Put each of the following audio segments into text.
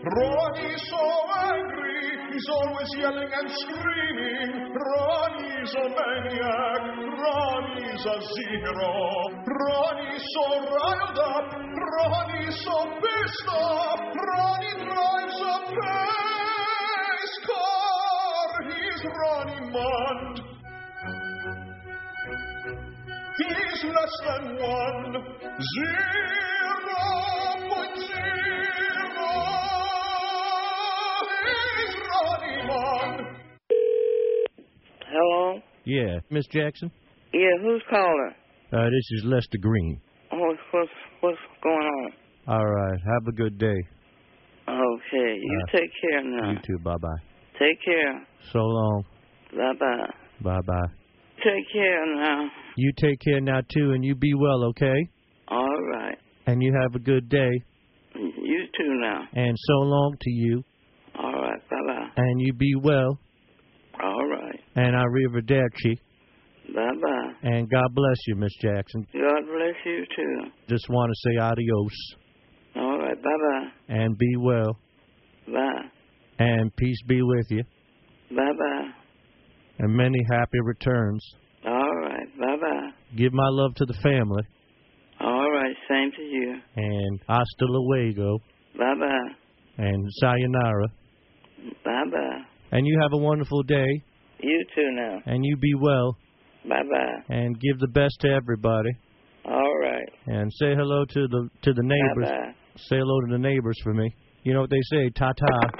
Ronnie's so angry, he's always yelling and screaming. Ronnie's a maniac, Ronnie's a zero. Ronnie's so riled up, Ronnie's so pissed off. Ronnie drives a pace car, he's Ronnie Mond. He's less than 1.0. He's Ronnie Mond. Hello? Yeah, Miss Jackson? Yeah, who's calling? This is Lester Green. Oh, what's going on? All right, have a good day. Okay, you take care now. You too, bye-bye. Take care. So long. Bye-bye. Bye-bye. Take care now. You take care now, too, and you be well, okay? All right. And you have a good day. You too now. And so long to you. All right, bye-bye. And you be well. All right. And arrivederci. Bye-bye. And God bless you, Miss Jackson. God bless you, too. Just want to say adios. All right, bye-bye. And be well. Bye. And peace be with you. Bye-bye. And many happy returns. All right, bye-bye. Give my love to the family. All right, same to you. And hasta luego. Bye-bye. And sayonara. Bye-bye. And you have a wonderful day. You too now. And you be well. Bye-bye. And give the best to everybody. All right. And say hello to the neighbors. Bye-bye. Say hello to the neighbors for me. You know what they say, ta-ta.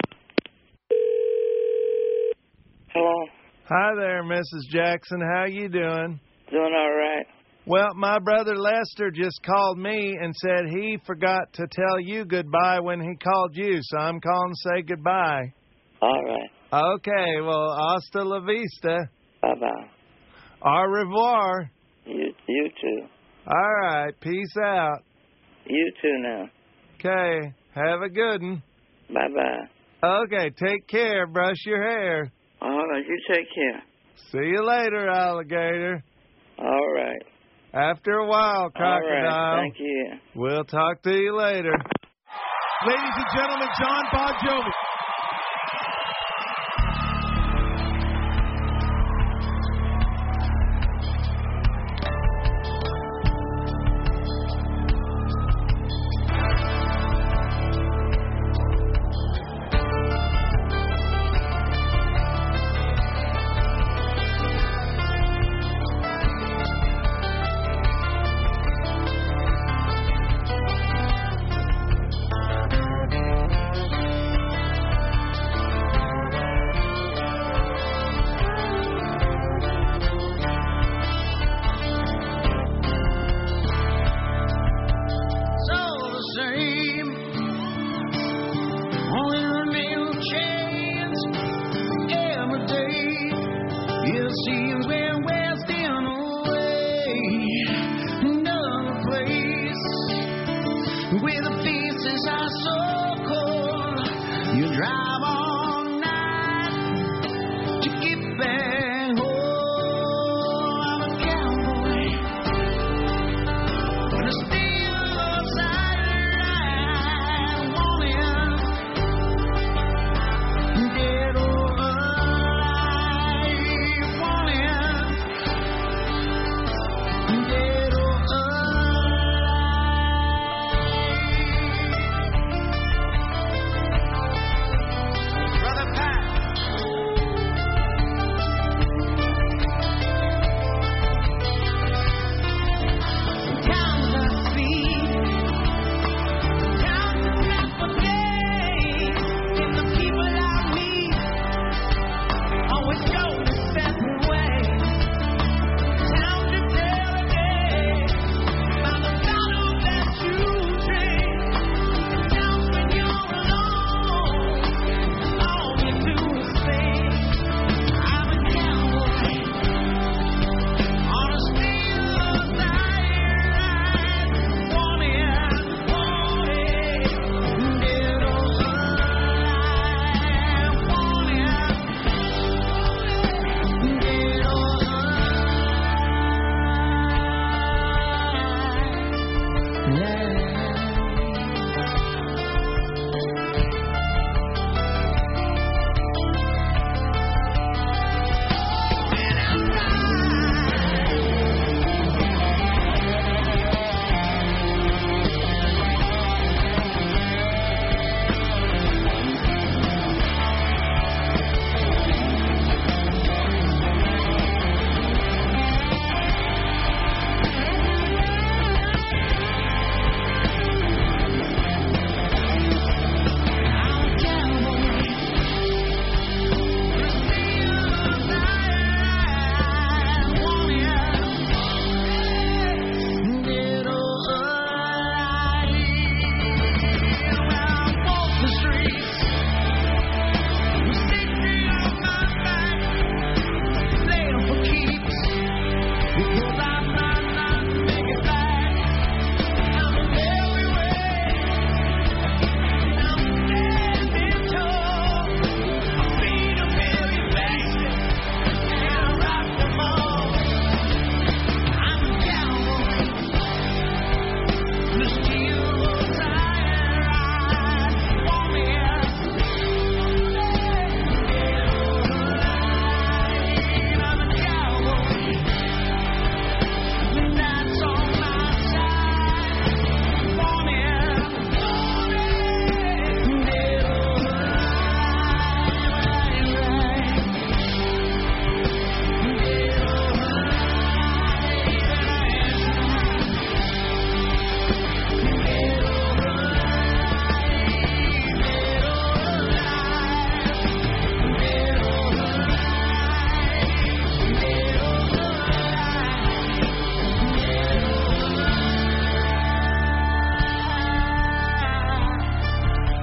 Hello. Hi there, Mrs. Jackson. How you doing? Doing all right. Well, my brother Lester just called me and said he forgot to tell you goodbye when he called you, so I'm calling to say goodbye. All right. Okay, well, hasta la vista. Bye-bye. Au revoir. You too. All right, peace out. You too now. Okay, have a good one. Bye-bye. Okay, take care. Brush your hair. All right, you take care. See you later, alligator. All right. After a while, crocodile. All right, thank you. We'll talk to you later. Ladies and gentlemen, John Bon Jovi.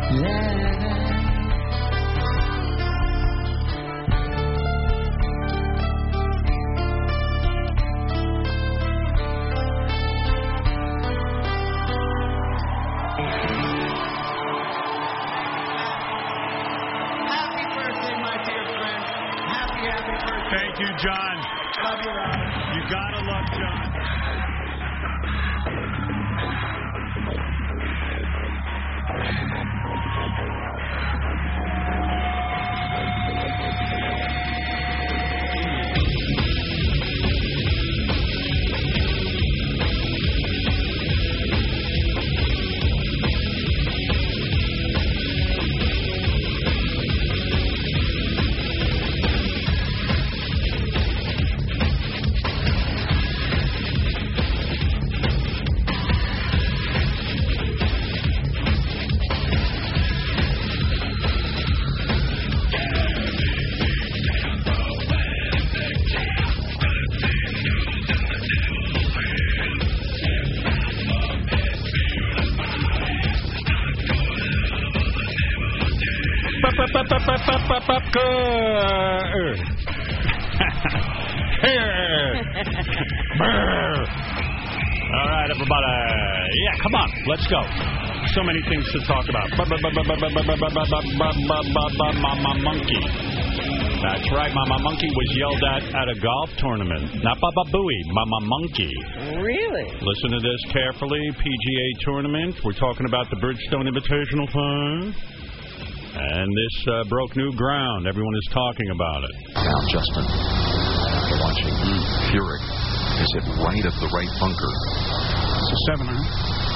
Thank you, John. Love you, Robin. You gotta love John. All right, everybody. Yeah, come on. Let's go. So many things to talk about. Mama Monkey. That's right. Mama Monkey was yelled at a golf tournament. Not Baba Booey. Mama Monkey. Really? Listen to this carefully. PGA tournament. We're talking about the Bridgestone Invitational 5. And this broke new ground. Everyone is talking about it. Now, Justin, after watching Furyk, is it right of the right bunker? It's a 7, huh?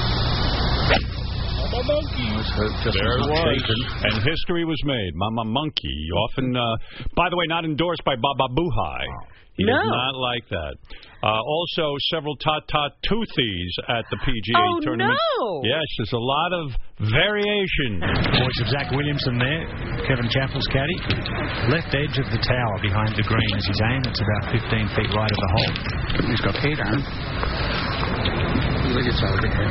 Mama Monkey. There it was. And history was made. Mama Monkey. Often, by the way, not endorsed by Baba Boohai. He does not like that. Also, several toothies at the PGA tournament. No! Yes, there's a lot of variation. Voice of Zach Williamson there, Kevin Chappell's caddy. Left edge of the tower behind the green is his aim. It's about 15 feet right of the hole. He's got 8 on. Look at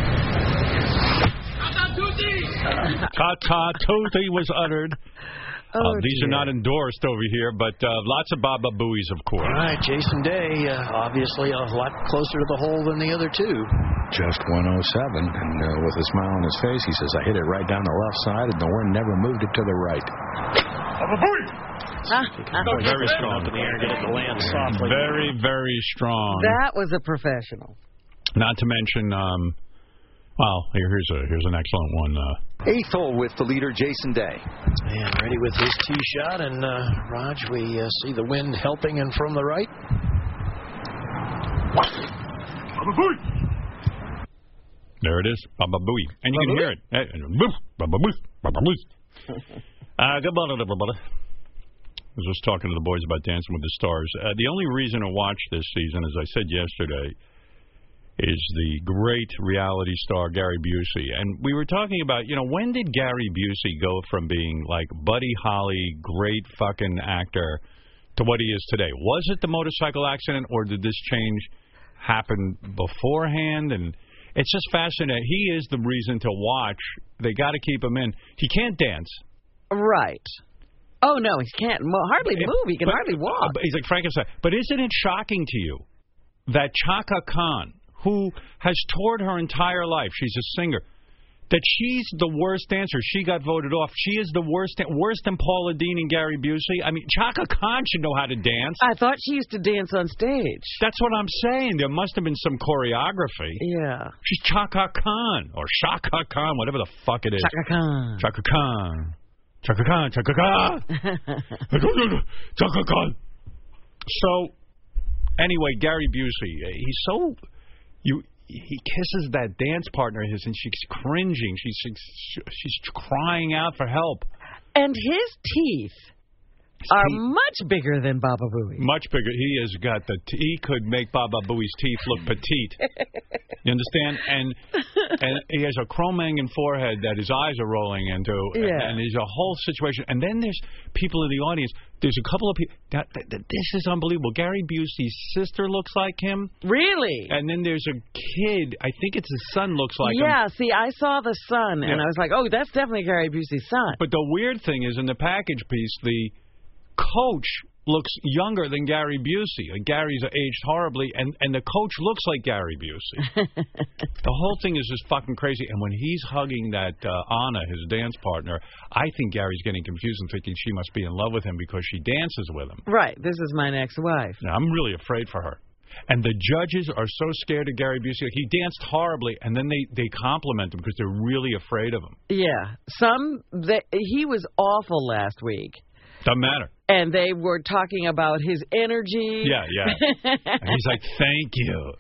Toothy was uttered. These are not endorsed over here, but lots of Baba Booies, of course. All right, Jason Day, obviously a lot closer to the hole than the other two. Just 107, and with a smile on his face, he says, I hit it right down the left side, and the wind never moved it to the right. Baba Booey! Very strong. Very, very strong. That was a professional. Not to mention, well, here's an excellent one. 8th hole with the leader, Jason Day. And ready with his tee shot, and Raj, we see the wind helping him from the right. Baba Booey! There it is, Baba Booey. And you can hear it. Baba Booey, Baba Booey. Good morning, everybody. I was just talking to the boys about Dancing with the Stars. The only reason to watch this season, as I said yesterday, is the great reality star Gary Busey. And we were talking about, when did Gary Busey go from being like Buddy Holly, great fucking actor, to what he is today? Was it the motorcycle accident, or did this change happen beforehand? And it's just fascinating. He is the reason to watch. They got to keep him in. He can't dance. Right. Oh, no, he can't hardly move. He can hardly walk. He's like Frankenstein. But isn't it shocking to you that Chaka Khan, who has toured her entire life, she's a singer, that she's the worst dancer? She got voted off. She is the worst than Paula Deen and Gary Busey. I mean, Chaka Khan should know how to dance. I thought she used to dance on stage. That's what I'm saying. There must have been some choreography. Yeah. She's Chaka Khan, or Shaka Khan, whatever the fuck it is. Chaka Khan. Chaka Khan. Chaka Khan. Chaka Khan. Chaka Khan. So, anyway, Gary Busey, he's so... He kisses that dance partner of his, and she's cringing. She's crying out for help. And his teeth are much bigger than Baba Booey. Much bigger. He has got he could make Baba Booey's teeth look petite. You understand? And he has a chrome-hanging forehead that his eyes are rolling into. Yeah. And there's a whole situation. And then there's people in the audience There's a couple of people. This is unbelievable. Gary Busey's sister looks like him. Really? And then there's a kid. I think it's his son looks like him. Yeah, see, I saw the son, and I was like, oh, that's definitely Gary Busey's son. But the weird thing is, in the package piece, the coach looks younger than Gary Busey. Like, Gary's aged horribly, and the coach looks like Gary Busey. The whole thing is just fucking crazy. And when he's hugging that Anna, his dance partner, I think Gary's getting confused and thinking she must be in love with him because she dances with him. Right. This is my next wife. Now, I'm really afraid for her. And the judges are so scared of Gary Busey. Like, he danced horribly, and then they compliment him because they're really afraid of him. Yeah. He was awful last week. Doesn't matter. And they were talking about his energy. Yeah. And he's like, thank you.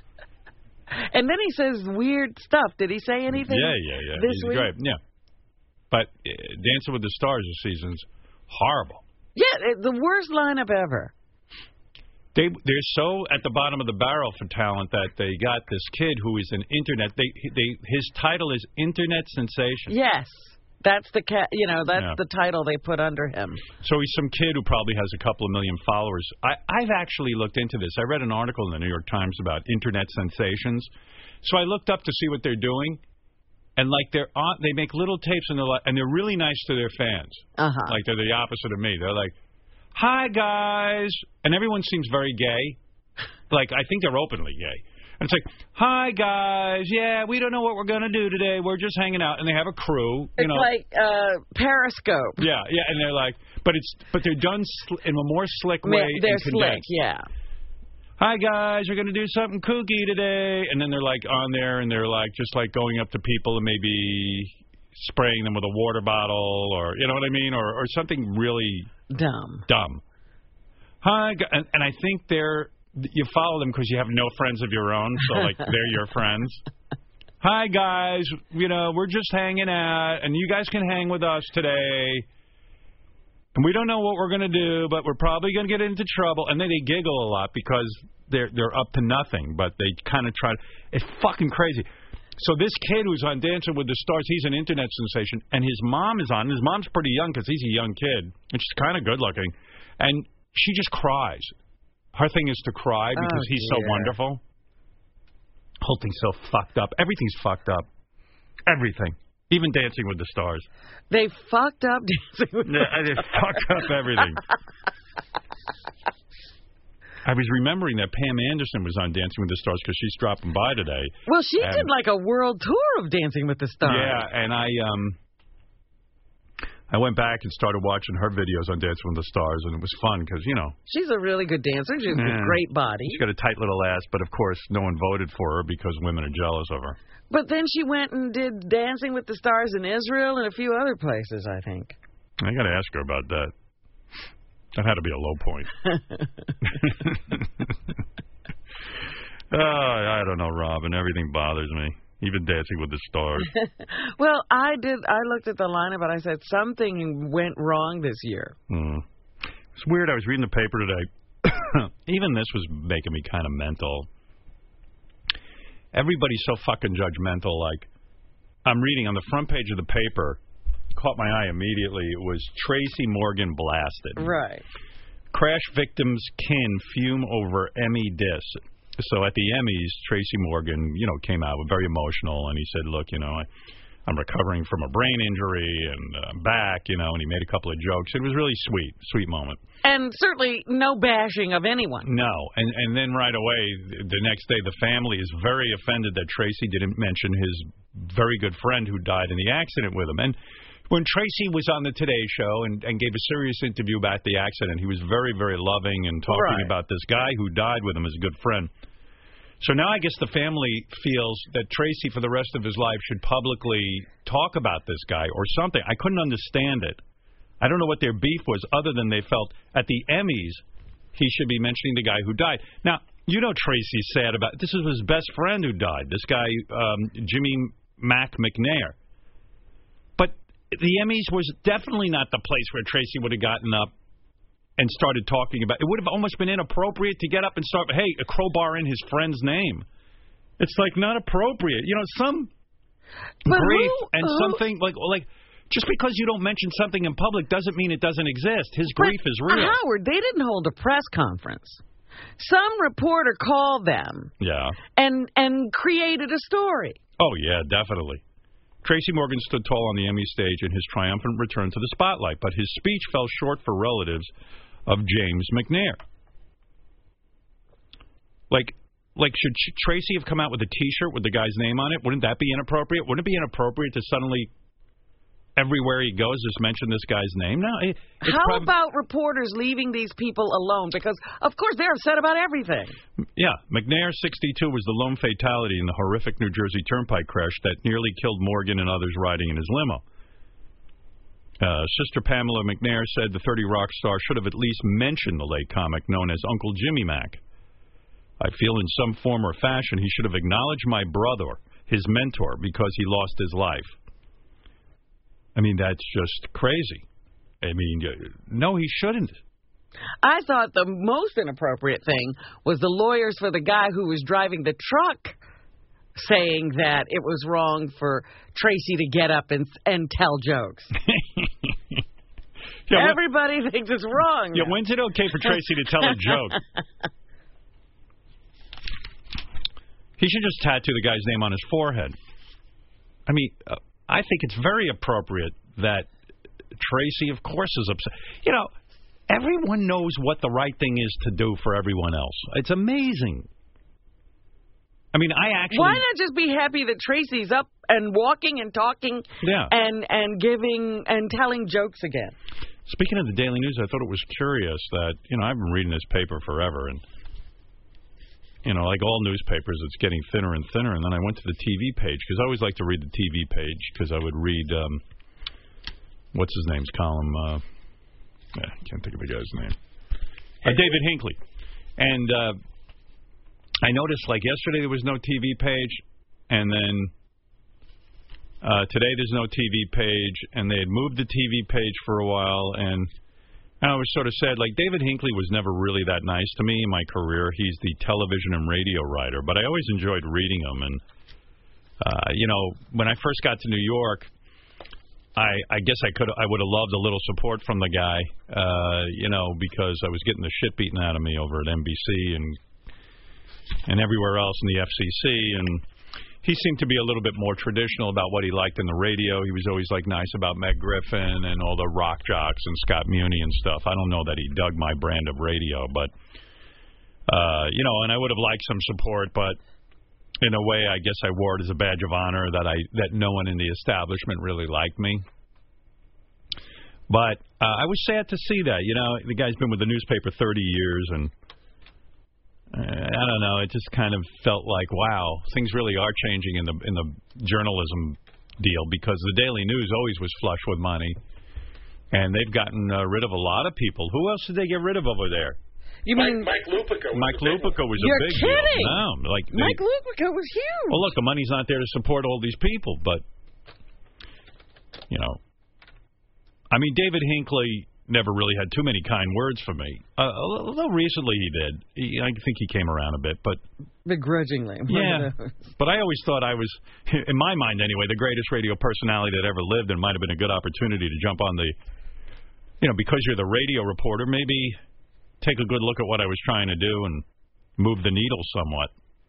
And then he says weird stuff. Did he say anything? Yeah. He's great. Yeah. But Dancing with the Stars this season's horrible. Yeah, the worst lineup ever. They're so at the bottom of the barrel for talent that they got this kid who is an internet. His title is Internet Sensation. Yes. That's the the title they put under him. So he's some kid who probably has a couple of million followers. I've actually looked into this. I read an article in the New York Times about internet sensations. So I looked up to see what they're doing, and like they make little tapes and they're really nice to their fans. Like they're the opposite of me. They're like, "Hi guys," and everyone seems very gay. Like I think they're openly gay. And it's like, hi, guys. Yeah, we don't know what we're going to do today. We're just hanging out. And they have a crew. It's like Periscope. Yeah. And they're like, but they're done in a more slick way. They're slick, yeah. Hi, guys. We're going to do something kooky today. And then they're like on there and they're like just like going up to people and maybe spraying them with a water bottle or, you know what I mean? Or something really dumb. Hi, and I think you follow them because you have no friends of your own, so like they're your friends. Hi guys, we're just hanging out, and you guys can hang with us today. And we don't know what we're gonna do, but we're probably gonna get into trouble. And then they giggle a lot because they're up to nothing, but they kind of try. It's fucking crazy. So this kid who's on Dancing with the Stars, he's an internet sensation, and his mom is on. His mom's pretty young because he's a young kid, and she's kind of good looking, and she just cries. Her thing is to cry because he's so wonderful. Whole thing's so fucked up. Everything's fucked up. Everything. Even Dancing with the Stars. They fucked up Dancing with the Stars. They fucked up everything. I was remembering that Pam Anderson was on Dancing with the Stars because she's dropping by today. Well, she did like a world tour of Dancing with the Stars. Yeah, and I went back and started watching her videos on Dancing with the Stars, and it was fun because, she's a really good dancer. She has a great body. She's got a tight little ass, but of course no one voted for her because women are jealous of her. But then she went and did Dancing with the Stars in Israel and a few other places, I think. I got to ask her about that. That had to be a low point. I don't know, Robin. Everything bothers me. Even Dancing with the Stars. Well, I looked at the lineup and I said something went wrong this year. It's weird. I was reading the paper today. Even this was making me kind of mental. Everybody's so fucking judgmental. Like, I'm reading on the front page of the paper, caught my eye immediately. It was Tracy Morgan blasted. Right. Crash victims' kin fume over Emmy diss. So at the Emmys, Tracy Morgan, came out very emotional, and he said, look, I'm recovering from a brain injury, and I'm back, and he made a couple of jokes. It was really sweet moment. And certainly no bashing of anyone. No, and then right away, the next day, the family is very offended that Tracy didn't mention his very good friend who died in the accident with him. And when Tracy was on the Today Show and gave a serious interview about the accident, he was very, very loving and talking about this guy who died with him as a good friend. So now I guess the family feels that Tracy, for the rest of his life, should publicly talk about this guy or something. I couldn't understand it. I don't know what their beef was, other than they felt at the Emmys he should be mentioning the guy who died. Now, Tracy's sad about it. This is his best friend who died, this guy, Jimmy Mac McNair. But the Emmys was definitely not the place where Tracy would have gotten up and started talking about it. Would have almost been inappropriate to get up and start, hey, a crowbar in his friend's name. It's like not appropriate. Some grief and something like Just because you don't mention something in public doesn't mean it doesn't exist. His grief is real. Howard, they didn't hold a press conference. Some reporter called them. Yeah. And created a story. Oh, yeah, definitely. Tracy Morgan stood tall on the Emmy stage in his triumphant return to the spotlight, but his speech fell short for relatives of James McNair. Like, should Tracy have come out with a T-shirt with the guy's name on it? Wouldn't that be inappropriate? Wouldn't it be inappropriate to suddenly, everywhere he goes, just mention this guy's name? No. How about reporters leaving these people alone? Because, of course, they're upset about everything. Yeah. McNair, 62, was the lone fatality in the horrific New Jersey Turnpike crash that nearly killed Morgan and others riding in his limo. Sister Pamela McNair said the 30 Rock star should have at least mentioned the late comic known as Uncle Jimmy Mac. I feel in some form or fashion he should have acknowledged my brother, his mentor, because he lost his life. I mean, that's just crazy. I mean, no, he shouldn't. I thought the most inappropriate thing was the lawyers for the guy who was driving the truck saying that it was wrong for Tracy to get up and tell jokes. Yeah, everybody thinks it's wrong. Yeah, when's it okay for Tracy to tell a joke? He should just tattoo the guy's name on his forehead. I mean, I think it's very appropriate that Tracy, of course, is upset. You know, everyone knows what the right thing is to do for everyone else. It's amazing. I mean, why not just be happy that Tracy's up and walking and talking and giving and telling jokes again? Speaking of the Daily News, I thought it was curious that, you know, I've been reading this paper forever, and, you know, like all newspapers, it's getting thinner and thinner, and then I went to the TV page, because I always like to read the TV page, because I would read, what's his name's column? I can't think of the guy's name. David Hinckley. And I noticed, like, yesterday there was no TV page, and then today there's no TV page, and they had moved the TV page for a while, and I was sort of sad. Like, David Hinckley was never really that nice to me in my career. He's the television and radio writer, but I always enjoyed reading him. And, you know, when I first got to New York, I guess I would have loved a little support from the guy, you know, because I was getting the shit beaten out of me over at NBC and everywhere else in the FCC, and he seemed to be a little bit more traditional about what he liked in the radio. He was always, like, nice about Meg Griffin and all the rock jocks and Scott Muni and stuff. I don't know that he dug my brand of radio, but, you know, and I would have liked some support, but in a way, I guess I wore it as a badge of honor that no one in the establishment really liked me. But I was sad to see that. You know, the guy's been with the newspaper 30 years, and I don't know. It just kind of felt like, wow, things really are changing in the journalism deal, because the Daily News always was flush with money, and they've gotten rid of a lot of people. Who else did they get rid of over there? You mean Mike Lupica? Mike Lupica was You're a big kidding. deal. No, like Mike Lupica was huge. Well, look, the money's not there to support all these people, but you know, I mean, David Hinckley never really had too many kind words for me. Although recently he did. I think he came around a bit, but begrudgingly. Yeah, but I always thought I was, in my mind anyway, the greatest radio personality that ever lived, and it might have been a good opportunity to jump on the, you know, because you're the radio reporter, maybe take a good look at what I was trying to do and move the needle somewhat.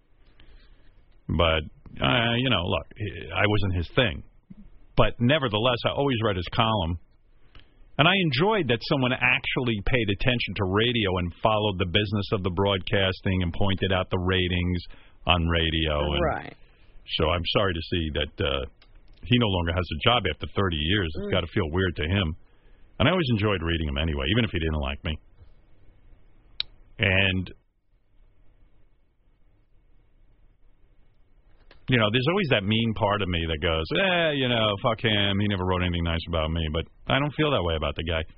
But, you know, look, I wasn't his thing. But nevertheless, I always read his column. And I enjoyed that someone actually paid attention to radio and followed the business of the broadcasting and pointed out the ratings on radio. And right. So I'm sorry to see that he no longer has a job after 30 years. It's got to feel weird to him. And I always enjoyed reading him anyway, even if he didn't like me. And, you know, there's always that mean part of me that goes, you know, fuck him. He never wrote anything nice about me. But I don't feel that way about the guy.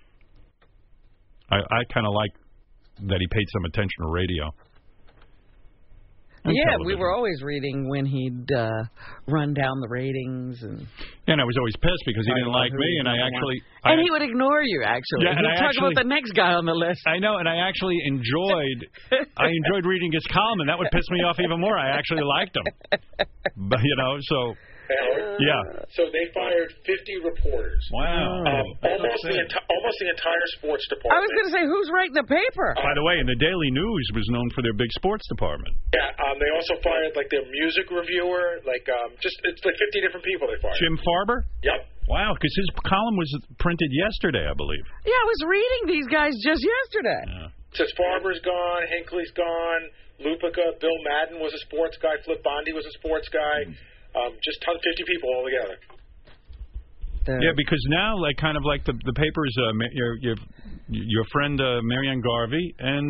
I kind of like that he paid some attention to radio. Yeah, we were always reading when he'd run down the ratings. And I was always pissed because he didn't like me, and I actually... And he would ignore you, actually. Yeah, he'd talk about the next guy on the list. I know, and I actually enjoyed reading his column, and that would piss me off even more. I actually liked him. But, you know, so... Yeah. So they fired 50 reporters. Wow. Almost the entire sports department. I was going to say, who's writing the paper? By the way, and the Daily News was known for their big sports department. Yeah. They also fired like their music reviewer. It's like 50 different people they fired. Jim Farber? Yep. Wow, because his column was printed yesterday, I believe. Yeah, I was reading these guys just yesterday. Yeah. It says Farber's gone, Hinckley's gone, Lupica, Bill Madden was a sports guy, Flip Bondi was a sports guy. Just 50 people all together. Yeah, because now, kind of like the papers, your friend Marianne Garvey, and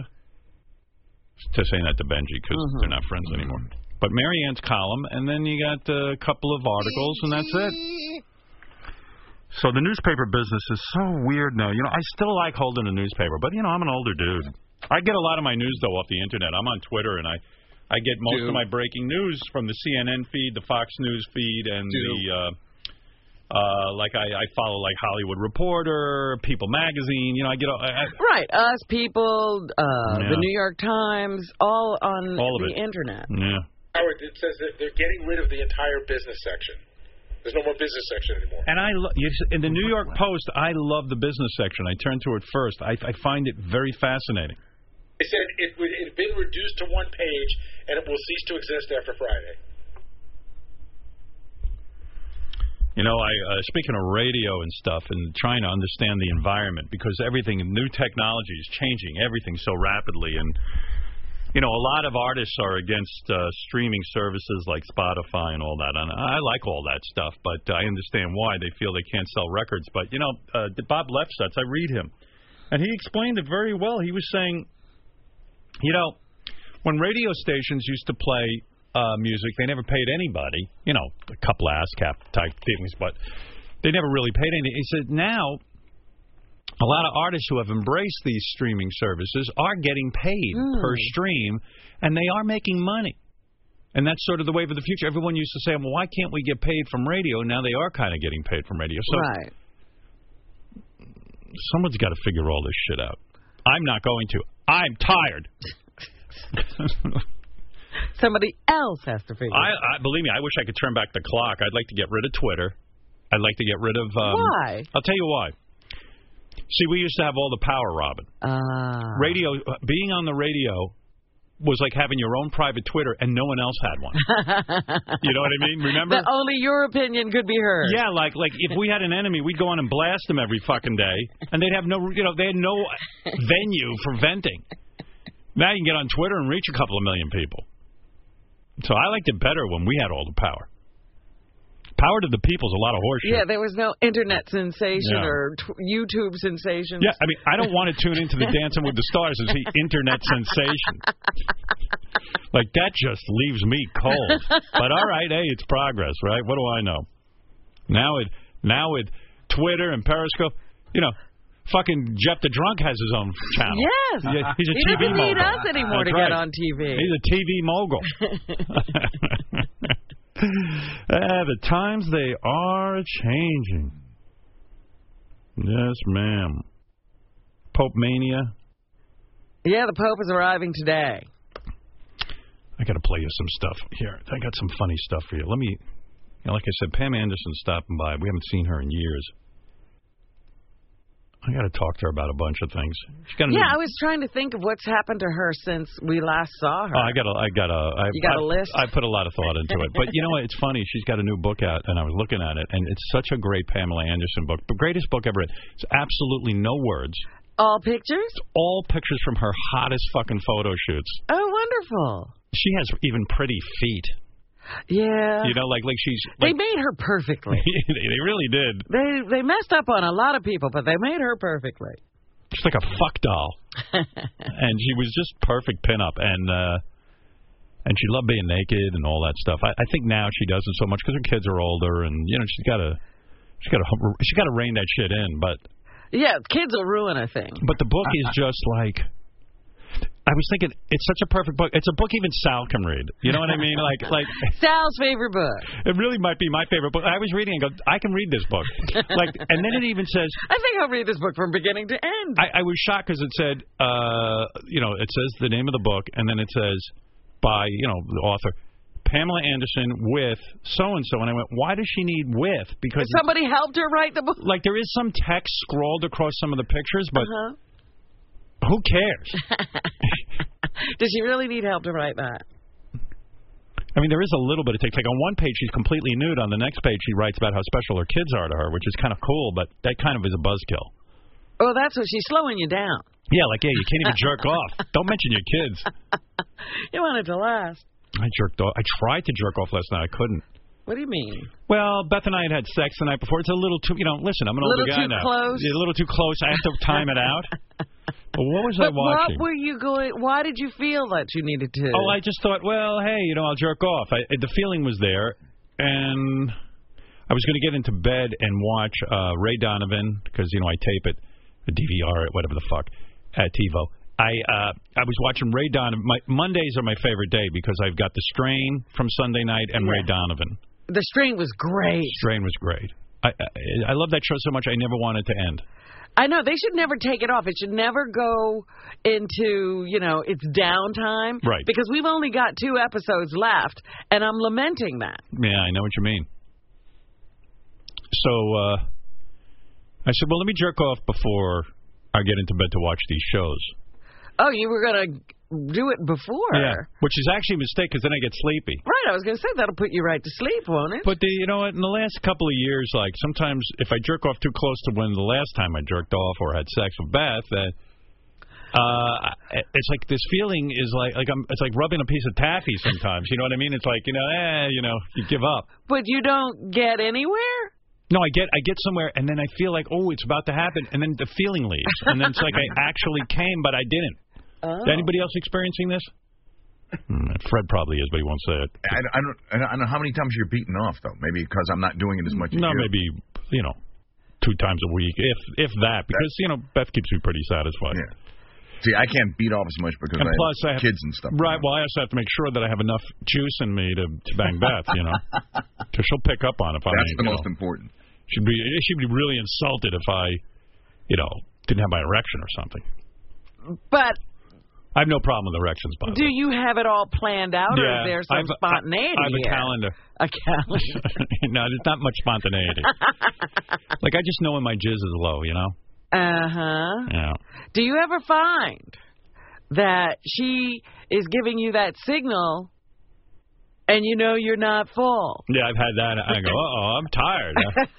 to saying that to Benji because they're not friends anymore. But Marianne's column, and then you got a couple of articles, and that's it. So the newspaper business is so weird now. I still like holding a newspaper, but, I'm an older dude. I get a lot of my news, though, off the Internet. I'm on Twitter, and I get most of my breaking news from the CNN feed, the Fox News feed, and I follow, Hollywood Reporter, People Magazine. I get... Right. Us, People, the New York Times, all on the Internet. Yeah. Howard, it says that they're getting rid of the entire business section. There's no more business section anymore. And in the New York Post, I love the business section. I turn to it first. I find it very fascinating. They said it had been reduced to one page, and it will cease to exist after Friday. Speaking of radio and stuff and trying to understand the environment, because new technology is changing everything so rapidly, and a lot of artists are against streaming services like Spotify and all that. And I like all that stuff, but I understand why they feel they can't sell records. But, Bob Lefsetz, I read him, and he explained it very well. He was saying, when radio stations used to play music, they never paid anybody, a couple of ASCAP type things, but they never really paid anything. He said now a lot of artists who have embraced these streaming services are getting paid per stream, and they are making money. And that's sort of the wave of the future. Everyone used to say, well, why can't we get paid from radio? Now they are kind of getting paid from radio. So right. Someone's got to figure all this shit out. I'm not going to. I'm tired. Somebody else has to figure it out. Believe me, I wish I could turn back the clock. I'd like to get rid of Twitter. I'd like to get rid of... Why? I'll tell you why. See, we used to have all the power, Robin. Radio, being on the radio was like having your own private Twitter and no one else had one. You know what I mean? Remember? That only your opinion could be heard. Yeah, like if we had an enemy, we'd go on and blast them every fucking day, and they'd have they had no venue for venting. Now you can get on Twitter and reach a couple of million people. So I liked it better when we had all the power. Power to the people's a lot of horseshit. Yeah, there was no internet sensation or YouTube sensation. Yeah, I mean, I don't want to tune into the Dancing with the Stars and see internet sensation. Like, that just leaves me cold. But all right, hey, it's progress, right? What do I know? Now with Twitter and Periscope, fucking Jeff the Drunk has his own channel. Yes. He's a he TV doesn't need mogul. us anymore That's to get on TV. He's a TV mogul. The times they are changing. Yes, ma'am. Pope Mania. Yeah, the Pope is arriving today. I got to play you some stuff here. I got some funny stuff for you. Let me, like I said, Pam Anderson's stopping by. We haven't seen her in years. I got to talk to her about a bunch of things. I was trying to think of what's happened to her since we last saw her. You got a list? I put a lot of thought into it. But you know what? It's funny. She's got a new book out, and I was looking at it, and it's such a great Pamela Anderson book. The greatest book ever read. It's absolutely no words. All pictures? It's all pictures from her hottest fucking photo shoots. Oh, wonderful. She has even pretty feet. Yeah. Like she's... They made her perfectly. They really did. They messed up on a lot of people, but they made her perfectly. She's like a fuck doll. And she was just perfect pinup. And she loved being naked and all that stuff. I think now she doesn't so much because her kids are older, and she's got to rein that shit in. But yeah, kids will ruin a thing. But the book is just like... I was thinking, it's such a perfect book. It's a book even Sal can read. You know what I mean? Like Sal's favorite book. It really might be my favorite book. I was reading and go, I can read this book. And then it even says... I think I'll read this book from beginning to end. I was shocked because it said, it says the name of the book, and then it says by, the author, Pamela Anderson with so-and-so. And I went, why does she need with? Because somebody helped her write the book? Like, there is some text scrawled across some of the pictures, but who cares? Does she really need help to write that? I mean, there is a little bit of text. Like, on one page, she's completely nude. On the next page, she writes about how special her kids are to her, which is kind of cool, but that kind of is a buzzkill. Oh, that's what she's slowing you down. Yeah, like, you can't even jerk off. Don't mention your kids. You want it to last. I jerked off. I tried to jerk off last night. I couldn't. What do you mean? Well, Beth and I had sex the night before. It's a little too, listen, I'm an older guy now. Close? Yeah, a little too close. I have to time it out. But what was I watching? What were you going? Why did you feel that you needed to? Oh, I just thought, well, hey, I'll jerk off. The feeling was there, and I was going to get into bed and watch Ray Donovan because I tape it, DVR it, whatever the fuck, at TiVo. I was watching Ray Donovan. Mondays are my favorite day because I've got The Strain from Sunday night and Ray Donovan. The Strain was great. Strain was great. I love that show so much I never want it to end. I know. They should never take it off. It should never go into, its downtime. Right. Because we've only got 2 episodes left, and I'm lamenting that. Yeah, I know what you mean. So I said, well, let me jerk off before I get into bed to watch these shows. Oh, you were going to do it before. Yeah, which is actually a mistake because then I get sleepy. Right, I was going to say that'll put you right to sleep, won't it? But you know what? In the last couple of years, like sometimes if I jerk off too close to when the last time I jerked off or had sex with Beth, that it's like this feeling is it's like rubbing a piece of taffy sometimes. You know what I mean? It's like you give up. But you don't get anywhere. No, I get somewhere and then I feel like it's about to happen, and then the feeling leaves, and then it's like I actually came, but I didn't. Oh. Is anybody else experiencing this? Fred probably is, but he won't say it. I don't know how many times you're beaten off, though. Maybe because I'm not doing it as much as you. No, maybe, 2 times a week, if that. Because, Beth keeps me pretty satisfied. Yeah. See, I can't beat off as much because I have kids and stuff. Right, well, I also have to make sure that I have enough juice in me to bang Beth, Because she'll pick up on it if I That's the most important. She'd be really insulted if I, didn't have my erection or something. But I have no problem with erections, by the way. Do you have it all planned out, or is there some spontaneity I have a here? calendar. A calendar? No, there's not much spontaneity. Like, I just know when my jizz is low, Uh-huh. Yeah. Do you ever find that she is giving you that signal and you're not full? Yeah, I've had that. I go, I'm tired.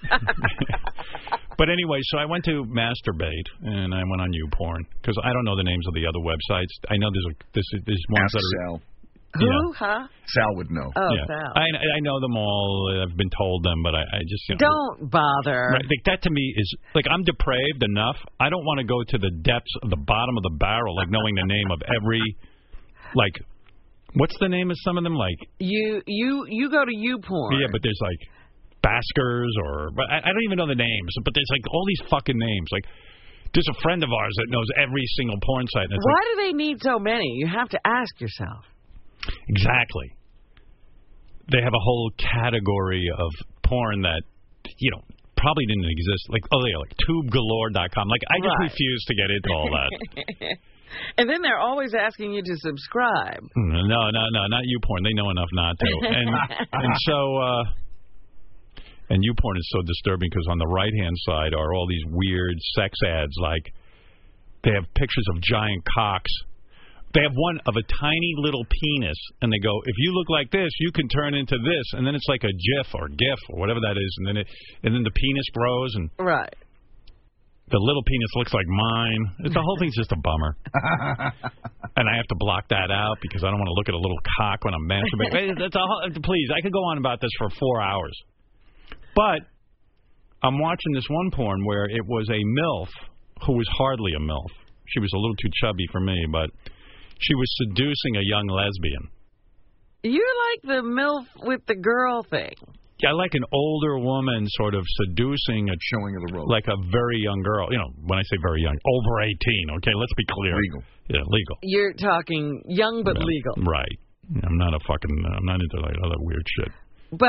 But anyway, so I went to Masturbate, and I went on YouPorn, because I don't know the names of the other websites. I know there's ones Ask that are... Sal. Who, yeah. huh? Sal would know. Oh, yeah. Sal. I know them all. I've been told them, but I just... Don't bother. Right, like, that to me is... Like, I'm depraved enough. I don't want to go to the depths of the bottom of the barrel, like knowing the name of every... Like... What's the name of some of them? Like you go to YouPorn. Yeah, but there's like Baskers but I don't even know the names. But there's like all these fucking names. Like there's a friend of ours that knows every single porn site. And why do they need so many? You have to ask yourself. Exactly. They have a whole category of porn that probably didn't exist. Like like TubeGalore.com. Like I just refuse to get into all that. And then they're always asking you to subscribe. No, not YouPorn. They know enough not to. And so, and YouPorn is so disturbing because on the right-hand side are all these weird sex ads. Like, they have pictures of giant cocks. They have one of a tiny little penis, and they go, if you look like this, you can turn into this. And then it's like a GIF or whatever that is. And then the penis grows. And right. The little penis looks like mine. The whole thing's just a bummer. And I have to block that out because I don't want to look at a little cock when I'm masturbating. Please, I could go on about this for 4 hours. But I'm watching this one porn where it was a MILF who was hardly a MILF. She was a little too chubby for me, but she was seducing a young lesbian. You're like the MILF with the girl thing. I like an older woman sort of seducing showing of the ropes. Like a very young girl. When I say very young, over 18, okay? Let's be clear. Legal. Yeah, legal. You're talking young but legal. Right. I'm not into like other weird shit. But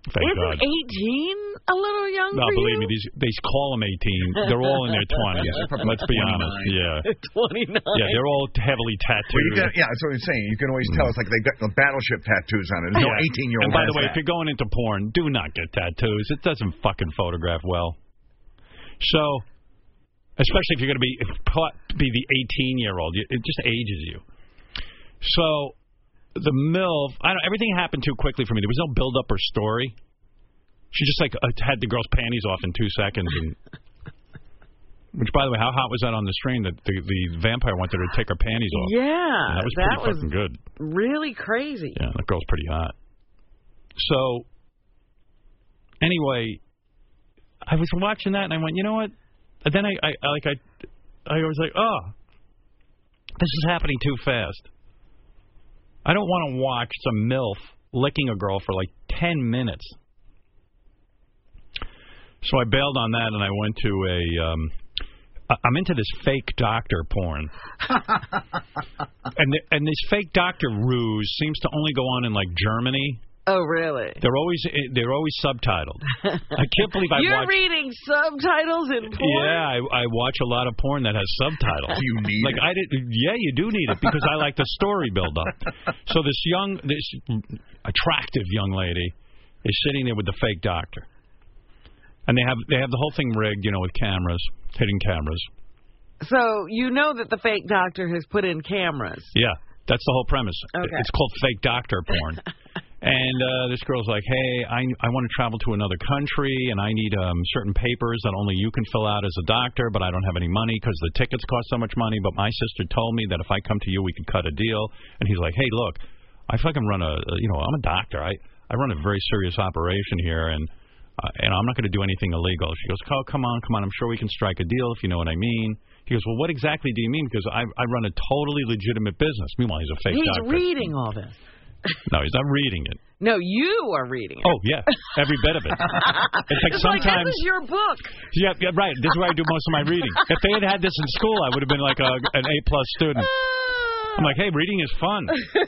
Thank God. 18 a little young No, for believe you? me, they call them 18. They're all in their 20s. Let's be honest. Yeah. 29. Yeah, they're all heavily tattooed. Well, that's what I'm saying. You can always tell. It's like they've got the battleship tattoos on it. There's no 18-year-old. And by the way, if you're going into porn, do not get tattoos. It doesn't fucking photograph well. So, especially if you're going to be the 18-year-old, it just ages you. So, the MILF, everything happened too quickly for me. There was no build-up or story. She just had the girl's panties off in 2 seconds. And, which, by the way, how hot was that on the screen that the vampire wanted her to take her panties off? Yeah. That was pretty fucking good. Really crazy. Yeah, that girl's pretty hot. So, anyway, I was watching that and I went, you know what? And then I was like, oh, this is happening too fast. I don't want to watch some MILF licking a girl for like 10 minutes. So I bailed on that and I went to I'm into this fake doctor porn. and this fake doctor ruse seems to only go on in like Germany. Oh, really? They're always subtitled. I can't believe You're reading subtitles in porn? Yeah, I watch a lot of porn that has subtitles. Do you need it? Yeah, you do need it because I like the story build up. So this attractive young lady is sitting there with the fake doctor. And they have the whole thing rigged, with cameras, hidden cameras. So you know that the fake doctor has put in cameras. Yeah, that's the whole premise. Okay. It's called fake doctor porn. And this girl's like, hey, I want to travel to another country, and I need certain papers that only you can fill out as a doctor, but I don't have any money because the tickets cost so much money. But my sister told me that if I come to you, we could cut a deal. And he's like, hey, look, I fucking run I'm a doctor. I run a very serious operation here, and I'm not going to do anything illegal. She goes, oh, come on. I'm sure we can strike a deal if you know what I mean. He goes, well, what exactly do you mean? Because I run a totally legitimate business. Meanwhile, he's a fake doctor. He's reading all this. No, he's not reading it. No, you are reading it. Oh, yeah. Every bit of it. It's like sometimes... this is your book. Yeah, right. This is where I do most of my reading. If they had this in school, I would have been like an A-plus student. I'm like, hey, reading is fun.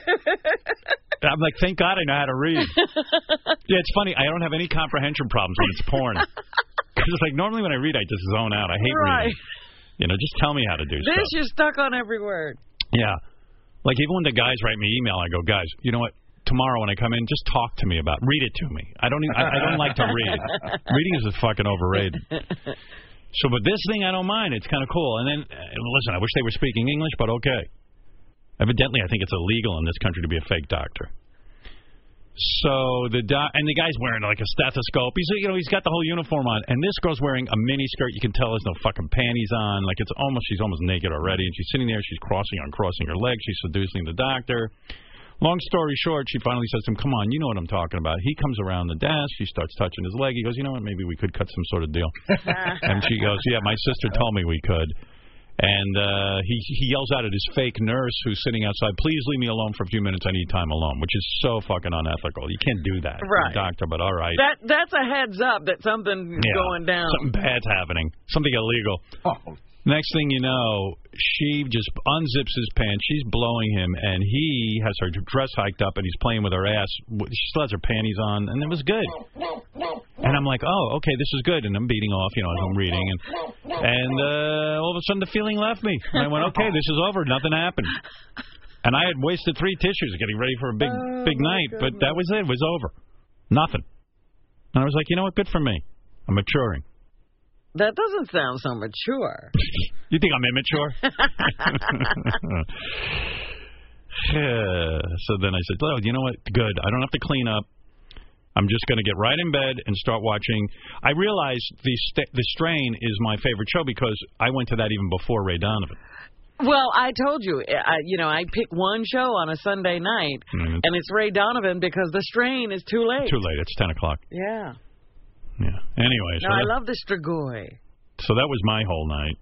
I'm like, thank God I know how to read. Yeah, it's funny. I don't have any comprehension problems when it's porn. Because it's like, normally when I read, I just zone out. I hate reading. Just tell me how to do stuff. This, you're stuck on every word. Yeah. Like, even when the guys write me email, I go, guys, you know what? Tomorrow when I come in, just talk to me about it. Read it to me. I don't like to read. Reading is fucking overrated. So, but this thing, I don't mind. It's kind of cool. And then, listen, I wish they were speaking English, but okay. Evidently, I think it's illegal in this country to be a fake doctor. So the guy's wearing like a stethoscope. He's got the whole uniform on, and this girl's wearing a mini skirt. You can tell there's no fucking panties on. Like she's almost naked already, and she's sitting there. She's crossing her legs. She's seducing the doctor. Long story short, she finally says to him, "Come on, you know what I'm talking about." He comes around the desk. She starts touching his leg. He goes, "You know what? Maybe we could cut some sort of deal." And she goes, "Yeah, my sister told me we could." And he yells out at his fake nurse who's sitting outside, "Please leave me alone for a few minutes. I need time alone," which is so fucking unethical. You can't do that. Right. You're a doctor, but all right. That's a heads up that something's going down. Something bad's happening. Something illegal. Oh. Next thing you know, she just unzips his pants. She's blowing him, and he has her dress hiked up, and he's playing with her ass. She still has her panties on, and it was good. And I'm like, oh, okay, this is good. And I'm beating off, as I'm reading. And all of a sudden, the feeling left me. And I went, okay, this is over. Nothing happened. And I had wasted 3 tissues getting ready for a big night, but that was it. It was over. Nothing. And I was like, you know what? Good for me. I'm maturing. That doesn't sound so mature. You think I'm immature? Yeah. So then I said, oh, you know what? Good. I don't have to clean up. I'm just going to get right in bed and start watching. I realized the Strain is my favorite show because I went to that even before Ray Donovan. Well, I told you, I pick one show on a Sunday night, and it's Ray Donovan because the Strain is too late. Too late. It's 10 o'clock. Yeah. Yeah. Anyway. No, I love the Strigoi. So that was my whole night.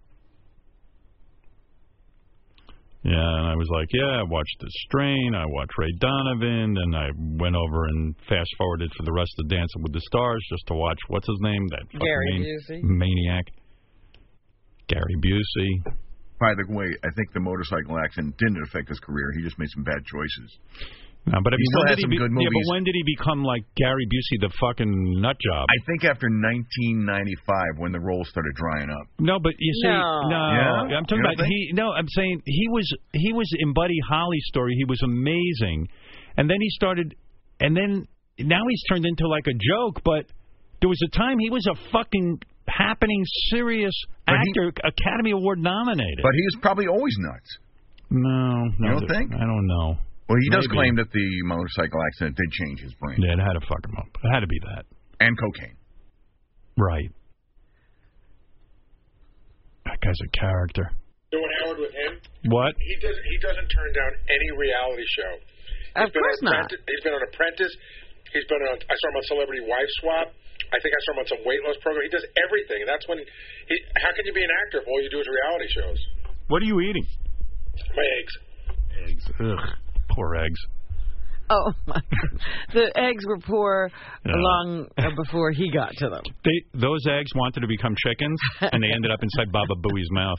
Yeah, and I was like, I watched The Strain, I watched Ray Donovan, and I went over and fast-forwarded for the rest of Dancing with the Stars just to watch, what's his name? That Gary Busey. Maniac. Gary Busey. By the way, I think the motorcycle accident didn't affect his career. He just made some bad choices. No, but I mean, still had some good movies. Yeah, but when did he become like Gary Busey, the fucking nut job? I think after 1995, when the roles started drying up. No, but you see, no. Yeah? I'm talking about I'm saying he was in Buddy Holly's story. He was amazing, and then he started, and then now he's turned into like a joke. But there was a time he was a fucking happening, serious actor, Academy Award nominated. But he was probably always nuts. No, you don't think? I don't know. Well, he does claim that the motorcycle accident did change his brain. Yeah, it had to fuck him up. It had to be that. And cocaine. Right. That guy's a character. Doing Howard with him? What? He doesn't turn down any reality show. Of course not. He's been on Apprentice. He's been on. I saw him on Celebrity Wife Swap. I think I saw him on some weight loss program. He does everything, and that's when. How can you be an actor if all you do is reality shows? What are you eating? My eggs. Eggs. Ugh. Poor eggs. Oh, my God. The eggs were poor long before he got to them. Those eggs wanted to become chickens, and they ended up inside Baba Booey's mouth.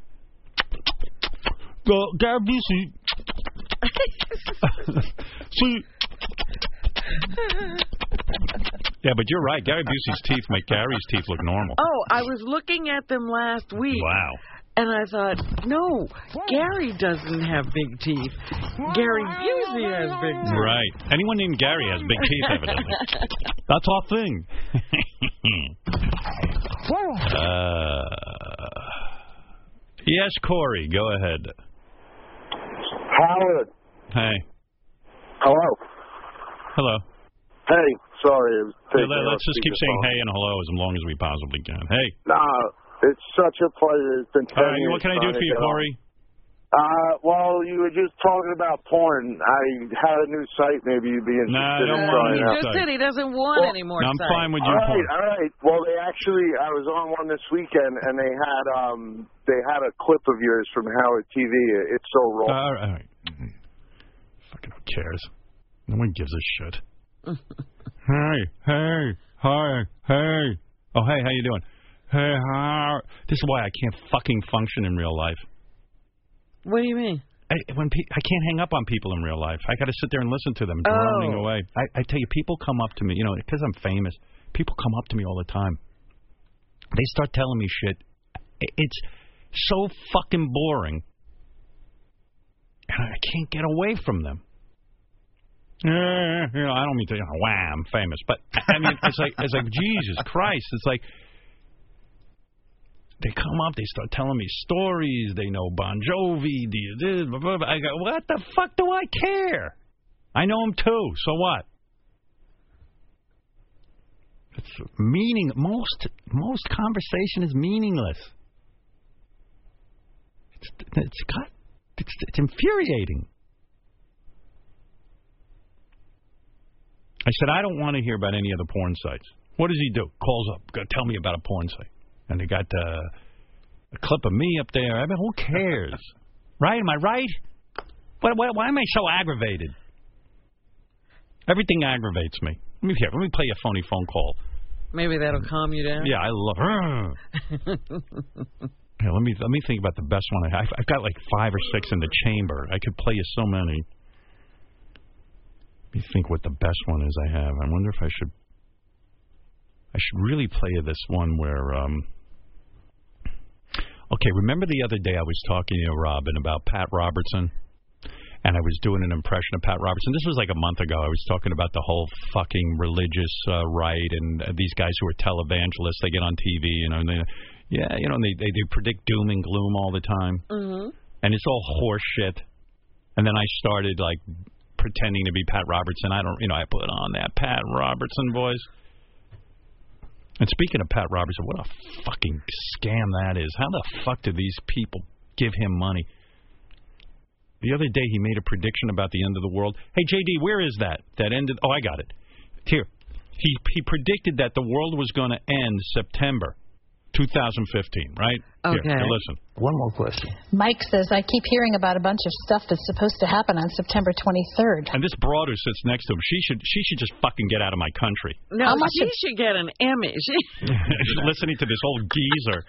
Gary Busey. See. Yeah, but you're right. Gary Busey's teeth make Gary's teeth look normal. Oh, I was looking at them last week. Wow. And I thought, no, Gary doesn't have big teeth. Gary Busey has big teeth. Right. Anyone named Gary has big teeth, evidently. That's our thing. Yes, Corey, go ahead. Howard. Hey. Hello. Hello. Hey, sorry. Let's just keep saying hey and hello as long as we possibly can. Hey. It's such a pleasure. It's been 10 years. What can I do for you, Corey? Well, you were just talking about porn. I had a new site. Maybe you'd be interested I don't want He just said he doesn't want any more I'm sites. fine with your porn. All right. Well, I was on one this weekend, and they had a clip of yours from Howard TV. It's so raw. All right. Fucking who cares? No one gives a shit. Hey. Oh, hey, how you doing? Hey, this is why I can't fucking function in real life. What do you mean? I can't hang up on people in real life. I got to sit there and listen to them droning away. I tell you, people come up to me, because I'm famous. People come up to me all the time. They start telling me shit. It's so fucking boring, and I can't get away from them. I don't mean to, I'm famous, but I mean, it's like Jesus Christ. It's like. They come up, they start telling me stories. They know Bon Jovi. I go, what the fuck do I care? I know him too. So what? It's most conversation is meaningless. It's infuriating. I said I don't want to hear about any of the porn sites. What does he do? Calls up, go tell me about a porn site. And they got a clip of me up there. I mean, who cares? Right? Am I right? Why am I so aggravated? Everything aggravates me. Let me play a phony phone call. Maybe that'll calm you down. Yeah, I love her. Here, let me think about the best one. I've got like 5 or 6 in the chamber. I could play you so many. Let me think what the best one is I have. I wonder if I should really play you this one where... Okay, remember the other day I was talking to you, Robin, about Pat Robertson? And I was doing an impression of Pat Robertson. This was like a month ago. I was talking about the whole fucking religious right and these guys who are televangelists. They get on TV, and they predict doom and gloom all the time. Mm-hmm. And it's all horse shit. And then I started, like, pretending to be Pat Robertson. I put on that Pat Robertson voice. And speaking of Pat Robertson, what a fucking scam that is. How the fuck do these people give him money? The other day he made a prediction about the end of the world. Hey, JD, where is that? That ended... Oh, I got it. Here. He predicted that the world was going to end September 2015, right? Okay. Here, listen. One more question. Mike says, I keep hearing about a bunch of stuff that's supposed to happen on September 23rd. And this broad who sits next to him, she should just fucking get out of my country. No, she should get an Emmy. She's listening to this old geezer.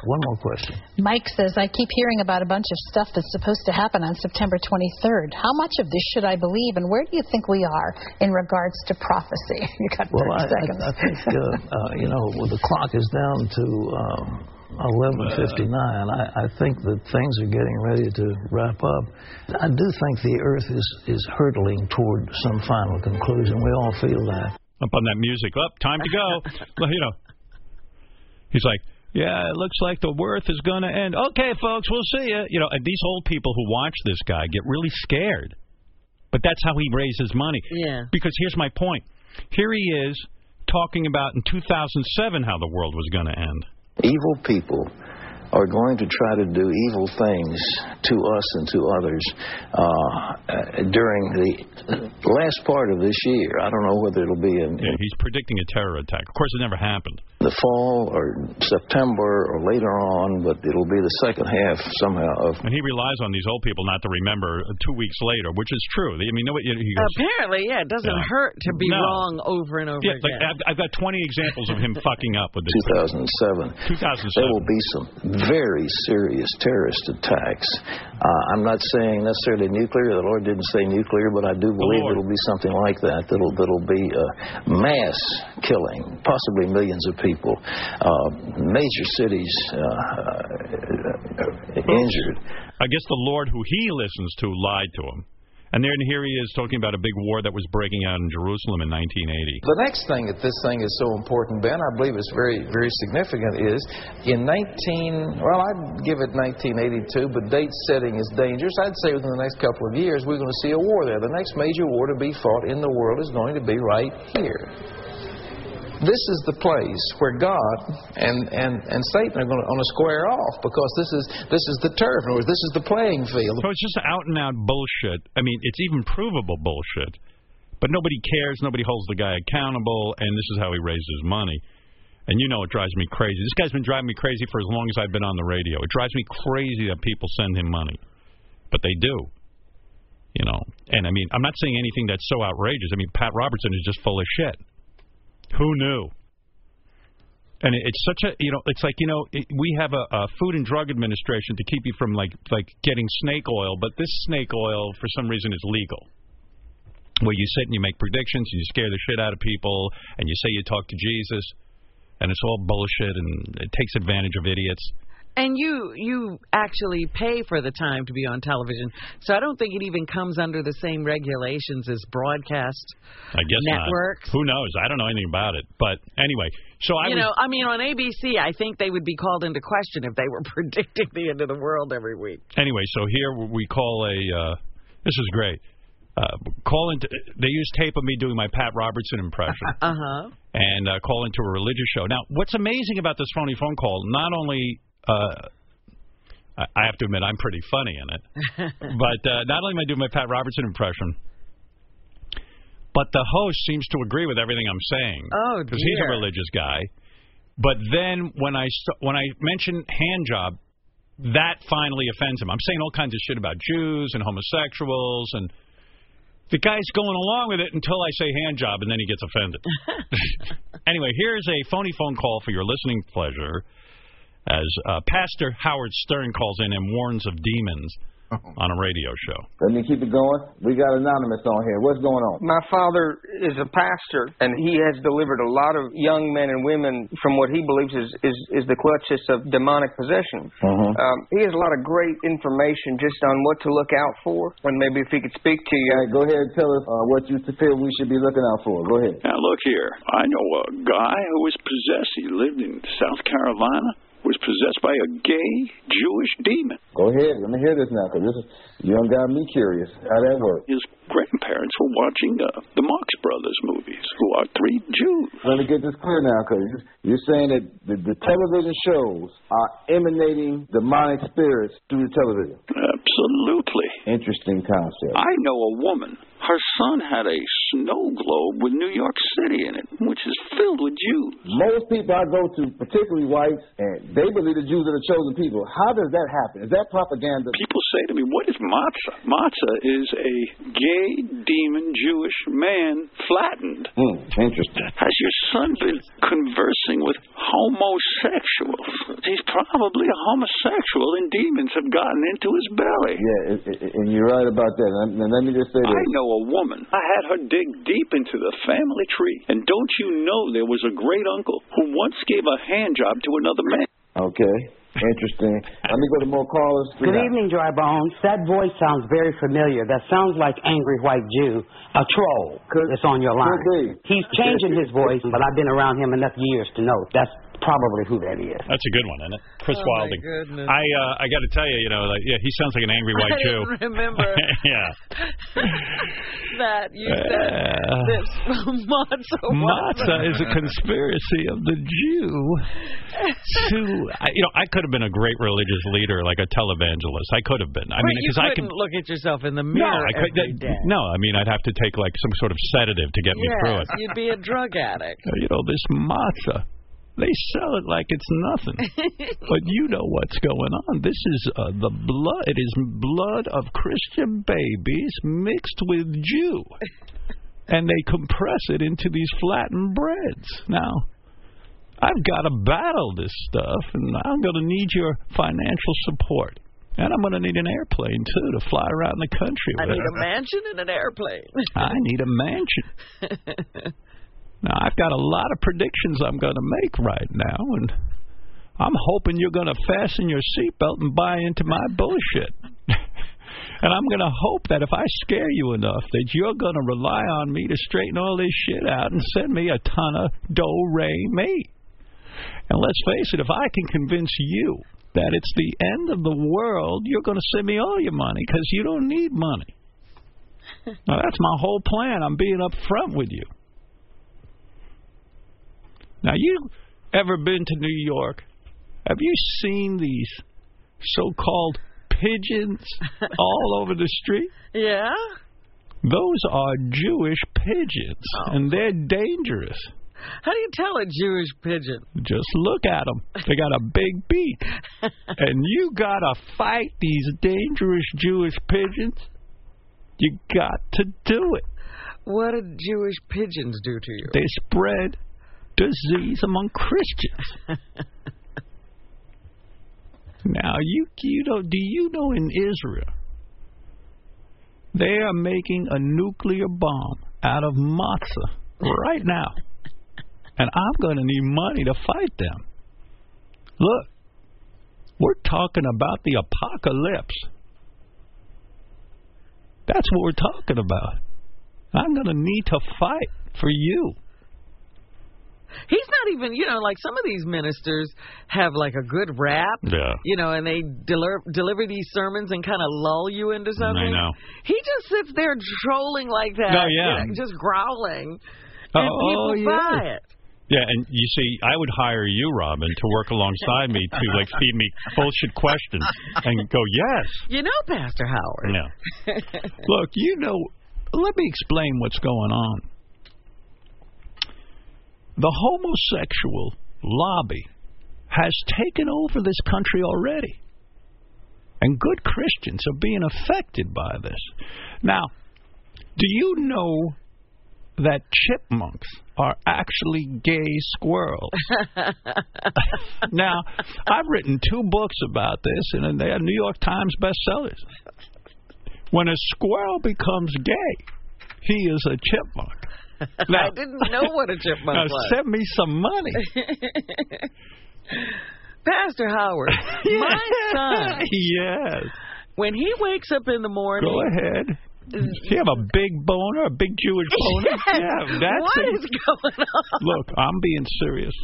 One more question. Mike says, I keep hearing about a bunch of stuff that's supposed to happen on September 23rd. How much of this should I believe, and where do you think we are in regards to prophecy? You got 30 seconds. I think, well, the clock is down to 11:59. I think that things are getting ready to wrap up. I do think the Earth is hurtling toward some final conclusion. We all feel that. Up on that music. Time to go. Well, he's like, yeah, it looks like the Earth is going to end. Okay, folks, we'll see you. And these old people who watch this guy get really scared. But that's how he raises money. Yeah. Because here's my point. Here he is talking about in 2007 how the world was going to end. Evil people are going to try to do evil things to us and to others during the last part of this year. I don't know whether it'll be in... Yeah, he's predicting a terror attack. Of course, it never happened. The fall or September or later on, but it'll be the second half somehow of... And he relies on these old people not to remember 2 weeks later, which is true. I mean, he goes, apparently, yeah, it doesn't hurt to be wrong over and over again. Like, I've got 20 examples of him fucking up with this. 2007. 2007. There will be some very serious terrorist attacks. I'm not saying necessarily nuclear. The Lord didn't say nuclear, but I do believe it'll be something like that. That'll be mass killing, possibly millions of people, major cities injured. I guess the Lord who he listens to lied to him. And then here he is talking about a big war that was breaking out in Jerusalem in 1980. The next thing that this thing is so important, Ben, I believe it's very, very significant, is in I'd give it 1982, but date setting is dangerous. I'd say within the next couple of years, we're going to see a war there. The next major war to be fought in the world is going to be right here. This is the place where God and Satan are going to square off, because this is the turf, or this is the playing field. So it's just out and out bullshit. I mean, it's even provable bullshit. But nobody cares. Nobody holds the guy accountable, and this is how he raises money. And it drives me crazy. This guy's been driving me crazy for as long as I've been on the radio. It drives me crazy that people send him money, but they do. And I mean, I'm not saying anything that's so outrageous. I mean, Pat Robertson is just full of shit. Who knew? And it's such a, it's like, we have a Food and Drug Administration to keep you from, like getting snake oil, but this snake oil, for some reason, is legal. Where you sit and you make predictions, and you scare the shit out of people, and you say you talk to Jesus, and it's all bullshit, and it takes advantage of idiots. And you actually pay for the time to be on television, so I don't think it even comes under the same regulations as broadcast networks. Not. Who knows? I don't know anything about it. But anyway, so on ABC, I think they would be called into question if they were predicting the end of the world every week. Anyway, so here we call this is great. They use tape of me doing my Pat Robertson impression. And call into a religious show. Now, what's amazing about this phony phone call, not only... I have to admit, I'm pretty funny in it. But not only am I doing my Pat Robertson impression, but the host seems to agree with everything I'm saying. Oh, dear. Because he's a religious guy. But then when I mention hand job, that finally offends him. I'm saying all kinds of shit about Jews and homosexuals, and the guy's going along with it until I say hand job, and then he gets offended. Anyway, here's a phony phone call for your listening pleasure, as Pastor Howard Stern calls in and warns of demons on a radio show. Let me keep it going. We got Anonymous on here. What's going on? My father is a pastor, and he has delivered a lot of young men and women from what he believes is the clutches of demonic possession. He has a lot of great information just on what to look out for, and maybe if he could speak to you. All right, go ahead and tell us what you feel we should be looking out for. Go ahead. Now, look here. I know a guy who was possessed. He lived in South Carolina. Was possessed by a gay Jewish demon. Go ahead. Let me hear this now, because you done got me curious. How that work? His grandparents were watching the Marx Brothers movies, who are 3 Jews. Let me get this clear now, because you're saying that the television shows are emanating demonic spirits through the television. Absolutely. Interesting concept. I know a woman. Her son had a snow globe with New York City in it, which is filled with Jews. Most people I go to, particularly whites, and they believe the Jews are the chosen people. How does that happen? Is that propaganda? People say to me, what is matzah? Matzah is a gay demon Jewish man flattened. Interesting. Has your son been conversing with homosexuals? He's probably a homosexual, and demons have gotten into his belly. Yeah, and you're right about that. Now, let me just say this. I know a woman. I had her dig deep into the family tree. And don't you know there was a great uncle who once gave a hand job to another man? Okay. Interesting. Let me go to more callers. Good evening, Dry Bones. That voice sounds very familiar. That sounds like Angry White Jew, a troll that's on your line. He's changing his voice, but I've been around him enough years to know that's probably who that is. That's a good one, isn't it? Chris Wilding. I got to tell you, he sounds like an angry white Jew. I didn't remember. Yeah. That you said this Matzah is a conspiracy of the Jew to, I could have been a great religious leader, like a televangelist. I could have been. I mean, because I could look at yourself in the mirror every day. No, I mean, I'd have to take like some sort of sedative to get me through it. You'd be a drug addict. This matzah. They sell it like it's nothing. But you know what's going on. This is the blood. It is blood of Christian babies mixed with Jew. And they compress it into these flattened breads. Now, I've got to battle this stuff, and I'm going to need your financial support. And I'm going to need an airplane, too, to fly around the country with. I need a mansion and an airplane. I need a mansion. Now, I've got a lot of predictions I'm going to make right now, and I'm hoping you're going to fasten your seatbelt and buy into my bullshit. And I'm going to hope that if I scare you enough that you're going to rely on me to straighten all this shit out and send me a ton of do-re-mi. And let's face it, if I can convince you that it's the end of the world, you're going to send me all your money because you don't need money. Now, that's my whole plan. I'm being up front with you. Now, you ever been to New York? Have you seen these so-called pigeons all over the street? Yeah. Those are Jewish pigeons, and they're dangerous. How do you tell a Jewish pigeon? Just look at them. They got a big beak. And you got to fight these dangerous Jewish pigeons. You got to do it. What do Jewish pigeons do to you? They spread disease among Christians. Now, do you know in Israel, they are making a nuclear bomb out of matzah right now. And I'm going to need money to fight them. Look, we're talking about the apocalypse. That's what we're talking about. I'm going to need to fight for you. He's not even, like some of these ministers have like a good rap, and they deliver these sermons and kind of lull you into something. I know. He just sits there trolling like that, just growling, and people buy it. Yeah, and you see, I would hire you, Robin, to work alongside me to feed me bullshit questions and go, yes. Pastor Howard. Yeah. Look, let me explain what's going on. The homosexual lobby has taken over this country already. And good Christians are being affected by this. Now, do you know that chipmunks are actually gay squirrels? Now, I've written 2 books about this, and they are New York Times bestsellers. When a squirrel becomes gay, he is a chipmunk. Now, I didn't know what a chipmunk was. Send me some money. Pastor Howard, my son. Yes. When he wakes up in the morning. Go ahead. Do you have a big boner, a big Jewish boner? Yes. Yeah, that's What is going on? Look, I'm being serious.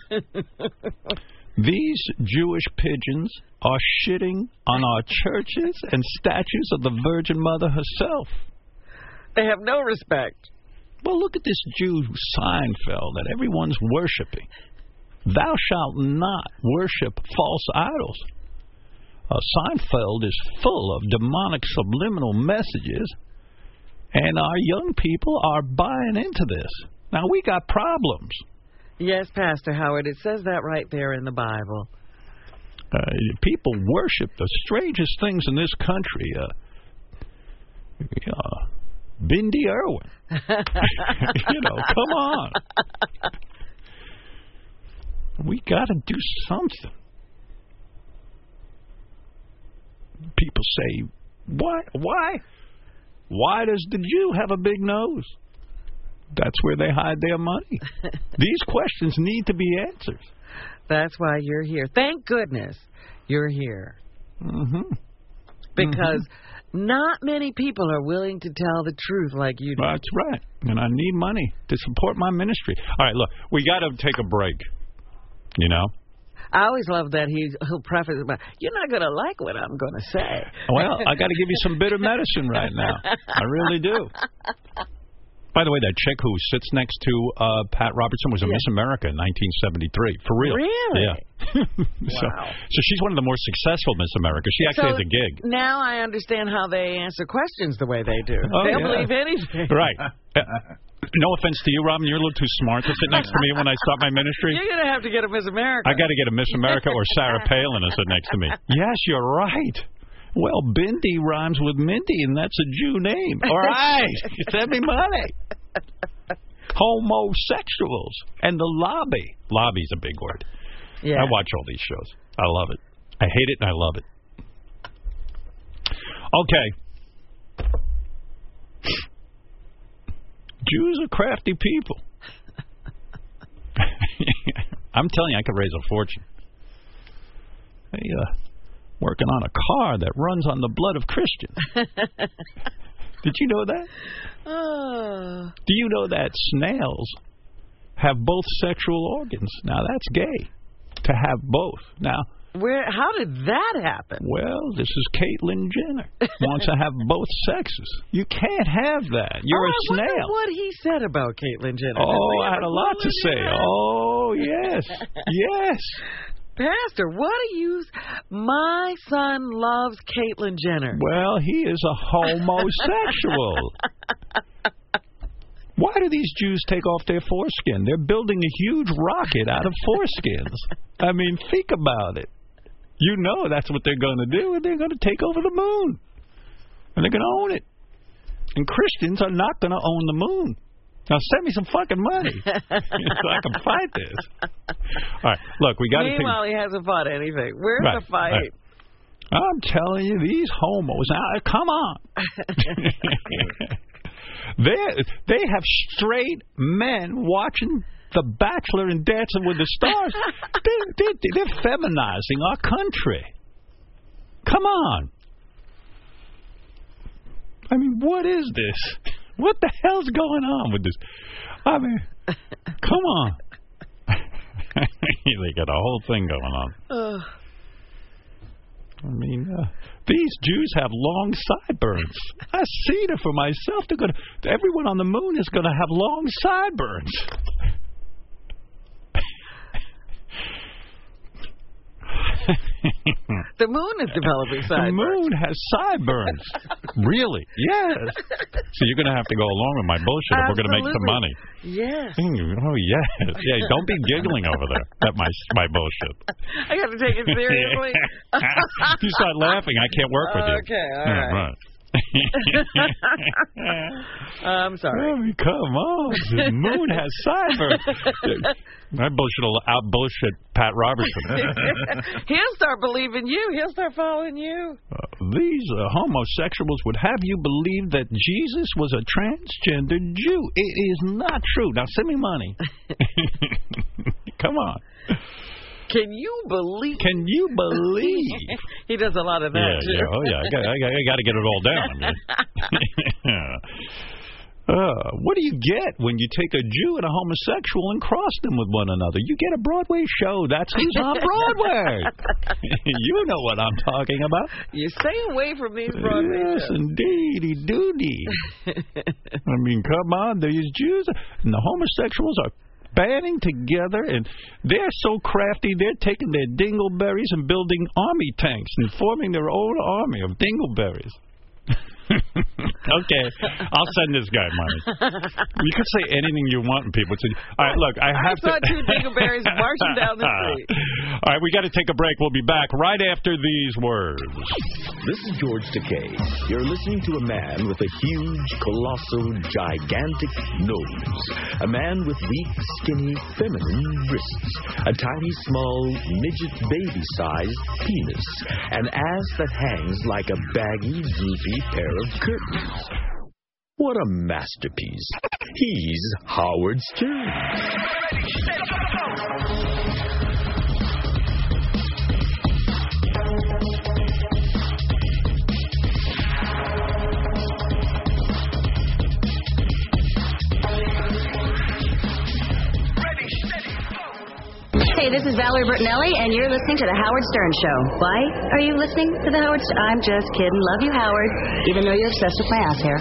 These Jewish pigeons are shitting on our churches and statues of the Virgin Mother herself. They have no respect. Well, look at this Jew Seinfeld that everyone's worshiping. Thou shalt not worship false idols. Seinfeld is full of demonic subliminal messages, and our young people are buying into this. Now, we got problems. Yes, Pastor Howard, it says that right there in the Bible. People worship the strangest things in this country. Bindi Irwin. You know, come on. We got to do something. People say, why? Why does the Jew have a big nose? That's where they hide their money. These questions need to be answered. That's why you're here. Thank goodness you're here. Mm-hmm. Because not many people are willing to tell the truth like you do. That's right. And I need money to support my ministry. All right, look, we got to take a break. You know? I always love that he'll preface it by, you're not going to like what I'm going to say. Well, I got to give you some bitter medicine right now. I really do. By the way, that chick who sits next to Pat Robertson was a Miss America in 1973. For real. Really? Yeah. So she's one of the more successful Miss America. She actually has a gig. Now I understand how they answer questions the way they do. They'll believe anything. Right. No offense to you, Robin. You're a little too smart to sit next to me when I start my ministry. You're going to have to get a Miss America. I got to get a Miss America or Sarah Palin to sit next to me. Yes, you're right. Well, Bindi rhymes with Mindy, and that's a Jew name. All right. Send me money. Homosexuals and the lobby. Lobby's a big word. Yeah. I watch all these shows. I love it. I hate it and I love it. Okay. Jews are crafty people. I'm telling you, I could raise a fortune. Hey, working on a car that runs on the blood of Christians. Did you know that? Do you know that snails have both sexual organs? Now, that's gay, to have both. Now, how did that happen? Well, this is Caitlyn Jenner. Wants to have both sexes. You can't have that. You're a snail. I wonder what he said about Caitlyn Jenner. Oh, I had a lot to say. Oh, yes. Yes. Pastor, what do you... My son loves Caitlyn Jenner. Well, he is a homosexual. Why do these Jews take off their foreskin? They're building a huge rocket out of foreskins. I mean, think about it. You know that's what they're going to do, and they're going to take over the moon. And they're going to own it. And Christians are not going to own the moon. Now, send me some fucking money so I can fight this. All right, look, we got to... Meanwhile, he hasn't fought anything. Where's the fight? Right. I'm telling you, these homos... Now, come on. They have straight men watching The Bachelor and Dancing with the Stars. They're feminizing our country. Come on. I mean, what is this? What the hell's going on with this? I mean, come on. They got a whole thing going on. I mean, these Jews have long sideburns. I've seen it for myself. Everyone on the moon is going to have long sideburns. The moon is developing sideburns. The moon has sideburns. Really? Yes. So you're going to have to go along with my bullshit if we're going to make some money. Yes. Oh, yes. Yeah, don't be giggling over there at my bullshit. I got to take it seriously. If you start laughing, I can't work with you. Okay, all right. I'm sorry. I mean, come on. The moon has sideburns. My bullshit will out-bullshit Pat Robertson. He'll start believing you. He'll start following you. These homosexuals would have you believe that Jesus was a transgender Jew. It is not true. Now, send me money. Come on. Can you believe? Can you believe? He does a lot of that, too. Yeah, oh, yeah. I got to get it all down. What do you get when you take a Jew and a homosexual and cross them with one another? You get a Broadway show. That's who's on Broadway. You know what I'm talking about. You stay away from these Broadway shows. Yes, indeedy doody. I mean, come on. These Jews and the homosexuals are banding together, and they're so crafty, they're taking their dingleberries and building army tanks and forming their own army of dingleberries. Okay, I'll send this guy money. You can say anything you want, and people say, all right, look, I saw two dingleberries marching down the street. All right, we got to take a break. We'll be back right after these words. This is George Takei. You're listening to a man with a huge, colossal, gigantic nose. A man with weak, skinny, feminine wrists. A tiny, small, midget baby-sized penis. An ass that hangs like a baggy, droopy pair of curtains. What a masterpiece. He's Howard Stern. Hey, this is Valerie Bertinelli, and you're listening to The Howard Stern Show. Why are you listening to The Howard Stern? I'm just kidding. Love you, Howard, even though you're obsessed with my ass hair.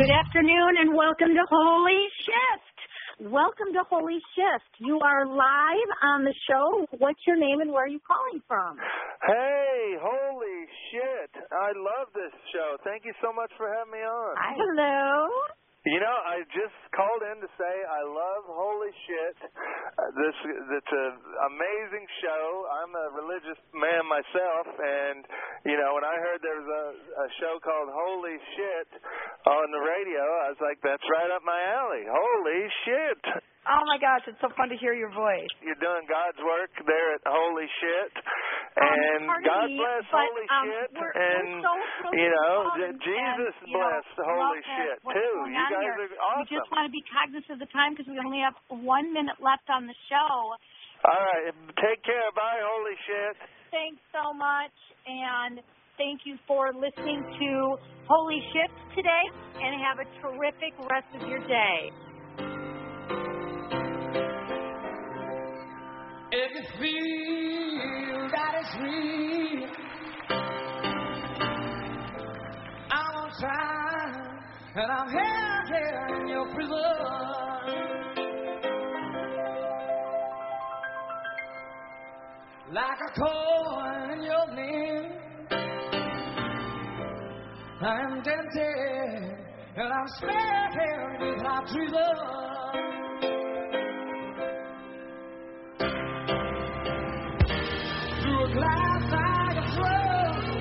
Good afternoon and welcome to Holy Shift. Welcome to Holy Shift. You are live on the show. What's your name and where are you calling from? Hey, holy shit. I love this show. Thank you so much for having me on. Hello. You know, I just called in to say I love Holy Shit. It's an amazing show. I'm a religious man myself, and, you know, when I heard there was a show called Holy Shit on the radio, I was like, that's right up my alley. Holy shit. Oh, my gosh, it's so fun to hear your voice. You're doing God's work there at Holy Shit. And God bless Holy Shit. And, you know, Jesus bless Holy Shit, too. You guys are awesome. We just want to be cognizant of the time because we only have 1 minute left on the show. All right. Take care. Bye, Holy Shit. Thanks so much. And thank you for listening to Holy Shift today. And have a terrific rest of your day. If you feel that it's real, I'm on time, and I'm here in your prison. Like a coin in your name, I am tempted, and I'm spared with my treason. Glass I can throw.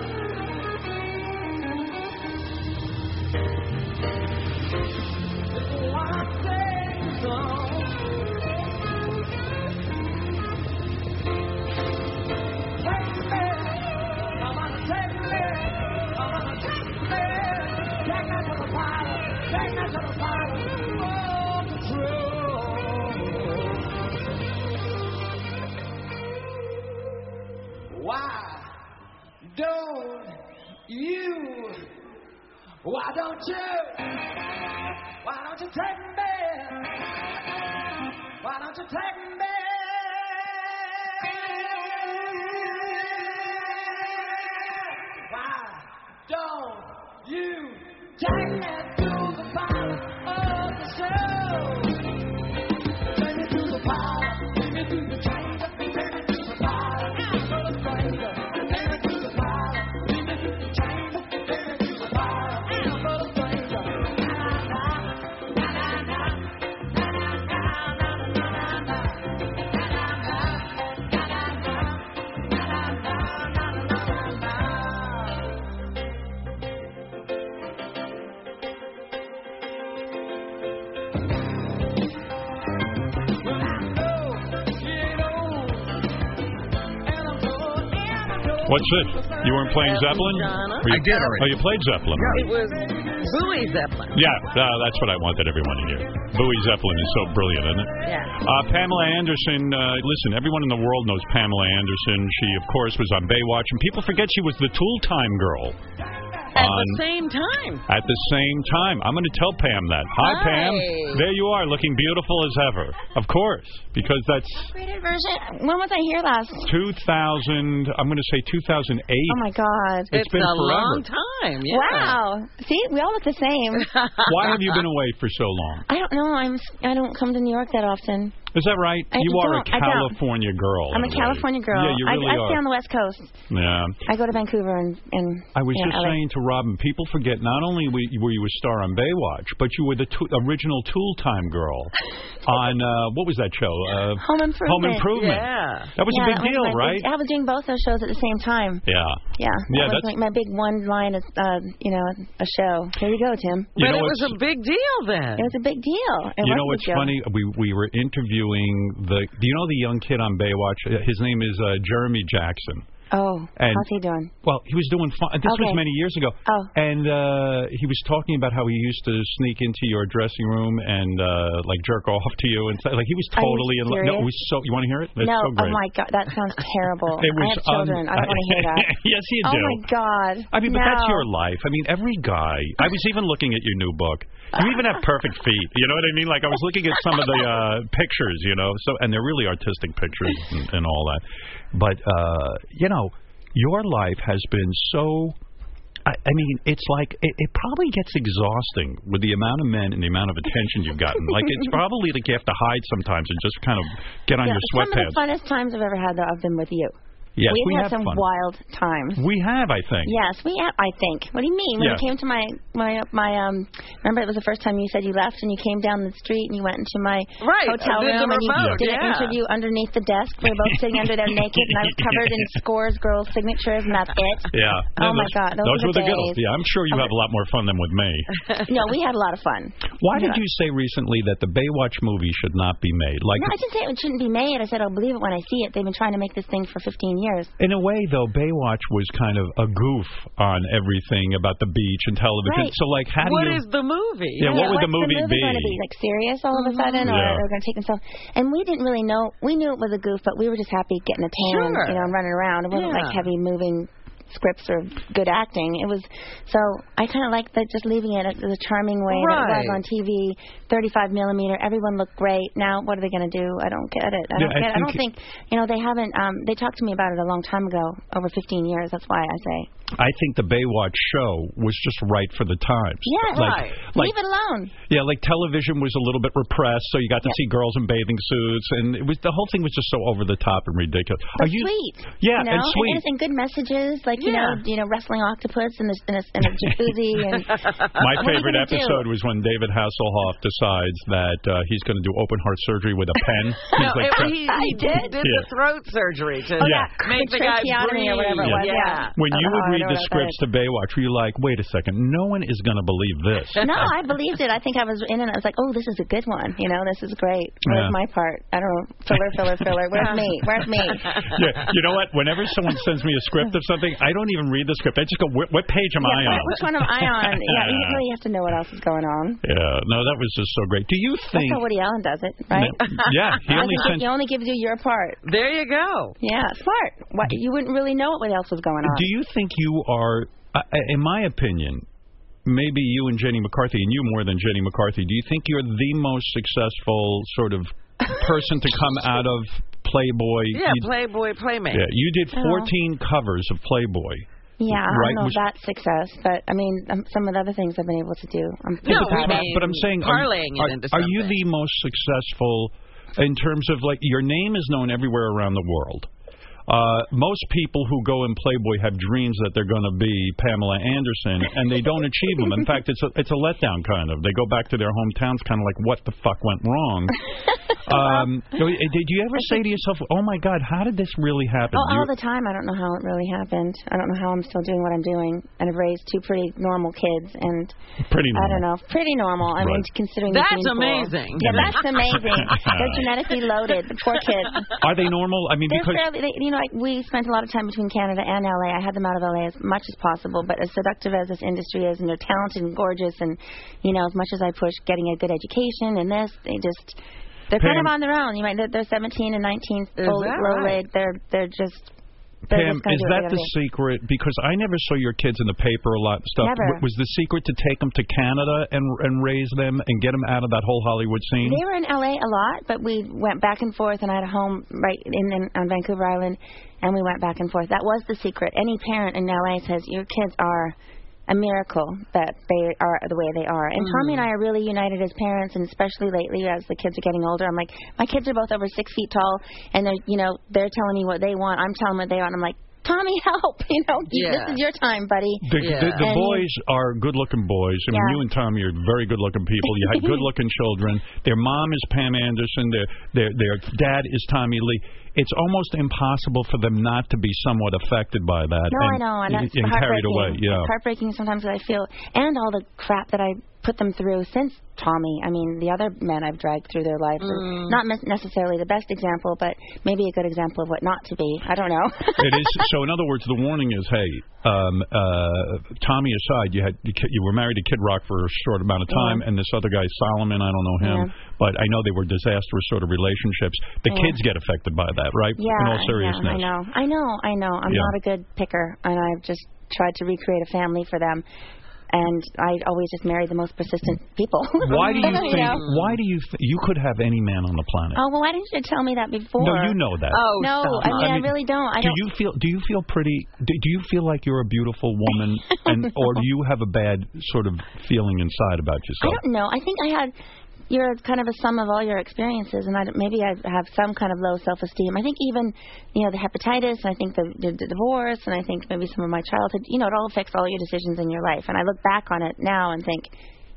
It's one thing song. Take me, I'm gonna take me, I'm gonna take me. Take me to the pilot, take me to the pilot. Oh, control. Why don't you take me? Why don't you take me? Why don't you take me to the bottom of the show? Take me to the bottom, take me to the train, take me to the bottom of the stranger. Take me to the bottom, take me to the train, take me to the bottom of the stranger. What's it? You weren't playing Zeppelin? I did already. Oh, you played Zeppelin. Yeah. It was Bowie Zeppelin. Yeah, that's what I wanted everyone to hear. Bowie Zeppelin is so brilliant, isn't it? Yeah. Pamela Anderson, listen, everyone in the world knows Pamela Anderson. She, of course, was on Baywatch, and people forget she was the Tool Time girl. At the same time. At the same time. I'm going to tell Pam that. Hi, Pam. There you are, looking beautiful as ever. Of course, because that's... Upgraded version. When was I here last? 2000, I'm going to say 2008. Oh, my God. It's been a forever. long time. Yeah. Wow. See, we all look the same. Why have you been away for so long? I don't know. I don't come to New York that often. Is that right? You are a California girl. I'm a California girl. Yeah, you really I stay on the West Coast. Yeah. I go to Vancouver and I was just LA. saying to Robin, people forget not only were you a star on Baywatch, but you were the original Tool Time girl on, what was that show? Home Improvement. Home Improvement. Yeah. That was a big deal, right? I was doing both those shows at the same time. Yeah. Yeah. Yeah, that was like my big one line, a show. Here you go, Tim. But it was a big deal then. It was a big deal. You know what's funny? We were interviewing do you know the young kid on Baywatch? His name is Jeremy Jackson. Oh, how's he doing? Well, he was doing fine. This was many years ago. Oh. And he was talking about how he used to sneak into your dressing room and like jerk off to you and stuff. Like he was totally in love. No, it was so. You want to hear it? It's no. So great. Oh my God, that sounds terrible. I have children. I don't want to hear that. Yes, you do. Oh my God. I mean, but that's your life. I mean, every guy. I was even looking at your new book. You even have perfect feet. You know what I mean? Like I was looking at some of the pictures. You know, and they're really artistic pictures and all that. But you know. Your life has been so I mean, it's like, it probably gets exhausting with the amount of men and the amount of attention you've gotten. Like, it's probably like you have to hide sometimes and just kind of get on your sweatpants. Some of the funnest times I've ever had, though, I've been with you. Yes, We've had some fun. wild times. We have, I think. Yes, we have, I think. What do you mean? When you came to my remember it was the first time you said you left and you came down the street and you went into my hotel room and you did an interview underneath the desk. We were both sitting under there naked and I was covered in scores girls' signatures and that's it. Yeah. Oh my God, those were the good ones. Yeah, I'm sure you have a lot more fun than with me. No, we had a lot of fun. Why did you say recently that the Baywatch movie should not be made? Like, no, I didn't say it shouldn't be made. I said I'll believe it when I see it. They've been trying to make this thing for 15 years. In a way, though, Baywatch was kind of a goof on everything about the beach and television. Right. So, like, how do you... What is the movie? Yeah, what would the movie be? Going to be like serious all of a sudden, or they're going to take themselves? And we didn't really know. We knew it was a goof, but we were just happy getting a tan, you know, and running around. It wasn't like heavy moving scripts or good acting. It was so I kind of like just leaving it as a charming way that it was on TV. 35 millimeter. Everyone looked great. Now what are they going to do? I don't get it. I don't think you know they haven't. They talked to me about it a long time ago, over 15 years. That's why I say. I think the Baywatch show was just right for the times. Yeah, like, leave it alone. Yeah, like television was a little bit repressed, so you got to see girls in bathing suits, and it was the whole thing was just so over the top and ridiculous. But sweet. Yeah, you know? and sweet. And good messages, like you know, wrestling octopus in a jacuzzi. And my favorite episode was when David Hasselhoff decides that he's going to do open heart surgery with a pen. He did the throat surgery to make the guy breathe. Or whatever it was. Yeah. When you would read the scripts to Baywatch, were you like, wait a second, no one is going to believe this? No, I believed it. I think I was in it. I was like, oh, this is a good one. You know, this is great. Where's my part? I don't know. Filler. Where's me? Yeah. You know what? Whenever someone sends me a script of something, I don't even read the script. I just go, what page am I on? Which one am I on? Yeah, you really have to know what else is going on. Yeah. No, that was just so great. Do you think... That's how Woody Allen does it, right? Yeah. He only gives you your part. There you go. Yeah, smart. You wouldn't really know what else was going on. Do you think you are, in my opinion, maybe you and Jenny McCarthy, and you more than Jenny McCarthy, do you think you're the most successful sort of person to come out of Playboy? Yeah, Playboy Playmate. Yeah, you did 14 covers of Playboy. Yeah, I don't know if that's success, but I mean, some of the other things I've been able to do. But I'm saying, parlaying it into something. Are you the most successful in terms of, like, your name is known everywhere around the world? Most people who go in Playboy have dreams that they're going to be Pamela Anderson, and they don't achieve them. In fact, it's a letdown, kind of. They go back to their hometowns kind of like, what the fuck went wrong? Did you ever say to yourself, oh, my God, how did this really happen? All the time. I don't know how it really happened. I don't know how I'm still doing what I'm doing. And I've raised two pretty normal kids. And pretty normal. I don't know. Pretty normal. I mean, considering that's amazing. Yeah, that's amazing. They're genetically loaded. The poor kids. Are they normal? I mean, because we spent a lot of time between Canada and LA. I had them out of LA as much as possible, but as seductive as this industry is, and they're talented and gorgeous, and you know, as much as I push getting a good education and this, they're kind of on their own. They're 17 and 19, low-laid. They're just. Pam, is that the secret? Because I never saw your kids in the paper a lot. Never. Was the secret to take them to Canada and raise them and get them out of that whole Hollywood scene? They were in LA a lot, but we went back and forth, and I had a home right on Vancouver Island, and we went back and forth. That was the secret. Any parent in LA says, your kids are a miracle that they are the way they are. And Tommy and I are really united as parents, and especially lately as the kids are getting older. I'm like, my kids are both over 6 feet tall, and they're telling me what they want. I'm telling them what they want. I'm like, Tommy, help! This is your time, buddy. The boys are good-looking boys. I mean, you and Tommy are very good-looking people. You had good-looking children. Their mom is Pam Anderson. Their dad is Tommy Lee. It's almost impossible for them not to be somewhat affected by that. No, I know, and that's carried away. Yeah, it's heartbreaking sometimes. I feel, and all the crap that I put them through since Tommy. I mean, the other men I've dragged through their lives are not necessarily the best example, but maybe a good example of what not to be. I don't know. It is. So, in other words, the warning is, hey, Tommy aside, you were married to Kid Rock for a short amount of time, and this other guy, Solomon, I don't know him, but I know they were disastrous sort of relationships. The kids get affected by that, right? Yeah, in all seriousness. Yeah, I know. I'm not a good picker, and I've just tried to recreate a family for them. And I always just married the most persistent people. Why do you think? Why do you you could have any man on the planet? Oh well, why didn't you tell me that before? No, you know that. Oh no, I mean I really don't. Do you feel pretty? Do you feel like you're a beautiful woman, or do you have a bad sort of feeling inside about yourself? I don't know. I think I had. You're kind of a sum of all your experiences, and maybe I have some kind of low self-esteem. I think even, the hepatitis, and I think the divorce, and I think maybe some of my childhood, it all affects all your decisions in your life. And I look back on it now and think,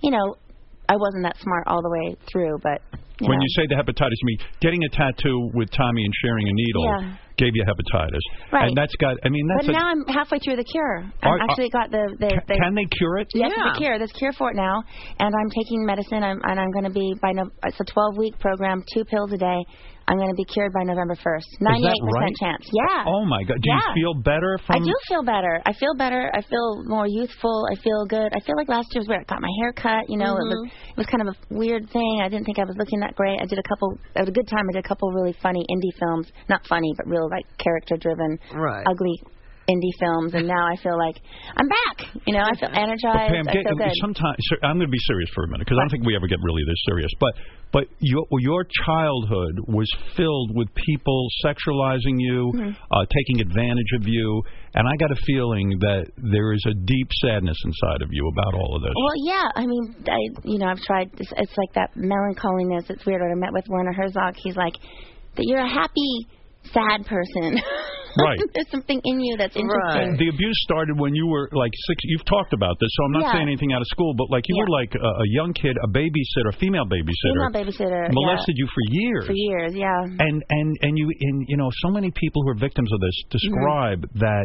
I wasn't that smart all the way through, but... When you say the hepatitis, you mean getting a tattoo with Tommy and sharing a needle gave you hepatitis. Right. And that's got, that's... But now I'm halfway through the cure. I've actually got the can they cure it? Yes, the cure. There's a cure for it now. And I'm taking medicine, and I'm going to be, it's a 12-week program, 2 pills a day. I'm going to be cured by November 1st. 98% right? chance. Yeah. Oh, my God. Do you feel better from... I do feel better. I feel better. I feel more youthful. I feel good. I feel like last year was where I got my hair cut. It was kind of a weird thing. I didn't think I was looking that great. I had a good time. I did a couple really funny indie films. Not funny, but real, character-driven, ugly indie films, and now I feel like I'm back. I feel energized. Pam, I feel good. Sometimes I'm going to be serious for a minute because I don't think we ever get really this serious. But your childhood was filled with people sexualizing you, taking advantage of you, and I got a feeling that there is a deep sadness inside of you about all of this. Well, yeah. I mean, I've tried. It's like that melancholiness. It's weird. When I met with Werner Herzog, he's like, that you're a happy, sad person. Right. There's something in you that's interesting. Right. The abuse started when you were like 6. You've talked about this, so I'm not saying anything out of school, but you were like a young kid, a babysitter, a female babysitter. Molested you for years. For years, yeah. And so many people who are victims of this describe that.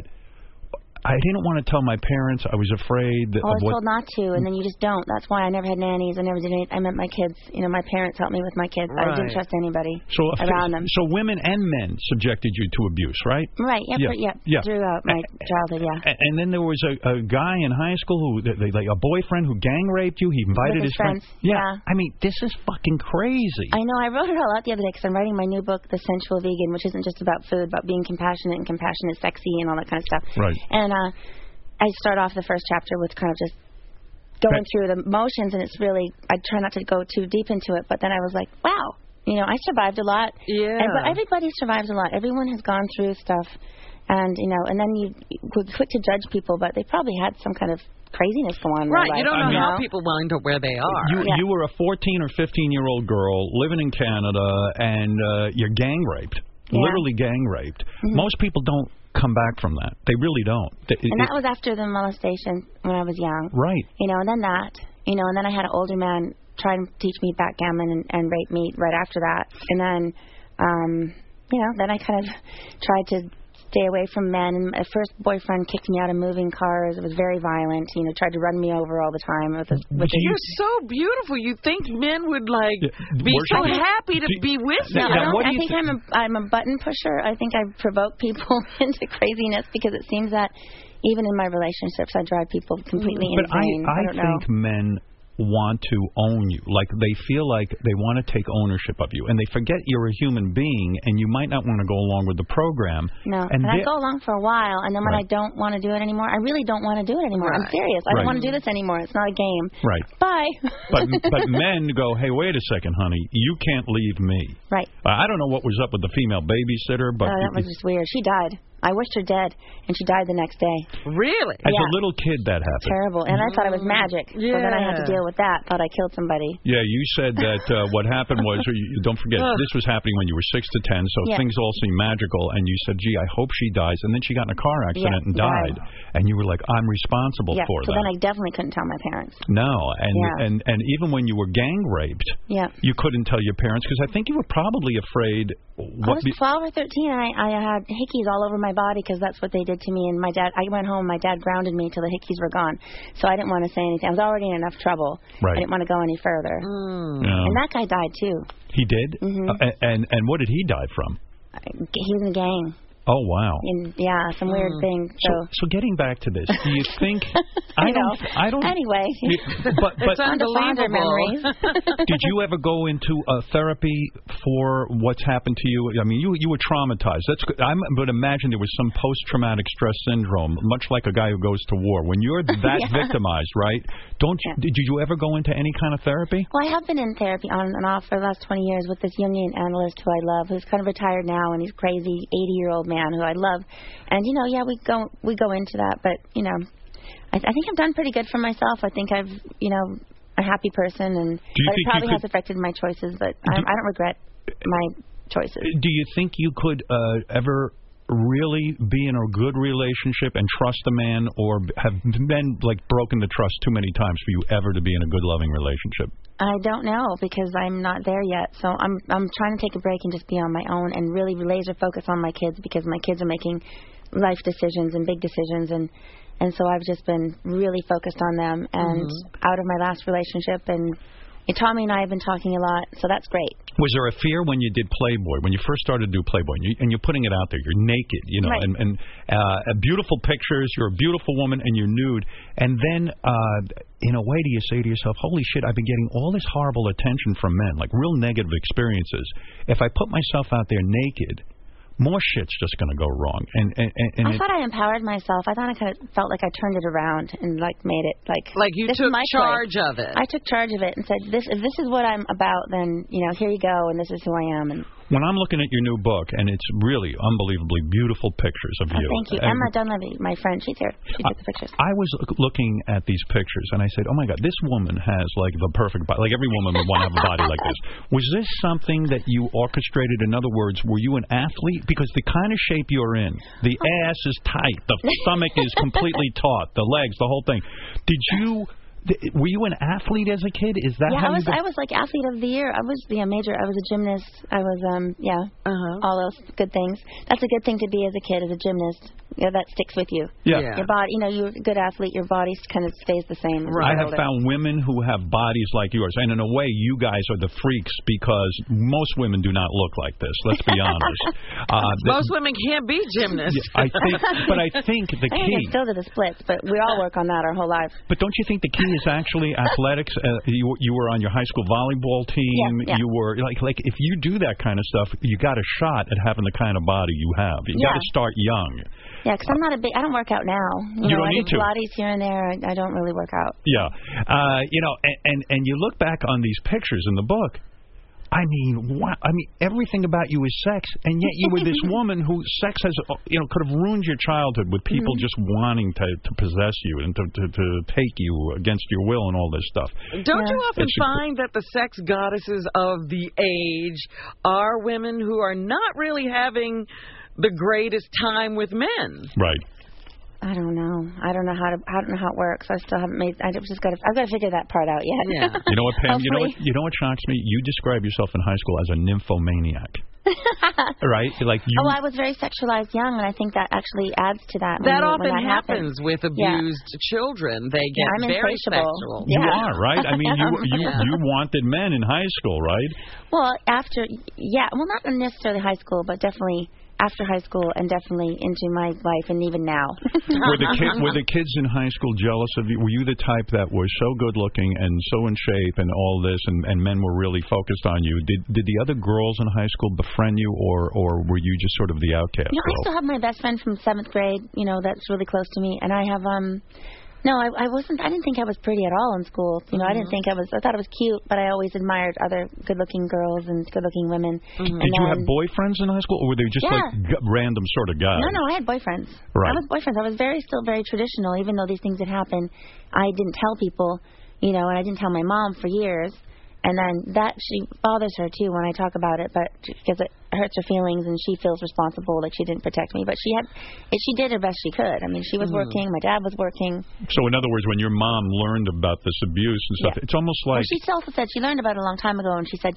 I didn't want to tell my parents. I was afraid. I was told not to, and then you just don't. That's why I never had nannies. I never did anything. I met my kids. My parents helped me with my kids. I didn't trust anybody around them. So women and men subjected you to abuse, right? Right. Yeah. Throughout my childhood, yeah. And then there was a guy in high school who, a boyfriend who gang raped you. He invited his friends. Yeah. I mean, this is fucking crazy. I know. I wrote it all out the other day because I'm writing my new book, The Sensual Vegan, which isn't just about food, but being compassionate, and compassion is sexy and all that kind of stuff. Right. And I start off the first chapter with kind of just going through the motions, and it's really, I try not to go too deep into it, but then I was like, wow, I survived a lot. Yeah. But everybody survives a lot. Everyone has gone through stuff, and, and then you quick to judge people, but they probably had some kind of craziness go on in their life. You don't know how people wind up where they are. You were a 14 or 15-year-old girl living in Canada, and you're gang raped, literally gang raped. Most people don't come back from that. They really don't. And that was after the molestation when I was young. Right. And then that, and then I had an older man try to teach me backgammon and rape me right after that. And then, then I kind of tried to stay away from men. And my first boyfriend kicked me out of moving cars. It was very violent. Tried to run me over all the time. You're so beautiful. You think men would be so happy to be with you? I think I'm a button pusher. I think I provoke people into craziness because it seems that even in my relationships, I drive people completely insane. But I think men want to own you. They feel like they want to take ownership of you, and they forget you're a human being, and you might not want to go along with the program. No, and I go along for a while, and then when I don't want to do it anymore, I really don't want to do it anymore. I'm serious. I don't want to do this anymore. It's not a game. Right. Bye. But men go, hey, wait a second, honey. You can't leave me. Right. I don't know what was up with the female babysitter, but... that was just weird. She died. I wished her dead, and she died the next day. Really? As a little kid, that happened. Terrible. And I thought it was magic. Yeah. So then I had to deal with that. Thought I killed somebody. Yeah, you said that what happened was, don't forget, this was happening when you were 6 to 10, so things all seemed magical, and you said, gee, I hope she dies. And then she got in a car accident and died. And you were like, I'm responsible for that. So then I definitely couldn't tell my parents. No. And even when you were gang raped, you couldn't tell your parents, because I think you were probably afraid... I was 12 or 13, and I had hickeys all over my body because that's what they did to me. And my dad, I went home, my dad grounded me till the hickeys were gone. So I didn't want to say anything. I was already in enough trouble. Right. I didn't want to go any further. And that guy died, too. He did? And what did he die from? He was in a gang. Oh, wow. And, yeah, some weird things. So getting back to this, do you think... I don't... Anyway. But it's unbelievable. Did you ever go into therapy for what's happened to you? I mean, you were traumatized. That's good. I would imagine there was some post-traumatic stress syndrome, much like a guy who goes to war. When you're that victimized, right? Did you ever go into any kind of therapy? Well, I have been in therapy on and off for the last 20 years with this Jungian analyst who I love, who's kind of retired now, and he's crazy 80-year-old man who I love. And, we go into that. But, I think I've done pretty good for myself. I think I've, a happy person. And but it probably has affected my choices, but I don't regret my choices. Do you think you could ever really be in a good relationship and trust a man, or have men broken the trust too many times for you ever to be in a good, loving relationship? I don't know, because I'm not there yet. So I'm trying to take a break and just be on my own and really laser focus on my kids, because my kids are making life decisions and big decisions, and so I've just been really focused on them and out of my last relationship. And Tommy and I have been talking a lot, so that's great. Was there a fear when you did Playboy, when you first started to do Playboy, and you're putting it out there, you're naked, right. and beautiful pictures, you're a beautiful woman, and you're nude, and then in a way do you say to yourself, holy shit, I've been getting all this horrible attention from men, like real negative experiences. If I put myself out there naked, more shit's just going to go wrong. And I thought I empowered myself. I thought I kind of felt like I turned it around and made it like you took charge of it. I took charge of it and said, if this is what I'm about, then here you go, and this is who I am. And when I'm looking at your new book, and it's really unbelievably beautiful pictures of you. Thank you. Emma Dunleavy, my friend, she's here. She took the pictures. I was looking at these pictures, and I said, oh, my God, this woman has, the perfect body. Like, every woman would want to have a body like this. Was this something that you orchestrated? In other words, were you an athlete? Because the kind of shape you're in, the ass is tight, the stomach is completely taut, the legs, the whole thing. Were you an athlete as a kid? Is that how I was like athlete of the year. I was major. I was a gymnast. I was all those good things. That's a good thing to be as a kid, as a gymnast. That sticks with you. Yeah. Your body, you're a good athlete. Your body kind of stays the same. Right. I have found women who have bodies like yours, and in a way, you guys are the freaks, because most women do not look like this. Let's be honest. Most women can't be gymnasts. I think the key. I still do the splits, but we all work on that our whole life. But don't you think the key is actually athletics? You were on your high school volleyball team. Yeah. You were like if you do that kind of stuff, you got a shot at having the kind of body you have. You got to start young. Yeah, because I don't work out now. You don't I need do to. Pilates here and there. I don't really work out. Yeah. And you look back on these pictures in the book. I mean, wow. I mean, everything about you is sex, and yet you were this woman who sex has, could have ruined your childhood with people just wanting to possess you and to take you against your will and all this stuff. Don't you often find that the sex goddesses of the age are women who are not really having the greatest time with men? Right. I don't know. I don't know how it works. I still haven't I've got to figure that part out yet. Yeah. You know what, Pam? You know what shocks me? You describe yourself in high school as a nymphomaniac. Right? I was very sexualized young, and I think that actually adds to that. That often happens with abused children. They get very sexual. You are, right? I mean, you wanted men in high school, right? Well, not necessarily high school, but definitely after high school and definitely into my life and even now. Were the kids in high school jealous of you? Were you the type that was so good looking and so in shape and all this, and men were really focused on you? Did the other girls in high school befriend you, or were you just sort of the outcast girl? I still have my best friend from 7th grade, that's really close to me, and I have No, I wasn't. I didn't think I was pretty at all in school. I didn't think I thought it was cute, but I always admired other good-looking girls and good-looking women. Did you have boyfriends in high school, or were they just random sort of guys? No, I had boyfriends. Right. I was boyfriends. I was still very traditional, even though these things had happened. I didn't tell people, and I didn't tell my mom for years. And then she bothers her, too, when I talk about it, but because it hurts her feelings and she feels responsible, like she didn't protect me. But she did her best she could. I mean, she was working. My dad was working. So, in other words, when your mom learned about this abuse and stuff, it's almost like... Well, she also said she learned about it a long time ago, and she said, just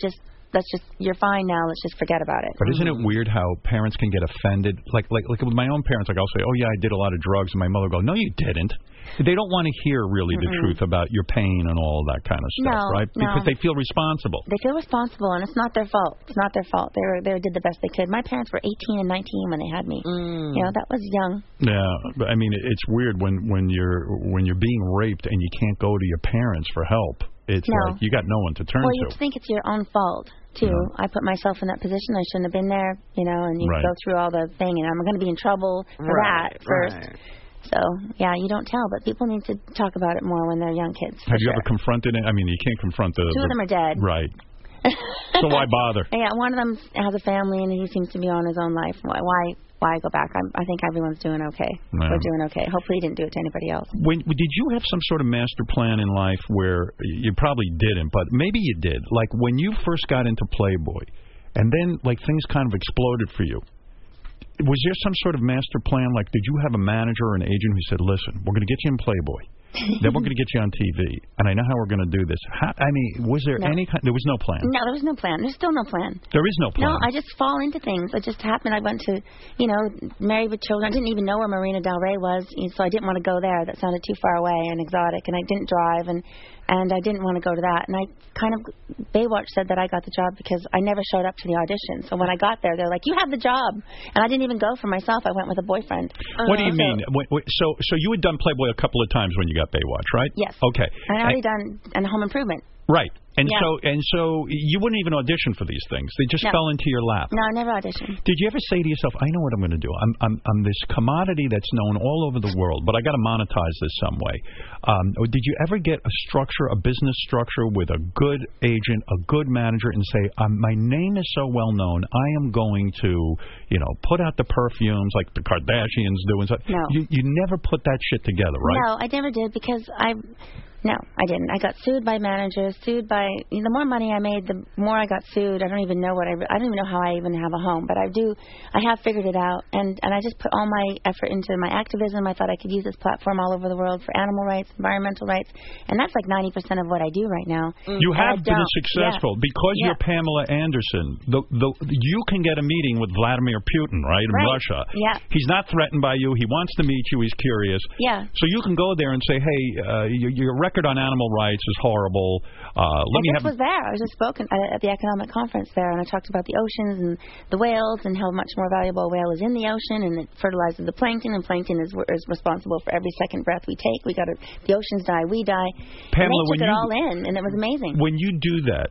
you're fine now. Let's just forget about it. But isn't it weird how parents can get offended? Like with my own parents, like I'll say, oh yeah, I did a lot of drugs, and my mother will go, no, you didn't. They don't want to hear really the truth about your pain and all that kind of stuff, right? Because they feel responsible. They feel responsible, and it's not their fault. It's not their fault. They did the best they could. My parents were 18 and 19 when they had me. You know, that was young. Yeah, but I mean, it's weird when you're being raped and you can't go to your parents for help. It's like you got no one to turn to. Well, you'd think it's your own fault too. I put myself in that position. I shouldn't have been there, you know. And you go through all the thing, and I'm going to be in trouble for that first. So, yeah, you don't tell, but people need to talk about it more when they're young kids. Have you ever confronted it? I mean, you can't confront the... Two of them are dead. Right. So why bother? Yeah, one of them has a family, and he seems to be on his own life. Why go back? I think everyone's doing okay. We're doing okay. Hopefully he didn't do it to anybody else. Did you have some sort of master plan in life where you probably didn't, but maybe you did? Like when you first got into Playboy, and then like things kind of exploded for you. Was there some sort of master plan? Like, did you have a manager or an agent who said, listen, we're going to get you in Playboy. Then we're going to get you on TV. And I know how we're going to do this. I mean, was there any kind... There was no plan. No, there was no plan. There's still no plan. There is no plan. No, I just fall into things. It just happened. I went to, you know, Married with Children. I didn't even know where Marina Del Rey was, so I didn't want to go there. That sounded too far away and exotic. And I didn't drive, and I didn't want to go to that. And I kind of... Baywatch said that I got the job because I never showed up to the audition. So when I got there, they're like, you have the job. And I didn't even go for myself. I went with a boyfriend. What do you mean? So you had done Playboy a couple of times when you got Baywatch, right? Yes. Okay. And I already done Home Improvement. Right. And so you wouldn't even audition for these things. They just fell into your lap. No, I never auditioned. Did you ever say to yourself, I know what I'm going to do. I'm this commodity that's known all over the world, but I got to monetize this some way. Did you ever get a business structure with a good agent, a good manager, and say, my name is so well known, I am going to, you know, put out the perfumes like the Kardashians do and stuff. No. You never put that shit together, right? No, I never did because No, I didn't. I got sued by managers, sued by... The more money I made, the more I got sued. I don't even know I don't even know how I even have a home, but I have figured it out, and I just put all my effort into my activism. I thought I could use this platform all over the world for animal rights, environmental rights, and that's like 90% of what I do right now. You have been successful because you're Pamela Anderson. You can get a meeting with Vladimir Putin, right, in Russia. Yeah. He's not threatened by you. He wants to meet you. He's curious. Yeah. So you can go there and say, hey, your record on animal rights is horrible. I was there. I was just spoken at the economic conference there, and I talked about the oceans and the whales and how much more valuable a whale is in the ocean, and it fertilizes the plankton, and plankton is responsible for every second breath we take. The oceans die, we die. Pamela, and they took it all in, and it was amazing. When you do that,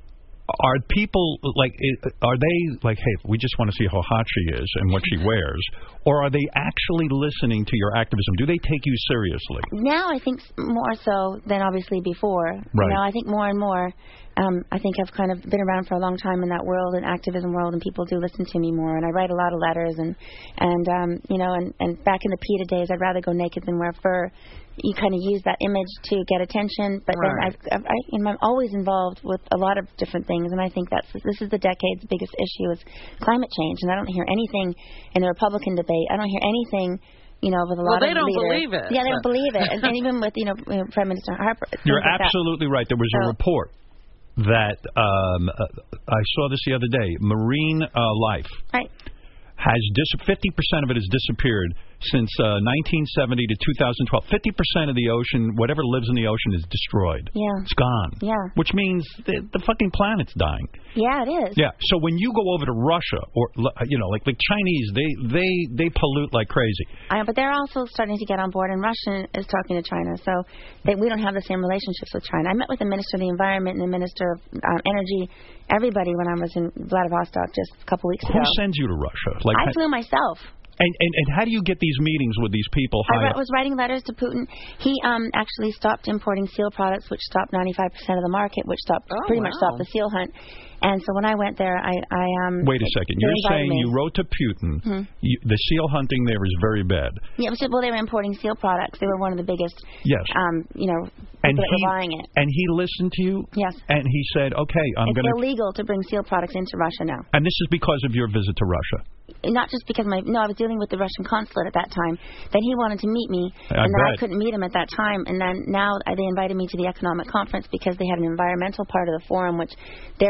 are people are they like, hey, we just want to see how hot she is and what she wears, or are they actually listening to your activism? Do they take you seriously? Now I think more so than obviously before. Right. Now I think more and more. I think I've kind of been around for a long time in that world, and activism world, and people do listen to me more. And I write a lot of letters, and back in the PETA days, I'd rather go naked than wear fur. You kind of use that image to get attention, but then I'm always involved with a lot of different things, and I think this is the decade's biggest issue is climate change. And I don't hear anything in the Republican debate. I don't hear anything. With a lot of leaders. Well, they don't believe it. Yeah, they don't believe it, and even with Prime Minister Harper. You're absolutely right. There was a report that I saw this the other day. Marine life has 50% of it has disappeared since 1970 to 2012. 50% of the ocean, whatever lives in the ocean, is destroyed. Yeah, it's gone. Yeah, which means the fucking planet's dying. Yeah, it is. Yeah. So when you go over to Russia, or like the Chinese, they pollute like crazy. But they're also starting to get on board, and Russia is talking to China. So we don't have the same relationships with China. I met with the Minister of the Environment and the Minister of Energy, everybody when I was in Vladivostok just a couple weeks ago. Who sends you to Russia? I flew myself. And how do you get these meetings with these people? I was writing letters to Putin. He actually stopped importing seal products, which stopped 95% of the market, which pretty much stopped the seal hunt. And so when I went there, I Wait a second. You're saying you wrote to Putin. The seal hunting there is very bad. Yeah, well, they were importing seal products. They were one of the biggest. Yes. People and that were buying it. And he listened to you. Yes. And he said, "Okay, I'm going to." It's illegal to bring seal products into Russia now. And this is because of your visit to Russia. Not just because I was dealing with the Russian consulate at that time. Then he wanted to meet me, and then I couldn't meet him at that time. And then now they invited me to the economic conference because they had an environmental part of the forum, which they're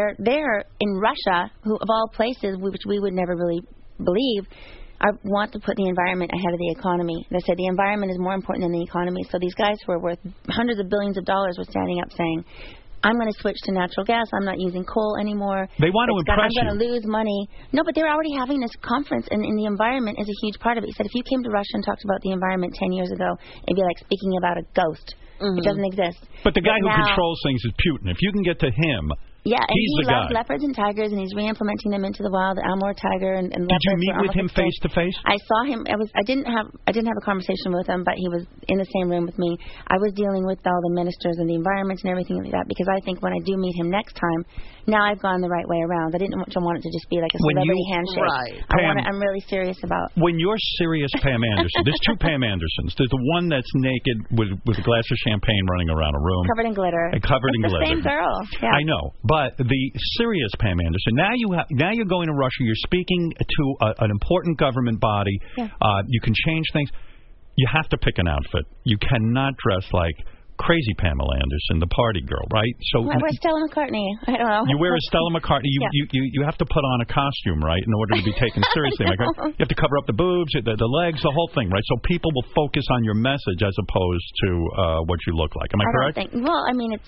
there in Russia, who of all places, which we would never really believe, want to put the environment ahead of the economy. They said the environment is more important than the economy. So these guys who are worth hundreds of billions of dollars were standing up saying, I'm going to switch to natural gas. I'm not using coal anymore. They want to impress you. I'm going to lose money. No, but they're already having this conference, and the environment is a huge part of it. He said if you came to Russia and talked about the environment 10 years ago, it'd be like speaking about a ghost. It doesn't exist. But the guy who controls things is Putin. If you can get to him... Yeah, and he loves leopards and tigers, and he's re-implementing them into the wild. The Amur tiger and leopards. Did you meet with him face to face? I saw him. I didn't have a conversation with him, but he was in the same room with me. I was dealing with all the ministers and the environment and everything like that, because I think when I do meet him next time, now I've gone the right way around. I didn't want it to just be like a celebrity handshake. Right. I'm really serious about. When you're serious Pam Anderson, there's two Pam Andersons. There's the one that's naked with a glass of champagne running around a room, covered in glitter. Glitter. The same girl. Yeah. I know, but the serious Pam Anderson. Now you're going to Russia. You're speaking to an important government body. Yeah. You can change things. You have to pick an outfit. You cannot dress like crazy Pamela Anderson, the party girl, right? So I wear Stella McCartney. I don't know. You wear a Stella McCartney. You have to put on a costume, right, in order to be taken seriously. Like, you have to cover up the boobs, the legs, the whole thing, right? So people will focus on your message as opposed to what you look like. Am I correct? Well, I mean,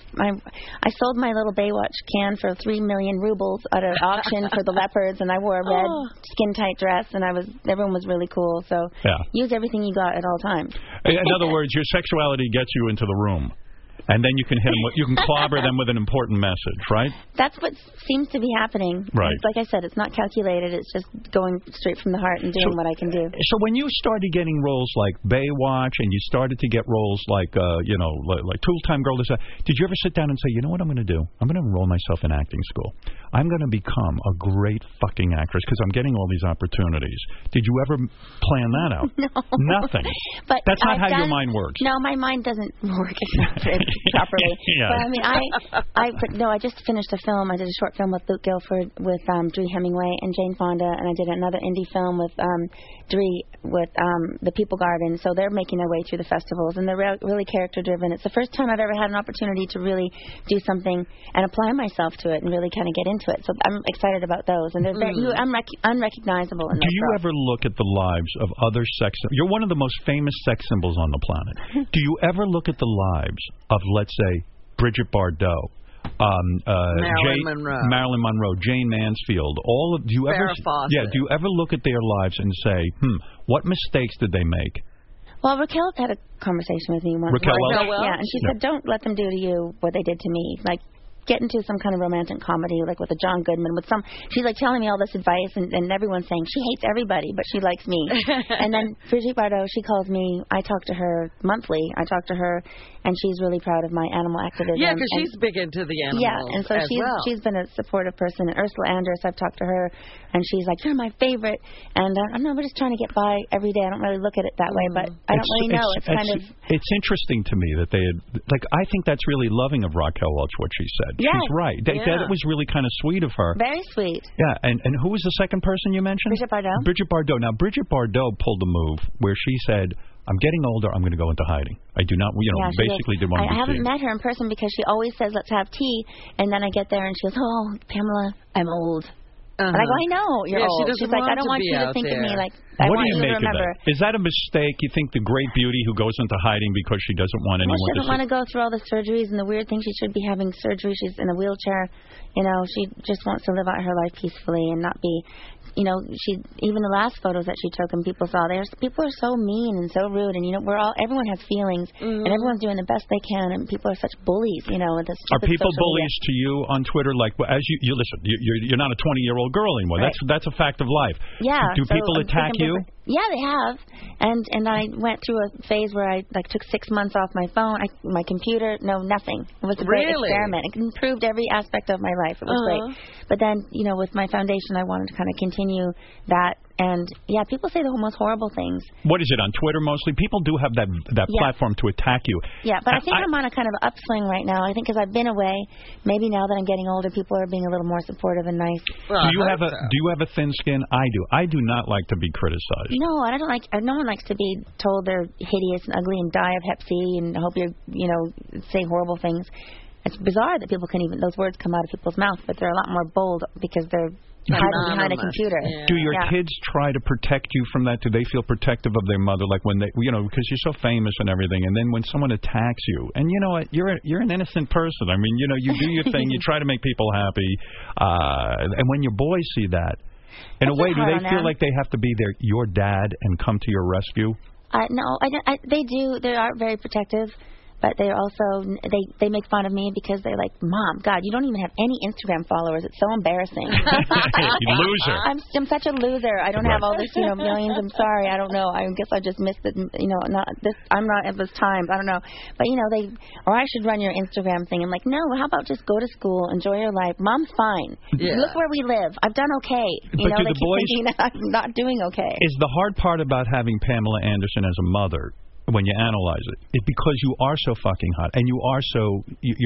I sold my little Baywatch can for 3 million rubles at an auction for the leopards, and I wore a red skin-tight dress, and everyone was really cool. So use everything you got at all times. In other words, your sexuality gets you into the room. And then you can hit them. You can clobber them with an important message, right? That's what seems to be happening. Right. It's like I said, it's not calculated. It's just going straight from the heart and doing what I can do. So when you started getting roles like Baywatch, and you started to get roles like like Tool Time Girl, did you ever sit down and say, you know what I'm going to do? I'm going to enroll myself in acting school. I'm going to become a great fucking actress because I'm getting all these opportunities. Did you ever plan that out? No. Nothing. But that's not how your mind works. No, my mind doesn't work properly. Yeah. But I mean, I just finished a film. I did a short film with Luke Guilford, with Dree Hemingway and Jane Fonda, and I did another indie film with Dree with The People Garden. So they're making their way through the festivals, and they're really character driven. It's the first time I've ever had an opportunity to really do something and apply myself to it and really kind of get into it. So I'm excited about those, and they're unrecognizable. Do you ever look at the lives of other sex? You're one of the most famous sex symbols on the planet. Do you ever look at the lives of, let's say, Bridget Bardot, Marilyn Monroe, Jane Mansfield, do you ever look at their lives and say, what mistakes did they make? Well, Raquel had a conversation with me once. Raquel Welch? Yeah, and she said, don't let them do to you what they did to me. Like, get into some kind of romantic comedy, like with a John Goodman, she's like telling me all this advice, and everyone's saying she hates everybody, but she likes me. And then Brigitte Bardot, she calls me, I talk to her monthly, and she's really proud of my animal activism. Yeah, because she's big into the animals. Yeah, and so she's been a supportive person. And Ursula Andress, I've talked to her, and she's like, you're my favorite. And we're just trying to get by every day. I don't really look at it that way, but I don't really know. It's interesting to me that they had, I think that's really loving of Raquel Welch, what she said. Yes. She's right. That was really kind of sweet of her. Very sweet. Yeah, and who was the second person you mentioned? Brigitte Bardot. Brigitte Bardot. Now, Brigitte Bardot pulled the move where she said, I'm getting older, I'm going to go into hiding. I do not, basically didn't want to be seen. I haven't met her in person because she always says, let's have tea, and then I get there and she goes, oh, Pamela, I'm old. And I go, I know, you're old. She's like, I don't want you to think of me like, I want you to remember. Is that a mistake? You think the great beauty who goes into hiding because she doesn't want anyone to see? She doesn't want to go through all the surgeries and the weird things. She should be having surgery. She's in a wheelchair. She just wants to live out her life peacefully and not be, even the last photos that she took and people saw, people are so mean and so rude, and everyone has feelings, and everyone's doing the best they can, and people are such bullies, with this. Are people bullies to you on Twitter? Like, as you listen, you're not a 20-year-old girl anymore. Right. That's a fact of life. Yeah. Do people attack you? Yeah, they have. And I went through a phase where I took 6 months off my phone, my computer, nothing. It was a great experiment. It improved every aspect of my life. It was great. But then, with my foundation, I wanted to kind of continue that. And, people say the most horrible things. What is it, on Twitter mostly? People do have that platform to attack you. Yeah, but I think I'm on a kind of upswing right now. I think because I've been away, maybe now that I'm getting older, people are being a little more supportive and nice. Well, do you have a thin skin? I do. I do not like to be criticized. No, I don't like. No one likes to be told they're hideous and ugly and die of Hep C and hope say horrible things. It's bizarre that people can even those words come out of people's mouths, but they're a lot more bold because they're hiding behind a computer. Yeah. Do your kids try to protect you from that? Do they feel protective of their mother, like when they, because you're so famous and everything, and then when someone attacks you, and you know what, you're an innocent person. I mean, you do your thing, you try to make people happy, and when your boys see that, in a way, do they feel like they have to be your dad and come to your rescue? No, they do. They are very protective. But they're also, they make fun of me because they're like, Mom, God, you don't even have any Instagram followers. It's so embarrassing. You loser. I'm such a loser. I don't have all this, millions. I'm sorry. I don't know. I guess I just missed it. I'm not at this time. I don't know. But, or I should run your Instagram thing. I'm like, no, how about just go to school, enjoy your life. Mom's fine. Yeah. Look where we live. I've done okay. But they keep thinking that I'm not doing okay. Is the hard part about having Pamela Anderson as a mother, when you analyze it, it's because you are so fucking hot and you are so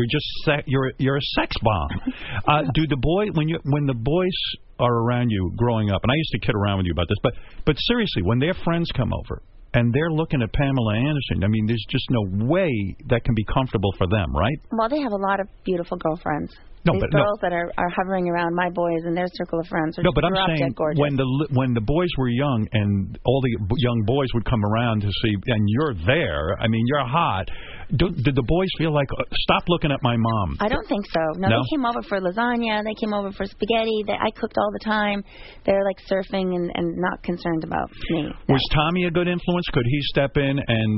you're a sex bomb. Do the when the boys are around you growing up, and I used to kid around with you about this, but seriously, when their friends come over and they're looking at Pamela Anderson, I mean, there's just no way that can be comfortable for them, right? Well, they have a lot of beautiful girlfriends. These girls that are hovering around my boys and their circle of friends are but I'm saying when the boys were young and all the young boys would come around to see, and you're there, I mean, you're hot. Did the boys feel like, stop looking at my mom? I don't think so. No, they came over for lasagna. They came over for spaghetti. I cooked all the time. They're like surfing and not concerned about me. Was Tommy a good influence? Could he step in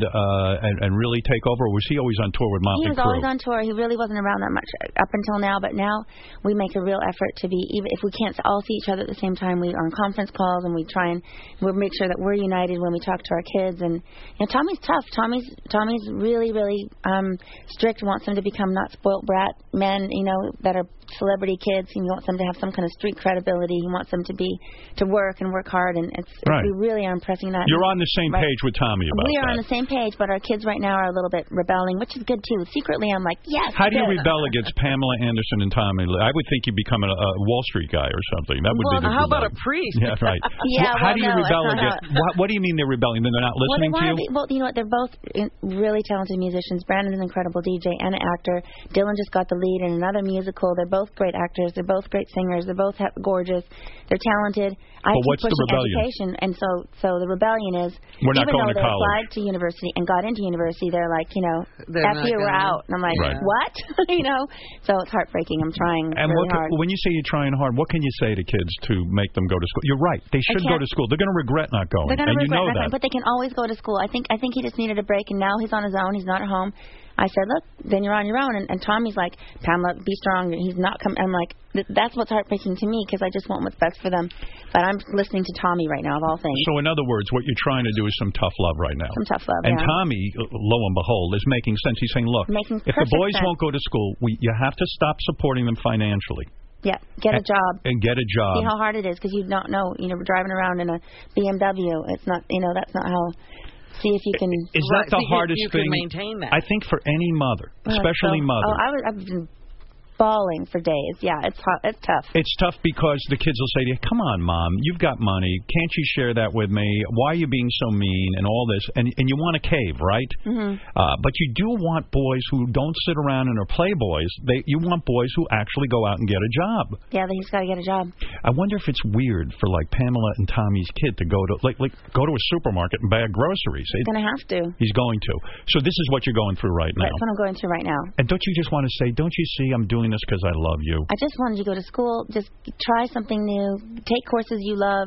and really take over, or was he always on tour with Motley Crue? He was always on tour. He really wasn't around that much up until now, but now we make a real effort to be, even if we can't all see each other at the same time, we are on conference calls and we try and make sure that we're united when we talk to our kids. And Tommy's tough. Tommy's really, really strict. Wants them to become not spoiled brat men, that are celebrity kids. He wants them to have some kind of street credibility. He wants them to work and work hard, and we really are impressing that. You're on the same page with Tommy about that. We are on the same page, but our kids right now are a little bit rebelling, which is good too. Secretly, I'm like, yes. How do you rebel against Pamela Anderson and Tommy? I would think you'd become a Wall Street guy or something. That would be how about a priest? Yeah, right. How do you rebel against? What do you mean they're rebelling? They're not listening to you? You know what? They're both really talented musicians. Brandon's an incredible DJ and an actor. Dylan just got the lead in another musical. They're both great actors. They're both great singers. They're both gorgeous. They're talented. I keep what's the pushing rebellion? Education, and so the rebellion is we're not even going though to they college. applied to university and got into university, they're like, F you, we're out. And I'm like, what? So it's heartbreaking. I'm trying really hard. When you say you're trying hard, what can you say to kids to make them go to school? You're right. They should go to school. They're going to regret not going. They're going to regret that. But they can always go to school. I think he just needed a break, and now he's on his own. He's not at home. I said, look, then you're on your own. And Tommy's like, Pamela, be strong. He's not coming. I'm like, that's what's heartbreaking to me because I just want what's best for them. But I'm listening to Tommy right now, of all things. So in other words, what you're trying to do is some tough love right now. Some tough love, And Tommy, lo and behold, is making sense. He's saying, look, if the boys won't go to school, you have to stop supporting them financially. Yeah, get a job. And get a job. See how hard it is because you don't know, we're driving around in a BMW. It's not, that's not how... See if you can... Is that the hardest thing? You can maintain that. I think for any mother, especially mother. I've been bawling for days. Yeah, it's tough. It's tough because the kids will say to you, come on, Mom, you've got money. Can't you share that with me? Why are you being so mean and all this? And you want a cave, right? Mm-hmm. But you do want boys who don't sit around and are playboys. You want boys who actually go out and get a job. Yeah, he's got to get a job. I wonder if it's weird for Pamela and Tommy's kid to go to go to a supermarket and bag groceries. He's going to have to. He's going to. So this is what you're going through right now. That's what I'm going through right now. And don't you just want to say, don't you see I'm doing this because I love you? I just wanted to go to school, just try something new, take courses you love,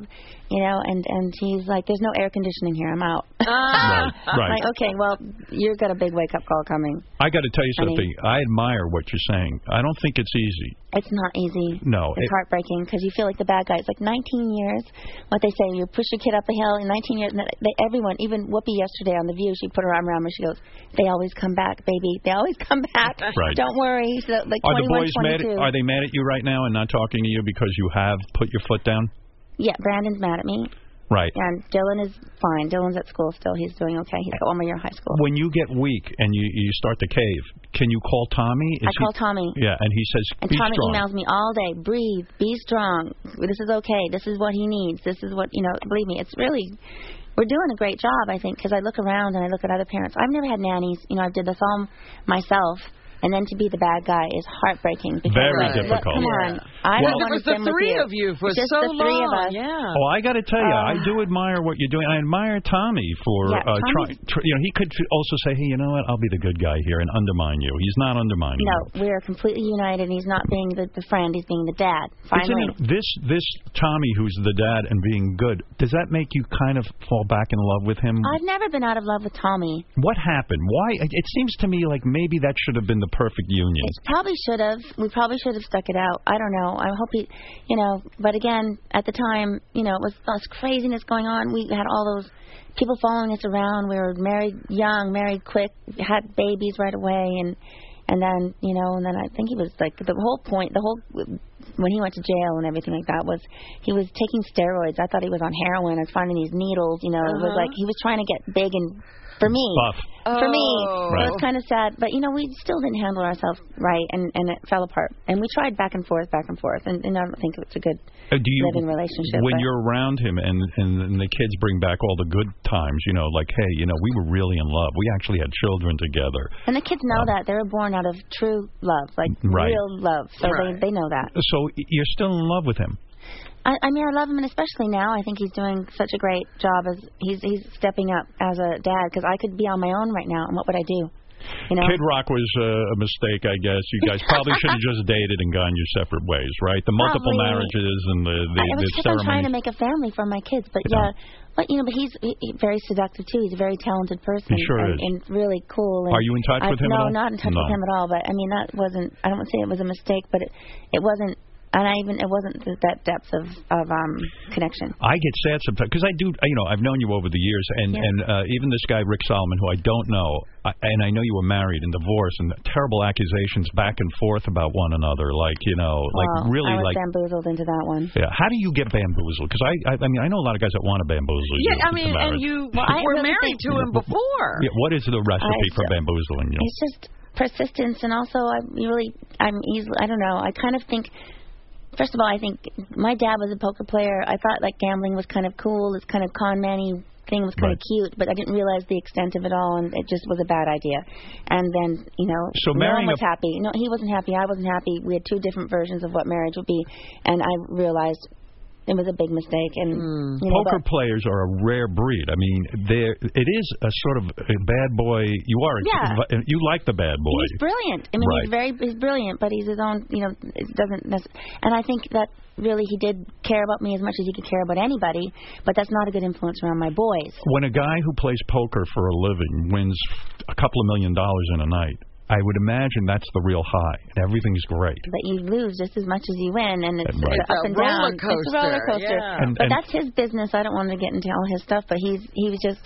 and he's like, there's no air conditioning here, I'm out. Right. Like, okay, well, you've got a big wake-up call coming. I got to tell you something. I admire what you're saying. I don't think it's easy. It's not easy. No. It's heartbreaking because you feel like the bad guy. It's like 19 years. What they say, you push your kid up a hill in 19 years. And everyone, even Whoopi yesterday on The View, she put her arm around me. She goes, they always come back, baby. They always come back. Right. Don't worry. So, like are 21, the boys 22. Are they mad at you right now and not talking to you because you have put your foot down? Yeah, Brandon's mad at me. Right. And Dylan is fine. Dylan's at school still. He's doing okay. He's got 1 more year of high school. When you get weak and you start to cave, can you call Tommy? I call Tommy. Yeah, and he says, and be Tommy strong. emails me all day, breathe, be strong. This is okay. This is what he needs. This is what, believe me, it's really... We're doing a great job, I think, because I look around and I look at other parents. I've never had nannies. I did this all myself. and then to be the bad guy is heartbreaking. Very difficult. Look, come on. I Well, don't it was the three of you for just so the three long. of us. Yeah. Oh, I got to tell you, I do admire what you're doing. I admire Tommy for trying. He could also say, hey, you know what? I'll be the good guy here and undermine you. He's not undermining you. No, we are completely united. He's not being the friend. He's being the dad. Finally. This Tommy, who's the dad and being good, does that make you kind of fall back in love with him? I've never been out of love with Tommy. What happened? Why? It seems to me like maybe that should have been the perfect union. It probably should have. We probably should have stuck it out. I don't know. I hope he, but again, at the time, it was craziness going on. We had all those people following us around. We were married young, married quick, had babies right away, and then, and then I think he was like, the whole point, when he went to jail and everything like that was, he was taking steroids. I thought he was on heroin. I was finding these needles, it was like, he was trying to get big and, for me. Buff. For me. Right. It was kind of sad. But, we still didn't handle ourselves right, and it fell apart. And we tried back and forth, and I don't think it's a good living relationship. When you're around him and the kids bring back all the good times, like, hey, we were really in love. We actually had children together. And the kids know that. They were born out of true love, like real love. So they know that. So you're still in love with him? I mean, I love him, and especially now, I think he's doing such a great job as he's stepping up as a dad, because I could be on my own right now, and what would I do? Kid Rock was a mistake, I guess. You guys probably should have just dated and gone your separate ways, right? The multiple marriages and the I was ceremonies. trying to make a family for my kids, but but he's very seductive too. He's a very talented person. He sure is. And really cool. And are you in touch with him at all? No, not in touch with him at all. But I mean, that wasn't. I don't want to say it was a mistake, but it wasn't. And it wasn't that depth of connection. I get sad sometimes because I do. I've known you over the years, and even this guy Rick Solomon, who I don't know, and I know you were married and divorced, and terrible accusations back and forth about one another, like really I was like bamboozled into that one. Yeah, how do you get bamboozled? Because I mean I know a lot of guys that want to bamboozle you. Yeah, I mean, and you were married to him before. Yeah, what is the recipe for bamboozling you? It's just persistence, and also I'm easily. I don't know. I kind of think. First of all, I think my dad was a poker player. I thought like gambling was kind of cool. This kind of con man-y thing was kind of cute, but I didn't realize the extent of it all, and it just was a bad idea. And then, so no one was happy. No, he wasn't happy. I wasn't happy. We had two different versions of what marriage would be, and I realized it was a big mistake. And poker players are a rare breed. I mean, it is a sort of a bad boy. You are. Yeah. You like the bad boy. He's brilliant. I mean, he's brilliant, but he's his own. It doesn't. And I think that really he did care about me as much as he could care about anybody. But that's not a good influence around my boys. When a guy who plays poker for a living wins a couple of $1 million in a night, I would imagine that's the real high, and everything's great. But you lose just as much as you win, and it's up and down. It's a roller coaster. Yeah. But that's his business. I don't want to get into all his stuff, but he was just,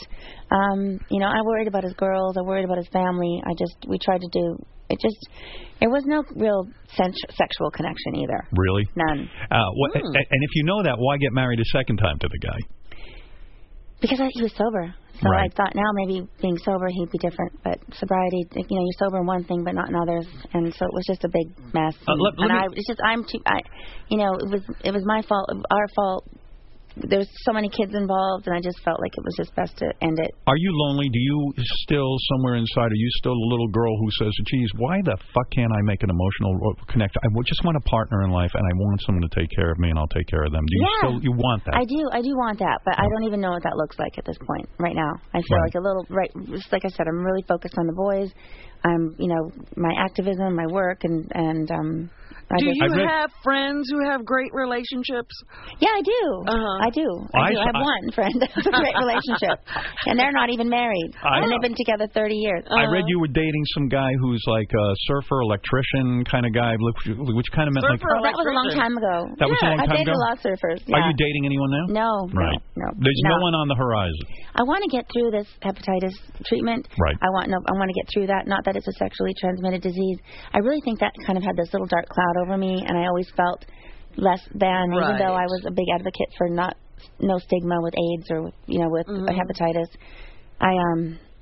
I worried about his girls. I worried about his family. We tried to do, there was no real sexual connection either. Really? None. And if you know that, why get married a second time to the guy? Because he was sober. So I thought now maybe being sober he'd be different, but sobriety, you're sober in one thing but not in others, and so it was just a big mess. It was my fault, our fault. There was so many kids involved, and I just felt like it was just best to end it. Are you lonely? Do you still, somewhere inside, are you still a little girl who says, geez, why the fuck can't I make an emotional connection? I just want a partner in life, and I want someone to take care of me, and I'll take care of them. Do you want that? I do want that, but I don't even know what that looks like at this point right now. I feel like a little, just like I said, I'm really focused on the boys. My activism, my work, and do you have friends who have great relationships? Yeah, I do. I do. I have one friend who has a great relationship, and they're not even married, and they've been together 30 years. I read you were dating some guy who's like a surfer, electrician kind of guy, which kind of meant like... that was a long time ago. That was a long time ago? I dated a lot of surfers. Yeah. Are you dating anyone now? No. Right. No. There's no one on the horizon. I want to get through this hepatitis treatment. Right. I want to get through that. Not that it's a sexually transmitted disease. I really think that kind of had this little dark cloud over me, and I always felt less than, even though I was a big advocate for no stigma with AIDS or with hepatitis.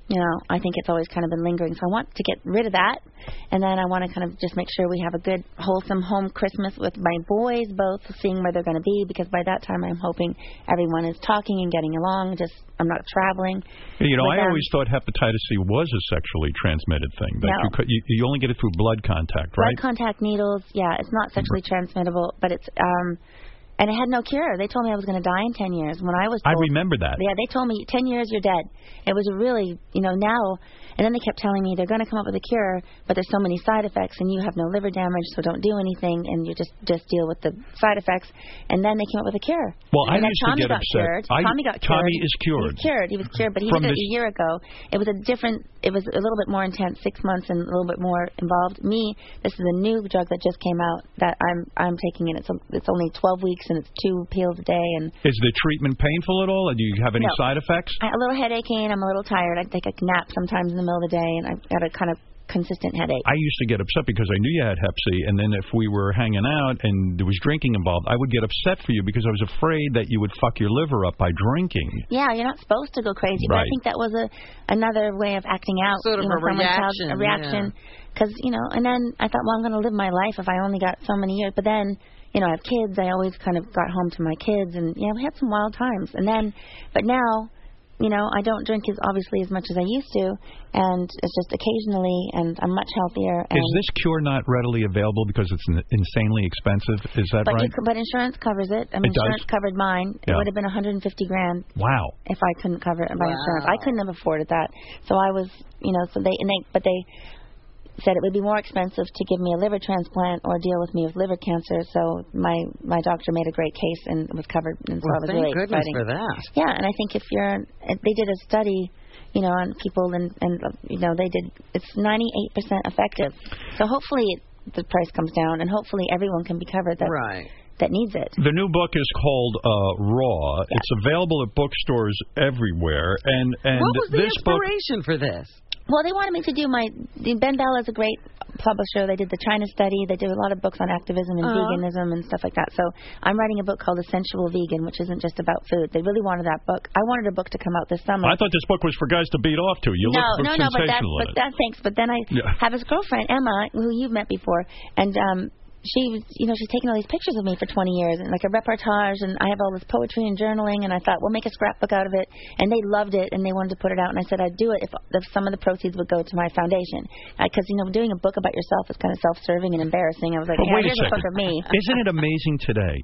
You know, I think it's always kind of been lingering. So I want to get rid of that. And then I want to kind of just make sure we have a good, wholesome home Christmas with my boys, both seeing where they're going to be. Because by that time, I'm hoping everyone is talking and getting along. Just I'm not traveling. You know, I always thought hepatitis C was a sexually transmitted thing. That no. You only get it through blood contact, right? Blood contact, needles. Yeah, it's not sexually transmittable, but it's... And it had no cure. They told me I was going to die in 10 years. When I was told, I remember that. Yeah, they told me 10 years you're dead. It was really, you know, now. And then they kept telling me they're going to come up with a cure, but there's so many side effects, and you have no liver damage, so don't do anything, and you just deal with the side effects. And then they came up with a cure. Well, and I used to get upset. Tommy got cured. Tommy is cured. He's cured. He was cured, but he did it a year ago. It was a little bit more intense, 6 months, and a little bit more involved. Me, this is a new drug that just came out that I'm taking, and it's only 12 weeks, and it's 2 pills a day. And is the treatment painful at all? Do you have any side effects? I have a little headaching. I'm a little tired. I take a nap sometimes in the middle of the day, and I've got a kind of consistent headache. I used to get upset because I knew you had Hep C, and then if we were hanging out and there was drinking involved, I would get upset for you because I was afraid that you would fuck your liver up by drinking. Yeah, you're not supposed to go crazy, but I think that was another way of acting out. Sort of a reaction. Because, you know, and then I thought, well, I'm going to live my life if I only got so many years. But then, you know, I have kids. I always kind of got home to my kids, and, you know, we had some wild times. And then, but now, you know, I don't drink obviously as much as I used to, and it's just occasionally, and I'm much healthier. And is this cure not readily available because it's insanely expensive? Is that right? But insurance covers it. I mean, insurance covered mine. It would have been $150,000. Wow. If I couldn't cover it by insurance, I couldn't have afforded that. So I was, you know, but they said it would be more expensive to give me a liver transplant or deal with me with liver cancer. So my doctor made a great case and it was covered. And so I was really excited. Thank goodness for that. Yeah, and I think they did a study, you know, on people and you know, it's 98% effective. So hopefully the price comes down and hopefully everyone can be covered that needs it. The new book is called Raw. Yeah. It's available at bookstores everywhere. And what was the inspiration for this? Well, they wanted me to do Ben Bell is a great publisher. They did the China study. They do a lot of books on activism and veganism and stuff like that. So I'm writing a book called The Sensual Vegan, which isn't just about food. They really wanted that book. I wanted a book to come out this summer. I thought this book was for guys to beat off to. You look sensational in it. Thanks. But then I have this girlfriend, Emma, who you've met before, and she's taken all these pictures of me for 20 years and like a reportage, and I have all this poetry and journaling, and I thought, well, make a scrapbook out of it, and they loved it and they wanted to put it out, and I said I'd do it if some of the proceeds would go to my foundation, because you know, doing a book about yourself is kind of self-serving and embarrassing. I was like, here's a book of me. Isn't it amazing today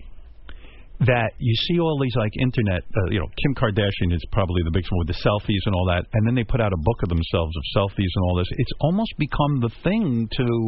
that you see all these like internet, you know, Kim Kardashian is probably the biggest one with the selfies and all that, and then they put out a book of themselves of selfies and all this. It's almost become the thing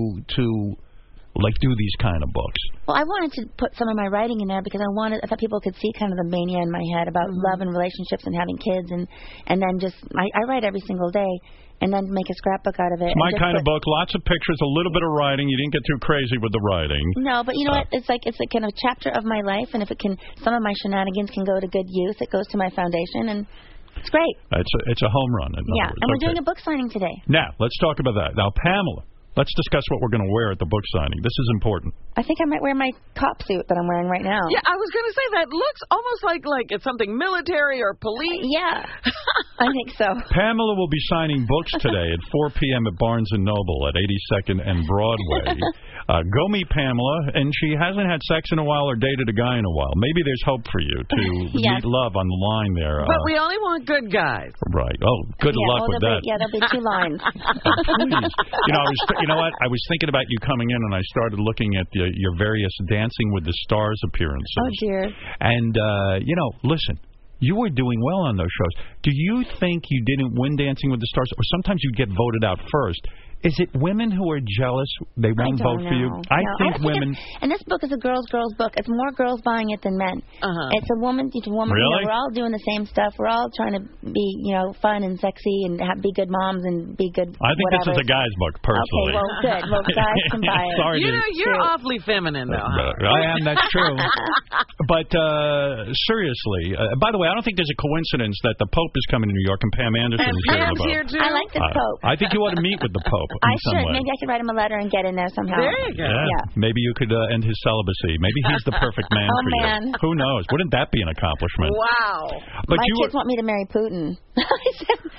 to like do these kind of books. Well, I wanted to put some of my writing in there because I thought people could see kind of the mania in my head about love and relationships and having kids, and then just I write every single day and then make a scrapbook out of it. It's my kind of book, lots of pictures, a little bit of writing. You didn't get too crazy with the writing. No, but you know what? It's like a kind of chapter of my life, and if some of my shenanigans can go to good use, it goes to my foundation, and it's great. It's a home run. And we're doing a book signing today. Now, let's talk about that. Now, Pamela, let's discuss what we're going to wear at the book signing. This is important. I think I might wear my cop suit that I'm wearing right now. Yeah, I was going to say that looks almost like it's something military or police. Yeah, I think so. Pamela will be signing books today at 4 p.m. at Barnes & Noble at 82nd and Broadway. Go meet Pamela, and she hasn't had sex in a while or dated a guy in a while. Maybe there's hope for you to meet love on the line there. But we only want good guys. Right. Oh, good luck with that. There'll be 2 lines. Please. You know what? I was thinking about you coming in, and I started looking at your various Dancing with the Stars appearances. Oh, dear. And, you know, listen, you were doing well on those shows. Do you think you didn't win Dancing with the Stars? Or sometimes you get voted out first. Is it women who are jealous they won't vote for you? I think women... And this book is a girls' book. It's more girls buying it than men. It's a woman. Really? You know, we're all doing the same stuff. We're all trying to be, you know, fun and sexy and be good moms and be good I think this is a guy's book, personally. Okay, well, good. Well, guys can buy it. Sorry, you're awfully feminine, though. I am, that's true. But seriously, by the way, I don't think there's a coincidence that the Pope is coming to New York and Pam Anderson is here too. I like this Pope. I think you ought to meet with the Pope. I should. Maybe I could write him a letter and get in there somehow. There you go. Yeah. Maybe you could end his celibacy. Maybe he's the perfect man for you. Who knows? Wouldn't that be an accomplishment? Wow. But my kids want me to marry Putin. I said that.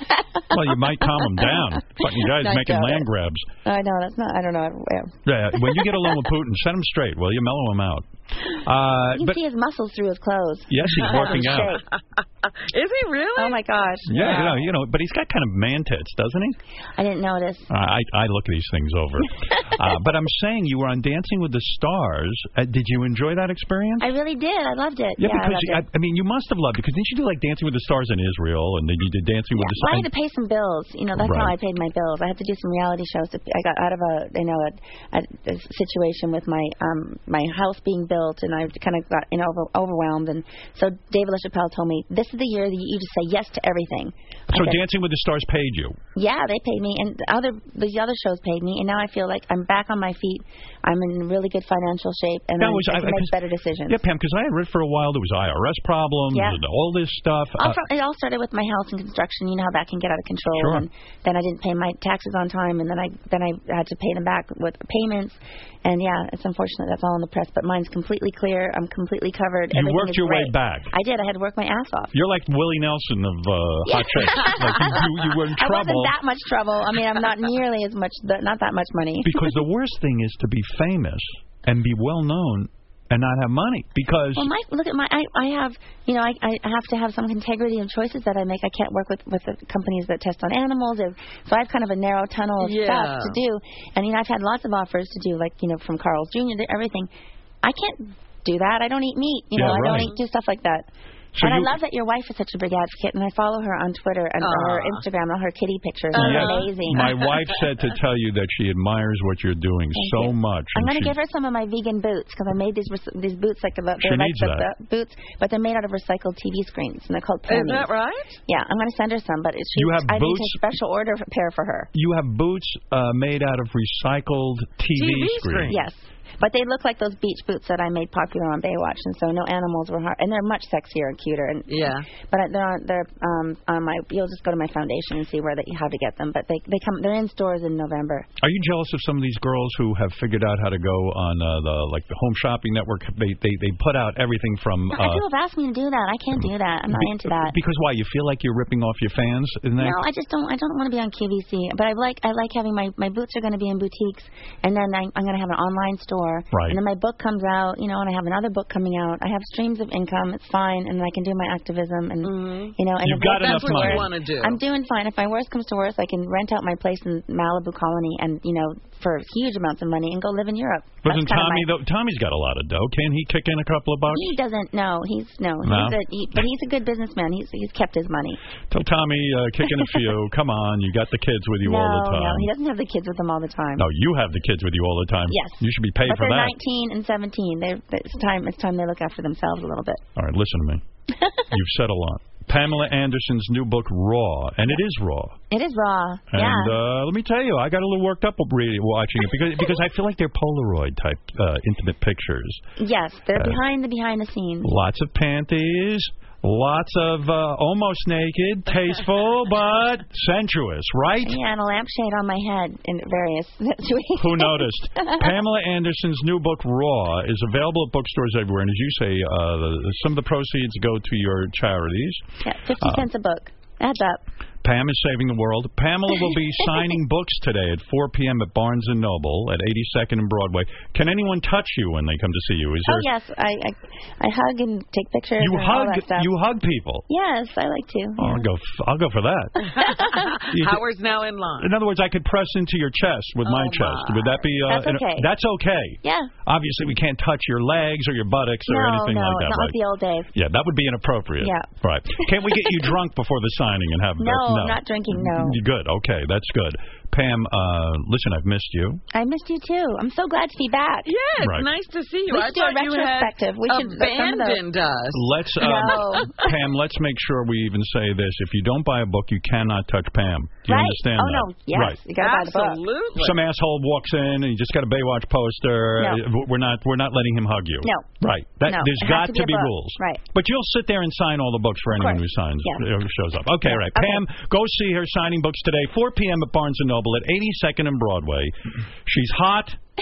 Well, you might calm them down. Fucking guys making land grabs. I know, that's not, I don't know. Yeah, when you get along with Putin, set him straight, will you? Mellow him out. You can see his muscles through his clothes. Yes, he's working out. Is he really? Oh, my gosh. Yeah, but he's got kind of man tits, doesn't he? I didn't notice. I look these things over. But I'm saying you were on Dancing with the Stars. Did you enjoy that experience? I really did. I loved it. Yeah, because I loved it. I mean, you must have loved it, because didn't you do like Dancing with the Stars in Israel, and then you did Dancing with the Stars? Well, I had to pay some bills. That's how I paid my bills. I had to do some reality shows. I got out of a situation with my house being built, and I kind of got overwhelmed. And so David LaChapelle told me, this is the year that you just say yes to everything. So Dancing with the Stars paid you? Yeah, they paid me, and the other shows paid me, and now I feel like I'm back on my feet. I'm in really good financial shape, and I can make better decisions. Yeah, Pam, because I had read for a while there was IRS problems and all this stuff. It all started with my house and construction. You know how that can get out of control. Sure. And then I didn't pay my taxes on time, and then I had to pay them back with payments. And yeah, it's unfortunate that's all in the press, but mine's completely clear. I'm completely covered. You worked your way back. I did. I had to work my ass off. You're like Willie Nelson of Hot Chicks. Like you were in trouble. I wasn't that much trouble. I mean, I'm not nearly as much, not that much money. Because the worst thing is to be famous and be well known and not have money, because I have to have some integrity in choices that I make. I can't work with the companies that test on animals, so I have kind of a narrow tunnel of stuff to do. And I've had lots of offers to do, from Carl's Jr. to everything. I can't do that. I don't eat meat. I don't do stuff like that. So and I love that your wife is such a big advocate, and I follow her on Twitter and her Instagram, all her kitty pictures. They're amazing. My wife said to tell you that she admires what you're doing so much. I'm going to give her some of my vegan boots, because I made these boots the boots, but they're made out of recycled TV screens, and they're called Pammies. Is that right? Yeah, I'm going to send her some, but I need a special order pair for her. You have boots made out of recycled TV screens. Yes. But they look like those beach boots that I made popular on Baywatch, and so no animals were harmed. And they're much sexier and cuter. But they're on my. You'll just go to my foundation and see how to get them. But they're in stores in November. Are you jealous of some of these girls who have figured out how to go on the Home Shopping Network? They put out everything from. People have asked me to do that. I can't do that. I'm not into that. Because why? You feel like you're ripping off your fans? Isn't that? No, I just don't. I don't want to be on QVC. But I like having my boots are going to be in boutiques, and then I'm going to have an online store. Right. And then my book comes out, and I have another book coming out. I have streams of income. It's fine, and then I can do my activism, and and you've got enough money. That's what you want to do. I'm doing fine. If my worst comes to worst, I can rent out my place in Malibu Colony, and for huge amounts of money, and go live in Europe. Doesn't Tommy though? Tommy's got a lot of dough. Can he kick in a couple of bucks? He doesn't. No, but he's a good businessman. He's kept his money. Tell Tommy kick in a few. Come on, you got the kids with you all the time. No, he doesn't have the kids with him all the time. No, you have the kids with you all the time. Yes, you should be paid for that. 19 and 17. It's time they look after themselves a little bit. All right, listen to me. You've said a lot. Pamela Anderson's new book, Raw, and it is raw. It is raw. And let me tell you, I got a little worked up watching it because I feel like they're Polaroid type intimate pictures. Yes, they're behind the scenes. Lots of panties. Lots of almost naked, tasteful, but sensuous, right? Yeah, and a lampshade on my head in various situations. Who noticed? Pamela Anderson's new book, Raw, is available at bookstores everywhere. And as you say, some of the proceeds go to your charities. Yeah, 50 cents a book. Adds up. Pam is saving the world. Pamela will be signing books today at 4 p.m. at Barnes & Noble at 82nd and Broadway. Can anyone touch you when they come to see you? Oh, yes. I hug and take pictures and all that stuff. You hug people? Yes, I like to. Oh, I'll go for that. Howard's now in line. In other words, I could press into your chest with my chest. Would that be... That's okay. That's okay? Yeah. Obviously, we can't touch your legs or your buttocks or anything like that, not like the old days. Yeah, that would be inappropriate. Yeah. Right. Can't we get you drunk before the signing and have... No, not drinking, no. Good. Okay, that's good. Pam, listen, I've missed you. I missed you too. I'm so glad to be back. Yeah, it's nice to see you. We should do a retrospective. We should abandoned us. Let's, Pam, let's make sure we even say this. If you don't buy a book, you cannot touch Pam. Do you understand that? Oh, no. Yes. Right. You got to buy the book. Absolutely. Some asshole walks in and you just got a Baywatch poster. No. We're not letting him hug you. No. Right. There's got to be rules. Right. But you'll sit there and sign all the books for anyone who signs. Yeah. Who shows up. Okay, right. Okay. Pam, go see her signing books today, 4 p.m. at Barnes & Noble at 82nd and Broadway. She's hot.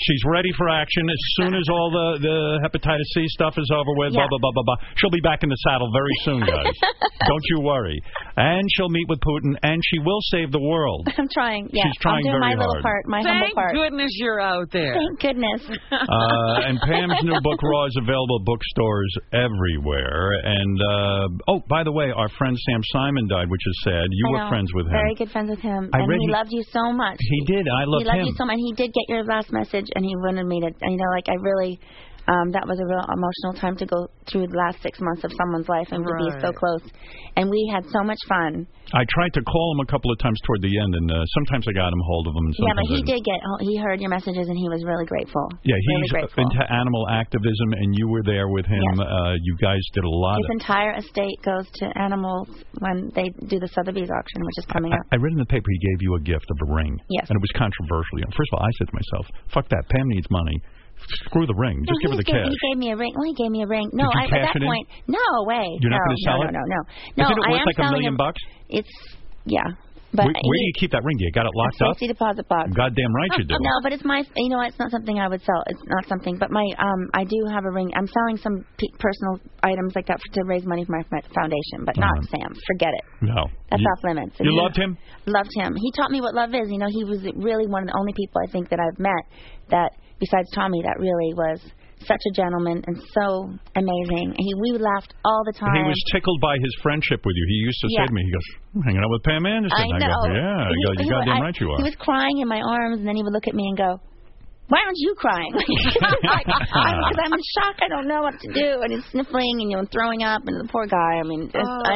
She's ready for action as soon as all the hepatitis C stuff is over with. Blah, blah, blah, blah, blah. She'll be back in the saddle very soon, guys. Don't you worry. And she'll meet with Putin, and she will save the world. I'm trying. Yeah, She's trying I'm doing very my little hard. part, my humble part. Thank goodness you're out there. Thank goodness. And Pam's new book, Raw, is available at bookstores everywhere. And, oh, by the way, our friend Sam Simon died, which is sad. You were friends with him. Very good friends with him. I And read he loved you so much. He did. I loved him. He loved you so much. And he did get your last message, and he wanted me to, you know, like I really... that was a real emotional time to go through the last 6 months of someone's life and to be so close. And we had so much fun. I tried to call him a couple of times toward the end, and sometimes I got him hold of him. And yeah, but he heard your messages, and he was really grateful. Yeah, really he's grateful. into animal activism, and you were there with him. Yes. You guys did a lot. His entire estate goes to animals when they do the Sotheby's auction, which is coming up. I read in the paper he gave you a gift of a ring. Yes. And it was controversial. You know, first of all, I said to myself, fuck that. Pam needs money. Screw the ring. Just give her the cash. He gave me a ring. Well, he gave me a ring. No, Did you cash at that point, no way. You're not going to sell it? No. Isn't it worth like $1 million? It's, yeah. But where do you keep that ring? You got it locked up? Safety deposit box. Goddamn right you do. No, but it's my, you know, it's not something I would sell. It's not something, but my, I do have a ring. I'm selling some personal items like that to raise money for my foundation, but not Sam's. Forget it. No. That's off limits. You loved him? Loved him. He taught me what love is. You know, he was really one of the only people I think that I've met that, besides Tommy, that really was such a gentleman and so amazing. We laughed all the time. He was tickled by his friendship with you. He used to say to me, he goes, I'm hanging out with Pam Anderson. I know. go, yeah. You goddamn right you are. He was crying in my arms, and then he would look at me and go, why aren't you crying? Because I'm in shock. I don't know what to do. And he's sniffling and, you know, throwing up. And the poor guy, I mean,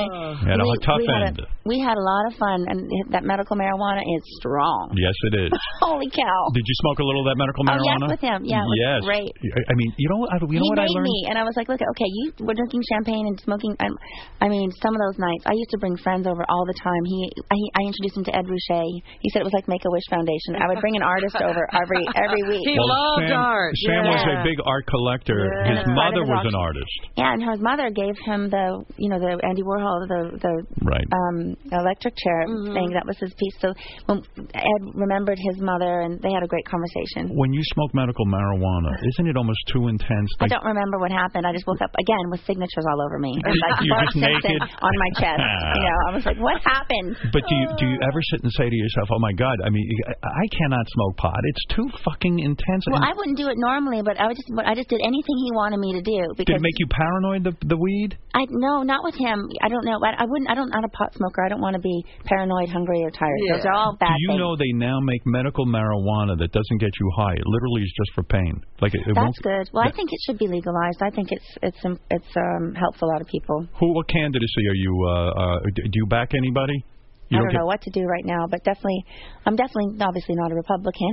we had a lot of fun. And that medical marijuana is strong. Yes, it is. Holy cow. Did you smoke a little of that medical marijuana? Yes, with him. Yeah, it was great. I mean, you know what I learned? He made me. And I was like, look, okay, you were drinking champagne and smoking. I mean, some of those nights, I used to bring friends over all the time. I introduced him to Ed Ruscha. He said it was like Make-A-Wish Foundation. I would bring an artist over every week. He loved art. Sam was a big art collector. Yeah. His mother was an artist. Yeah, and his mother gave him the Andy Warhol, the electric chair thing. That was his piece. So when Ed remembered his mother, and they had a great conversation. When you smoke medical marijuana, isn't it almost too intense? I don't remember what happened. I just woke up again with signatures all over me. Like You're just naked on my chest. You know, I was like, what happened? But do you ever sit and say to yourself, oh my God, I mean, I cannot smoke pot. It's too fucking intense. Well, I wouldn't do it normally, but I just did anything he wanted me to do. Because did it make you paranoid, the weed? No, not with him. I don't know. I'm not a pot smoker. I don't want to be paranoid, hungry, or tired. Yeah. Those are all bad things. Do you know they now make medical marijuana that doesn't get you high? It literally is just for pain. Like that's good. Well, I think it should be legalized. I think it's helps a lot of people. What candidacy are you? Do you back anybody? I don't know what to do right now, but I'm obviously not a Republican.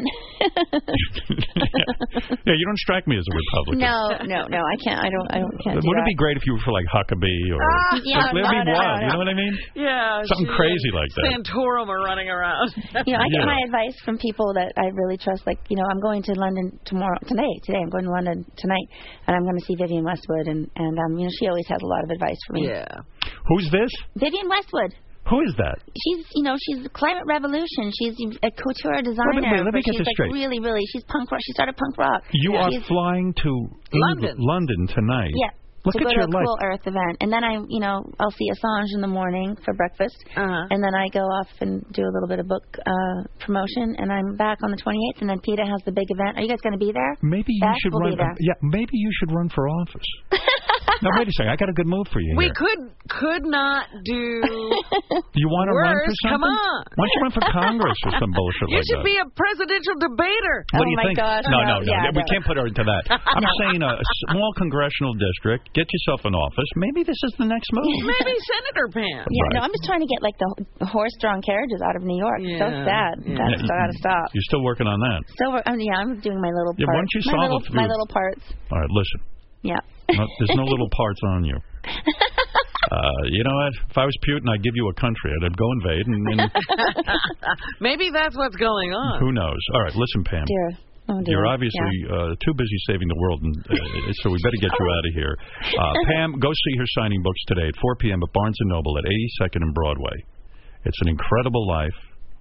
Yeah, you don't strike me as a Republican. No, I can't. I can't. Wouldn't it be great if you were for like Huckabee or? You know what I mean? Yeah, something crazy like that. Santorum are running around. You know, I get my advice from people that I really trust. Like, you know, I'm going to London today. I'm going to London tonight, and I'm going to see Vivienne Westwood, and you know, she always has a lot of advice for me. Yeah. Who's this? Vivienne Westwood. Who is that? She's Climate Revolution. She's a couture designer. Let me get this straight. Really, she's punk rock. She started punk rock. You are flying to London tonight. Yeah. Look to at go your to a Cool Earth event. And then I'll see Assange in the morning for breakfast. And then I go off and do a little bit of book promotion. And I'm back on the 28th. And then PETA has the big event. Are you guys going to be there? Maybe you should run. Maybe you should run for office. Now, wait a second. I got a good move for you. We could not do. You want to run for something? Come on. Why don't you run for Congress or some bullshit like that? You should be a presidential debater. What do you think? Gosh, no. We can't put her into that. I'm saying a small congressional district. Get yourself in office. Maybe this is the next move. Maybe Senator Pam. Yeah, no, I'm just trying to get like the horse-drawn carriages out of New York. Yeah. So sad. That's got to stop. You're still working on that. I'm doing my little parts. Why don't you solve my little parts. All right, listen. Yeah. No, there's no little parts on you. You know what? If I was Putin, I'd give you a country. I'd go invade. And maybe that's what's going on. Who knows? All right, listen, Pam. Dear. Oh, dear. You're obviously too busy saving the world, and so we better get you out of here. Pam, go see her signing books today at 4 p.m. at Barnes & Noble at 82nd and Broadway. It's an incredible life.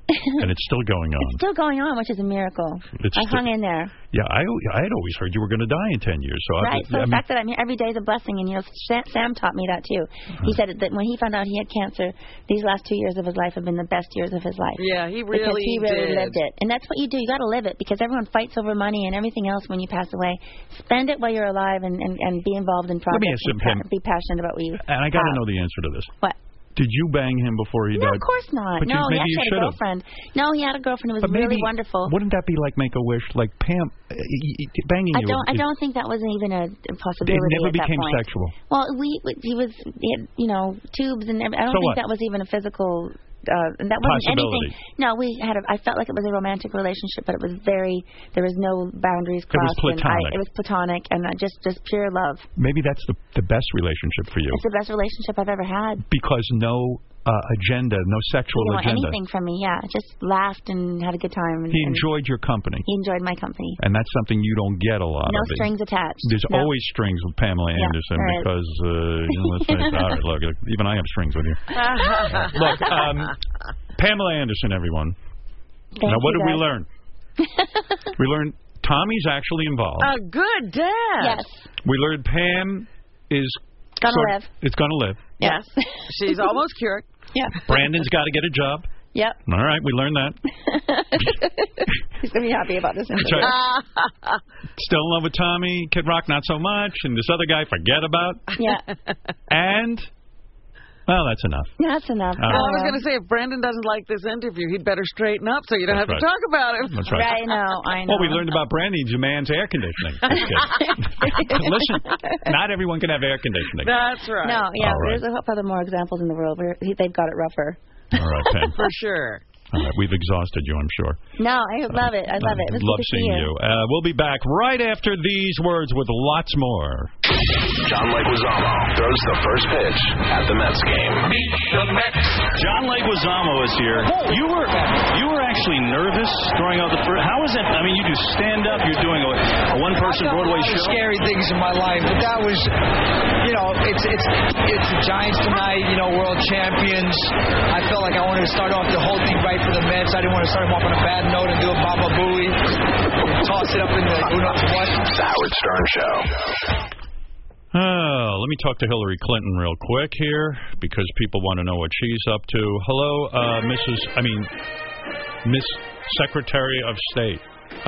And it's still going on. It's still going on, which is a miracle. I hung in there. Yeah, I had always heard you were going to die in 10 years. So right, so the fact that I'm here every day is a blessing, and Sam taught me that too. He said that when he found out he had cancer, these last 2 years of his life have been the best years of his life. Yeah, he really lived it. And that's what you do. You got to live it, because everyone fights over money and everything else when you pass away. Spend it while you're alive and be involved in projects. Be passionate about what you And I got to know the answer to this. What? Did you bang him before he died? No, of course not. But no, he actually had a girlfriend. No, he had a girlfriend who was really wonderful. Wouldn't that be like Make-A-Wish? Like Pam banging you? I don't think that was even a possibility. It never at became that point. sexual. Well, he had, tubes and everything. I don't think that was even a physical. And that wasn't anything. No, I felt like it was a romantic relationship, but it was there was no boundaries crossed. It was platonic. It was platonic and just pure love. Maybe that's the best relationship for you. It's the best relationship I've ever had. Because no agenda, no sexual agenda. Anything from me, yeah. Just laughed and had a good time. He enjoyed your company. He enjoyed my company. And that's something you don't get a lot of. No strings attached. There's always strings with Pamela Anderson because, let's face it, all right, look, even I have strings with you. Look, Pamela Anderson, everyone. Now, what did we learn? We learned Tommy's actually involved. A good dad. Yes. We learned Pam is going to live. Yes. She's almost cured. Yeah. Brandon's got to get a job. Yep. All right, we learned that. He's going to be happy about this. That's right. Still in love with Tommy. Kid Rock, not so much. And this other guy, forget about. Yeah. And... well, that's enough. That's enough. Well, I was going to say, if Brandon doesn't like this interview, he'd better straighten up so you don't have to talk about him. That's right. I know. Well, we learned about Brandon. He demands air conditioning. Listen, not everyone can have air conditioning. That's right. No, yeah, there's a couple other more examples in the world where they've got it rougher. All right, Pam. For sure. All right, we've exhausted you, I'm sure. No, I love it. I love it. Love seeing you. We'll be back right after these words with lots more. John Leguizamo throws the first pitch at the Mets game. Meet the Mets. John Leguizamo is here. You were actually nervous throwing out the first. How is it? I mean, you do stand up. You're doing a one-person Broadway show. Scary things in my life, but that was, it's the Giants tonight. World champions. I felt like I wanted to start off the whole thing right for the Mets. I didn't want to start them off on a bad note and do a Baba Booey, toss it up in the who knows what. The Howard Stern Show. Let me talk to Hillary Clinton real quick here because people want to know what she's up to. Hello, Miss Secretary of State.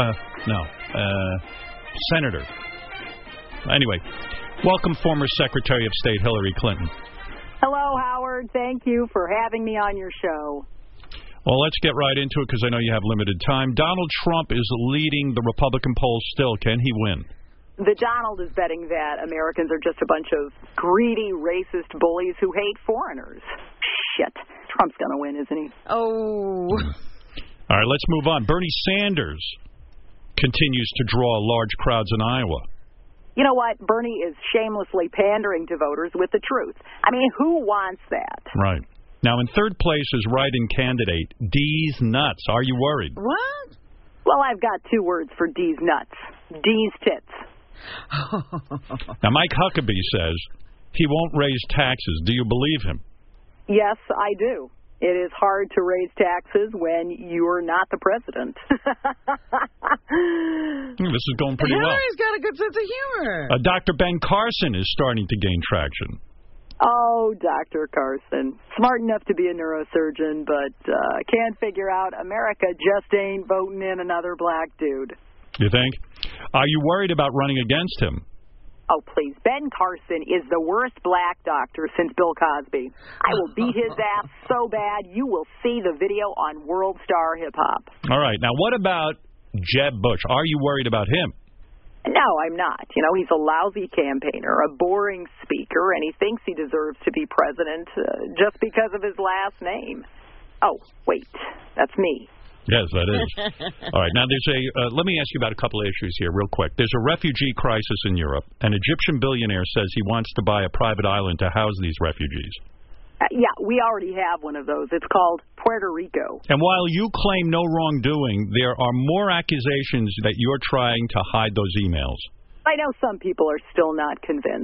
Senator. Anyway, welcome, former Secretary of State Hillary Clinton. Hello, Howard. Thank you for having me on your show. Well, let's get right into it because I know you have limited time. Donald Trump is leading the Republican polls still. Can he win? The Donald is betting that Americans are just a bunch of greedy, racist bullies who hate foreigners. Shit. Trump's going to win, isn't he? Oh. All right, let's move on. Bernie Sanders continues to draw large crowds in Iowa. You know what? Bernie is shamelessly pandering to voters with the truth. I mean, who wants that? Right. Now, in third place is write-in candidate D's Nuts. Are you worried? What? Well, I've got two words for D's nuts. D's tits. Now, Mike Huckabee says he won't raise taxes. Do you believe him? Yes, I do. It is hard to raise taxes when you're not the president. This is going pretty well. Hillary's got a good sense of humor. Dr. Ben Carson is starting to gain traction. Oh, Dr. Carson. Smart enough to be a neurosurgeon, but can't figure out America just ain't voting in another black dude. You think? Are you worried about running against him? Oh, please. Ben Carson is the worst black doctor since Bill Cosby. I will beat his ass so bad you will see the video on World Star Hip Hop. All right. Now, what about Jeb Bush? Are you worried about him? No, I'm not. He's a lousy campaigner, a boring speaker, and he thinks he deserves to be president just because of his last name. Oh, wait. That's me. Yes, that is. All right. Now, let me ask you about a couple of issues here real quick. There's a refugee crisis in Europe. An Egyptian billionaire says he wants to buy a private island to house these refugees. Yeah, we already have one of those. It's called Puerto Rico. And while you claim no wrongdoing, there are more accusations that you're trying to hide those emails. I know some people are still not convinced.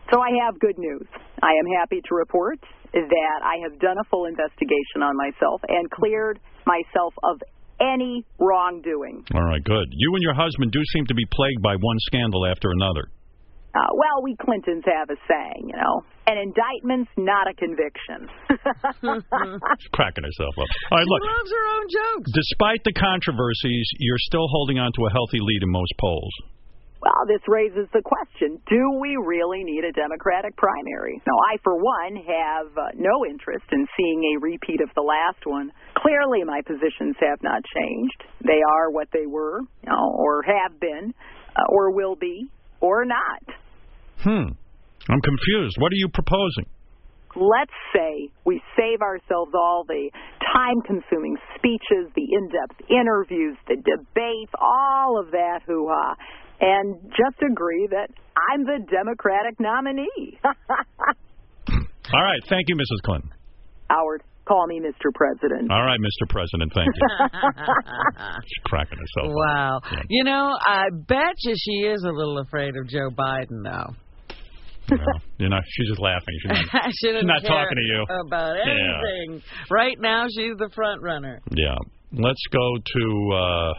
So I have good news. I am happy to report that I have done a full investigation on myself and cleared myself of any wrongdoing. All right, good. You and your husband do seem to be plagued by one scandal after another. Well, we Clintons have a saying, an indictment's not a conviction. She's cracking herself up. All right, look. She loves her own jokes. Despite the controversies, you're still holding on to a healthy lead in most polls. Well, this raises the question, do we really need a Democratic primary? Now, I, for one, have no interest in seeing a repeat of the last one. Clearly, my positions have not changed. They are what they were, or have been, or will be, or not. I'm confused. What are you proposing? Let's say we save ourselves all the time-consuming speeches, the in-depth interviews, the debates, all of that hoo-ha, and just agree that I'm the Democratic nominee. All right. Thank you, Mrs. Clinton. Howard, call me Mr. President. All right, Mr. President. Thank you. She's cracking herself Wow. up. Yeah. I bet you she is a little afraid of Joe Biden, though. No, she's just laughing. She's not care talking to you about anything. Yeah. Right now, she's the front runner. Yeah. Let's go to...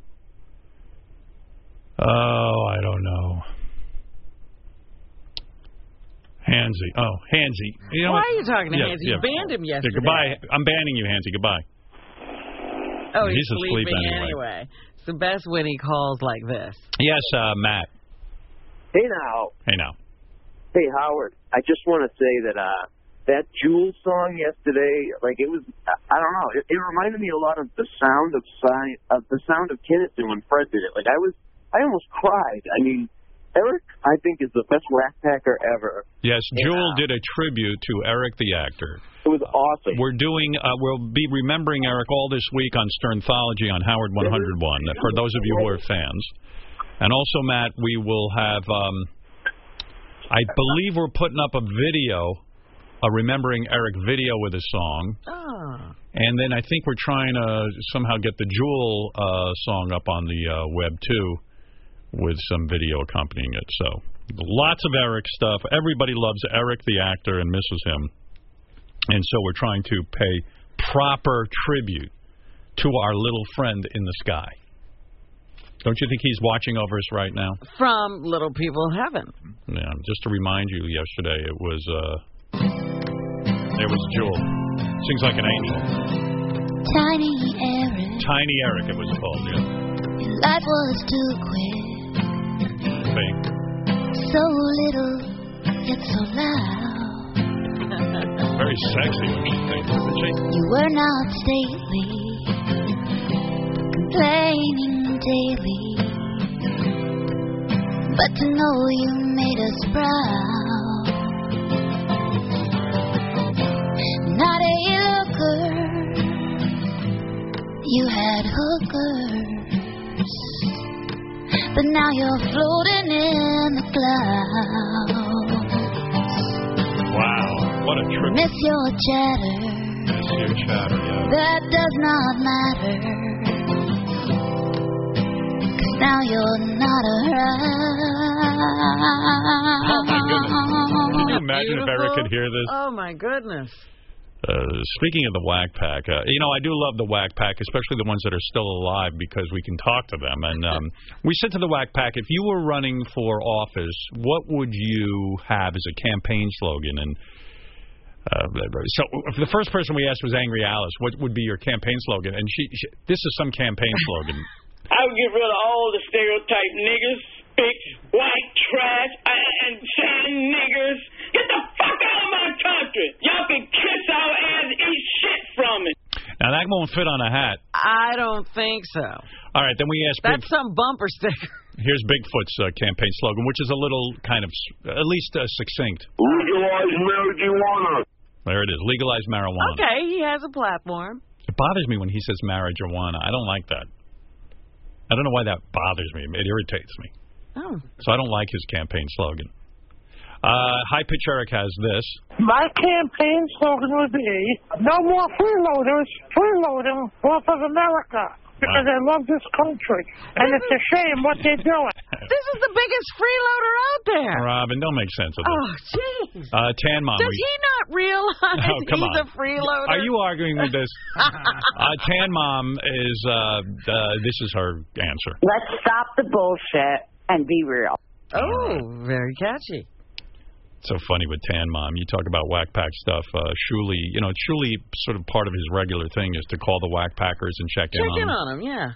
I don't know. Hansy. Oh, Hansy. Why are you talking to Hansy? You banned him yesterday. Yeah, goodbye. I'm banning you, Hansy. Goodbye. Oh, he's sleeping anyway. It's the best when he calls like this. Yes, Matt. Hey, now. Hey, now. Hey, Howard. I just want to say that that Jules song yesterday, it was, I don't know, it reminded me a lot of the sound of Kinnison when Fred did it. I almost cried. I mean, Eric, I think, is the best Whack Packer ever. Yes, Jewel did a tribute to Eric the actor. It was awesome. We'll be remembering Eric all this week on Sternthology on Howard 101, for those of you who are fans. And also, Matt, we will have, I believe we're putting up a video, a Remembering Eric video with a song. Oh. And then I think we're trying to somehow get the Jewel song up on the web, too, with some video accompanying it. So lots of Eric stuff. Everybody loves Eric the actor and misses him. And so we're trying to pay proper tribute to our little friend in the sky. Don't you think he's watching over us right now? From Little People Heaven. Yeah, just to remind you, yesterday it was Jewel. Sings like an angel. Tiny Eric. Tiny Eric, it was called, yeah. Life was too quick. So little, yet so loud. Very sexy when she thinks, isn't she? You were not stately, complaining daily. But to know you made us proud. Not a looker, you had hookers. But now you're floating in the clouds. Wow, what a trip. Miss your chatter. Miss your chatter, yeah. That does not matter. 'Cause now you're not around. Oh, my goodness. Can you imagine if Eric could hear this? Oh, my goodness. Speaking of the Whack Pack, I do love the Whack Pack, especially the ones that are still alive, because we can talk to them. And we said to the Whack Pack, if you were running for office, what would you have as a campaign slogan? And so the first person we asked was Angry Alice. What would be your campaign slogan? And she this is some campaign slogan. I would get rid of all the stereotype niggers, big, white, trash, and shiny niggers. Get the fuck out of my country. Y'all can kiss our ass and eat shit from it. Now, that won't fit on a hat. I don't think so. All right, then we asked... That's some bumper sticker. Here's Bigfoot's campaign slogan, which is a little kind of, at least succinct. Legalize marijuana. There it is, legalize marijuana. Okay, he has a platform. It bothers me when he says marijuana. I don't like that. I don't know why that bothers me. It irritates me. Oh. So I don't like his campaign slogan. High Pitch Eric has this. My campaign slogan would be, no more freeloaders, freeloading off of America. Because I love this country. And it's a shame what they're doing. This is the biggest freeloader out there. Robin, don't make sense of this. Oh, jeez. Tan Mom. Does he not realize come he's on. a freeloader? Are you arguing with this? Tan Mom is, this is her answer. Let's stop the bullshit and be real. Oh, very catchy. So funny with Tan Mom. You talk about whack pack stuff. Shuli, Shuli, sort of part of his regular thing is to call the whack packers and check in on them, yeah.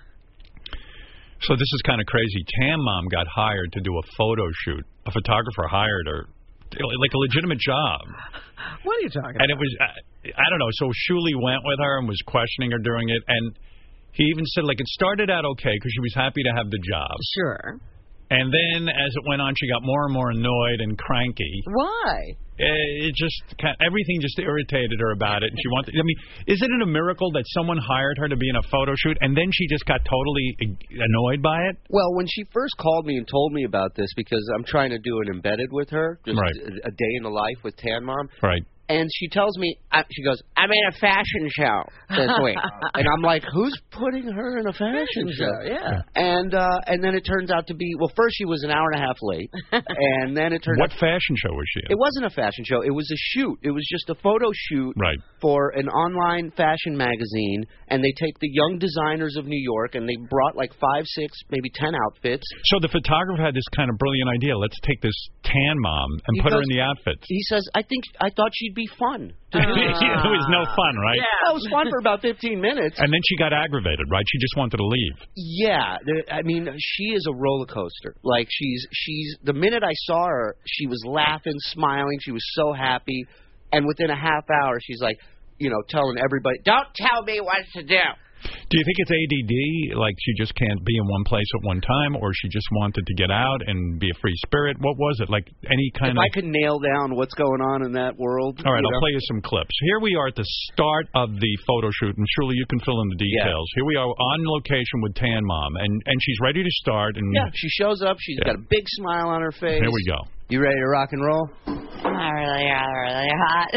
So this is kind of crazy. Tan Mom got hired to do a photo shoot. A photographer hired her, like a legitimate job. What are you talking about? And it was, I don't know. So Shuli went with her and was questioning her during it. And he even said, like, it started out okay because she was happy to have the job. Sure. And then as it went on, she got more and more annoyed and cranky. Why? It just, everything just irritated her about it. And she wanted, I mean, isn't it a miracle that someone hired her to be in a photo shoot and then she just got totally annoyed by it? Well, when she first called me and told me about this, because I'm trying to do an embedded with her, just right. a day in the life with Tan Mom. Right. And she tells me, she goes, I'm in a fashion show this week. And I'm like, who's putting her in a fashion show? Yeah. And then it turns out to be, well, first she was an hour and a half late. And then it turned out. What fashion show was she in? It wasn't a fashion show. It was a shoot. It was just a photo shoot for an online fashion magazine. And they take the young designers of New York and they brought like 5, 6, maybe 10 outfits. So the photographer had this kind of brilliant idea. Let's take this Tan Mom and put her in the outfits. He says, I thought she'd be fun. It was no fun, right? Yeah, it was fun for about 15 minutes. And then she got aggravated, right? She just wanted to leave. Yeah, I mean, she is a roller coaster. Like she's the minute I saw her, she was laughing, smiling. She was so happy, and within a half hour, she's like, telling everybody, "Don't tell me what to do." Do you think it's ADD, like she just can't be in one place at one time, or she just wanted to get out and be a free spirit? What was it? Like any kind of... If I could nail down what's going on in that world... All right, I'll play you some clips. Here we are at the start of the photo shoot, and surely you can fill in the details. Yeah. Here we are on location with Tan Mom, and she's ready to start. And yeah, she shows up. She's got a big smile on her face. Here we go. You ready to rock and roll? Not really hot.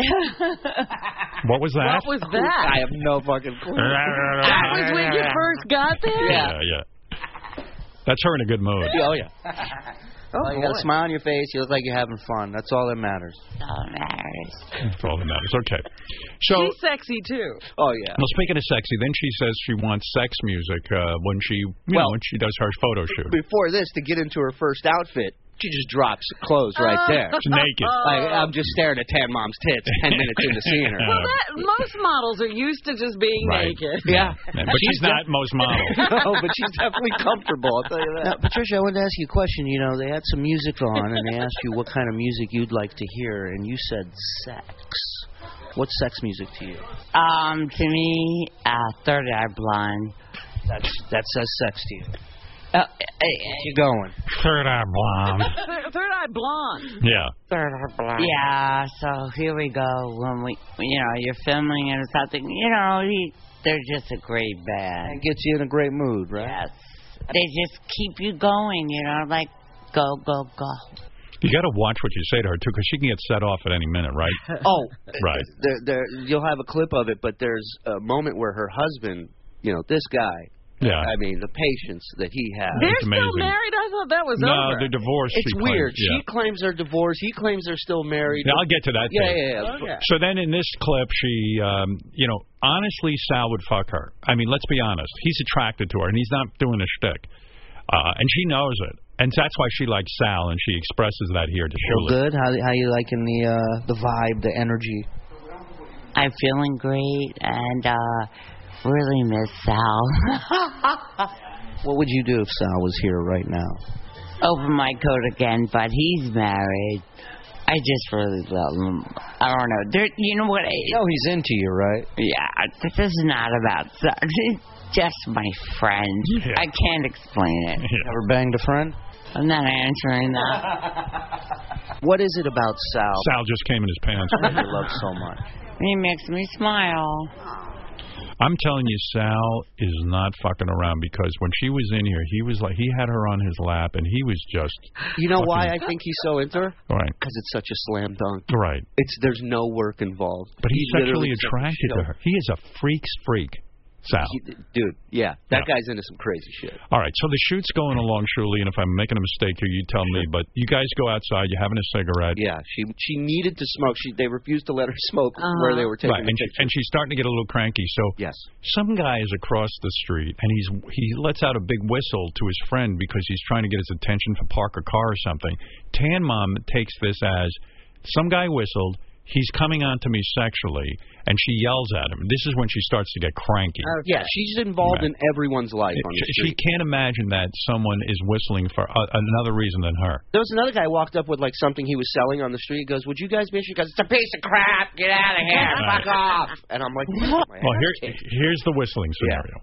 What was that? What was that? I have no fucking clue. That was when you first got there? Yeah. That's her in a good mood. Oh, yeah. You got a smile on your face. You look like you're having fun. That's all that matters. That's all that matters. That's all that matters. Okay. So, she's sexy, too. Oh, yeah. Well, speaking of sexy, then she says she wants sex music when she, when she does her photo shoot. Before this, to get into her first outfit, she just drops clothes right there. She's naked. I'm just staring at Tan Mom's tits 10 minutes into seeing her. Well, most models are used to just being naked. Yeah. But she's not most models. No, but she's definitely comfortable, I'll tell you that. Now, Patricia, I wanted to ask you a question. They had some music on, and they asked you what kind of music you'd like to hear, and you said sex. What's sex music to you? To me, Third Eye Blind. That says sex to you. Keep going. Third Eye Blonde. Third Eye Blonde. Yeah. Third Eye Blonde. Yeah, so here we go. When you're filming and something, they're just a great band. It gets you in a great mood, right? Yes. They just keep you going, like, go, go, go. You got to watch what you say to her, too, because she can get set off at any minute, right? Oh. Right. You'll have a clip of it, but there's a moment where her husband, this guy, yeah. I mean, the patience that he has. They're still married? I thought that was over. No, they're divorced. It's weird. She claims they're divorced. He claims they're still married. Yeah, I'll get to that. Yeah. Okay. So then in this clip, she, honestly, Sal would fuck her. I mean, let's be honest. He's attracted to her, and he's not doing a shtick. And she knows it. And that's why she likes Sal, and she expresses that here to Shuli. Good? How you liking the vibe, the energy? I'm feeling great, and really miss Sal. What would you do if Sal was here right now? Open my coat again, but he's married. I just really love him. I don't know. You know what? He's into you, right? Yeah, this is not about sex. He's just my friend. Yeah. I can't explain it. Yeah. Ever banged a friend? I'm not answering that. What is it about Sal? Sal just came in his pants. That you love so much. He makes me smile. I'm telling you, Sal is not fucking around, because when she was in here, he was like, he had her on his lap, and he was just... You know why I think he's so into her? Right. Because it's such a slam dunk. Right. There's no work involved. But he's sexually attracted to her. He is a freak's freak. Sal. Dude, that guy's into some crazy shit. All right, so the shoot's going along, Shuli, and if I'm making a mistake here, you tell me. But you guys go outside, you're having a cigarette. Yeah, she needed to smoke. They refused to let her smoke where they were taking the picture. And she's starting to get a little cranky. So some guy is across the street, and he lets out a big whistle to his friend because he's trying to get his attention to park a car or something. Tan Mom takes this as some guy whistled. He's coming on to me sexually, and she yells at him. This is when she starts to get cranky. Yeah, she's involved in everyone's life on the street. She can't imagine that someone is whistling for another reason than her. There was another guy walked up with like something he was selling on the street. He goes, "Would you guys be interested?" He goes, "It's a piece of crap. Get out of here. Fuck off." And I'm like, well, here's the whistling scenario.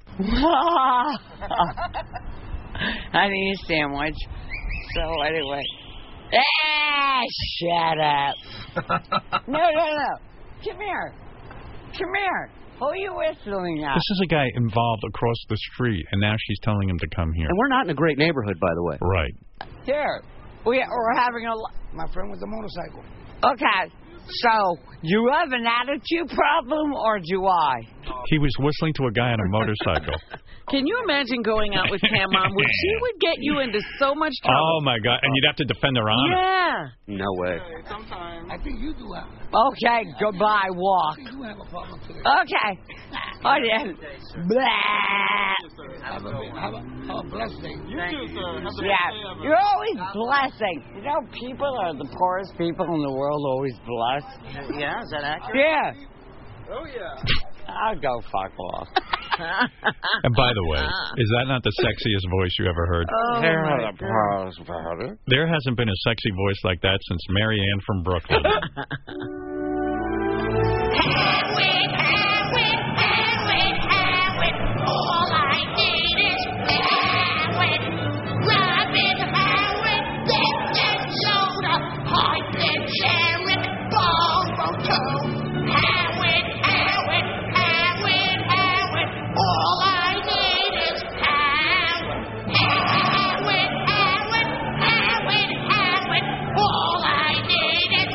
I need a sandwich. So anyway. Ah, shut up. No. Come here. Who are you whistling at? This is a guy involved across the street, and now she's telling him to come here. And we're not in a great neighborhood, by the way. Right. Here. We're having My friend with the motorcycle. Okay. So, you have an attitude problem, or do I? He was whistling to a guy on a motorcycle. Can you imagine going out with Tan Mom? She would get you into so much trouble. Oh, my God. And you'd have to defend her honor. Yeah. No way. Sometimes. I think you do have. Okay, goodbye, walk. I think you have a problem today. Okay. Oh, yeah. Blah. Have a blessed day. You too, sir. Yeah. You're always blessing. You know, people are the poorest people in the world, always blessed. Yeah, is that accurate? Yeah. Oh, yeah. I'll go fuck off. And by the way, is that not the sexiest voice you ever heard? Oh, there hasn't been a sexy voice like that since Mary Ann from Brooklyn. All I need is heroin. Robin Harris, Dick soda, pipe and Sharon, borrow too. Heroin. All I need is heroin. All I need is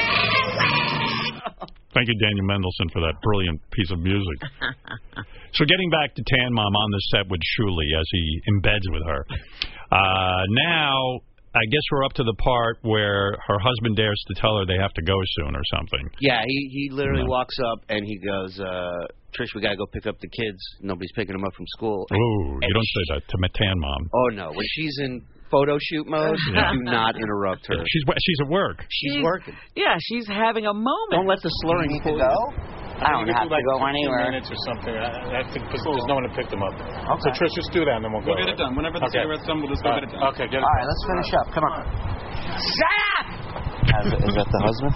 heroin. Thank you, Daniel Mendelsohn, for that brilliant piece of music. So getting back to Tan Mom on the set with Shuli as he embeds with her. Now, I guess we're up to the part where her husband dares to tell her they have to go soon or something. Yeah, he literally walks up and he goes, Trish, we got to go pick up the kids. Nobody's picking them up from school. Ooh, you don't say that to Tan Mom. Oh, no. When she's in photo shoot mode, do not interrupt her. She's at work. She's working. Yeah, she's having a moment. Don't let the slurring fool you. I don't have to go anywhere. Minutes or something. I think there's no one to pick them up. Okay. So Trish, just do that and then we'll go. We'll get it done. Whenever the cigarette's done, we'll just go get it done. Okay, get it All right, let's finish up. Come on. Shut up! Is that the husband?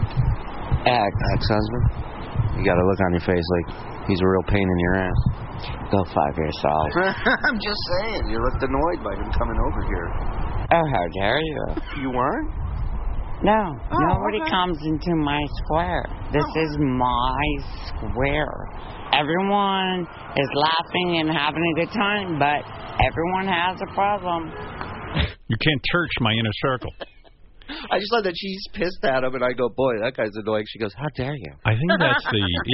Ex-husband? You got a look on your face like he's a real pain in your ass. Go fuck yourself. I'm just saying. You looked annoyed by him coming over here. Oh, how dare you? You weren't? No, nobody comes into my square. This is my square. Everyone is laughing and having a good time, but everyone has a problem. You can't church my inner circle. I just love that she's pissed at him, and I go, boy, that guy's annoying. She goes, how dare you? I think that's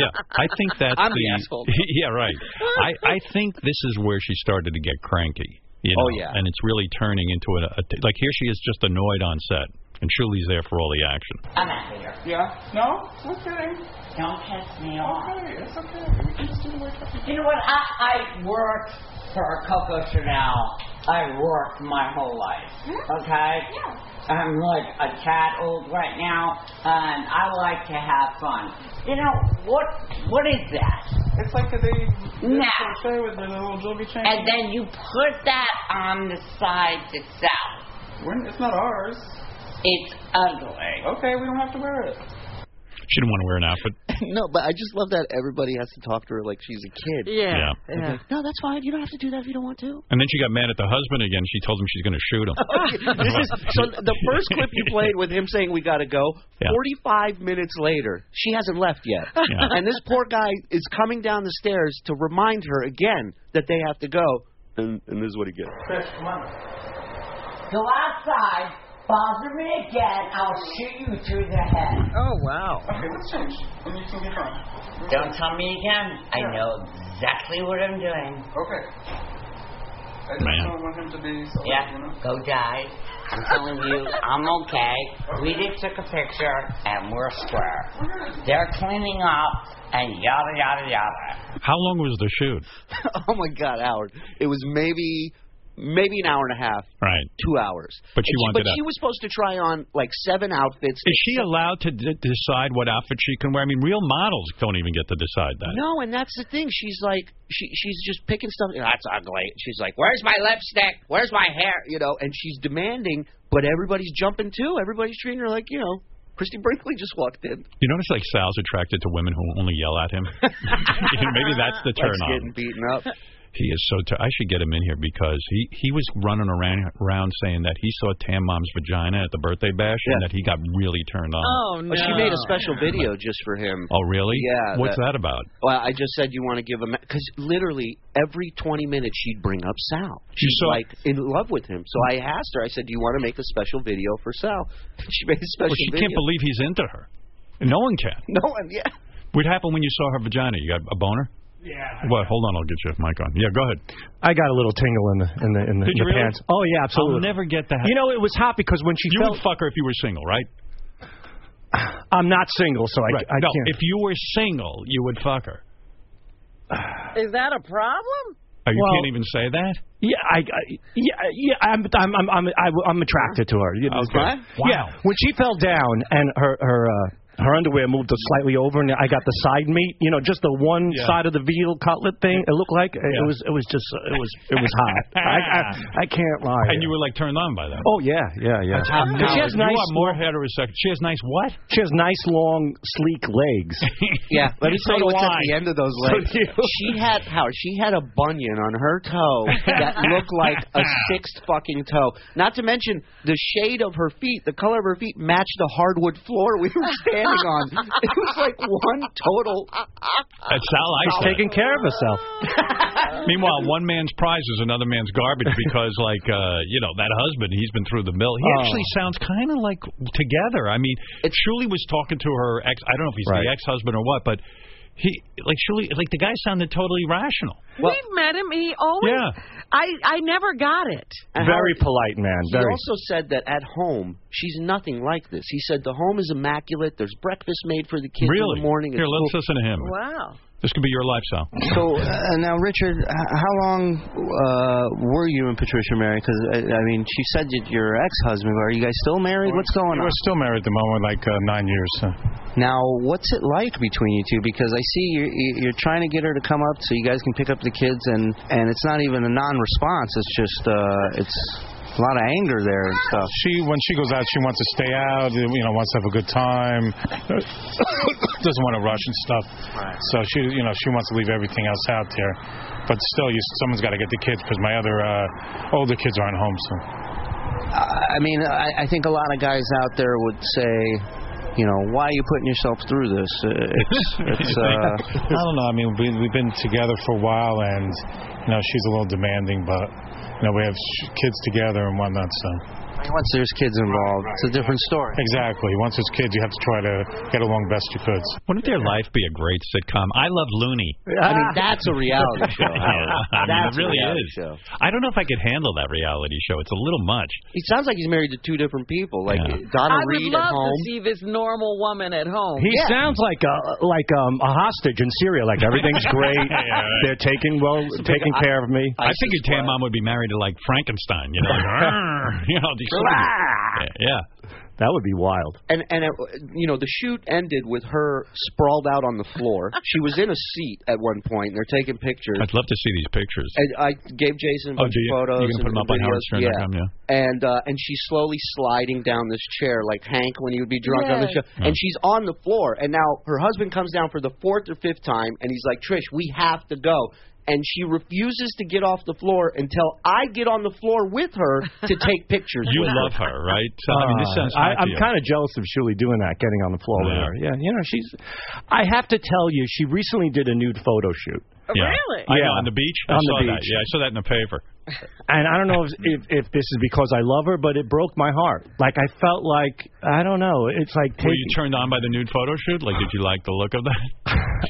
I'm the asshole. Yeah, right. I think this is where she started to get cranky. You know, oh, yeah. And it's really turning into like here she is just annoyed on set, and Shuli's there for all the action. I'm out of here. Yeah? No? Okay. Don't piss me off. Okay, it's okay. You know what? I worked for Coco Chanel. I worked my whole life. Okay? Yeah. I'm like a tad old right now, and I like to have fun. You know, what is that? It's like they crochet with the little jewelry chain. And then you put that on the side to sell. It's not ours. It's ugly. Okay, we don't have to wear it. She didn't want to wear an outfit. No, but I just love that everybody has to talk to her like she's a kid. Yeah. Like, no, that's fine. You don't have to do that if you don't want to. And then she got mad at the husband again. She told him she's going to shoot him. So the first clip you played with him saying we got to go, 45 minutes later, she hasn't left yet. Yeah. And this poor guy is coming down the stairs to remind her again that they have to go. And this is what he gets. Chris, come on. Go outside. Bother me again, I'll shoot you through the head. Oh, wow. Okay, let's change. And you can get on. Don't tell me again. I know exactly what I'm doing. Okay. I just don't want him to be so, yeah, you know? go die. I'm telling you, I'm okay. We just took a picture, and we're square. They're cleaning up, and yada, yada, yada. How long was the shoot? Oh, my God, Howard. It was maybe an hour and a half. Right. 2 hours. But she was supposed to try on like 7 outfits. Is she allowed to decide what outfit she can wear? I mean, real models don't even get to decide that. No, and that's the thing. She's like, she's just picking stuff. That's ugly. She's like, where's my lipstick? Where's my hair? You know, and she's demanding, but everybody's jumping too. Everybody's treating her like, you know, Christy Brinkley just walked in. You notice like Sal's attracted to women who only yell at him? Maybe that's the turn on. Getting beaten up. He is so... I should get him in here because he was running around saying that he saw Tam Mom's vagina at the birthday bash and that he got really turned on. Oh, no. She made a special video just for him. Oh, really? Yeah. What's that about? Well, I just said you want to give him... Because literally every 20 minutes she'd bring up Sal. She's like in love with him. So I asked her, I said, do you want to make a special video for Sal? She made a special video. Well, she can't believe he's into her. No one can. No one, yeah. What happened when you saw her vagina? You got a boner? Yeah. What? Hold on, I'll get you a mic on. Yeah, go ahead. I got a little tingle in the really? pants. Oh yeah, absolutely. I'll never get that. You know, it was hot because when she you would fuck her if you were single, right? I'm not single, so I no, can't. if you were single, you would fuck her. Is that a problem? Oh, you can't even say that? Yeah, I'm attracted to her. Okay. Wow. Yeah, when she fell down and her underwear moved slightly over, and I got the side meat. You know, just the one side of the veal cutlet thing. It looked like it was hot. I can't lie. And you were like turned on by that. Oh yeah. She has nice. You are more heterosexual. She has nice what? She has nice, long, sleek legs. Yeah. Let me tell you what's I. at the end of those legs. She had a bunion on her toe that looked like a sixth fucking toe. Not to mention the shade of her feet, the color of her feet matched the hardwood floor we were standing on. It was like one total. That's Sal Ice taking care of herself. Meanwhile, one man's prize is another man's garbage because, like, that husband, he's been through the mill. He actually sounds kind of like together. I mean, Shuli was talking to her ex. I don't know if he's the ex-husband or what, but Shuli, the guy sounded totally rational. We've met him. He always. Yeah. I never got it. Very polite man. He also said that at home she's nothing like this. He said the home is immaculate. There's breakfast made for the kids in the morning. Here, let's listen to him. Wow. This could be your lifestyle. So now, Richard, how long were you and Patricia married? Because I mean, she said that your ex-husband. Are you guys still married? What's going on? We're still married at the moment, like 9 years. Now, what's it like between you two? Because I see you're trying to get her to come up so you guys can pick up the kids, and it's not even a non-response. It's just it's a lot of anger there and stuff. When she goes out, she wants to stay out. Wants to have a good time. Doesn't want to rush and stuff. Right. So she wants to leave everything else out there. But still, someone's got to get the kids because my other older kids aren't home. So. I mean, I think a lot of guys out there would say, why are you putting yourself through this? It's I don't know. I mean, we've been together for a while, and she's a little demanding, but we have kids together and whatnot. So. Once there's kids involved, it's a different story. Exactly. Once there's kids, you have to try to get along best you could. Wouldn't their life be a great sitcom? I love Looney. I mean, that's a reality show. It really is. Show. I don't know if I could handle that reality show. It's a little much. He sounds like he's married to two different people. Like Donna Reed at home. I would love to see this normal woman at home. He sounds like a hostage in Syria. Like everything's great. They're taking care of me. I figured Tam Mom would be married to like Frankenstein. Yeah. That would be wild. And the shoot ended with her sprawled out on the floor. She was in a seat at one point, and they're taking pictures. I'd love to see these pictures. And I gave Jason a bunch of photos. You can put them up on HowardStern.com, And she's slowly sliding down this chair like Hank when he would be drunk on the show. Oh. And she's on the floor. And now her husband comes down for the 4th or 5th time, and he's like, Trish, we have to go. And she refuses to get off the floor until I get on the floor with her to take pictures You with love her, right? So, I mean, this sounds I'm kind of jealous of Shuli doing that, getting on the floor with her. Yeah, I have to tell you, she recently did a nude photo shoot. Really? On the beach? I saw that. Yeah, I saw that in the paper. And I don't know if this is because I love her, but it broke my heart. Like, I felt like, I don't know, it's like... Were you turned on by the nude photo shoot? Like, did you like the look of that?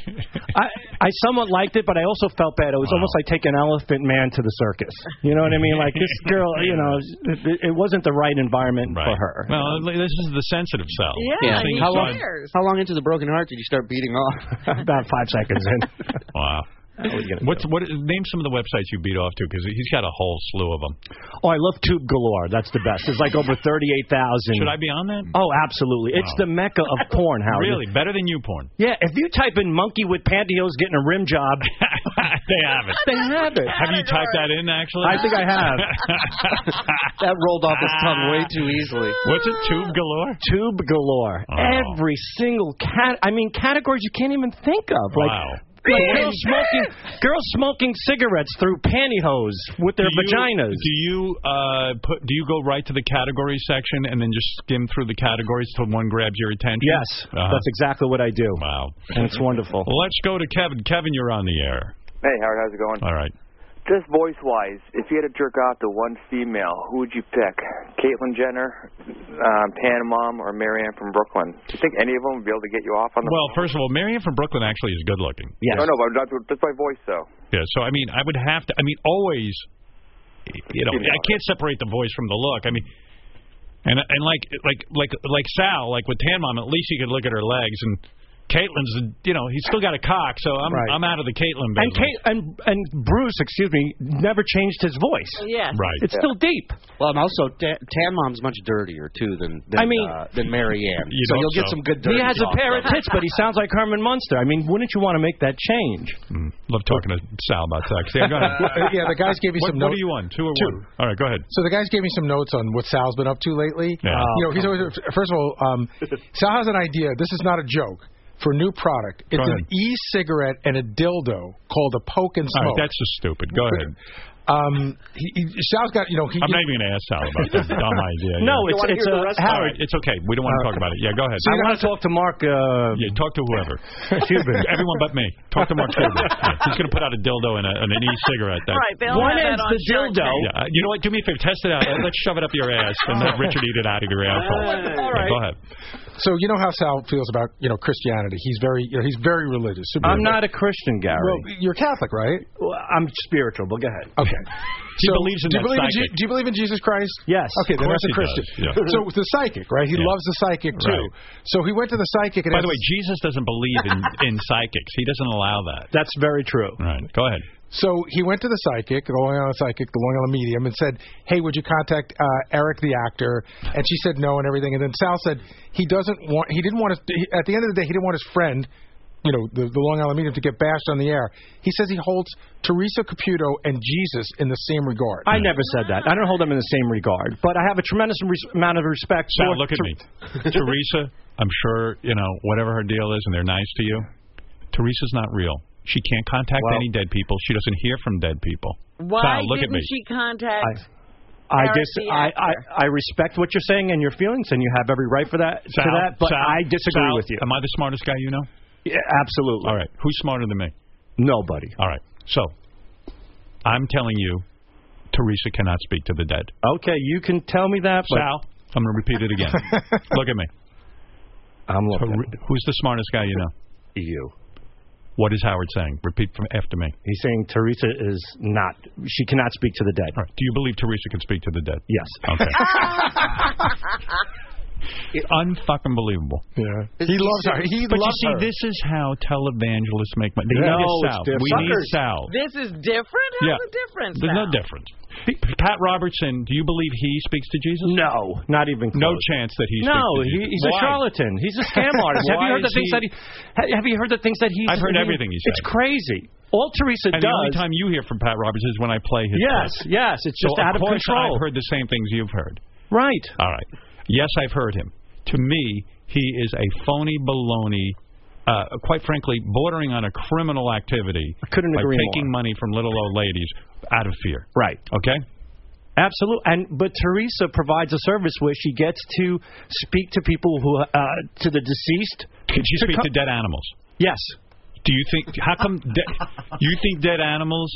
I somewhat liked it, but I also felt bad. It was almost like taking Elephant Man to the circus. You know what I mean? Like this girl, you know, it wasn't the right environment for her. Well, this is the sensitive Sal. Yeah. How long into the broken heart did you start beating off? About 5 seconds in. Wow. What? Name some of the websites you beat off to, because he's got a whole slew of them. Oh, I love Tube Galore. That's the best. There's like over 38,000. Should I be on that? Oh, absolutely. Wow. It's the mecca of porn, Howard. Really? Better than YouPorn? Yeah. If you type in monkey with pantyhose getting a rim job, they have it. They have it. Have you typed that in, actually? I think I have. That rolled off his tongue way too easily. What's it? Tube Galore? Tube Galore. Oh. Every single categories you can't even think of. Wow. Like girls smoking cigarettes through pantyhose with their vaginas. Do you go right to the categories section and then just skim through the categories till one grabs your attention? Yes, that's exactly what I do. Wow, and it's wonderful. Well, let's go to Kevin. Kevin, you're on the air. Hey, Howard, how's it going? All right. Just voice-wise, if you had to jerk off to one female, who would you pick? Caitlyn Jenner, Tana Mom, or Marianne from Brooklyn? Do you think any of them would be able to get you off on the phone? First of all, Marianne from Brooklyn actually is good-looking. Yes. No, but that's my voice, though. Yeah, so, I mean, I would have to, always, I can't separate the voice from the look. I mean, and like Sal, like with Tan Mom, at least you could look at her legs, and Caitlyn's, he's still got a cock, so I'm out of the Caitlyn business. And Bruce, never changed his voice. Yeah. Right. It's still deep. Well, and also, Tan Mom's much dirtier, too, than Marianne. So you'll get some good dirty He has a pair of tits, but he sounds like Herman Munster. I mean, wouldn't you want to make that change? Love talking to Sal about sex. Yeah, go ahead. Yeah, the guys gave me some notes. What do you want? Two or one? All right, go ahead. So the guys gave me some notes on what Sal's been up to lately. Yeah. He's always, first of all, Sal has an idea. This is not a joke. For a new product. It's an e-cigarette and a dildo called a Poke and Smoke. All right, that's just stupid. Go ahead. Sal's got, I'm not even going to ask Sal about that dumb idea. No, it's Howard. It's okay. We don't want to talk about it. Yeah, go ahead. So I want to talk to Mark. Talk to whoever. Cuban. Everyone but me. Talk to Mark Cuban. Yeah, he's going to put out a dildo and an e-cigarette. One is the dildo. Yeah, you know what? Do me a favor. Test it out. Let's shove it up your ass and let Richard eat it out of your asshole. All right. Go ahead. So you know how Sal feels about Christianity. He's very religious. I'm not a Christian, Gary. Well, you're Catholic, right? Well, I'm spiritual, but go ahead. Okay. He believes in do you believe in Jesus Christ? Yes. Okay, then that's a Christian. Yeah. So the psychic, right? He loves the psychic too. Right. So he went to the psychic. And by the way, Jesus doesn't believe in psychics. He doesn't allow that. That's very true. Right. Go ahead. So he went to the psychic, the Long Island psychic, the Long Island medium, and said, "Hey, would you contact Eric the actor?" And she said no and everything. And then Sal said he didn't want at the end of the day, he didn't want his friend, the Long Island medium, to get bashed on the air. He says he holds Teresa Caputo and Jesus in the same regard. I never said that. I don't hold them in the same regard, but I have a tremendous amount of respect. Sal, look at me. Teresa, I'm sure, whatever her deal is, and they're nice to you, Teresa's not real. She can't contact any dead people. She doesn't hear from dead people. Why Sal, look didn't at me. she contact I respect what you're saying and your feelings, and you have every right for that. But I disagree with you. Am I the smartest guy you know? Yeah, absolutely. All right. Who's smarter than me? Nobody. All right. So, I'm telling you, Teresa cannot speak to the dead. Okay, you can tell me that. But Sal, I'm going to repeat it again. Look at me. I'm looking. Who's the smartest guy you know? You. What is Howard saying? Repeat after me. He's saying Teresa is not. She cannot speak to the dead. All right. Do you believe Teresa can speak to the dead? Yes. Okay. Unfucking believable. Yeah. He loves her. But you see, this is how televangelists make money. No, it's different. We need Sal. This is different? How's it different, There's Sal? no difference. Pat Robertson, do you believe he speaks to Jesus? No, not even close. No chance that he speaks to Jesus. He's a charlatan. He's a scam artist. Have you heard the things that Have you heard the things that he's? I've heard everything he said. It's crazy. All Teresa does. The only time you hear from Pat Robertson is when I play his clip. Yes. It's just out of control. I've heard the same things you've heard. Right. All right. Yes, I've heard him. To me, he is a phony baloney. Quite frankly, bordering on a criminal activity. I couldn't agree more. By taking money from little old ladies out of fear. Right. Okay? Absolutely. But Teresa provides a service where she gets to speak to people who, to the deceased. Can she speak to dead animals? Yes. Do you think, how come, you think dead animals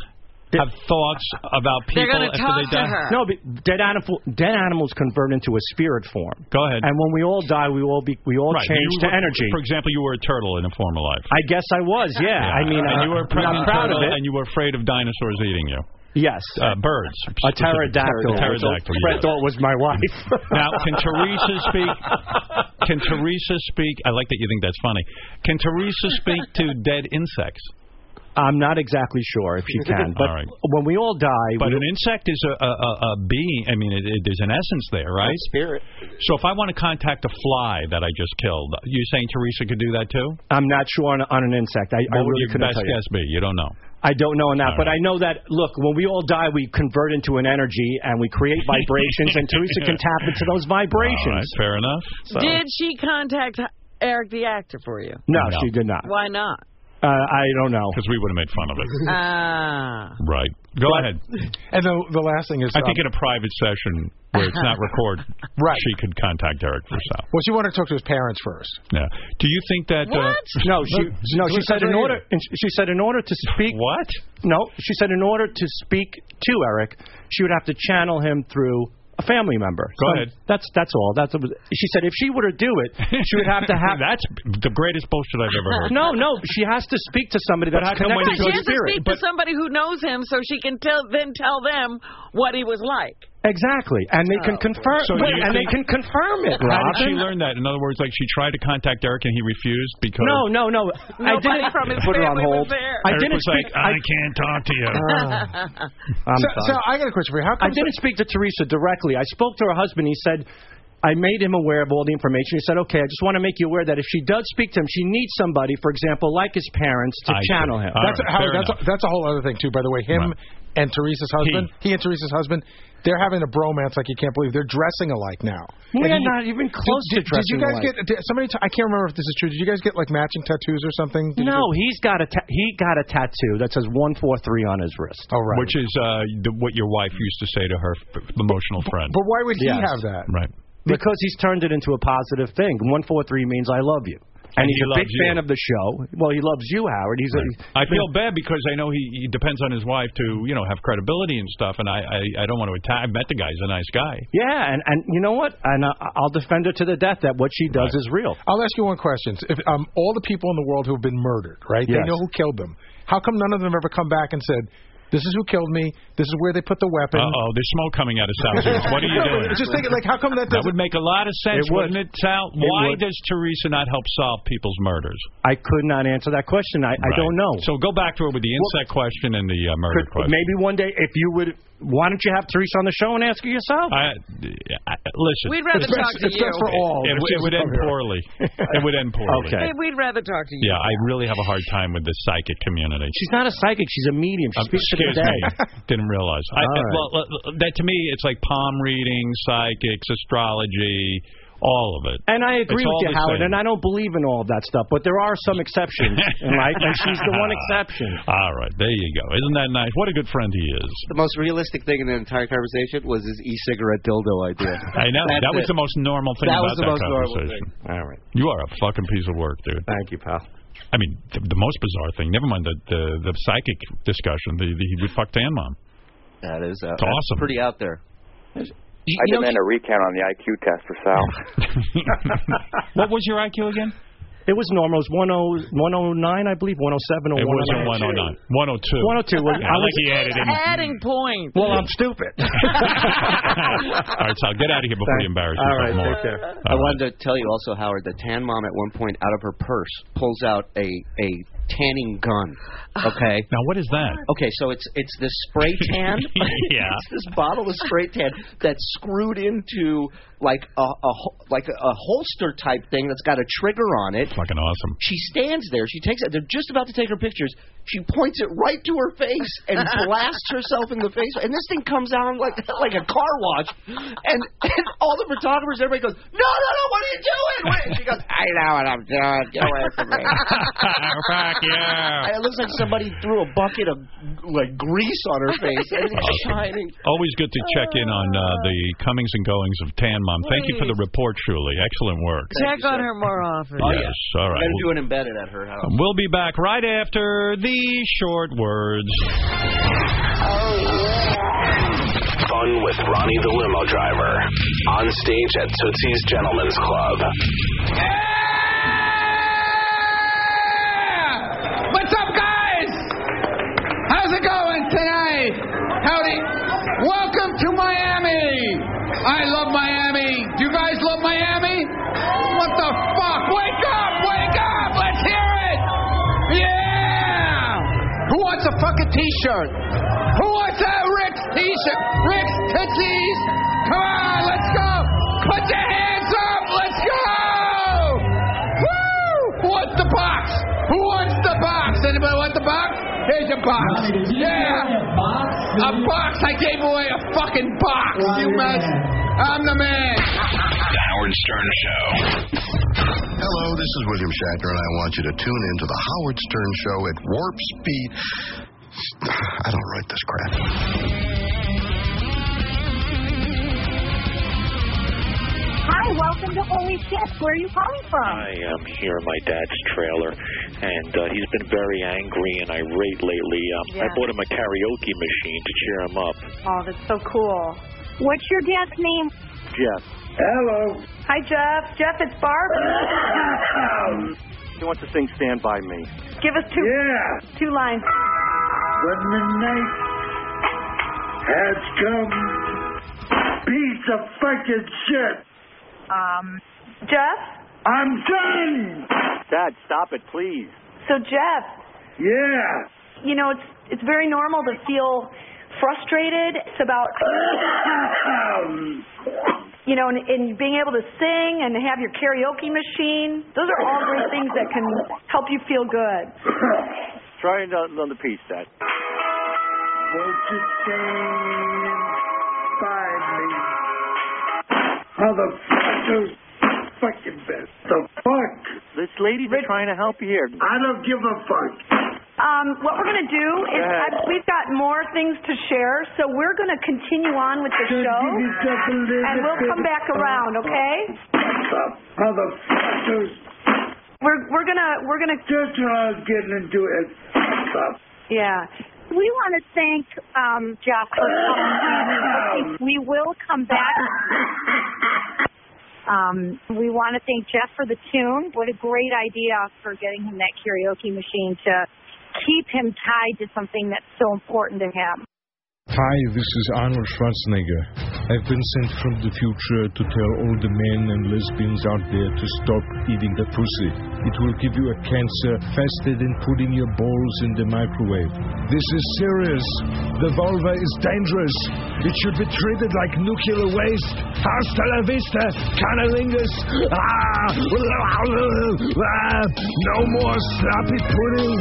have thoughts about people They're going to talk after they die? to her. No, but dead animals convert into a spirit form. Go ahead. And when we all die, we all change to energy. For example, you were a turtle in a former life. I guess I was, yeah. I mean, and you were a I'm proud of it. and you were afraid of dinosaurs eating you. Yes. Birds. A pterodactyl. Pterodactyl. Fred thought was my wife. Now, can Teresa speak? Can Teresa speak? I like that you think that's funny. Can Teresa speak to dead insects? I'm not exactly sure if she can, but when we all die... But an insect is a being. I mean, there's an essence there, right? A spirit. So if I want to contact a fly that I just killed, you're saying Teresa could do that too? I'm not sure on an insect. I what would really your couldn't best tell you. guess be? You don't know. I don't know on that, All but I know that, look, when we all die, we convert into an energy and we create vibrations, and Teresa can tap into those vibrations. All right, fair enough. So. Did she contact Eric the actor for you? No, she did not. Why not? I don't know. Because we would have made fun of it. Right. Go ahead. And the last thing is... I think in a private session where it's not recorded, she could contact Eric Versal. Well, she wanted to talk to his parents first. Yeah. Do you think that... No, she said in order... She said in order to speak... What? No, she said in order to speak to Eric, she would have to channel him through a family member. Go ahead. That's all. She said if she were to do it, she would have to have... That's the greatest bullshit I've ever heard. No, she has to speak to somebody that's connected to She a has to spirit. speak to somebody who knows him so she can then tell them what he was like. Exactly, and they can confirm. They can confirm it. How did she learn that? In other words, like she tried to contact Eric and he refused because. No. I Nobody didn't from his put her on family hold. was there. I Eric didn't was speak. like, I can't talk to you. So I got a question for you. How come I didn't speak to Teresa directly. I spoke to her husband. He said, I made him aware of all the information. He said, okay, I just want to make you aware that if she does speak to him, she needs somebody, for example, like his parents, to channel him. That's a whole other thing, too, by the way. Him and Teresa's husband, he and Teresa's husband, they're having a bromance like you can't believe. They're dressing alike now. We're not even close to dressing alike. Did you guys get, I can't remember if this is true, did you guys get like matching tattoos or something? No, he got a tattoo that says 143 on his wrist. Oh, right. Which is what your wife used to say to her emotional friend. But why would he have that? Right. Because he's turned it into a positive thing. 143 means I love you. And he's a big fan of the show. Well, he loves you, Howard. I feel bad because I know he depends on his wife to, have credibility and stuff, and I don't want to attack. I met the guy. He's a nice guy. Yeah, and you know what? And I'll defend her to the death that what she does is real. I'll ask you one question. If all the people in the world who have been murdered, right? They know who killed them. How come none of them ever come back and said, this is who killed me. This is where they put the weapon. There's smoke coming out of Sal's ears. What are you doing? Just thinking, how come that would make a lot of sense, wouldn't it, Sal? Why does Teresa not help solve people's murders? I could not answer that question. I don't know. So go back to her with the insect question and the murder question. Maybe one day, if you would, why don't you have Teresa on the show and ask her yourself? Listen. We'd rather talk to you. It's best for all. It would end poorly. It would end poorly. Okay. Hey, we'd rather talk to you. Yeah, I really have a hard time with the psychic community. She's not a psychic. She's a medium. She speaks to the dead. Didn't realize. Well, that to me, it's like palm reading, psychics, astrology, all of it. And I agree with you, Howard, and I don't believe in all of that stuff, but there are some exceptions in life, and she's the one exception. All right, there you go. Isn't that nice? What a good friend he is. The most realistic thing in the entire conversation was his e-cigarette dildo idea. I know. That was the most normal thing about that conversation. All right. You are a fucking piece of work, dude. Thank you, pal. I mean, the most bizarre thing, never mind the psychic discussion, he would fuck Tan Mom. That is awesome. Pretty out there. I demand a recount on the IQ test for Sal. What was your IQ again? It was normal. It was 109, I believe, 107 or 109. It wasn't 109. 102. 102. Well, I like he added in. Adding points. Well, I'm stupid. All right, Sal, get out of here before you embarrass yourself more. more. Take care. I wanted to tell you also, Howard, that Tan Mom at one point out of her purse pulls out a tanning gun. Okay. Now what is that? Okay, so it's this spray tan. Yeah. It's this bottle of spray tan that's screwed into like a holster type thing that's got a trigger on it. Fucking awesome. She stands there. She takes it. They're just about to take her pictures. She points it right to her face and blasts herself in the face. And this thing comes out like a car wash. And all the photographers, everybody goes, no, what are you doing? And she goes, I know what I'm doing. Get away from me. back, yeah. And it looks like somebody threw a bucket of like grease on her face. Everything's shining. Always good to check in on the comings and goings of Tan Mom. Thank you for the report, Julie. Excellent work. Check on her more often. Oh, yes, all right. We're going to do an embedded at her house. We'll be back right after these short words. Fun with Ronnie the Limo Driver. On stage at Tootsie's Gentlemen's Club. What's up, guys? How's it going tonight? Howdy. Welcome to Miami. I love Miami. Do you guys love Miami? What the fuck? Wake up! Wake up! Let's hear it! Yeah! Who wants a fucking t-shirt? Who wants a Rick's t-shirt? Rick's Tootsies! Come on, let's go! Put your hands up! Let's go! Woo! Who wants the box? Who wants the box? Anybody want the box? Here's your box. Yeah. A box. I gave away a fucking box. You mess. I'm the man. The Howard Stern Show. Hello, this is William Shatner, and I want you to tune in to the Howard Stern Show at warp speed. I don't write this crap. Hi, welcome to Holy Shit. Where are you calling from? I am here in my dad's trailer, and he's been very angry and irate lately. I bought him a karaoke machine to cheer him up. Oh, that's so cool. What's your dad's name? Jeff. Hello. Hi, Jeff. Jeff, it's Barb. He wants to sing Stand By Me. Give us two lines. When the night has come, piece of fucking shit. Jeff? I'm done. Dad, stop it, please. So, Jeff. Yeah. You know, it's very normal to feel frustrated. It's about, you know, and being able to sing and have your karaoke machine. Those are all great things that can help you feel good. Try another piece, Dad. Won't you stand by me? Motherfuckers. Fucking best. The fuck? This lady's trying to help you here. I don't give a fuck. What we're going to do is we've got more things to share, so we're going to continue on with the show, and we'll come back around, okay? Motherfuckers. We're gonna. Just what I was getting into it. Yeah. We want to thank Jeff for coming. We will come back. We want to thank Jeff for the tune. What a great idea for getting him that karaoke machine to keep him tied to something that's so important to him. Hi, this is Arnold Schwarzenegger. I've been sent from the future to tell all the men and lesbians out there to stop eating the pussy. It will give you a cancer faster than putting your balls in the microwave. This is serious. The vulva is dangerous. It should be treated like nuclear waste. Hasta la vista, cunnilingus. No more sloppy pudding.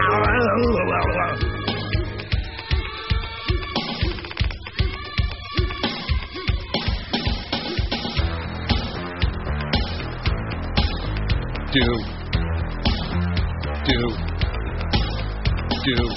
Do.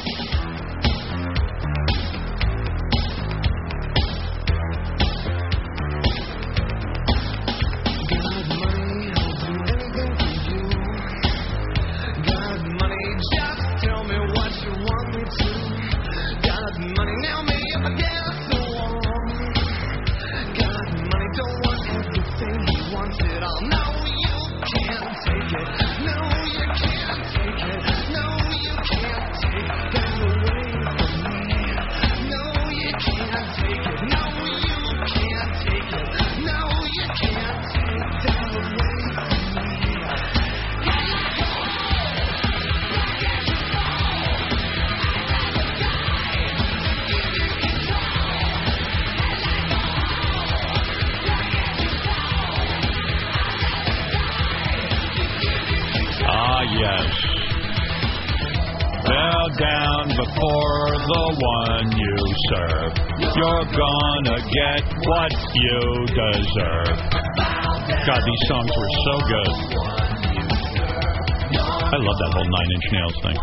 Down before the one you serve. You're gonna get what you deserve. God, these songs were so good. I love that whole Nine Inch Nails thing.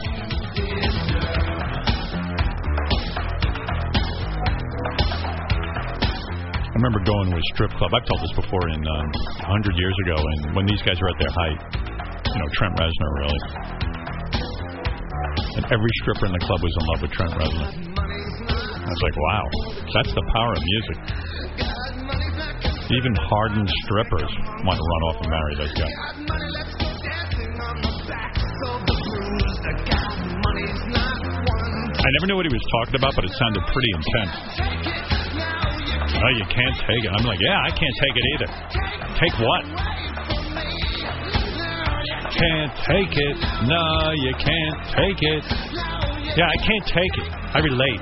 I remember going to a strip club. I've told this before 100 years ago, and when these guys were at their height, Trent Reznor, really. And every stripper in the club was in love with Trent Reznor. I was like, wow, that's the power of music. Even hardened strippers want to run off and marry those guys. I never knew what he was talking about, but it sounded pretty intense. Oh, you can't take it. I'm like, yeah, I can't take it either. Take what? Can't take it. No, you can't take it. Yeah, I can't take it. I relate.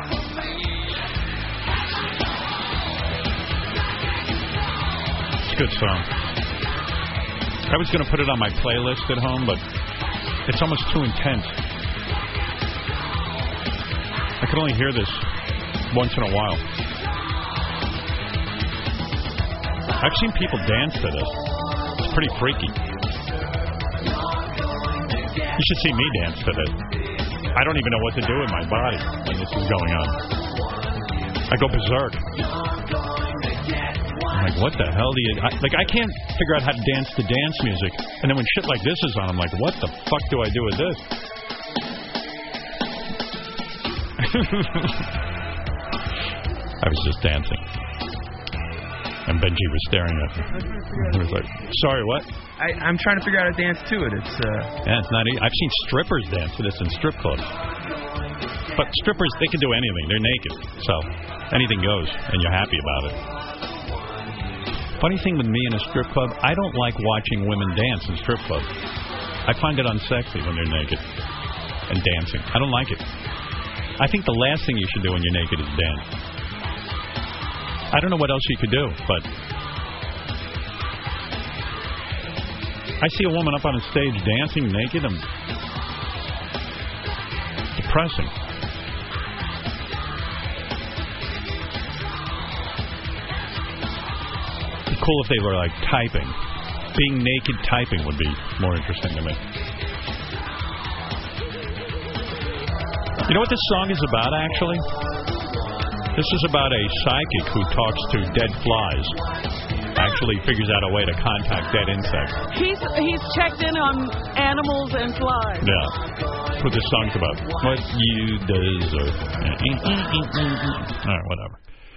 It's a good song. I was going to put it on my playlist at home, but it's almost too intense. I can only hear this once in a while. I've seen people dance to this. It's pretty freaky. You should see me dance to this. I don't even know what to do with my body when this is going on. I go berserk. I'm like, what the hell do you... I can't figure out how to dance to dance music. And then when shit like this is on, I'm like, what the fuck do I do with this? I was just dancing. And Benji was staring at me. He was like, sorry, what? I'm trying to figure out how to dance to it. Yeah, it's not easy. I've seen strippers dance to this in strip clubs. But strippers, they can do anything. They're naked. So anything goes, and you're happy about it. Funny thing with me in a strip club, I don't like watching women dance in strip clubs. I find it unsexy when they're naked and dancing. I don't like it. I think the last thing you should do when you're naked is dance. I don't know what else you could do, but I see a woman up on a stage dancing naked. I'm depressing. It'd be cool if they were like typing. Being naked typing would be more interesting to me. You know what this song is about, actually? This is about a psychic who talks to dead flies. Actually figures out a way to contact dead insects. He's checked in on animals and flies. Yeah. That's what this song's about. What you deserve. All right, whatever.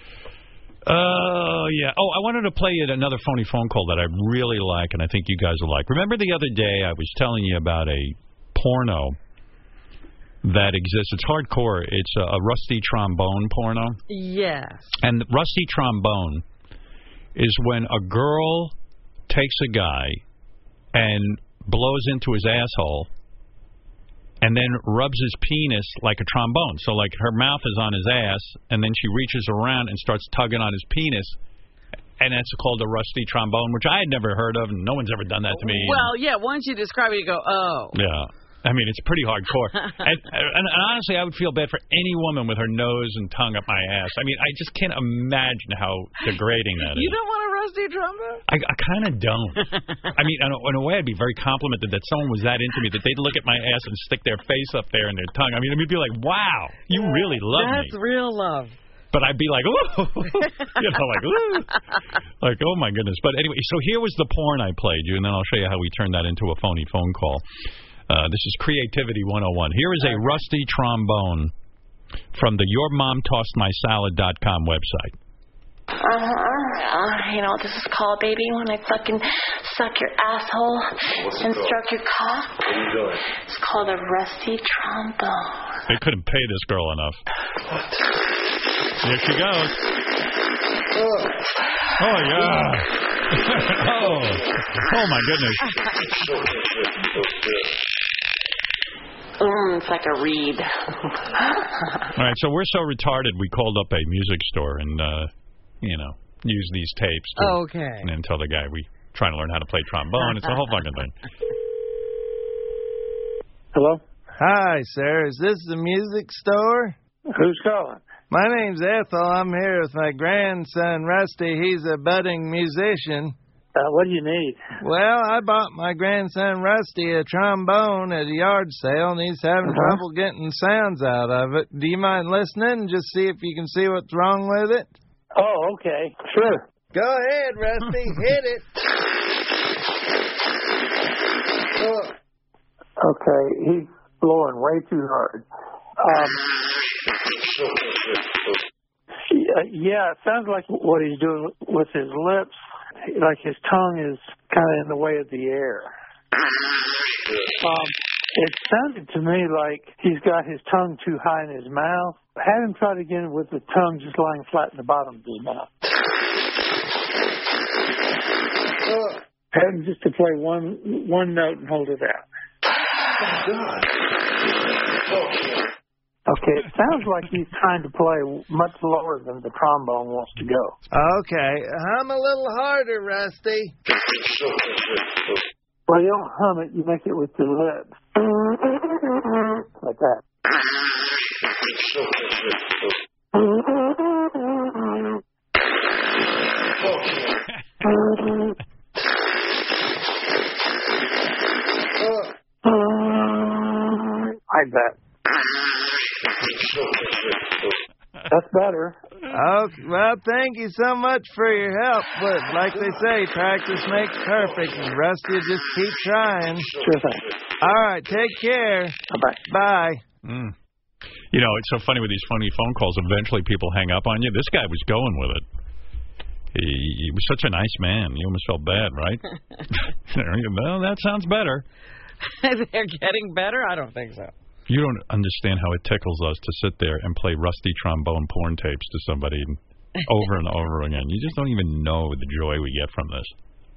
Yeah. Oh, I wanted to play you another phony phone call that I really like and I think you guys will like. Remember the other day I was telling you about a porno that exists. It's hardcore. It's a Rusty Trombone porno. Yes. And Rusty Trombone is when a girl takes a guy and blows into his asshole and then rubs his penis like a trombone. So, like, her mouth is on his ass, and then she reaches around and starts tugging on his penis. And that's called a Rusty Trombone, which I had never heard of, and no one's ever done that to me. Well, yeah, once you describe it, you go, oh. Yeah. I mean, it's pretty hardcore. and honestly, I would feel bad for any woman with her nose and tongue up my ass. I mean, I just can't imagine how degrading that is. You don't want a rusty trombone? I kind of don't. I mean, in a way, I'd be very complimented that someone was that into me, that they'd look at my ass and stick their face up there and their tongue. I mean, I'd be like, wow, you really love me. That's real love. But I'd be like, ooh, like, ooh. Like, oh, my goodness. But anyway, so here was the porn I played you, and then I'll show you how we turned that into a phony phone call. This is Creativity 101. Here is a Rusty Trombone from the YourMomTossedMySalad.com website. You know what this is called, baby? When I fucking suck your asshole and stroke your cock? What are you doing? It's called a Rusty Trombone. They couldn't pay this girl enough. What? Here she goes. Oh, yeah. Oh, my goodness. It's like a reed. All right, so we're so retarded, we called up a music store and, used these tapes. Okay. And then tell the guy we trying to learn how to play trombone. It's a whole fucking thing. Hello? Hi, sir. Is this the music store? Who's calling? My name's Ethel. I'm here with my grandson, Rusty. He's a budding musician. What do you need? Well, I bought my grandson Rusty a trombone at a yard sale, and he's having trouble getting sounds out of it. Do you mind listening and just see if you can see what's wrong with it? Oh, okay. Sure. Go ahead, Rusty. Hit it. Okay, he's blowing way too hard. Yeah, it sounds like what he's doing with his lips, like his tongue is kind of in the way of the air. It sounded to me like he's got his tongue too high in his mouth. Have him try it again with the tongue just lying flat in the bottom of his mouth. Have him just to play one note and hold it out. Okay, it sounds like he's trying to play much lower than the trombone wants to go. Okay, hum a little harder, Rusty. Well, you don't hum it, you make it with your lips. Like that. Like that. That's better. Okay, well, thank you so much for your help. But like they say, practice makes perfect, and Rusty will just keep trying. Sure thing. All right, take care. Bye-bye. Bye. You know, it's so funny with these funny phone calls. Eventually people hang up on you. This guy was going with it. He was such a nice man. You almost felt bad, right? Well, that sounds better. They're getting better? I don't think so. You don't understand how it tickles us to sit there and play rusty trombone porn tapes to somebody over and over again. You just don't even know the joy we get from this.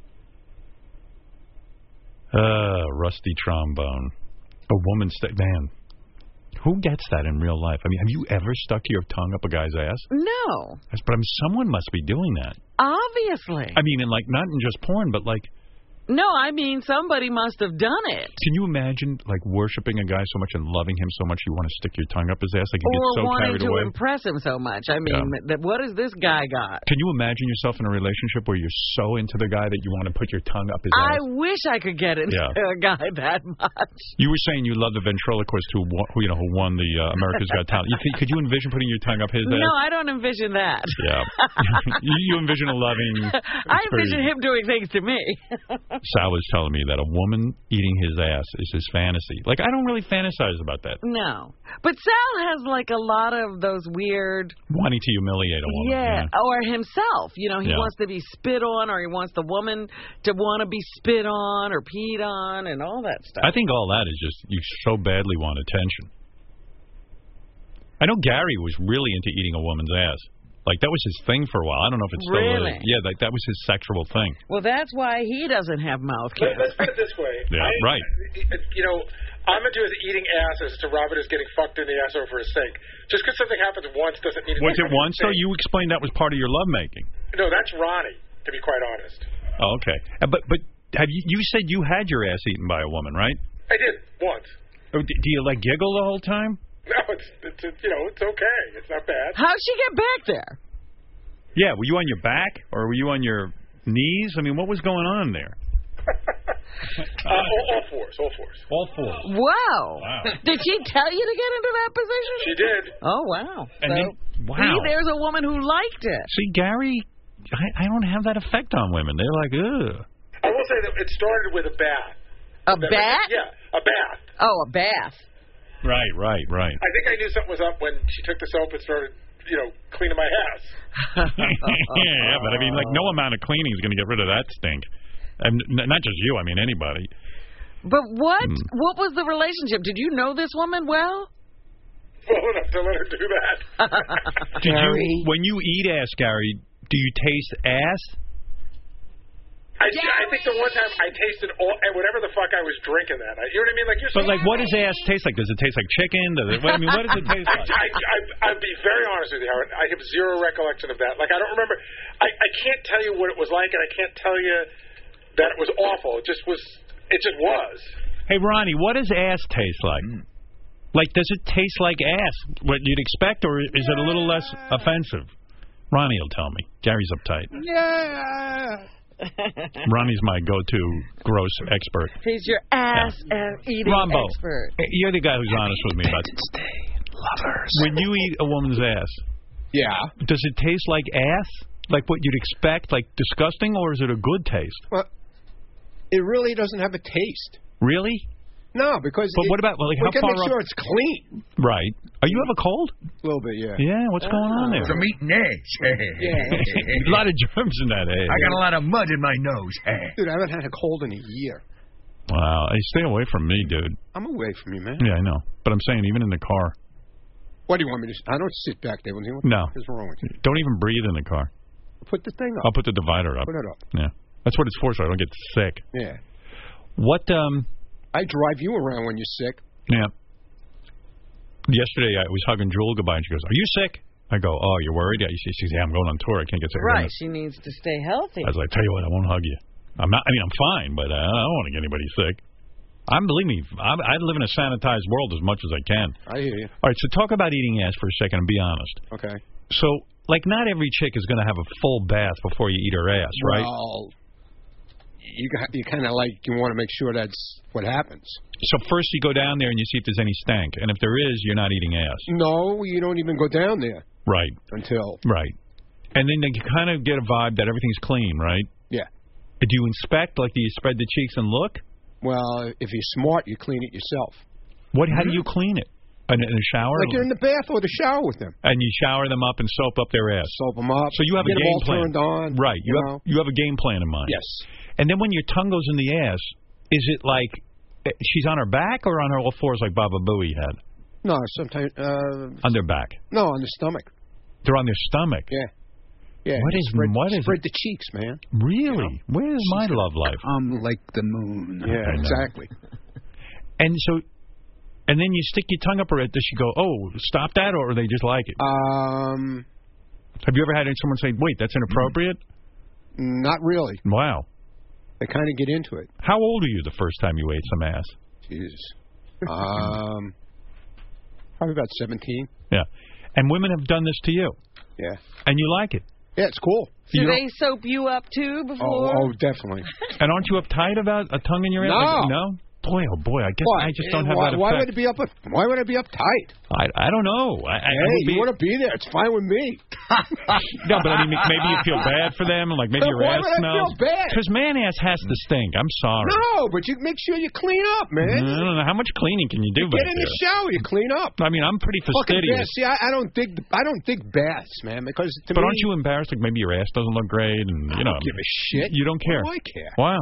Rusty trombone. A woman, man. Who gets that in real life? I mean, have you ever stuck your tongue up a guy's ass? No. But someone must be doing that. Obviously. I mean, not in just porn, but like... No, I mean, somebody must have done it. Can you imagine, like, worshiping a guy so much and loving him so much you want to stick your tongue up his ass? Like, you get so carried away? Or wanting to impress him so much. I mean, what has this guy got? Can you imagine yourself in a relationship where you're so into the guy that you want to put your tongue up his ass? I wish I could get into a guy that much. You were saying you love the ventriloquist who won the America's Got Talent. Could you envision putting your tongue up his ass? No, I don't envision that. Yeah. You envision a loving... I envision him doing things to me. Sal was telling me that a woman eating his ass is his fantasy. Like, I don't really fantasize about that. No. But Sal has, like, a lot of those weird... Wanting to humiliate a woman. Yeah, or himself. You know, he wants to be spit on, or he wants the woman to want to be spit on or peed on and all that stuff. I think all that is just you so badly want attention. I know Gary was really into eating a woman's ass. Like, that was his thing for a while. I don't know if it's still really. Yeah, that was his sexual thing. Well, that's why he doesn't have mouth cancer. Let's put it this way. Yeah, right. You know, I'm into his eating asses to Robert is getting fucked in the ass over a sink. Just because something happens once doesn't mean it's... Was it once, though? You explained that was part of your lovemaking. No, that's Ronnie, to be quite honest. Oh, okay. But have you said you had your ass eaten by a woman, right? I did, once. Oh, do you, like, giggle the whole time? No, it's you know, it's okay. It's not bad. How'd she get back there? Yeah, were you on your back or were you on your knees? I mean, what was going on there? All fours. All fours. Wow. Did she tell you to get into that position? She did. Oh, wow. And so, then, wow. See, there's a woman who liked it. See, Gary, I don't have that effect on women. They're like, ugh. I will say that it started with a bath. A bath? Yeah, a bath. Oh, a bath. Right. I think I knew something was up when she took the soap and started, cleaning my ass. Yeah, but I mean, like, no amount of cleaning is going to get rid of that stink. And not just you, I mean, anybody. But what was the relationship? Did you know this woman well? Well enough to let her do that. When you eat ass, Gary, do you taste ass? I think the one time I tasted whatever the fuck I was drinking that night. You know what I mean? Like you're saying. But like, what does ass taste like? Does it taste like chicken? What does it taste like? I'll be very honest with you, Howard. I have zero recollection of that. Like, I don't remember. I can't tell you what it was like, and I can't tell you that it was awful. It just was. Hey, Ronnie, what does ass taste like? Like, does it taste like ass? What you'd expect, or is it a little less offensive? Ronnie will tell me. Gary's uptight. Yeah. Ronnie's my go-to gross expert. He's your ass-eating Rambo, expert. you're the guy who's honest with me about it. Lovers. When you eat a woman's ass, does it taste like ass? Like what you'd expect? Like disgusting? Or is it a good taste? Well, it really doesn't have a taste. Really? No, because but what about like we how gotta far make sure it's clean. Right. Are you have a cold? A little bit, yeah. Yeah. What's going on there? From eating eggs. A lot of germs in that egg. I got a lot of mud in my nose. Dude, I haven't had a cold in a year. Wow. Hey, stay away from me, dude. I'm away from you, man. Yeah, I know. But I'm saying even in the car. What do you want me to? I don't sit back there. What No. the fuck is wrong with you? Don't even breathe in the car. Put the thing up. I'll put the divider up. Put it up. Yeah. That's what it's for, so I don't get sick. Yeah. What? I drive you around when you're sick. Yeah. Yesterday I was hugging Jewel goodbye, and she goes, "Are you sick?" I go, "Oh, you're worried?" Yeah. She says, "Yeah, I'm going on tour. I can't get sick." Right. She needs to stay healthy. I was like, "Tell you what, I won't hug you. I'm not. I mean, I'm fine, but I don't want to get anybody sick. Believe me, I live in a sanitized world as much as I can." I hear you. All right, so talk about eating ass for a second and be honest. Okay. So, like, not every chick is going to have a full bath before you eat her ass, right? Well, you kind of like you want to make sure that's what happens. So first you go down there and you see if there's any stank, and if there is, you're not eating ass. No, you don't even go down there. Right. Until. Right. And then you kind of get a vibe that everything's clean, right? Yeah. Do you inspect? Like, do you spread the cheeks and look? Well, if you're smart, you clean it yourself. How do you clean it? In a shower? Like you're in the bath or the shower with them. And you shower them up and soap up their ass. Soap them up. So you have a get game them all plan. Turned on. Right. You have a game plan in mind. Yes. And then when your tongue goes in the ass, is it like she's on her back or on her all fours like Baba Booey had? No, sometimes. On their back. No, on the stomach. They're on their stomach. Yeah. Yeah. Spread the cheeks, man. Really? You know? Where's my love life? I'm like the moon. Yeah, exactly. And so, and then you stick your tongue up her. Does she go, "Oh, stop that," or they just like it? Have you ever had someone say, "Wait, that's inappropriate"? Not really. Wow. They kind of get into it. How old were you the first time you ate some ass? Jesus. Probably about 17. Yeah. And women have done this to you. Yeah. And you like it. Yeah, it's cool. Do they soap you up too before? Oh, definitely. And aren't you uptight about a tongue in your ass? No. No? Boy, oh boy, I guess I just don't have that effect. Why would it be why would it be uptight? I don't know. You want to be there. It's fine with me. No, but I mean, maybe you feel bad for them, and like maybe your Why ass would smells. I feel bad? Because man ass has to stink. I'm sorry. No, but you make sure you clean up, man. I don't know how much cleaning can you do. Get in the shower, you clean up. I mean, I'm pretty Fucking fastidious. baths. See, I don't dig baths, man, because to But me, aren't you embarrassed? Like maybe your ass doesn't look great, and you know. I don't give a shit. You don't care. Why do I care? Wow.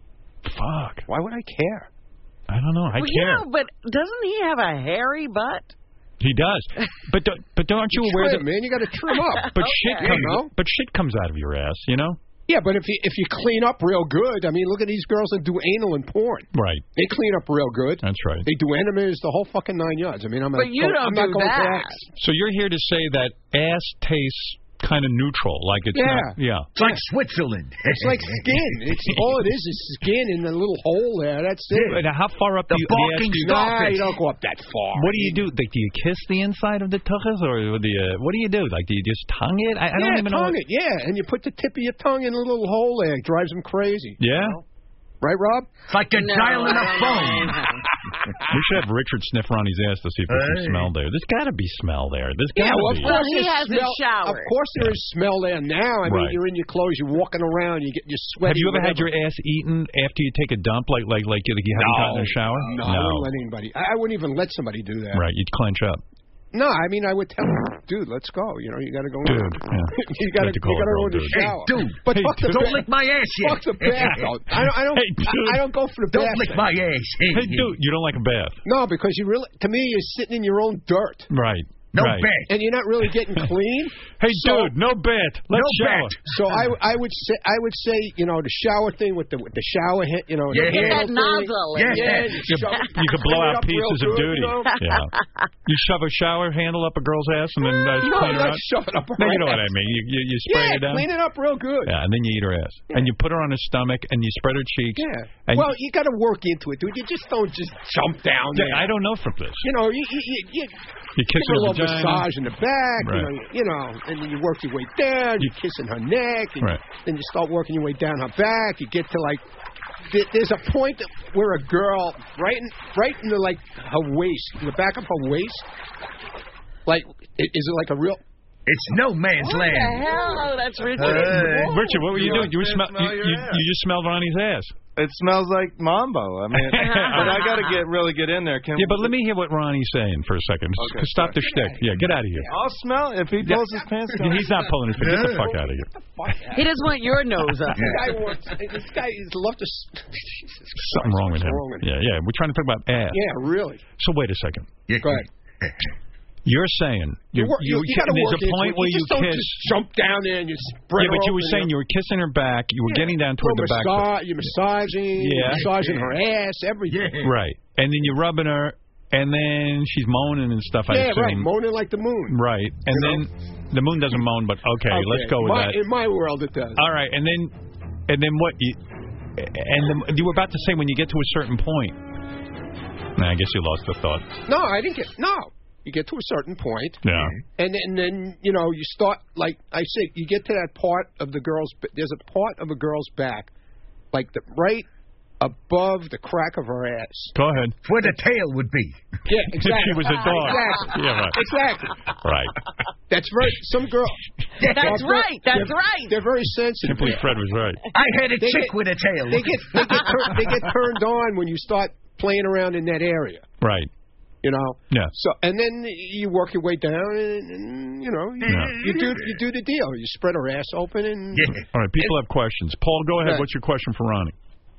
Fuck. Why would I care? I don't know. I care. Yeah, but doesn't he have a hairy butt? He does. But aren't you aware that man, you got to trim up. But shit comes out of your ass, you know? Yeah, but if you clean up real good, I mean, look at these girls that do anal and porn. Right. They clean up real good. That's right. They do enemas, the whole fucking 9 yards. I mean, I'm But you don't not do going that. to So you're here to say that ass tastes kind of neutral, like it's not. Yeah. It's like Switzerland. It's like skin. It's all it is skin in the little hole there. That's it. And how far up The the barking ass do you starfish. You don't go up that far. What do you do? Like, do you kiss the inside of the tuchus, or what do you do? Like, do you just tongue it? I don't even know. Tongue it, yeah. And you put the tip of your tongue in a little hole there. It drives them crazy. Yeah. You know? Right, Rob? It's like you're dialing a phone. We should have Richard sniff Ronnie's ass to see if there's some smell there. There's got to be smell there. There's got to be. Well, he hasn't showered. Of course there is smell there now. I mean, you're in your clothes, you're walking around, you're sweating. Have you ever had your ass eaten after you take a dump, like you haven't gotten in a shower? No, I wouldn't let anybody. I wouldn't even let somebody do that. Right, you'd clench up. No, I mean, I would tell him, dude, let's go. You know, you got to go. Dude, yeah. you got to go in the shower. Hey, dude. But fuck the don't lick my ass yet. Fuck the bath, though. I don't go for the bath. Don't lick my ass. Hey, dude, you don't like a bath? No, because to me, you're sitting in your own dirt. Right. No right. bet. And you're not really getting clean. Hey, dude, no bet. Let's shower. So I would say, you know, the shower thing with the shower head, you know, Get the that nozzle. Yeah, you could blow out pieces of duty. You know? Yeah. You shove a shower handle up a girl's ass and then clean her not out. shove it up her No, you know ass. what I mean. You spray it down. Clean it up real good. Yeah, and then you eat her ass. Yeah. And you put her on her stomach and you spread her cheeks. Yeah. And Well, you got to work into it, dude. You just don't jump down there. I don't know from this. You know, You kiss give her a little vagina. massage in the back, Right. you know, and then you work your way down, you're kissing her neck, and then you start working your way down her back. You get to like, there's a point where a girl, right in the like her waist, in the back of her waist, like, is it like a real? It's no man's land. What the hell? Oh, that's Richard. Richard, what were you doing? You just smelled Ronnie's ass. It smells like Mambo. I mean, but I got to really get in there. But let me hear what Ronnie's saying for a second. Okay, Stop the shtick. Yeah, get out of here. I'll smell if he pulls his pants down. He's not pulling his pants. Get the fuck out of here. He doesn't want your nose up. This guy is love to. Something wrong with him. Yeah. We're trying to talk about ass. Yeah, really. So wait a second. Go ahead. You're saying you gotta there's work a point where you don't kiss. just jump down there and you spread. Yeah, but you were saying you were kissing her back. You were getting down toward the back. You're massaging. You're massaging her ass. Everything. Right, and then you're rubbing her, and then she's moaning and stuff. Yeah, I assume. right. Moaning like the moon. Right, and then the moon doesn't moan, but okay, let's go with that. In my world, it does. All right, and then what? You were about to say when you get to a certain point. Nah, I guess you lost the thought. No, I didn't get. No. You get to a certain point, and then you know you start like I say. You get to that part of the girl's. There's a part of a girl's back, like right above the crack of her ass. Go ahead. Where the tail would be. Yeah, exactly. She was a dog. Exactly. Yeah, right. Exactly. Right. That's very. Some girl. That's right. That's right. They're very sensitive. Simply Fred was right. I had a chick with a tail. They get turned on when you start playing around in that area. Right. You know. Yeah. So and then you work your way down, and you know you do the deal. You spread her ass open, and all right. People have questions. Paul, go ahead. What's your question for Ronnie?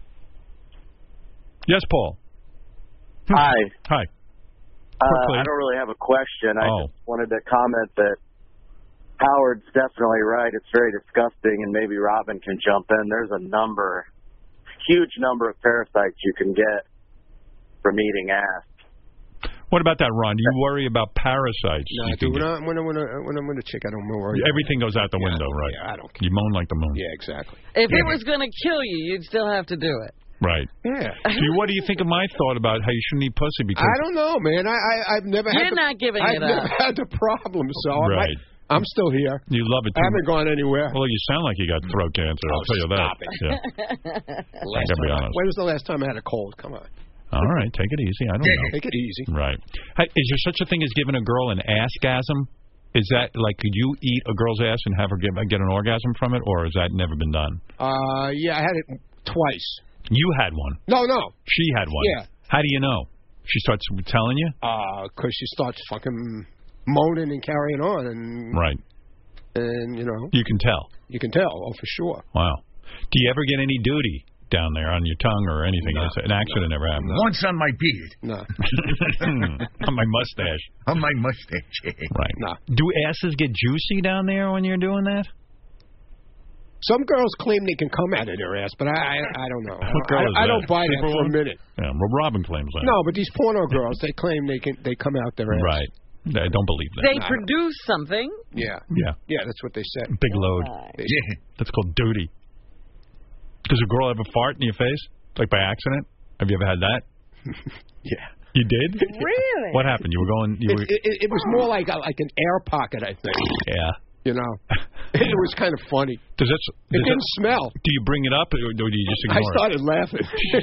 Yes, Paul. Hi. Hi. I don't really have a question. I just wanted to comment that Howard's definitely right. It's very disgusting, and maybe Robin can jump in. There's a huge number of parasites you can get from eating ass. What about that, Ron? Do you worry about parasites? No, dude, when I'm with a chick, I don't worry. Everything goes out the window, right? Yeah, I don't care. You moan like the moon. Yeah, exactly. If it was going to kill you, you'd still have to do it. Right. Yeah. What do you think of my thought about how you shouldn't eat pussy? Because I don't know, man. I've never had. You're not giving it up. I've never had the problem, so right. I'm still here. You love it too. I haven't gone anywhere. Well, you sound like you got throat cancer. I'll tell you that. Stop it. Yeah. I gotta be honest. When was the last time I had a cold? Come on. All right, take it easy. I don't know. Take it easy. Right. Hey, is there such a thing as giving a girl an assgasm? Is that like, could you eat a girl's ass and have her get an orgasm from it, or has that never been done? Yeah, I had it twice. You had one. No. She had one. Yeah. How do you know? She starts telling you? Because she starts fucking moaning and carrying on, and right. And you know. You can tell. You can tell. Oh, for sure. Wow. Do you ever get any duty down there on your tongue or anything? No. An accident never happened. Once on my beard. No. On my mustache. On my mustache. Right. No. Do asses get juicy down there when you're doing that? Some girls claim they can come out of their ass, but I don't know. I don't buy that for a minute. Yeah, well, Robin claims that. No, but these porno girls, they claim they come out their ass. Right. I don't believe that. They produce something. Yeah. Yeah. Yeah, that's what they say. Big load. Yeah. That's called duty. Does a girl ever fart in your face? Like by accident? Have you ever had that? Yeah. You did? Really? What happened? You were going... It was more like an air pocket, I think. Yeah. You know? It was kind of funny. It didn't smell. Do you bring it up, or do you just ignore it? I started laughing.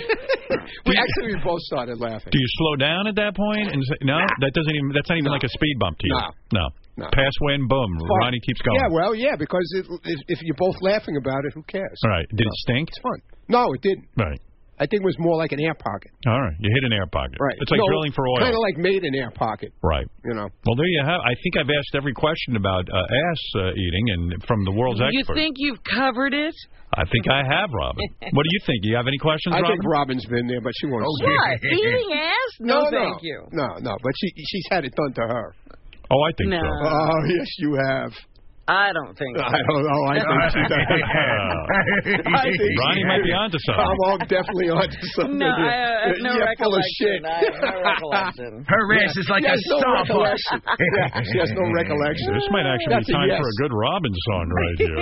We both started laughing. Do you slow down at that point and say, no? That's not even like a speed bump to you. No. Pass when, boom, Ronnie keeps going. Yeah, well, yeah, because if you're both laughing about it, who cares? All right. Did it stink? It's fun. No, it didn't. Right. I think it was more like an air pocket. All right. You hit an air pocket. Right. It's like drilling for oil. Kind of like made an air pocket. Right. You know. Well, there you have. I think I've asked every question about ass eating and from the world's experts. You think you've covered it? I think I have, Robin. What do you think? Do you have any questions, Robin? I think Robin's been there, but she won't. What? Eating ass? No, thank you. No. But she's had it done to her. Oh, I think so. Oh, yes, you have. I don't think so. I don't know. I think she does. Ronnie might be onto something. I'm definitely onto something. No, I have no recollection. Full of shit. I have no recollection. Her ass is like a Starbucks. She has no recollection. This might actually be time for a good Robin song right here.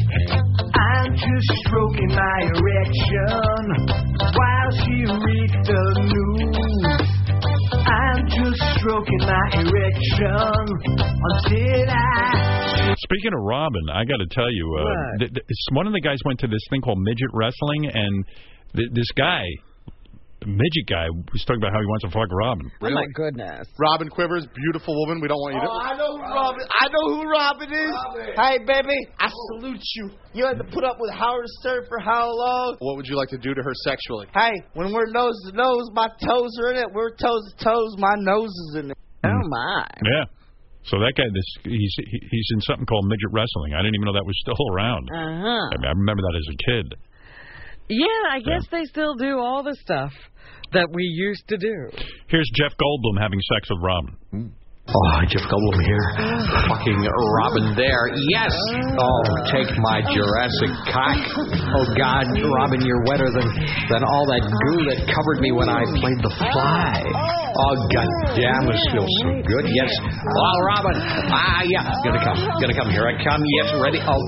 I'm just stroking my erection while she reads the news. I'm just stroking my erection until I... Speaking of Robin, I got to tell you, one of the guys went to this thing called midget wrestling, and this guy... midget guy was talking about how he wants to fuck Robin. Really? Oh, my goodness. Robin Quivers, beautiful woman. We don't want you to... I know who Robin is. Hey, baby, I salute you. You had to put up with Howard Stern for how long? What would you like to do to her sexually? Hey, when we're nose to nose, my toes are in it. We're toes to toes, my nose is in it. Oh, my. Yeah. So that guy, he's in something called midget wrestling. I didn't even know that was still around. Uh-huh. I remember that as a kid. Yeah, I guess they still do all the stuff that we used to do. Here's Jeff Goldblum having sex with Robin. Oh, Jeff Goldblum here. Fucking Robin there. Yes! Oh, take my Jurassic cock. Oh, God, Robin, you're wetter than all that goo that covered me when I played The Fly. Oh, God damn, this feels so good. Yes. Oh, Robin. Yeah. Gonna come. Here I come. Yes, ready. Oh,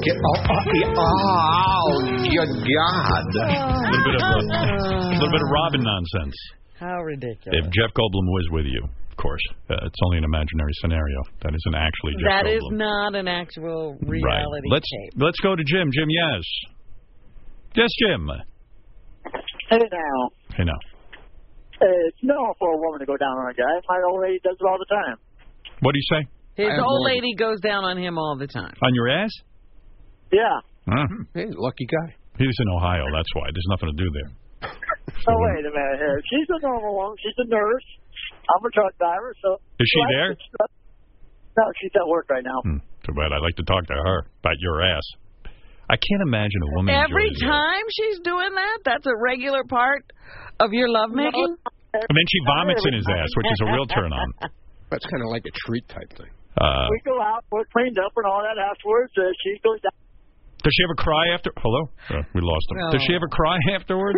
your God. A little bit of Robin nonsense. How ridiculous. If Jeff Goldblum was with you. Of course, it's only an imaginary scenario. That isn't actually Jeff That Goldblum. Is not an actual reality tape. Let's go to Jim. Jim, yes. Yes, Jim. Hey, now. Hey, now. It's normal for a woman to go down on a guy. My old lady does it all the time. What do you say? His old lady goes down on him all the time. On your ass? Yeah. Huh. Hey, lucky guy. He's in Ohio, that's why. There's nothing to do there. Oh, wait a minute here. She's a normal woman. She's a nurse. I'm a truck driver, so... Is she there? No, she's at work right now. Too bad. I'd like to talk to her about your ass. I can't imagine a woman Every time she's doing that? That's a regular part of your lovemaking? And then she vomits in his ass, which is a real turn on. That's kind of like a treat type thing. We go out, we're cleaned up and all that afterwards. She goes down. Does she ever cry after? Hello? We lost him. No. Does she ever cry afterwards?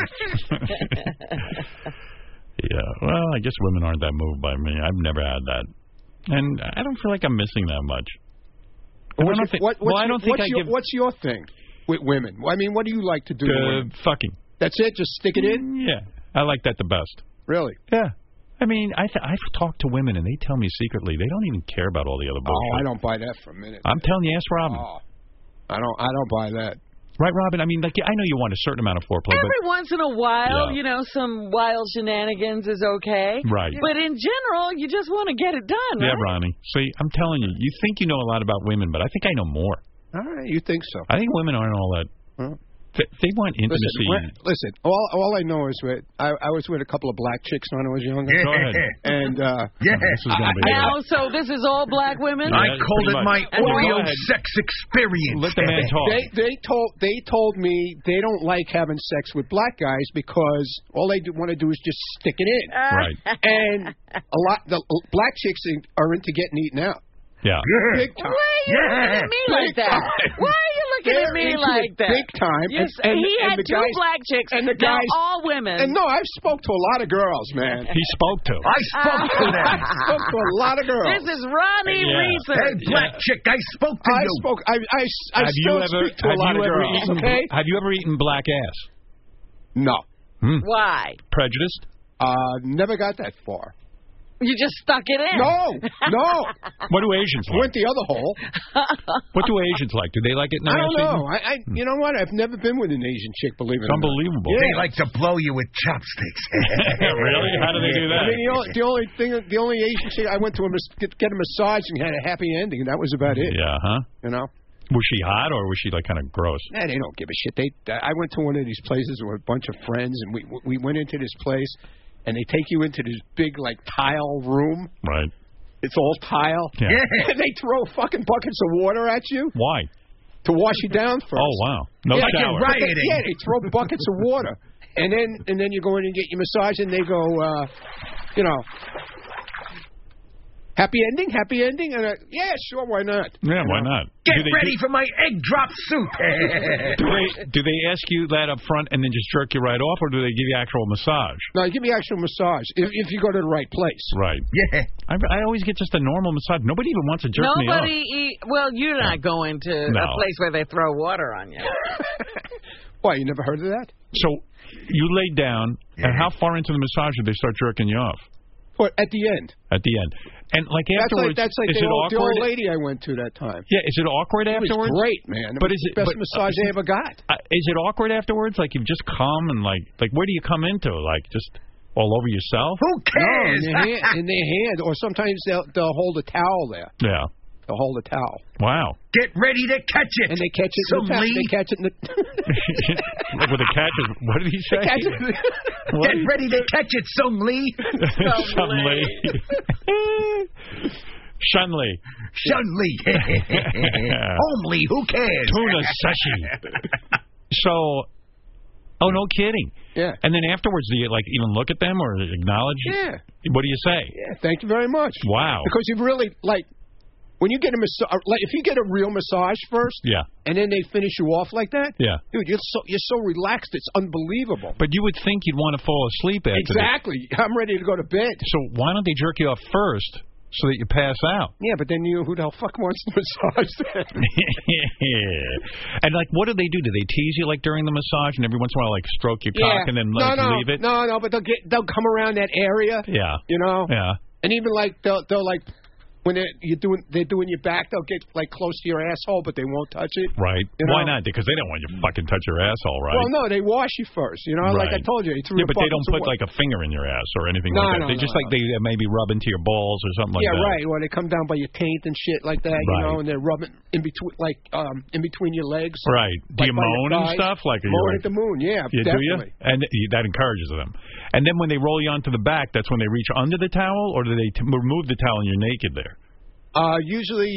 Yeah. Well, I guess women aren't that moved by me. I've never had that. And I don't feel like I'm missing that much. What's your thing with women? I mean, what do you like to do with women? Fucking. That's it? Just stick it in? Yeah. I like that the best. Really? Yeah. I mean, I've talked to women, and they tell me secretly they don't even care about all the other bullshit. Oh, I don't buy that for a minute. I'm telling you, ask Robin. Oh, I don't buy that. Right, Robin? I mean, like, I know you want a certain amount of foreplay. Every once in a while, Yeah. some wild shenanigans is okay. Right. But in general, you just want to get it done, Yeah, right? Ronnie. See, I'm telling you, you think you know a lot about women, but I think I know more. All right, you think so? I think women aren't all that. Huh? They want intimacy. Listen, all I know is I was with a couple of black chicks when I was younger. Go ahead. And this is gonna be now, so this is all black women? I called it my Oreo sex experience. Let the man talk. They told me they don't like having sex with black guys because all they want to do is just stick it in. Right. And the black chicks are into getting eaten out. Yeah. Big time. Why are you looking at me like that? Why are you looking at me like that? Big time. Yes, he had two black chicks, and the guys, all women. And no, I've spoke to a lot of girls, man. He spoke to. I spoke to them. I spoke to a lot of girls. This is Ronnie Reeser. Hey, black chick, I spoke to you. I still speak to a lot of girls, okay? Have you ever eaten black ass? No. Why? Prejudiced? Never got that far. You just stuck it in. No. What do Asians like? Went the other hole. What do Asians like? Do they like it in I their don't ass know. eating? You know what? I've never been with an Asian chick, believe it or not. Unbelievable. Yeah. They like to blow you with chopsticks. Really? How do they do that? I mean, the only Asian chick I went to get a massage and had a happy ending, and that was about it. Yeah, huh? You know? Was she hot or was she like kind of gross? Nah, they don't give a shit. I went to one of these places with a bunch of friends, and we went into this place. And they take you into this big, like, tile room. Right. It's all tile. Yeah. And they throw fucking buckets of water at you. Why? To wash you down first. Oh, wow. No like shower. They throw buckets of water. And then you go in and get your massage, and they go, happy ending? And yeah, sure, why not? Yeah, why not? Get ready for my egg drop soup. Do they ask you that up front and then just jerk you right off, or do they give you actual massage? No, give me actual massage if you go to the right place. Right. Yeah. I always get just a normal massage. Nobody even wants to jerk me off. Well, you're not going to a place where they throw water on you. Why, you never heard of that? So you laid down, and how far into the massage did they start jerking you off? What, at the end? At the end. And, like, afterwards, that's like is the it old awkward? lady I went to that time. Yeah, is it awkward afterwards? It was great, man. But it was the best massage I ever got. Is it awkward afterwards? Like, you've just come and, like, where do you come into? Like, just all over yourself? Who cares? No, in their hand. Or sometimes they'll hold a towel there. Yeah. They'll hold a towel. Wow. Get ready to catch it. And they catch it. They catch it in the... Like with the catch, what did he say? Get ready to catch it, Sung Lee. Sung Lee. Shun Lee. Shun Lee. Home Lee, who cares? Tuna sushi. So, oh, no kidding. Yeah. And then afterwards, do you, like, even look at them or acknowledge? Yeah. What do you say? Yeah, thank you very much. Wow. Because you really, like... When you get a massage, like if you get a real massage first, yeah, and then they finish you off like that, yeah, dude, you're so relaxed, it's unbelievable. But you would think you'd want to fall asleep after. Exactly. I'm ready to go to bed. So why don't they jerk you off first so that you pass out? Yeah, but then who the hell fuck wants to massage that? And like, what do they do? Do they tease you like during the massage, and every once in a while like stroke your cock and then leave it? No, but they'll come around that area. Yeah. You know. Yeah. And even like they'll like. When they're doing your back, they'll get like close to your asshole, but they won't touch it. Right. You know? Why not? Because they don't want you to fucking touch your asshole, right? Well, no, they wash you first. You know, right. like I told you. Yeah, but they don't put like a finger in your ass or anything like that. They just like they maybe rub into your balls or something like that. Yeah, right. Or they come down by your taint and shit like that. Right. You know, and they're rubbing in between, like in between your legs. Right. Do you moan and stuff? Like moan at the moon. Yeah, Do you? definitely. And that encourages them. And then when they roll you onto the back, that's when they reach under the towel, or do they remove the towel and you're naked there? Usually,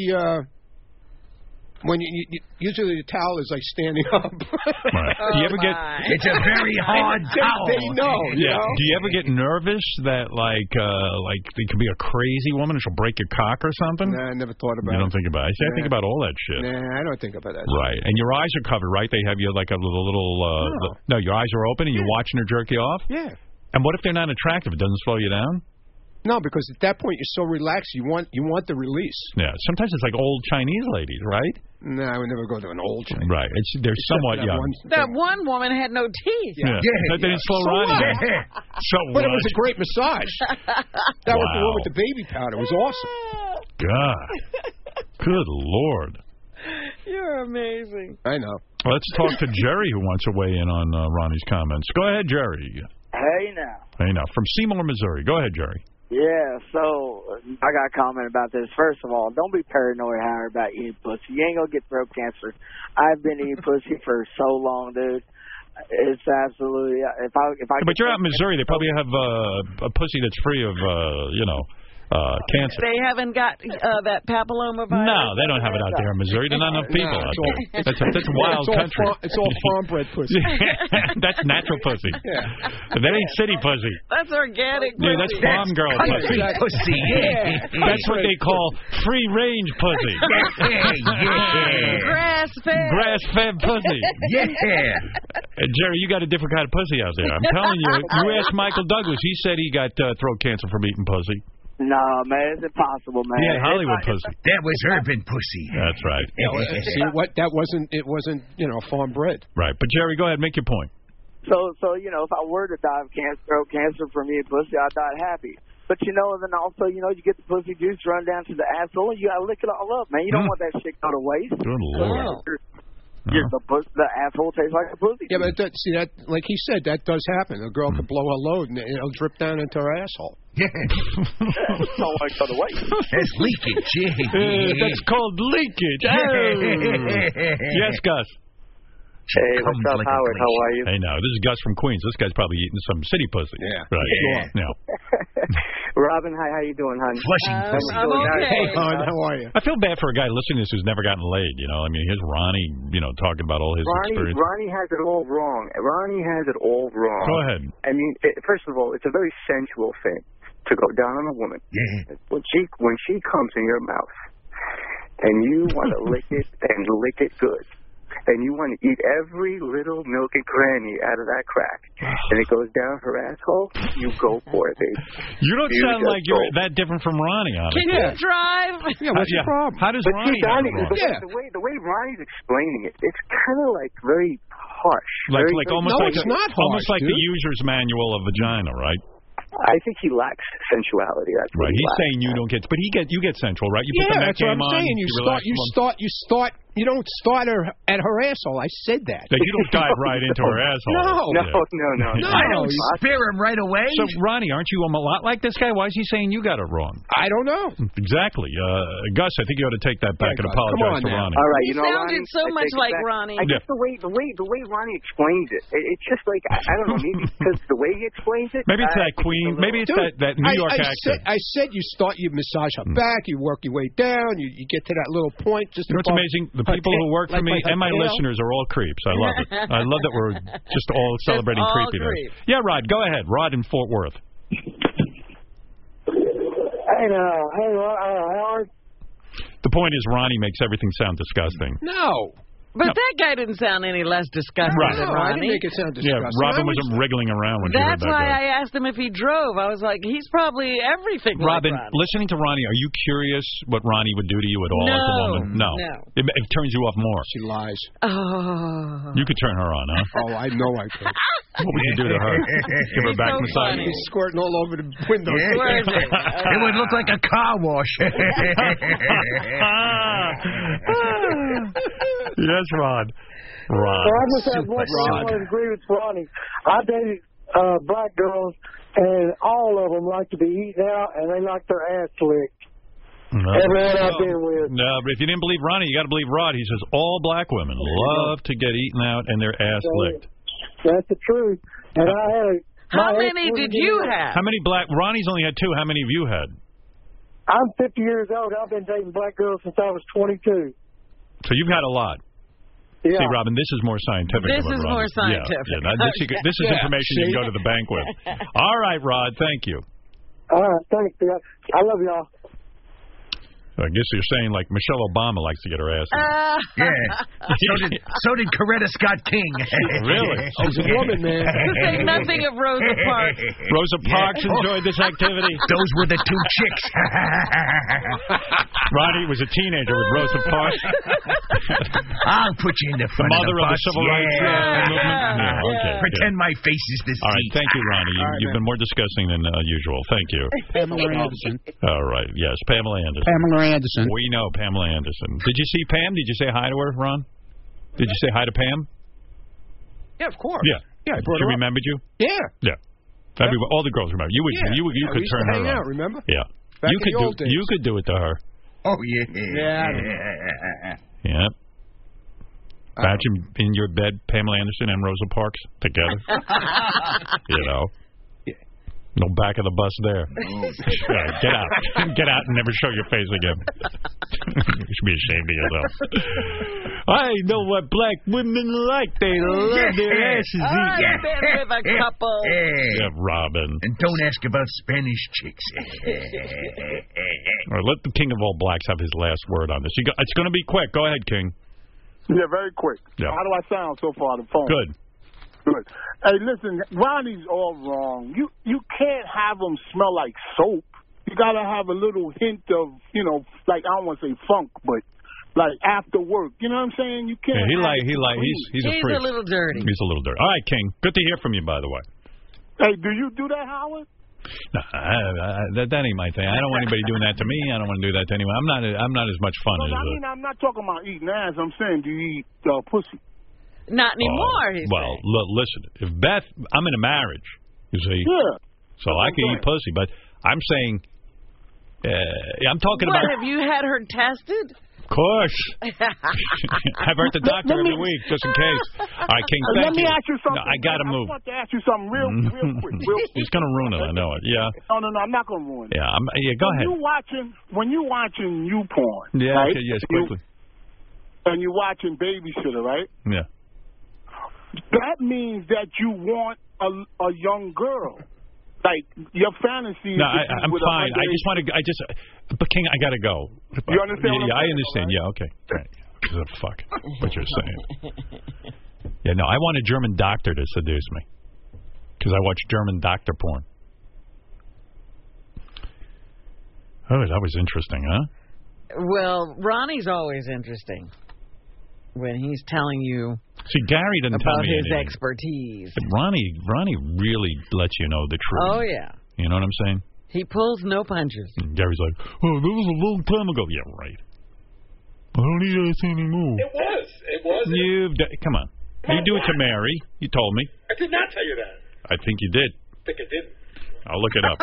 when usually the towel is like standing up. Right. Do you ever get? It's a very hard towel. They know. Yeah. You know? Do you ever get nervous that like it could be a crazy woman and she'll break your cock or something? Nah, I never thought about it. You don't think about it? See, I think about all that shit. Nah, I don't think about that. Right. And your eyes are covered, right? They have you like a little. No, your eyes are open and you're watching her jerk you off. Yeah. And what if they're not attractive? It doesn't slow you down? No, because at that point you're so relaxed. You want the release. Yeah. Sometimes it's like old Chinese ladies, right? No, I would never go to an old Chinese. Right. They're somewhat young. That one woman had no teeth. Yeah. But they didn't slow Ronnie down. So but it was a great massage. That was the one with the baby powder. It was awesome. God. Good Lord. You're amazing. I know. Let's talk to Jerry, who wants to weigh in on Ronnie's comments. Go ahead, Jerry. Hey now. Hey now. From Seymour, Missouri. Go ahead, Jerry. Yeah, so I got a comment about this. First of all, don't be paranoid, Howard, about eating pussy. You ain't gonna get throat cancer. I've been eating pussy for so long, dude. It's absolutely if I. But you're out in Missouri. They probably have a pussy that's free of cancer. They haven't got that papilloma virus. No, they don't have it out there in Missouri. There's not enough people out there. That's a wild country. It's all farm-bred pussy. That's natural pussy. Yeah. That ain't city pussy. That's organic pussy. Yeah, that's farm girl pussy. Pussy. Yeah. That's what they call free-range pussy. Grass-fed. Grass-fed pussy. Yeah. Jerry, you got a different kind of pussy out there. I'm telling you. You asked Michael Douglas. He said he got throat cancer from eating pussy. No, man, it's impossible, man. Yeah, Hollywood pussy. That was urban pussy. That's right. See what? It wasn't farm bred. Right, but Jerry, go ahead, make your point. So if I were to die of throat cancer from eating pussy, I'd die happy. But then also, you get the pussy juice run down to the asshole, and you gotta lick it all up, man. You don't want that shit go to waste. Good Lord. The asshole tastes like a pussy. Yeah, but that, like he said, that does happen. A girl could blow her load and it'll drip down into her asshole. Yeah. It's not like the way. That's leakage. Yeah. That's called leakage. Yes, Gus. Hey, what's up, Howard? How are you? Hey, now, this is Gus from Queens. This guy's probably eating some city pussy. Yeah. Right. Yeah. No. Robin, hi, how you doing, hon? Flushing pussy. I'm okay. Hey, hon, how are you? I feel bad for a guy listening to this who's never gotten laid. I mean, here's Ronnie, talking about all his experience. Ronnie has it all wrong. Ronnie has it all wrong. Go ahead. I mean, first of all, it's a very sensual thing to go down on a woman. Yeah. When she comes in your mouth, and you want to lick it and lick it good, and you want to eat every little milk and cranny out of that crack, and it goes down her asshole, you go for it, baby. You don't sound like you're that different from Ronnie, honestly. Can you drive? Yeah, what's your problem? How does But Ronnie see, the way Ronnie's explaining it, it's kind of like very harsh. Like No, almost it's not harsh, almost like dude. the user's manual of vagina, right? I think he lacks sensuality. That's right. He's saying you don't get, but you get sensual, right? You put the that's what I'm saying. You don't start her at her asshole. I said that. That you don't dive right into her asshole. No. I don't spear him right away. So, Ronnie, aren't you a lot like this guy? Why is he saying you got it wrong? I don't know. Exactly. Gus, I think you ought to take that back and apologize to Ronnie. All right, you sounded so much like Ronnie. I guess the way Ronnie explains it, it's just like I don't know, maybe because the way he explains it. Maybe it's that Queen. Maybe it's that New York accent. I said you massage her back, you work your way down, you get to that little point. Just you know what's amazing? The people who work for me and my listeners are all creeps. I love it. I love that we're just all celebrating creepiness. Yeah, Rod, go ahead. Rod in Fort Worth. Hey, Howard. The point is, Ronnie makes everything sound disgusting. No. But that guy didn't sound any less disgusting than Ronnie. I didn't make it sound disgusting. Yeah, Robin wasn't wriggling around when she heard that. That's why I asked him if he drove. I was like, he's probably everything Robin, like Ronnie. Listening to Ronnie, are you curious what Ronnie would do to you at all as a woman? No. It turns you off more. She lies. Oh. You could turn her on, huh? Oh, I know I could. What would you do to her? Give her back massage? He's squirting all over the window. Where is it? It would look like a car wash. Yes, Rod. Well, I just have one thing I want to agree with Ronnie. I dated black girls, and all of them like to be eaten out, and they like their ass licked. Everyone I've been with. No, but if you didn't believe Ronnie, you got to believe Rod. He says all black women love to get eaten out and their ass licked. That's the truth. And I had How many did you have? How many black? Ronnie's only had 2. How many have you had? I'm 50 years old. I've been dating black girls since I was 22. So you've had a lot. Yeah. See, Robin, this is more scientific. This is more scientific. Yeah, this is information you can go to the bank with. All right, Rod, thank you. All right, thanks. I love y'all. I guess you're saying, like, Michelle Obama likes to get her ass in. Yeah. So did Coretta Scott King. Really? She's a woman, man. To say nothing of Rosa Parks. Rosa Parks enjoyed this activity. Those were the 2 chicks. Ronnie was a teenager with Rosa Parks. I'll put you in the front mother of the the civil rights movement. Yeah, okay. Pretend my face is the seat. All right, thank you, Ronnie. You've been more disgusting than usual. Thank you. Pamela Anderson. All right, yes, Pamela Anderson. Pamela Anderson. We know Pamela Anderson. Did you see Pam? Did you say hi to her, Ron? Did you say hi to Pam? Yeah, of course. Yeah. Yeah, I brought she her up. remembered you? Yeah. Yeah. All the girls remember. You could turn her on. Out, remember? Yeah. Back You could do it to her. Oh, yeah. Yeah. Imagine in your bed, Pamela Anderson and Rosa Parks together. You know. No back of the bus there. Get out. Get out and never show your face again. You should be ashamed of yourself. I know what black women like. They love their asses eaten. I've been with a couple. Yeah, Robin. And don't ask about Spanish chicks. All right, let the King of All Blacks have his last word on this. It's going to be quick. Go ahead, King. Yeah, very quick. Yeah. How do I sound so far on the phone? Good. Hey, listen, Ronnie's all wrong. You can't have them smell like soap. You gotta have a little hint of, like, I don't want to say funk, but like after work. You know what I'm saying? You can't. Yeah, he's a freak. He's a little dirty. He's a little dirty. All right, King. Good to hear from you, by the way. Hey, do you do that, Howard? No, that ain't my thing. I don't want anybody doing that to me. I don't want to do that to anyone. I'm not as much fun as. I mean, I'm not talking about eating ass. I'm saying, do you eat pussy? Not anymore. Well, listen. If Beth, I'm in a marriage. You see. Yeah. So I can eat pussy, but I'm saying, I'm talking about. Have you had her tested? Of course. Have her at the doctor every week, just in case. All right, King, thank you. Let me ask you something. No, I got to move. I want to ask you something real quick. He's going to ruin it. I know it. Yeah. No, I'm not going to ruin it. Yeah, go ahead. When you watching you porn, yeah, right? Okay, yes, quickly. And you're watching Babysitter, right? Yeah. That means that you want a young girl. Like, your fantasy is... No, I'm fine. But, King, I got to go. You understand what I'm saying? I understand. Right? Yeah, okay. Right. Fuck what you're saying. Yeah, no, I want a German doctor to seduce me. Because I watch German doctor porn. Oh, that was interesting, huh? Well, Ronnie's always interesting. When he's telling you Gary doesn't tell about me his anything. expertise. But Ronnie really lets you know the truth. Oh, yeah. You know what I'm saying? He pulls no punches. And Gary's like, oh, that was a long time ago. Yeah, right. I don't need anything anymore. It was. Come on. You do it to Mary. You told me. I did not tell you that. I think you did. I think I didn't. I'll look it up.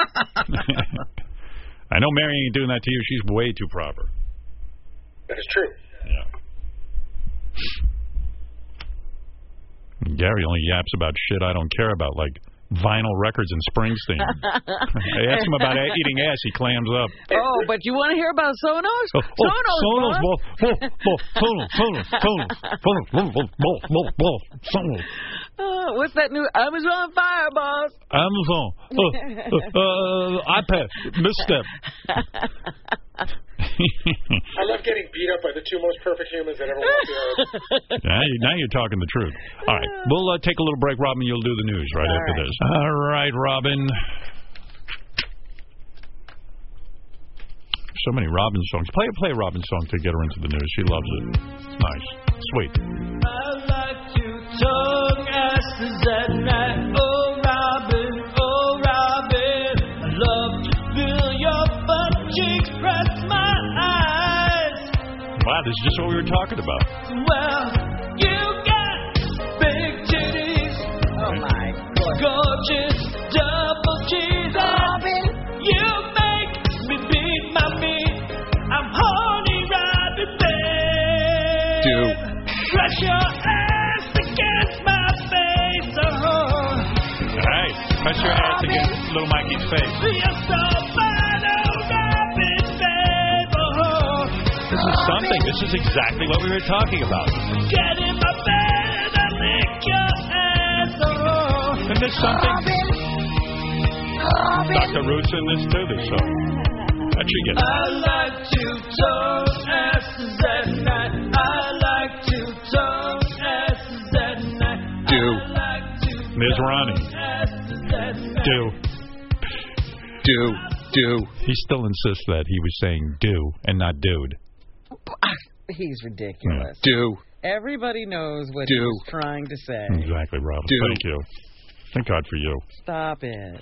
I know Mary ain't doing that to you. She's way too proper. That is true. Yeah. Gary only yaps about shit I don't care about, like vinyl records and Springsteen. I ask him about eating ass, he clams up. Oh, but you want to hear about Sonos? Sonos. What's that new Amazon Fire, boss? Amazon. iPad. Misstep. I love getting beat up by the two most perfect humans that ever walked the earth. Now you're talking the truth. All right, we'll take a little break, Robin. You'll do the news after this. All right, Robin. So many Robin songs. Play a Robin song to get her into the news. She loves it. It's nice. Sweet. I like to tongue asses at night. Oh, Robin, oh, Robin. I love to feel your butt cheeks press my eyes. Wow, this is just what we were talking about. Well, you got big titties. Oh, my God. Gorgeous double cheese. Robin. You make me beat my meat. I'm horny, Robin, babe. Dude. Press your ass against my face, oh. All right, press your ass against little Mikey's face. You're so fine, oh, Robin, babe, oh. This is something. This is exactly what we were talking about. Get in my bed and lick your ass, oh. Isn't this something? Dr. Roots in this too, this song. How'd you get it? I like to tongue asses at night. I like to tongue asses at night. Do. I like to Ms. Ronnie. asses at night. Do. He still insists that he was saying do and not dude. He's ridiculous. Do. Everybody knows what he was trying to say. Exactly, Robin. Thank you. Thank God for you. Stop it.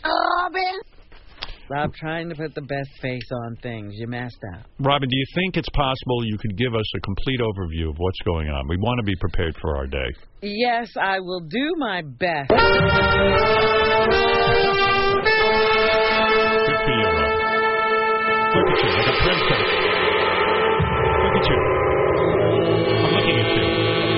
Stop trying to put the best face on things. You messed up. Robin, do you think it's possible you could give us a complete overview of what's going on? We want to be prepared for our day. Yes, I will do my best. Good for you, Robin. Look at you, like a princess. Look at you. I'm looking at you.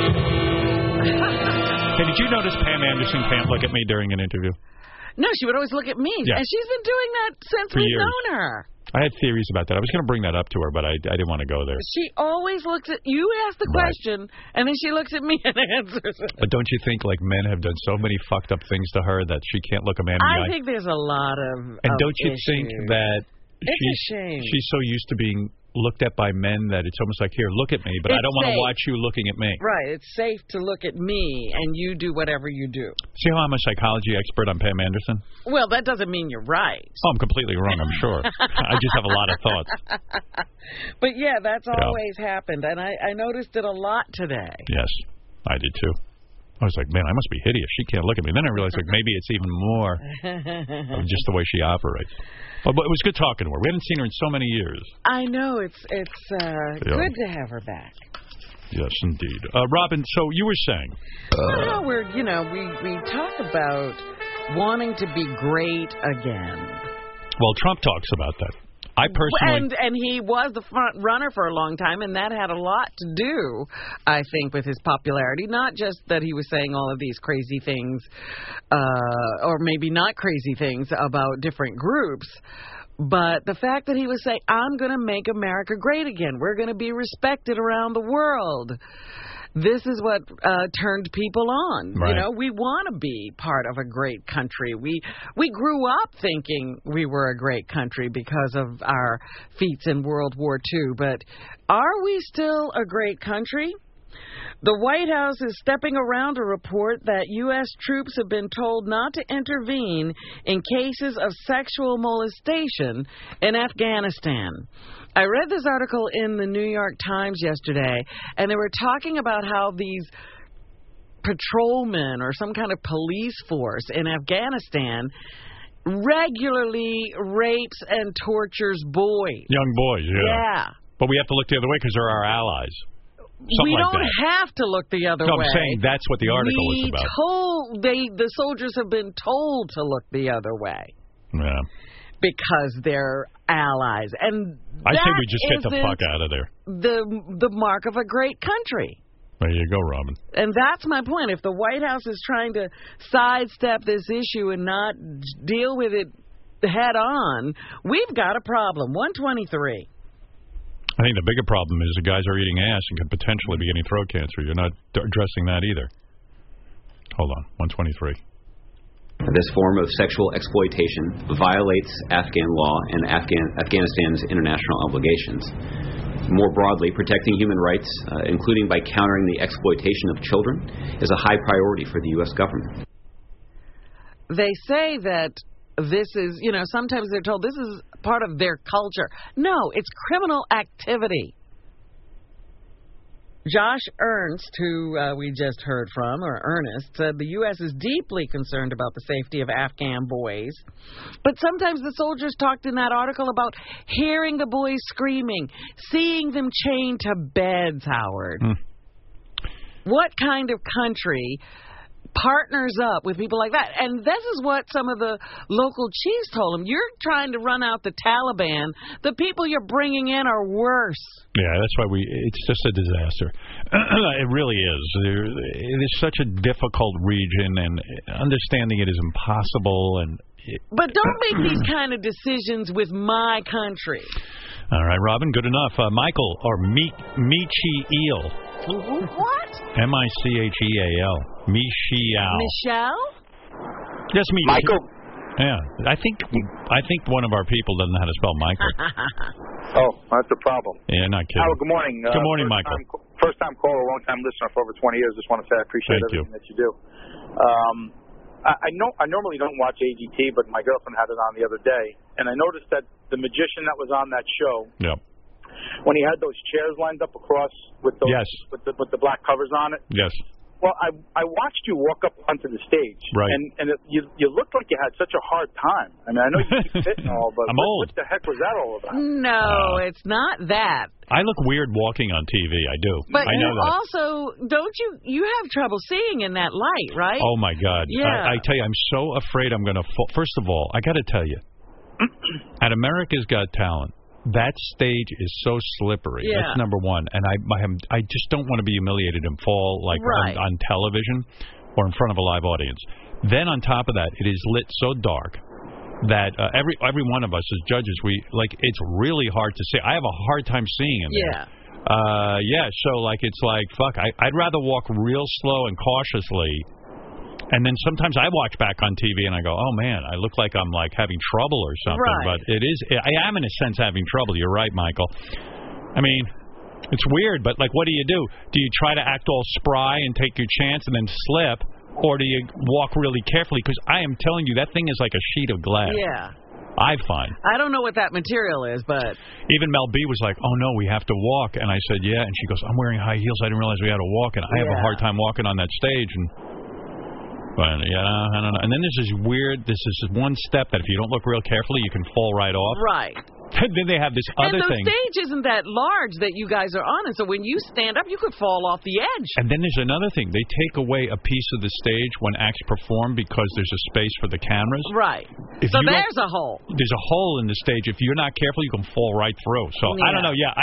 Hey, did you notice Pam Anderson can't look at me during an interview? No, she would always look at me. Yeah. And she's been doing that since For we've years. known her. I had theories about that. I was going to bring that up to her, but I didn't want to go there. She always looks at you, ask the question, and then she looks at me and answers it. But don't you think, like, men have done so many fucked up things to her that she can't look a man in the eye? I think there's a lot of And don't you issues. think that It's a shame. she's so used to being looked at by men that it's almost like, here, look at me, but I It's don't want to safe. watch you looking at me. Right. It's safe to look at me, and you do whatever you do. See how I'm a psychology expert on Pam Anderson? Well, that doesn't mean you're right. Oh, I'm completely wrong, I'm sure. I just have a lot of thoughts. But, yeah, that's always happened, and I noticed it a lot today. Yes, I did too. I was like, man, I must be hideous. She can't look at me. Then I realized, like, maybe it's even more of just the way she operates. But it was good talking to her. We haven't seen her in so many years. I know. It's good to have her back. Yes, indeed. Robin, so you were saying. Well, we talk about wanting to be great again. Well, Trump talks about that. I personally... And he was the front runner for a long time, and that had a lot to do, I think, with his popularity. Not just that he was saying all of these crazy things, or maybe not crazy things about different groups, but the fact that he was saying, I'm going to make America great again. We're going to be respected around the world. This is what turned people on. Right. You know, we want to be part of a great country. We grew up thinking we were a great country because of our feats in World War II. But are we still a great country? The White House is stepping around a report that U.S. troops have been told not to intervene in cases of sexual molestation in Afghanistan. I read this article in the New York Times yesterday, and they were talking about how these patrolmen or some kind of police force in Afghanistan regularly rapes and tortures boys. Young boys, Yeah. But we have to look the other way because they're our allies. We don't have to look the other way. No, I'm saying that's what the article was about. The soldiers have been told to look the other way. Yeah. Because they're allies. And I say we just get the fuck out of there. The mark of a great country. There you go, Robin. And that's my point. If the White House is trying to sidestep this issue and not deal with it head on, we've got a problem. 123. I think the bigger problem is the guys are eating ass and could potentially be getting throat cancer. You're not addressing that either. Hold on, 123. This form of sexual exploitation violates Afghan law and Afghanistan's international obligations. More broadly, protecting human rights, including by countering the exploitation of children, is a high priority for the U.S. government. They say that this is, sometimes they're told this is part of their culture. No, it's criminal activity. Josh Ernst, who we just heard from, or Ernest, said the U.S. is deeply concerned about the safety of Afghan boys. But sometimes the soldiers talked in that article about hearing the boys screaming, seeing them chained to beds, Howard. What kind of country partners up with people like that? And this is what some of the local chiefs told them. You're trying to run out the Taliban. The people you're bringing in are worse. Yeah, that's why it's just a disaster. It really is. It is such a difficult region, and understanding it is impossible. But don't make these kind of decisions with my country. All right, Robin, good enough. Michael, or Michi Eel. What? Micheal. Michelle. Michelle? Yes, me. Michael. Yeah, I think one of our people doesn't know how to spell Michael. Oh, that's a problem. Yeah, not kidding. Howard, good morning. Good morning, Michael. First-time caller, long-time listener for over 20 years. Just want to say I appreciate everything that you do. I normally don't watch AGT, but my girlfriend had it on the other day, and I noticed that the magician that was on that show. Yep. When he had those chairs lined up across with those with the black covers on it. Yes. Well, I watched you walk up onto the stage, right? And you looked like you had such a hard time. I mean, I know you keep fit and all, but I'm old. What the heck was that all about? No, it's not that. I look weird walking on TV. I do. But I know that. Also, don't you have trouble seeing in that light, right? Oh my God! Yeah. I tell you, I'm so afraid I'm going to fall. First of all, I got to tell you, at America's Got Talent, that stage is so slippery. Yeah. That's number one. And I just don't want to be humiliated and fall like on television or in front of a live audience. Then on top of that, it is lit so dark that every one of us as judges, it's really hard to see. I have a hard time seeing in there. Yeah. So it's like, fuck, I'd rather walk real slow and cautiously. And then sometimes I watch back on TV and I go, oh, man, I look like I'm having trouble or something. Right. But I am in a sense having trouble. You're right, Michael. I mean, it's weird, but what do you do? Do you try to act all spry and take your chance and then slip? Or do you walk really carefully? Because I am telling you, that thing is like a sheet of glass. Yeah. I find. I don't know what that material is, but... Even Mel B was like, oh, no, we have to walk. And I said, yeah. And she goes, I'm wearing high heels. I didn't realize we had to walk. And I have a hard time walking on that stage. But, I don't know. And then there's this one step that if you don't look real carefully, you can fall right off. Right. Then they have this other thing. And the stage isn't that large that you guys are on, and so when you stand up, you could fall off the edge. And then there's another thing. They take away a piece of the stage when acts perform because there's a space for the cameras. Right. So there's a hole. There's a hole in the stage. If you're not careful, you can fall right through. So I don't know. Yeah,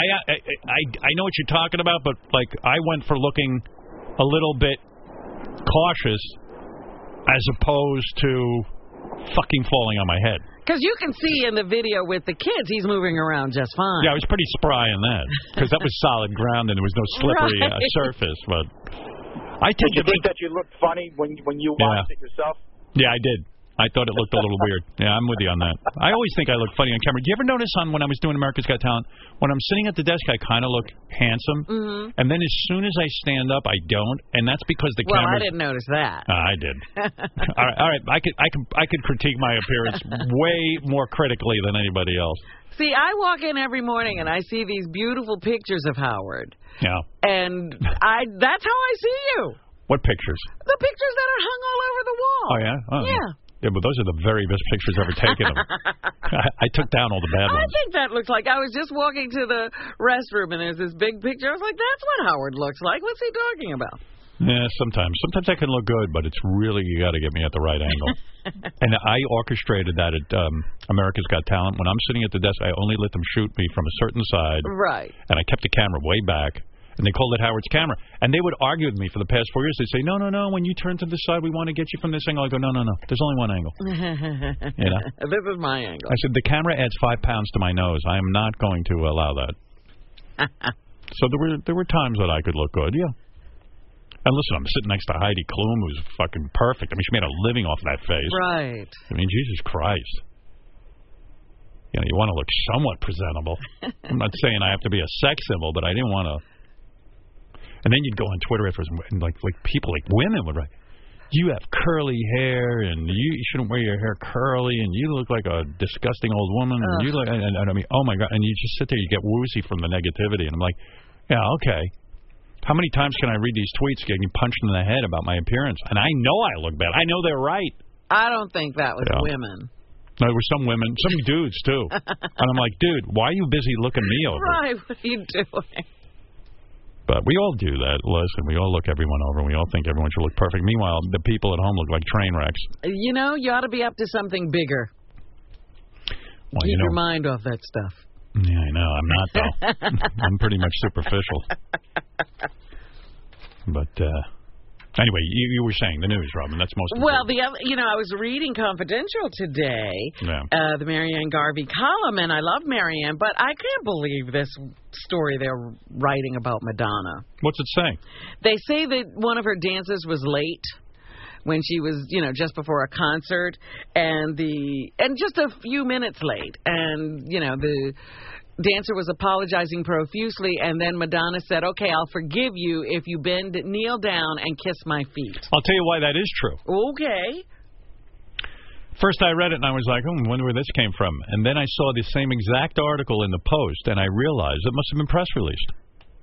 I know what you're talking about, but I went for looking a little bit cautious as opposed to fucking falling on my head. Because you can see in the video with the kids, he's moving around just fine. Yeah, I was pretty spry in that. Because that was solid ground and there was no slippery surface. But Did you think that you looked funny when you watched it yourself? Yeah, I did. I thought it looked a little weird. Yeah, I'm with you on that. I always think I look funny on camera. Do you ever notice when I was doing America's Got Talent, when I'm sitting at the desk, I kind of look handsome. Mm-hmm. And then as soon as I stand up, I don't. And that's because the camera. Well, I didn't notice that. I did. All right. I could critique my appearance way more critically than anybody else. See, I walk in every morning and I see these beautiful pictures of Howard. Yeah. And that's how I see you. What pictures? The pictures that are hung all over the wall. Oh, yeah? Oh. Yeah. Yeah, but those are the very best pictures ever taken of them. I took down all the bad ones. I think that looks like I was just walking to the restroom and there's this big picture. I was like, that's what Howard looks like. What's he talking about? Yeah, sometimes. Sometimes I can look good, but it's really, you got to get me at the right angle. And I orchestrated that at America's Got Talent. When I'm sitting at the desk, I only let them shoot me from a certain side. Right. And I kept the camera way back. And they called it Howard's camera. And they would argue with me for the past 4 years. They'd say, no, when you turn to the side, we want to get you from this angle. I go, no. There's only one angle. You know? This is my angle. I said, the camera adds 5 pounds to my nose. I am not going to allow that. So there were times that I could look good, yeah. And listen, I'm sitting next to Heidi Klum, who's fucking perfect. I mean, she made a living off that face. Right. I mean, Jesus Christ. You know, you want to look somewhat presentable. I'm not saying I have to be a sex symbol, but I didn't want to. And then you'd go on Twitter afterwards, and like people, like women would write, you have curly hair, and you shouldn't wear your hair curly, and you look like a disgusting old woman, and you look, and I mean, oh my God, and you just sit there, you get woozy from the negativity, and I'm like, yeah, okay. How many times can I read these tweets getting punched in the head about my appearance? And I know I look bad. I know they're right. I don't think that was women. No, there were some women, some dudes, too. And I'm like, dude, why are you busy looking me over? Right, what are you doing? But we all do that. Listen, we all look everyone over, and we all think everyone should look perfect. Meanwhile, the people at home look like train wrecks. You know, you ought to be up to something bigger. Well, Keep your mind off that stuff. Yeah, I know. I'm not, though. I'm pretty much superficial. But, anyway, you were saying the news, Robin. That's most important. Well, I was reading Confidential today, the Marianne Garvey column, and I love Marianne, but I can't believe this story they're writing about Madonna. What's it saying? They say that one of her dancers was late when she was, just before a concert, and just a few minutes late, and, the dancer was apologizing profusely, and then Madonna said, okay, I'll forgive you if you kneel down and kiss my feet. I'll tell you why that is true. Okay. First I read it and I was like, I wonder where this came from. And then I saw the same exact article in the Post, and I realized it must have been press released.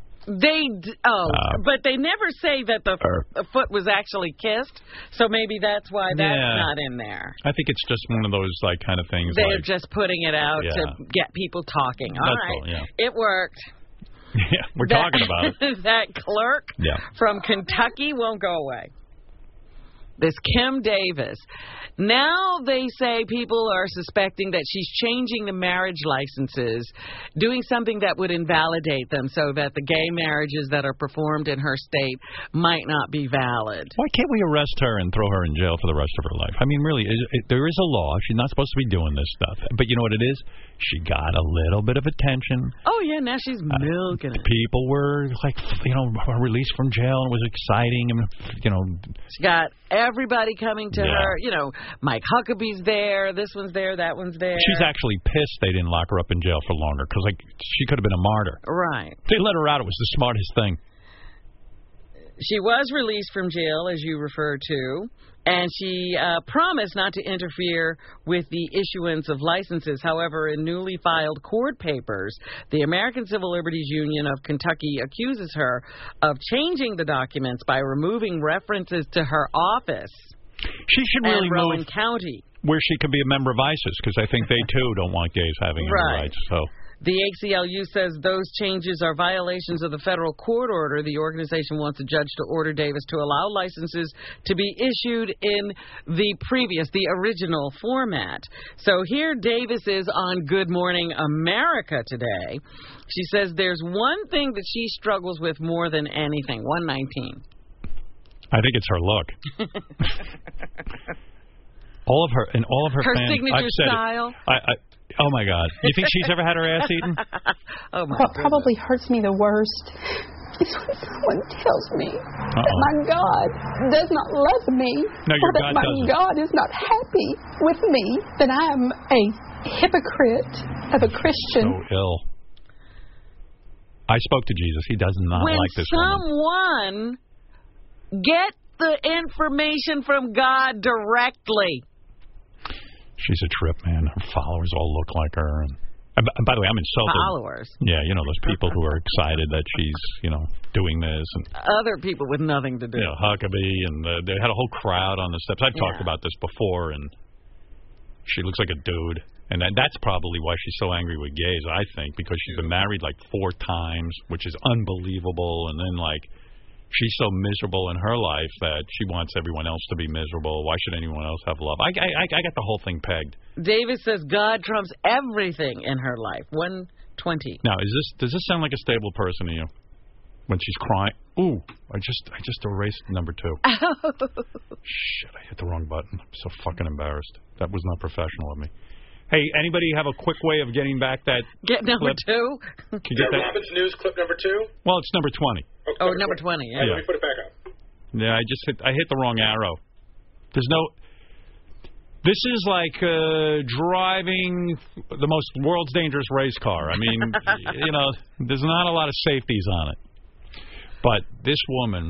But they never say that the foot was actually kissed, so maybe that's why that's not in there. I think it's just one of those kind of things. They're just putting it out to get people talking. All right, it worked. Yeah, we're talking about it. That clerk from Kentucky won't go away. This Kim Davis. Now they say people are suspecting that she's changing the marriage licenses, doing something that would invalidate them so that the gay marriages that are performed in her state might not be valid. Why can't we arrest her and throw her in jail for the rest of her life? I mean, really, there is a law. She's not supposed to be doing this stuff. But you know what it is? She got a little bit of attention. Oh, yeah, now she's milking it. People were, released from jail, and it was exciting. And, She got everybody coming to her. Mike Huckabee's there, this one's there, that one's there. She's actually pissed they didn't lock her up in jail for longer, because she could have been a martyr. Right. They let her out. It was the smartest thing. She was released from jail, as you referred to, and she promised not to interfere with the issuance of licenses. However, in newly filed court papers, the American Civil Liberties Union of Kentucky accuses her of changing the documents by removing references to her office. She should really Rowan move County, where she could be a member of ISIS, because I think they, too, don't want gays having any rights. So. The ACLU says those changes are violations of the federal court order. The organization wants a judge to order Davis to allow licenses to be issued in the original format. So here Davis is on Good Morning America today. She says there's one thing that she struggles with more than anything, 119. I think it's her look. all of her fans, signature style. Oh my God! You think she's ever had her ass eaten? What probably hurts me the worst is when someone tells me that my God does not love me, or that my God is not happy with me, that I am a hypocrite of a Christian. So ill. I spoke to Jesus. He does not like this woman. Get the information from God directly. She's a trip, man. Her followers all look like her. And by the way, I'm insulted. Followers? Yeah, those people who are excited that she's, doing this. And other people with nothing to do. Huckabee, and they had a whole crowd on the steps. I've talked about this before, and She looks like a dude. And that's probably why she's so angry with gays, I think, because she's been married like 4 times, which is unbelievable. And then, like, she's so miserable in her life that she wants everyone else to be miserable. Why should anyone else have love? I got the whole thing pegged. David says God trumps everything in her life. 120. Now, does this sound like a stable person to you? When she's crying? Ooh, I just erased number 2. Shit, I hit the wrong button. I'm so fucking embarrassed. That was not professional of me. Hey, anybody have a quick way of getting back that Get number clip? 2? Can you get that? Rabbit's News clip number 2? Well, it's number 20. Oh, number 20. Yeah. Let me put it back up. Yeah, I hit the wrong arrow. There's no... This is like driving the most world's dangerous race car. I mean, you know, there's not a lot of safeties on it. But this woman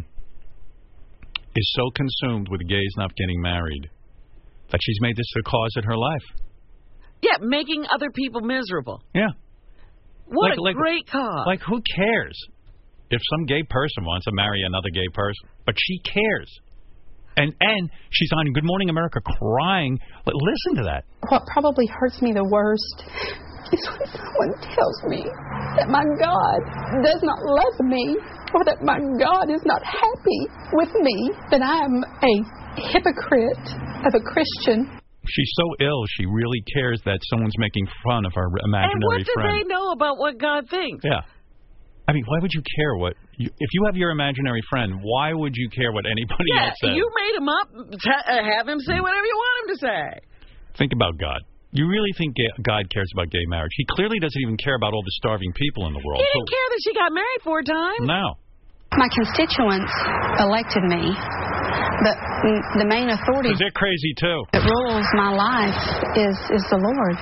is so consumed with gays not getting married that she's made this the cause in her life. Yeah, making other people miserable. Yeah. What a great cause. Like, who cares if some gay person wants to marry another gay person? But she cares. And she's on Good Morning America crying. Listen to that. What probably hurts me the worst is when someone tells me that my God does not love me, or that my God is not happy with me, that I am a hypocrite of a Christian. She's so ill, she really cares that someone's making fun of her imaginary friend. And what do they know about what God thinks? Yeah. I mean, why would you care if you have your imaginary friend, why would you care what anybody else says? You made him up, have him say whatever you want him to say. Think about God. You really think God cares about gay marriage? He clearly doesn't even care about all the starving people in the world. He didn't care that she got married 4 times. No. My constituents elected me, but the main authority... Because they're crazy, too. ...that rules my life is the Lord.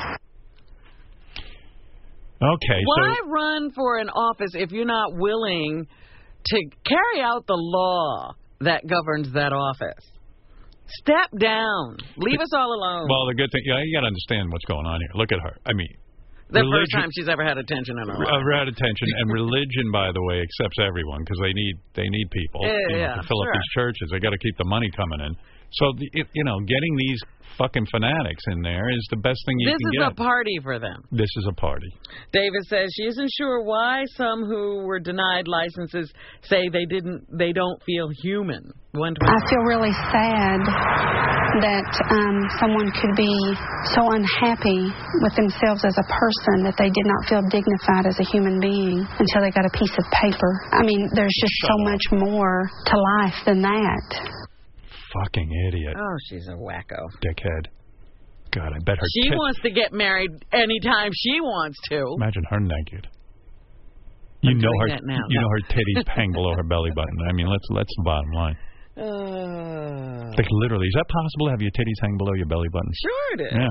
Okay, Why run for an office if you're not willing to carry out the law that governs that office? Step down. Leave us all alone. Well, the good thing, you got to understand what's going on here. Look at her. I mean, the first time she's ever had attention in her life. Had attention, and religion, by the way, accepts everyone because they need people to fill up these churches. They got to keep the money coming in. So, getting these fucking fanatics in there is the best thing you can get. This is a party for them. This is a party. David says she isn't sure why some who were denied licenses say they don't feel human. I feel really sad that someone could be so unhappy with themselves as a person that they did not feel dignified as a human being until they got a piece of paper. I mean, there's just so much more to life than that. Fucking idiot. Oh, she's a wacko. Dickhead. God, I bet her She wants to get married anytime she wants to. Imagine her naked. You know her titties hang below her belly button. I mean, that's the bottom line. Like, literally, is that possible to have your titties hang below your belly button? Sure it is. Yeah.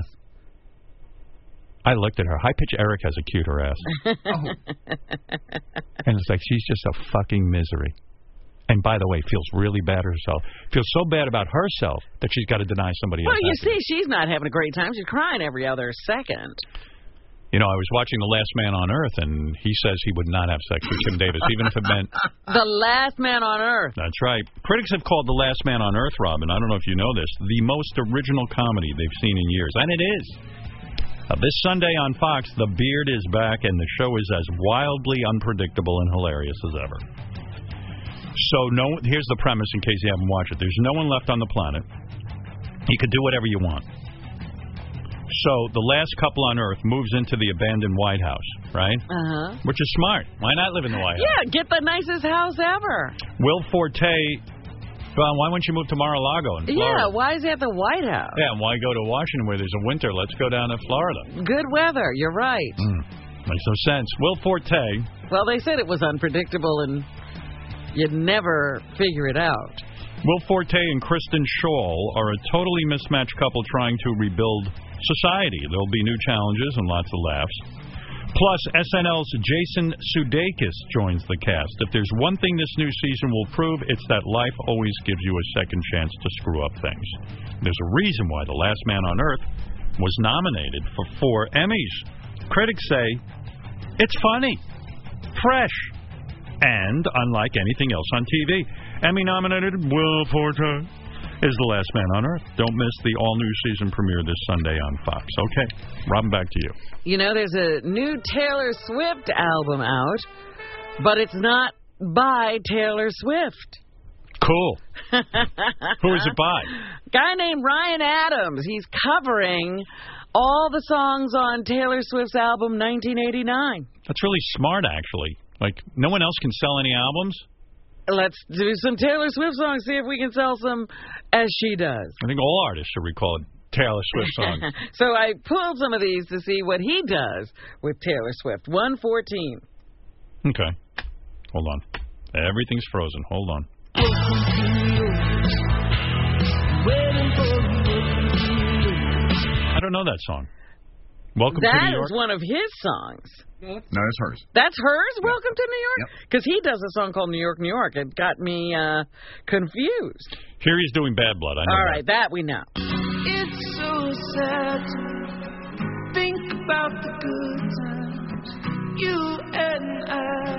I looked at her. High Pitch Eric has a cuter ass. And it's like, she's just a fucking misery. And by the way, feels really bad herself. Feels so bad about herself that she's got to deny somebody else. Well, you see, she's not having a great time. She's crying every other second. You know, I was watching The Last Man on Earth, and he says he would not have sex with Kim Davis, even if it meant... The Last Man on Earth. That's right. Critics have called The Last Man on Earth, Robin, I don't know if you know this, the most original comedy they've seen in years. And it is. This Sunday on Fox, The Beard is back, and the show is as wildly unpredictable and hilarious as ever. So here's the premise in case you haven't watched it. There's no one left on the planet. You can do whatever you want. So the last couple on Earth moves into the abandoned White House, right? Uh-huh. Which is smart. Why not live in the White House? Yeah, get the nicest house ever. Will Forte, well, why wouldn't you move to Mar-a-Lago in Florida? Yeah, why is he at the White House? Yeah, and why go to Washington where there's a winter? Let's go down to Florida. Good weather, you're right. Makes no sense. Will Forte. Well, they said it was unpredictable and you'd never figure it out. Will Forte and Kristen Schaal are a totally mismatched couple trying to rebuild society. There'll be new challenges and lots of laughs. Plus, SNL's Jason Sudeikis joins the cast. If there's one thing this new season will prove, it's that life always gives you a second chance to screw up things. There's a reason why The Last Man on Earth was nominated for 4 Emmys. Critics say it's funny, fresh, and unlike anything else on TV. Emmy-nominated Will Forte is The Last Man on Earth. Don't miss the all-new season premiere this Sunday on Fox. Okay, Robin, back to you. You know, there's a new Taylor Swift album out, but it's not by Taylor Swift. Cool. Who is it by? A guy named Ryan Adams. He's covering all the songs on Taylor Swift's album 1989. That's really smart, actually. Like, no one else can sell any albums? Let's do some Taylor Swift songs, see if we can sell some as she does. I think all artists should record Taylor Swift songs. So I pulled some of these to see what he does with Taylor Swift. 114. Okay. Hold on. Everything's frozen. Hold on. I don't know that song. Welcome to New York. That is one of his songs. No, that's hers. That's hers? Yeah. Welcome to New York? Because he does a song called New York, New York. It got me confused. Here he's doing Bad Blood. I know. All right, that we know. It's so sad to think about the good times, you and I.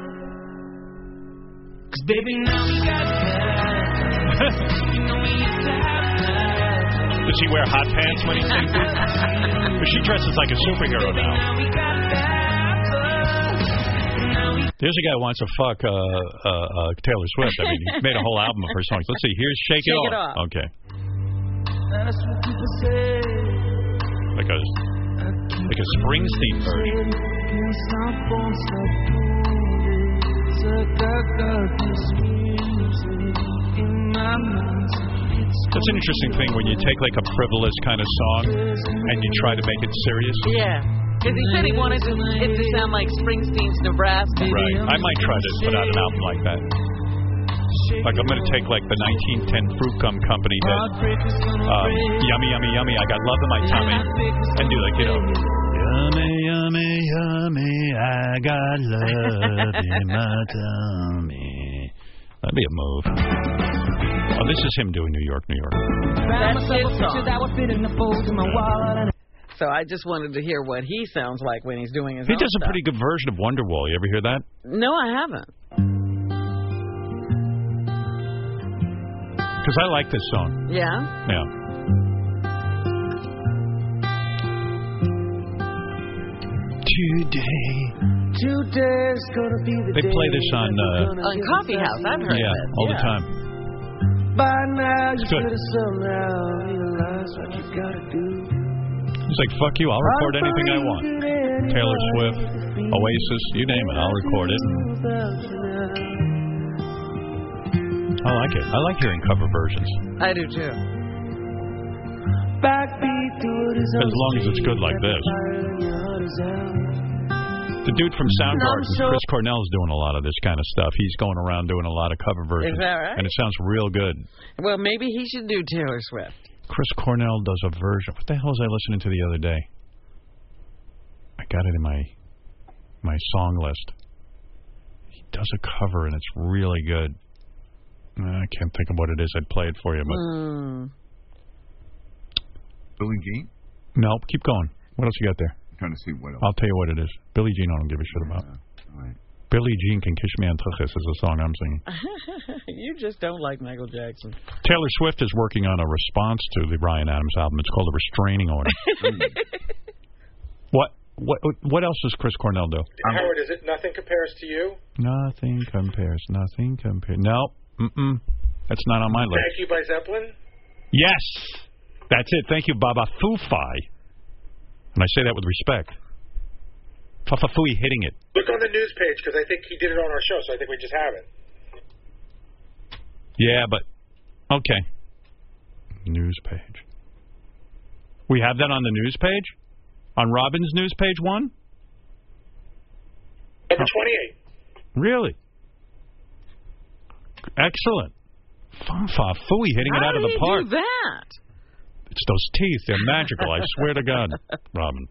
'Cause baby, now we got that. You know we used to have that. Does he wear hot pants when he sings it? But she dresses like a superhero now. There's a guy who wants to fuck Taylor Swift. I mean, he made a whole album of her songs. Let's see. Here's Shake It Off. Okay. That's what people say. Like a Springsteen version. That's an interesting thing when you take like a frivolous kind of song and you try to make it serious. Yeah. Because he said he wanted it to sound like Springsteen's Nebraska. Right. I might try to put out an album like that. Like I'm going to take like the 1910 Fruit Gum Company hit, Yummy, Yummy, Yummy, I Got Love in My Tummy, and do like, you know, Yummy, Yummy, Yummy, I got love in my tummy. That'd be a move. Oh, this is him doing New York, New York. That's his song. So I just wanted to hear what he sounds like when he's doing his own He does a stuff. pretty good version of Wonderwall. You ever hear that? No, I haven't. Because I like this song. Yeah? Yeah. Today's gonna be the They play this on Coffee House. I've heard yeah, this. all the time. By now you It's good. should have somehow realized what you gotta do. It's like, fuck you, I'll record anything I want. Taylor Swift, Oasis, you name it, I'll record it. I like it. I like hearing cover versions. I do too. As long as it's good like this. The dude from Soundgarden, Chris Cornell's doing a lot of this kind of stuff. He's going around doing a lot of cover versions. Is that right? And it sounds real good. Well, maybe he should do Taylor Swift. Chris Cornell does a version. What the hell was I listening to the other day? I got it in my song list. He does a cover, and it's really good. I can't think of what it is. I'd play it for you, but Billie Jean? No, keep going. What else you got there? I'm trying to see what else. I'll tell you what it is. Billie Jean I don't give a shit about. All right. Billie Jean Can Kiss Me on Tuchis is the song I'm singing. You just don't like Michael Jackson. Taylor Swift is working on a response to the Ryan Adams album. It's called A Restraining Order. What else does Chris Cornell do? Howard, is it Nothing Compares to You? Nothing compares. Nothing compares. No. That's not on my list. Thank You by Zeppelin? Yes. That's it. Thank you, Baba Fufai. And I say that with respect. Fafafui hitting it. Look on the news page, because I think he did it on our show, so I think we just have it. Yeah, but... Okay. News page. We have that on the news page? On Robin's news page 1? Number 28. Really? Excellent. Fafafui hitting it out of the park. How did he do that? It's those teeth. They're magical. I swear to God, Robin.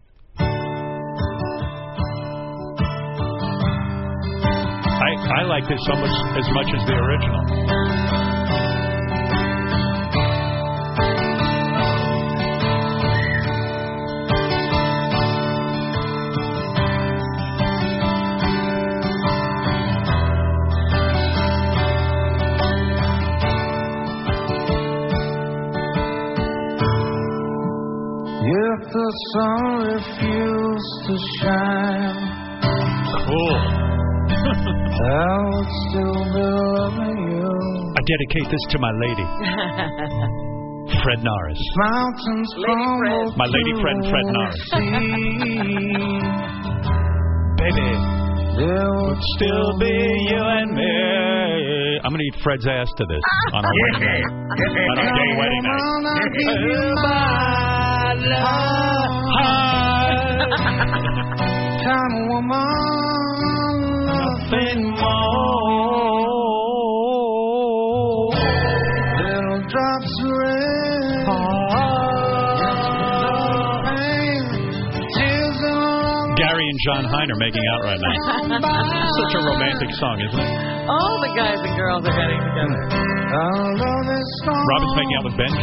I like this almost as much as the original. sun refused to shine. Cool. I would still be loving you. I dedicate this to my lady, Fred Norris. Mountains crumble. My lady friend, Fred Norris. Baby, there would still be you and me. I'm going to eat Fred's ass to this on our wedding night. On our gay wedding night. Kind of woman, nothing more. Little drops of rain. Gary and John Hein are making out right now. Such a romantic song, isn't it? All the guys and girls are getting together. Robin's making out with Ben.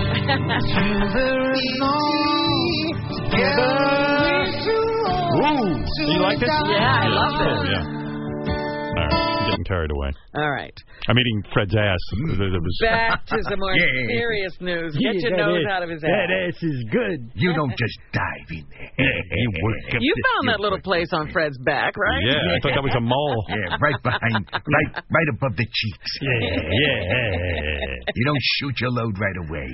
Ooh, do you like this? Yeah, I love this. Oh, yeah. All right, I'm getting carried away. All right. I'm eating Fred's ass. Back to some more serious news. Get your nose out of his ass. That ass is good. You don't just dive in there. You found that little place on Fred's back, right? Yeah, I thought that was a mole. Yeah, right behind, right above the cheeks. Yeah. You don't shoot your load right away.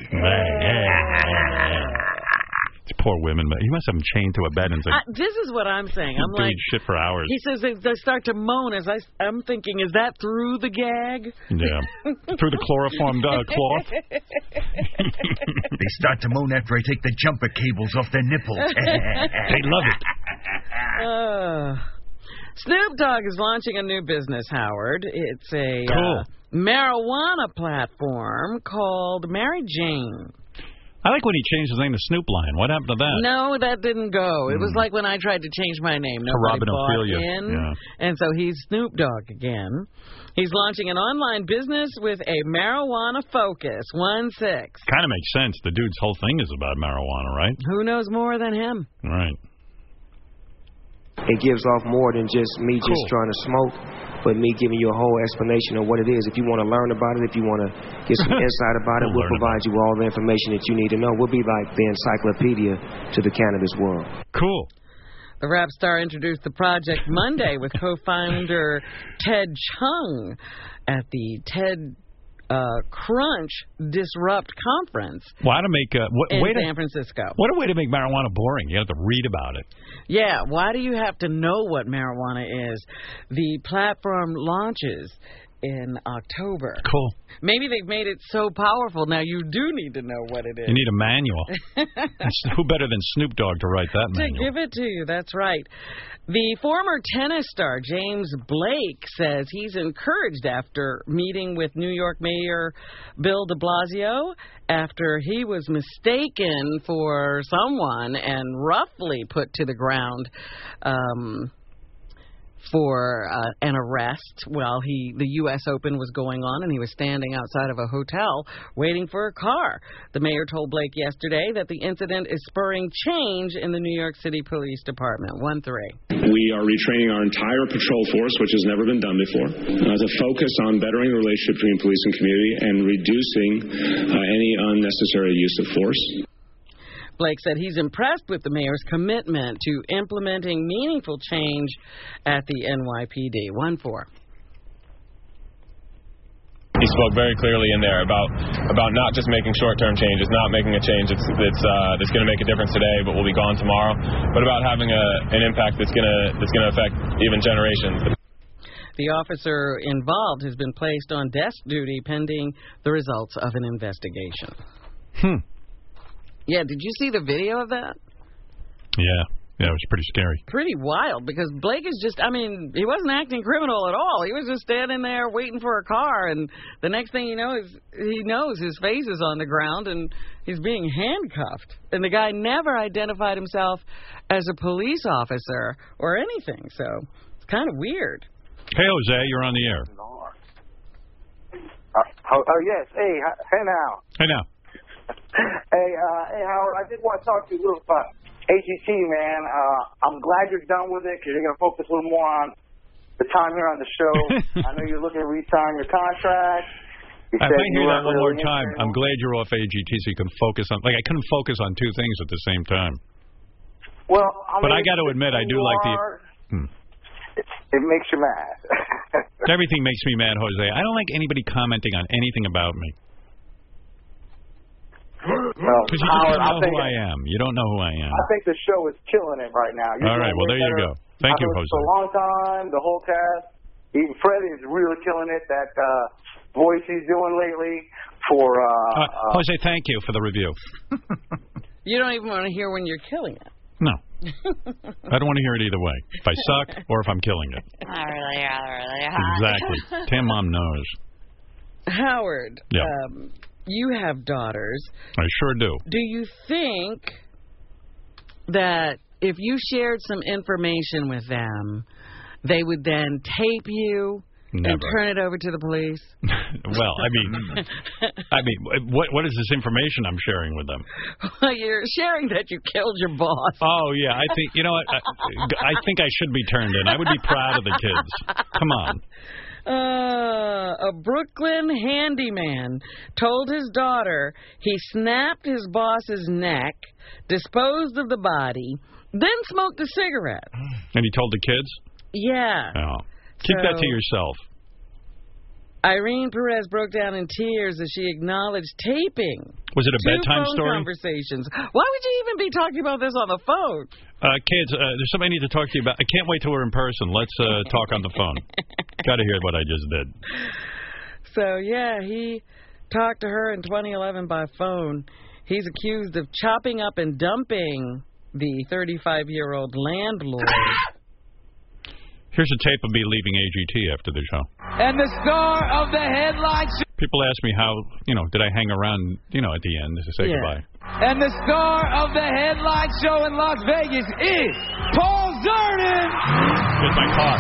It's poor women. You must have them chained to a bed and say, this is what I'm saying. I'm doing like, shit for hours. He says they start to moan. I'm thinking, is that through the gag? Yeah. Through the chloroform cloth? They start to moan after I take the jumper cables off their nipples. They love it. Snoop Dogg is launching a new business, Howard. It's a cool. Marijuana platform called Mary Jane. I like when he changed his name to Snoop Lion. What happened to that? No, that didn't go. It was like when I tried to change my name. Nobody bought in. Yeah. And so he's Snoop Dogg again. He's launching an online business with a marijuana focus. 1-6. Kind of makes sense. The dude's whole thing is about marijuana, right? Who knows more than him? Right. It gives off more than just me just trying to smoke, but me giving you a whole explanation of what it is. If you want to learn about it, if you want to get some insight about it, we'll provide you all the information that you need to know. We'll be like the encyclopedia to the cannabis world. Cool. The rap star introduced the project Monday with co-founder Ted Chung at the Ted Crunch Disrupt Conference in San Francisco. What a way to make marijuana boring. You have to read about it. Yeah, why do you have to know what marijuana is? The platform launches in October. Cool. Maybe they've made it so powerful now you do need to know what it is. You need a manual. Who better than Snoop Dogg to write that manual? To give it to you, that's right. The former tennis star James Blake says he's encouraged after meeting with New York Mayor Bill de Blasio after he was mistaken for someone and roughly put to the ground for an arrest while the U.S. Open was going on, and he was standing outside of a hotel waiting for a car. The mayor told Blake yesterday that the incident is spurring change in the New York City Police Department. 1-3. We are retraining our entire patrol force, which has never been done before, to focus on bettering the relationship between police and community and reducing any unnecessary use of force. Blake said he's impressed with the mayor's commitment to implementing meaningful change at the NYPD. 1-4. He spoke very clearly in there about not just making short-term changes, not making a change that's going to make a difference today, but will be gone tomorrow, but about having an impact that's going to affect even generations. The officer involved has been placed on desk duty pending the results of an investigation. Yeah, did you see the video of that? Yeah, it was pretty scary. Pretty wild, because Blake is just, he wasn't acting criminal at all. He was just standing there waiting for a car, and the next thing he knows his face is on the ground, and he's being handcuffed. And the guy never identified himself as a police officer or anything, so it's kind of weird. Hey, Jose, you're on the air. Yes. Hey now. Hey, now. Hey, Howard, I did want to talk to you a little about AGT, man. I'm glad you're done with it because you're going to focus a little more on the time here on the show. I know you're looking to re-sign your contract. If I hear that one more time, I'm glad you're off AGT so you can focus on... I couldn't focus on two things at the same time. Well, but I got to admit, I do like the... It makes you mad. Everything makes me mad, Jose. I don't like anybody commenting on anything about me. Because you just don't know who I am. You don't know who I am. I think the show is killing it right now. All right, well, there you go. Thank you, Jose. For a long time, the whole cast, even Freddie is really killing it. That voice he's doing lately for... Jose, thank you for the review. You don't even want to hear when you're killing it. No. I don't want to hear it either way. If I suck or if I'm killing it. Really hot. Exactly. Tam Mom knows. Howard, yeah. You have daughters. I sure do. Do you think that if you shared some information with them, they would then tape you Never. and turn it over to the police? Well, I mean, what is this information I'm sharing with them? Well, you're sharing that you killed your boss. Oh, yeah. I think, you know what? I think I should be turned in. I would be proud of the kids. Come on. A Brooklyn handyman told his daughter he snapped his boss's neck, disposed of the body, then smoked a cigarette. And he told the kids? Yeah. Oh. Keep that to yourself. Irene Perez broke down in tears as she acknowledged taping. Was it a bedtime story? Conversations. Why would you even be talking about this on the phone? Kids, there's something I need to talk to you about. I can't wait till we're in person. Let's talk on the phone. Got to hear what I just did. So, yeah, he talked to her in 2011 by phone. He's accused of chopping up and dumping the 35-year-old landlord. Here's a tape of me leaving AGT after the show. And the star of the headlines. People ask me how, did I hang around, at the end to say goodbye. And the star of the headline show in Las Vegas is Paul Zernin. Here's my car.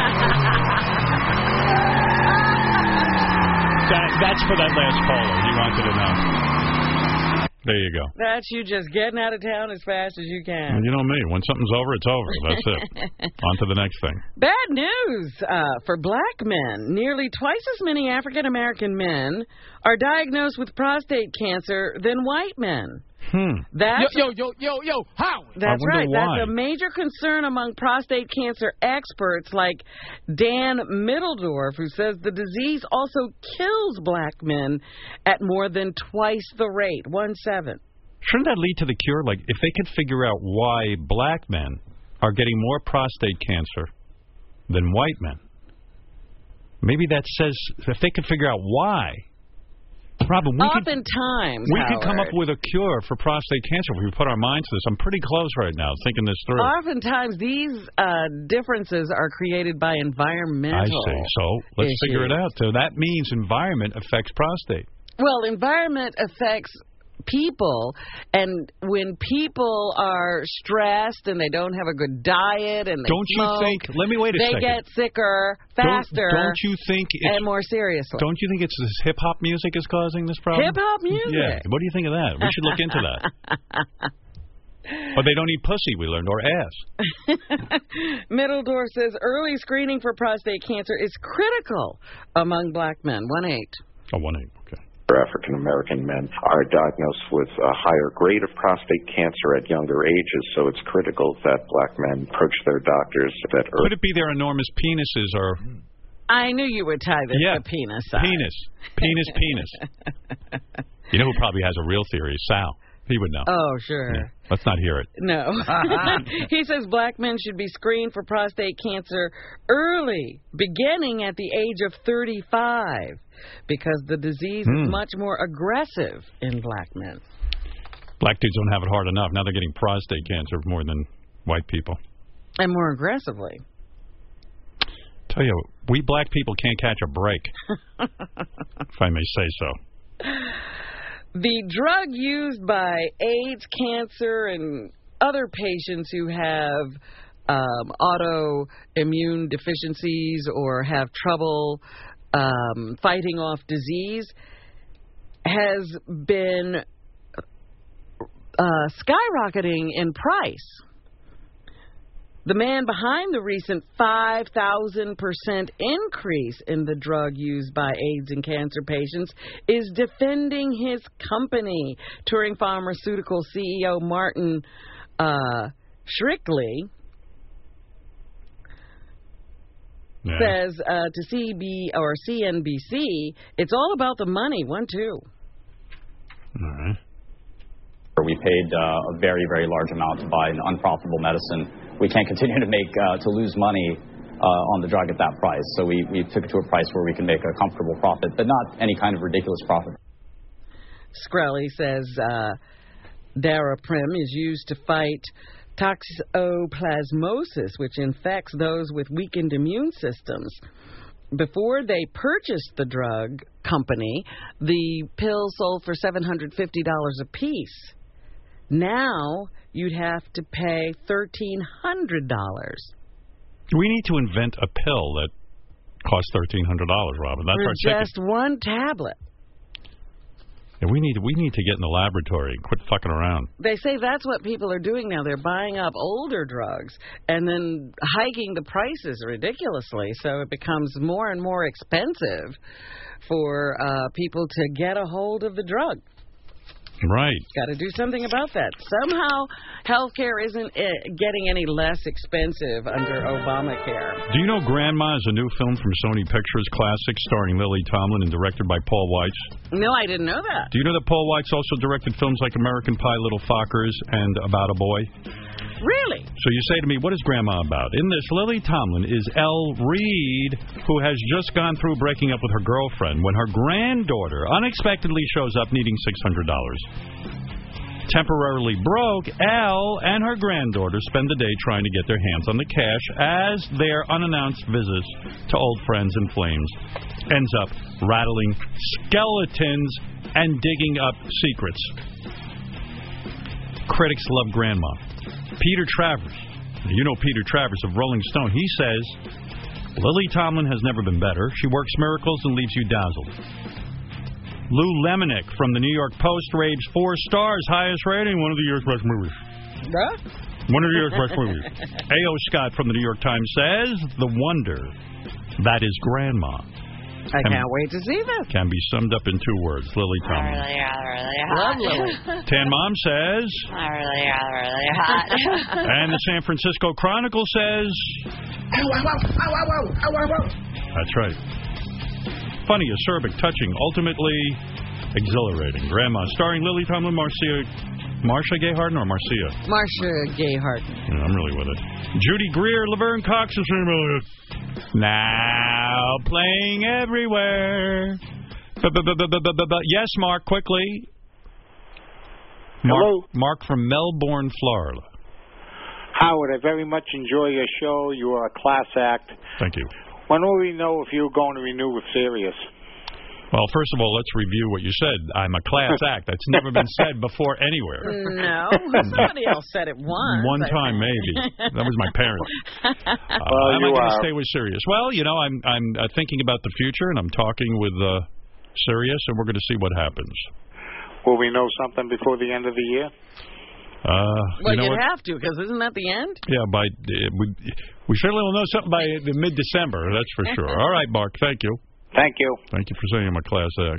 That's for that last caller. He wanted to know. There you go. That's you just getting out of town as fast as you can. You know me. When something's over, it's over. That's it. On to the next thing. Bad news for black men. Nearly twice as many African-American men are diagnosed with prostate cancer than white men. That's, yo, Howard. That's right. Why. That's a major concern among prostate cancer experts like Dan Middledorf, who says the disease also kills black men at more than twice the rate, 1.7. Shouldn't that lead to the cure? Like, if they could figure out why black men are getting more prostate cancer than white men, maybe that says, if they could figure out why... Robin, we could come up with a cure for prostate cancer if we put our minds to this. I'm pretty close right now thinking this through. Oftentimes, these differences are created by environmental I see. So let's issues. figure it out. So that means environment affects prostate. Well, environment affects people, and when people are stressed and they don't have a good diet and they smoke, you think? Let me wait a second. They get sicker faster. Don't you think? And more seriously. Don't you think it's this hip hop music is causing this problem? Hip hop music. Yeah. What do you think of that? We should look into that. Or they don't eat pussy, we learned, or ass. Middledorf says early screening for prostate cancer is critical among black men. 1.8. Oh, 1.8. Okay. African-American men are diagnosed with a higher grade of prostate cancer at younger ages, so it's critical that black men approach their doctors that early. Could it be their enormous penises or... I knew you would tie this to penis size. Penis. You know who probably has a real theory? Sal. He would know. Oh, sure. Yeah. Let's not hear it. No. He says black men should be screened for prostate cancer early, beginning at the age of 35, because the disease is much more aggressive in black men. Black dudes don't have it hard enough. Now they're getting prostate cancer more than white people. And more aggressively. Tell you, we black people can't catch a break, if I may say so. The drug used by AIDS, cancer, and other patients who have autoimmune deficiencies or have trouble fighting off disease has been skyrocketing in price. The man behind the recent 5,000% increase in the drug used by AIDS and cancer patients is defending his company. Turing Pharmaceutical CEO Martin Shrikley says to CNBC, it's all about the money. 1, 2. All right. We paid a very, very large amount to buy an unprofitable medicine. We can't continue to lose money on the drug at that price. So we took it to a price where we can make a comfortable profit, but not any kind of ridiculous profit. Shkreli says Daraprim is used to fight toxoplasmosis, which infects those with weakened immune systems. Before they purchased the drug company, the pills sold for $750 a piece. Now you'd have to pay $1,300. We need to invent a pill that costs $1,300, Robin. That's for our just one tablet. And we need to get in the laboratory and quit fucking around. They say that's what people are doing now. They're buying up older drugs and then hiking the prices ridiculously, so it becomes more and more expensive for people to get a hold of the drug. Right. Got to do something about that. Somehow, healthcare isn't getting any less expensive under Obamacare. Do you know Grandma is a new film from Sony Pictures Classics starring Lily Tomlin and directed by Paul Weitz? No, I didn't know that. Do you know that Paul Weitz also directed films like American Pie, Little Fockers, and About a Boy? Really? So you say to me, what is Grandma about? In this, Lily Tomlin is Elle Reed, who has just gone through breaking up with her girlfriend when her granddaughter unexpectedly shows up needing $600. Temporarily broke, Elle and her granddaughter spend the day trying to get their hands on the cash as their unannounced visits to old friends in flames ends up rattling skeletons and digging up secrets. Critics love Grandma. Peter Travers, you know Peter Travers of Rolling Stone, he says, Lily Tomlin has never been better. She works miracles and leaves you dazzled. Lou Lemonick from the New York Post raves 4 stars, highest rating, one of the year's best movies. One of the year's best movies. A.O. Scott from the New York Times says, the wonder that is Grandma. I can't wait to see this. Can be summed up in 2 words. Lily Tomlin. Really hot. Love Tan Mom says. Really hot. And the San Francisco Chronicle says. That's right. Funny, acerbic, touching, ultimately exhilarating. Grandma, starring Lily Tomlin, Marcia Gay Harden or Marcia? Marcia Gay Harden. Yeah, I'm really with it. Judy Greer, Laverne Cox is now playing everywhere. Yes, Mark, quickly. Hello. Mark from Melbourne, Florida. Howard, I very much enjoy your show. You are a class act. Thank you. When will we know if you're going to renew with Sirius? Well, first of all, let's review what you said. I'm a class act. That's never been said before anywhere. No, somebody else said it once. One time, maybe. That was my parents. Well, am I going to stay with Sirius? Well, you know, I'm thinking about the future, and I'm talking with Sirius, and we're going to see what happens. Will we know something before the end of the year? Well, you'd have to, because isn't that the end? Yeah, we certainly will know something by the mid-December, that's for sure. All right, Mark, thank you. Thank you. Thank you for saying I'm a class act.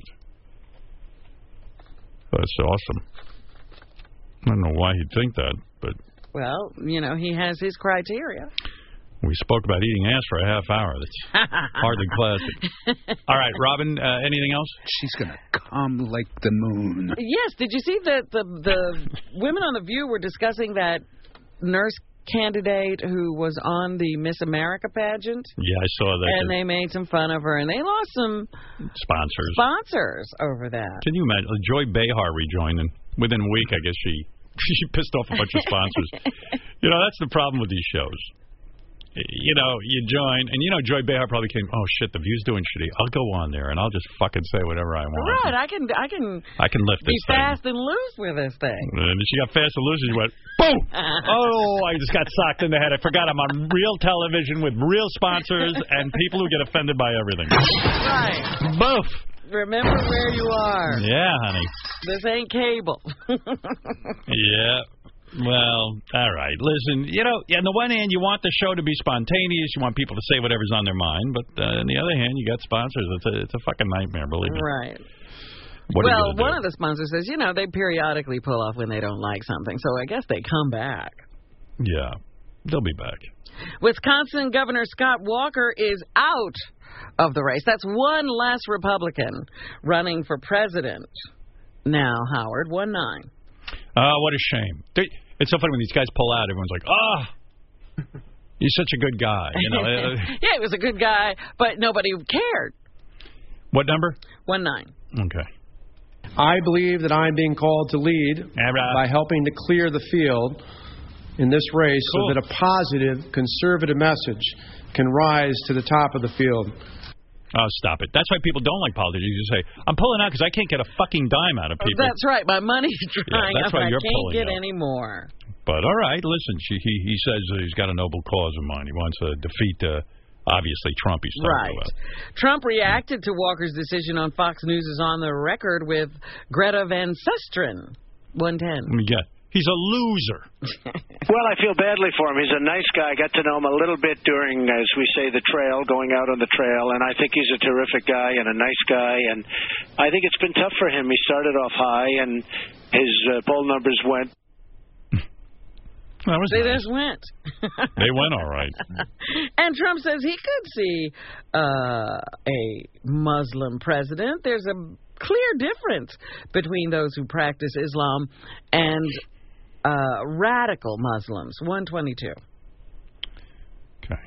That's awesome. I don't know why he'd think that, but... Well, you know, he has his criteria. We spoke about eating ass for a half hour. That's hardly classic. All right, Robin, anything else? She's going to come like the moon. Yes, did you see that the women on The View were discussing that nurse candidate who was on the Miss America pageant? Yeah, I saw that. And they made some fun of her, and they lost some sponsors over that. Can you imagine? Joy Behar rejoined, and within a week, I guess she pissed off a bunch of sponsors. You know, that's the problem with these shows. You know, you join, and you know, Joy Behar probably came, oh shit, The View's doing shitty. I'll go on there, and I'll just fucking say whatever I want. Right, I can lift this be fast and loose with this thing. And she got fast and loose, and she went, boom! Oh, I just got socked in the head. I forgot I'm on real television with real sponsors and people who get offended by everything. Right. Boof! Remember where you are. Yeah, honey. This ain't cable. Yeah. Well, all right. Listen, you know, on the one hand, you want the show to be spontaneous. You want people to say whatever's on their mind. But on the other hand, you got sponsors. It's a fucking nightmare, believe me. Right. Well, one of the sponsors says, you know, they periodically pull off when they don't like something. So I guess they come back. Yeah, they'll be back. Wisconsin Governor Scott Walker is out of the race. That's one less Republican running for president. Now, Howard, 1-9. What a shame. It's so funny when these guys pull out. Everyone's like, he's such a good guy. You know? Yeah, he was a good guy, but nobody cared. What number? 1-9. Okay. I believe that I'm being called to lead by helping to clear the field in this race so that a positive, conservative message can rise to the top of the field. Oh, stop it. That's why people don't like politics. You just say, I'm pulling out because I can't get a fucking dime out of people. That's right. My money's drying that's up. why you're I can't get out. any more. But, all right, listen, he says he's got a noble cause in mind. He wants to defeat, obviously, Trump he's talking about. Trump reacted to Walker's decision on Fox News is on the record with Greta Van Susteren. 110. Let me get. He's a loser. Well, I feel badly for him. He's a nice guy. I got to know him a little bit during, as we say, the trail, going out on the trail, and I think he's a terrific guy and a nice guy, and I think it's been tough for him. He started off high, and his poll numbers went. They just went. They went all right. And Trump says he could see a Muslim president. There's a clear difference between those who practice Islam and radical Muslims. 122. Okay.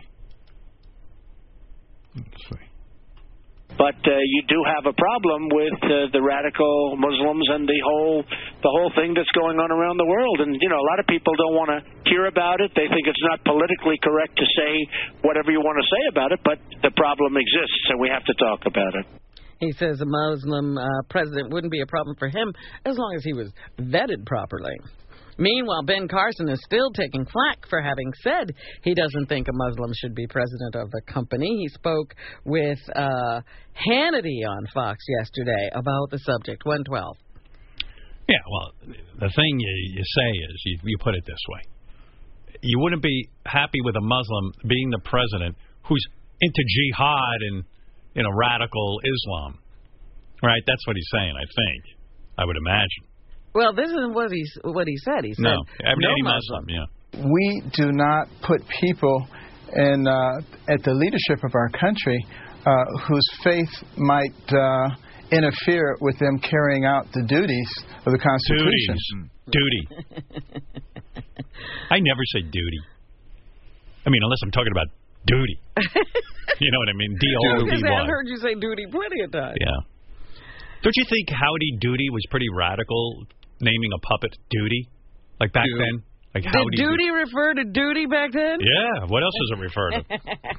Let's see. But you do have a problem with the radical Muslims and the whole thing that's going on around the world. And, you know, a lot of people don't want to hear about it. They think it's not politically correct to say whatever you want to say about it, but the problem exists, and we have to talk about it. He says a Muslim president wouldn't be a problem for him as long as he was vetted properly. Meanwhile, Ben Carson is still taking flack for having said he doesn't think a Muslim should be president of the company. He spoke with Hannity on Fox yesterday about the subject. 112. Yeah, well, the thing you say is, you put it this way. You wouldn't be happy with a Muslim being the president who's into jihad and, you know, radical Islam. Right? That's what he's saying, I think. I would imagine. Well, this is what he said. He said no Muslim. Muslim. Yeah. We do not put people in at the leadership of our country whose faith might interfere with them carrying out the duties of the Constitution. Duty. I never say duty. I mean, unless I'm talking about duty. You know what I mean? D-O-U-D-Y. I've heard you say duty plenty of times. Yeah. Don't you think Howdy Doody was pretty radical, naming a puppet Duty? Like back then? Like Did Duty refer to duty back then? Yeah. What else does it refer to?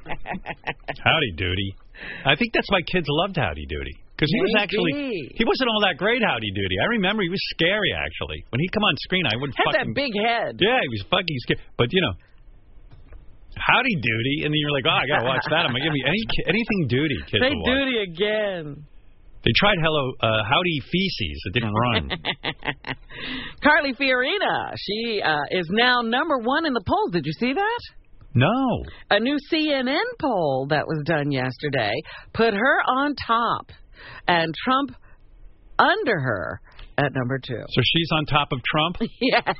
Howdy Doody. I think that's why kids loved Howdy Doody. Because he was actually, he wasn't all that great, Howdy Doody. I remember he was scary, actually. When he'd come on screen, I would had that big head. Yeah, he was fucking scary. But, you know, Howdy Doody, and then you're like, oh, I got to watch that. I'm going to give me anything Doody, kids. Say Duty again. They tried Howdy Feces. It didn't run. Carly Fiorina, she is now #1 in the polls. Did you see that? No. A new CNN poll that was done yesterday put her on top and Trump under her at #2. So she's on top of Trump? Yes.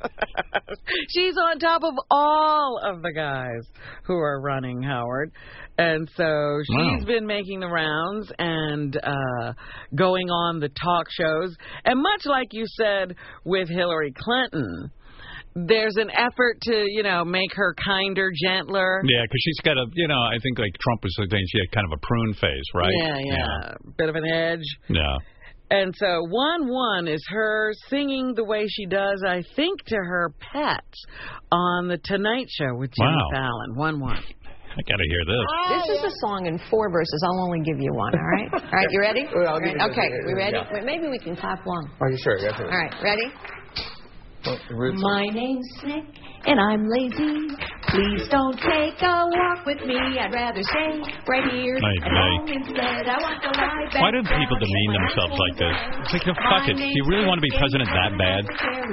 She's on top of all of the guys who are running, Howard. And so she's been making the rounds and going on the talk shows. And much like you said with Hillary Clinton, there's an effort to, you know, make her kinder, gentler. Yeah, because she's got a, you know, I think like Trump was saying she had kind of a prune face, right? Yeah. Bit of an edge. Yeah. And so 1-1 is her singing the way she does, I think, to her pets on The Tonight Show with Jimmy Fallon. 1-1. I got to hear this. This is a song in 4 verses. I'll only give you 1, all right? All right, you ready? Okay, we ready? Yeah. Maybe we can clap along. Are you sure? Yes, all right, ready? My name's Nick, and I'm lazy. Please don't take a walk with me. I'd rather stay right here at home instead. I want to lie back. Why do people demean themselves like this? It's like, fuck it. Do you really want to be president that bad?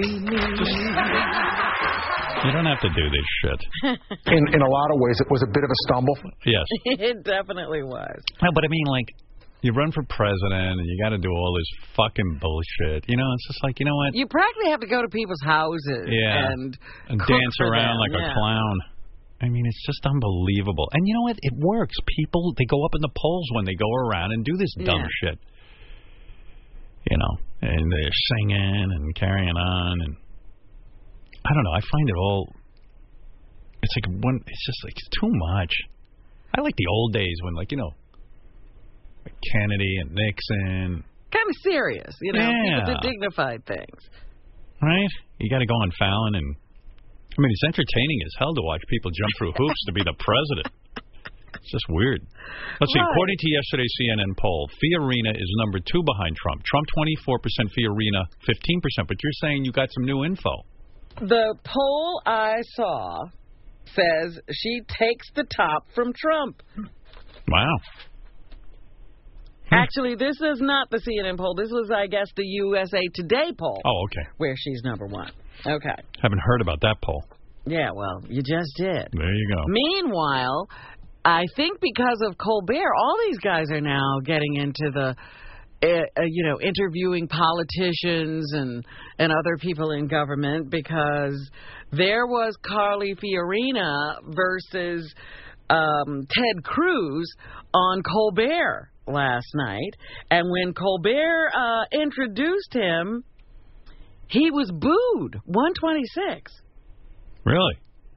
You don't have to do this shit. In a lot of ways, it was a bit of a stumble. Yes. It definitely was. No, but I mean, like, You run for president, and you got to do all this fucking bullshit. You know, it's just like, you know what? You practically have to go to people's houses and dance around like a clown. I mean, it's just unbelievable. And you know what? It works. People, they go up in the polls when they go around and do this dumb shit. You know, and they're singing and carrying on, and I don't know. I find it all. It's like it's just like it's too much. I like the old days when, like, you know, like Kennedy and Nixon. Kind of serious, you know. People did dignified things. Right? You got to go on Fallon, and I mean, it's entertaining as hell to watch people jump through hoops to be the president. It's just weird. Let's see. According to yesterday's CNN poll, Fiorina is number 2 behind Trump. Trump 24%, Fiorina 15%. But you're saying you got some new info. The poll I saw says she takes the top from Trump. Wow. Actually, this is not the CNN poll. This was, I guess, the USA Today poll. Oh, okay. Where she's number 1. Okay. Haven't heard about that poll. Yeah, well, you just did. There you go. Meanwhile, I think because of Colbert, all these guys are now getting into the, you know, interviewing politicians and other people in government, because there was Carly Fiorina versus Ted Cruz on Colbert last night. And when Colbert introduced him, he was booed. 126. Really?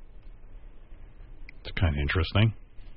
It's kind of interesting.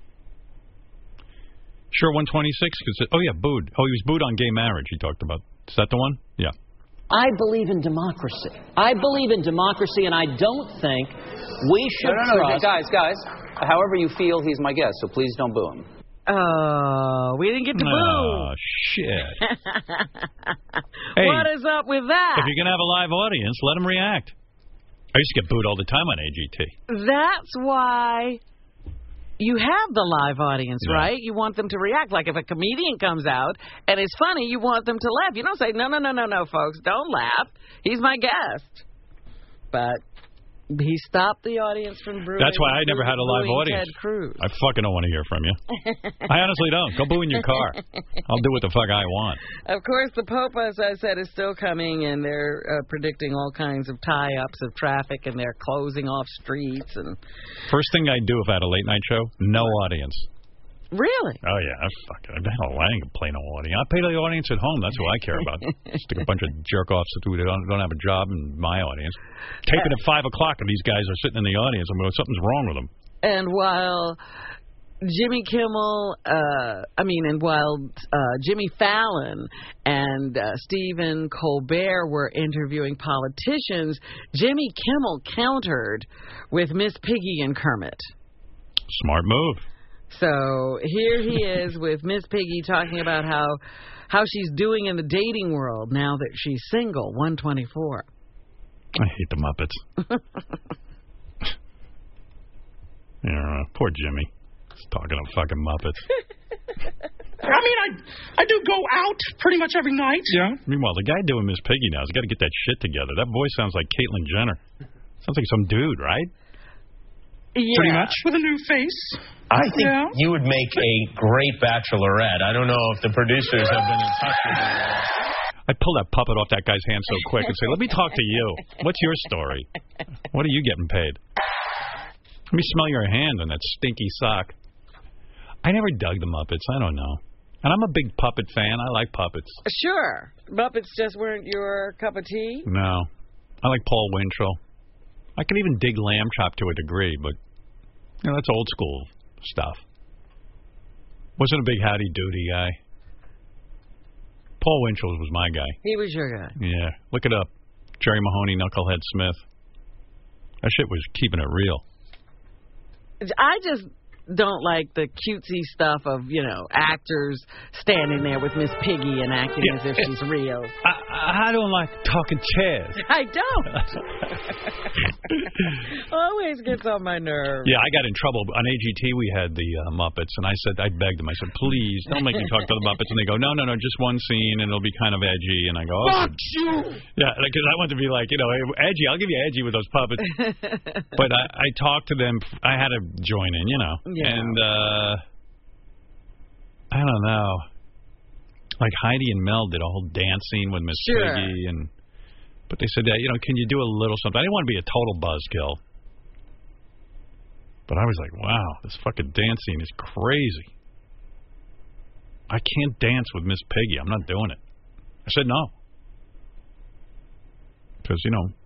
Sure, 126? Oh, yeah, booed. Oh, he was booed on gay marriage, he talked about. Is that the one? Yeah. I believe in democracy. I believe in democracy, and I don't think we should trust... Guys, however you feel, he's my guest, so please don't boo him. Oh, we didn't get to boo. Oh, shit. Hey, what is up with that? If you're going to have a live audience, let them react. I used to get booed all the time on AGT. That's why you have the live audience, right? You want them to react. Like if a comedian comes out and it's funny, you want them to laugh. You don't say, no, folks, don't laugh. He's my guest. But he stopped the audience from booing. That's why I never had a live audience. Ted Cruz. I fucking don't want to hear from you. I honestly don't. Go boo in your car. I'll do what the fuck I want. Of course, the Pope, as I said, is still coming, and they're predicting all kinds of tie-ups of traffic, and they're closing off streets. And first thing I'd do if I had a late-night show, no audience. Really? Oh, yeah. I ain't play no audience. I pay the audience at home. That's who I care about. Stick a bunch of jerk-offs who don't have a job in my audience. Taping at 5 o'clock, and these guys are sitting in the audience. I'm going, something's wrong with them. And while Jimmy Kimmel, Jimmy Fallon and Stephen Colbert were interviewing politicians, Jimmy Kimmel countered with Miss Piggy and Kermit. Smart move. So here he is with Miss Piggy talking about how she's doing in the dating world now that she's single. 124. I hate the Muppets. Yeah, poor Jimmy. He's talking to fucking Muppets. I mean, I do go out pretty much every night. Yeah. Meanwhile, the guy doing Miss Piggy now has got to get that shit together. That voice sounds like Caitlyn Jenner. Sounds like some dude, right? Yeah. Pretty much. With a new face. I think you would make a great bachelorette. I don't know if the producers have been in touch with you. I'd pull that puppet off that guy's hand so quick and say, let me talk to you. What's your story? What are you getting paid? Let me smell your hand on that stinky sock. I never dug the Muppets. I don't know. And I'm a big puppet fan. I like puppets. Sure. Muppets just weren't your cup of tea? No. I like Paul Winchell. I can even dig Lamb Chop to a degree, but you know, that's old school stuff. Wasn't a big howdy doody guy. Paul Winchell was my guy. He was your guy. Yeah. Look it up. Jerry Mahoney, Knucklehead Smith. That shit was keeping it real. I just don't like the cutesy stuff of, you know, actors standing there with Miss Piggy and acting as if she's real. I don't like talking chairs. I don't. Always gets on my nerves. Yeah, I got in trouble. On AGT, we had the Muppets, and I begged them. I said, please, don't make me talk to the Muppets. And they go, no, just one scene, and it'll be kind of edgy. And I go, fuck you! Yeah, because I want to be like, you know, edgy. I'll give you edgy with those puppets. But I talked to them. I had to join in, you know. Yeah. And I don't know. Like Heidi and Mel did a whole dance scene with Miss Piggy, but they said that, can you do a little something? I didn't want to be a total buzzkill. But I was like, wow, this fucking dance scene is crazy. I can't dance with Miss Piggy. I'm not doing it. I said no. Because,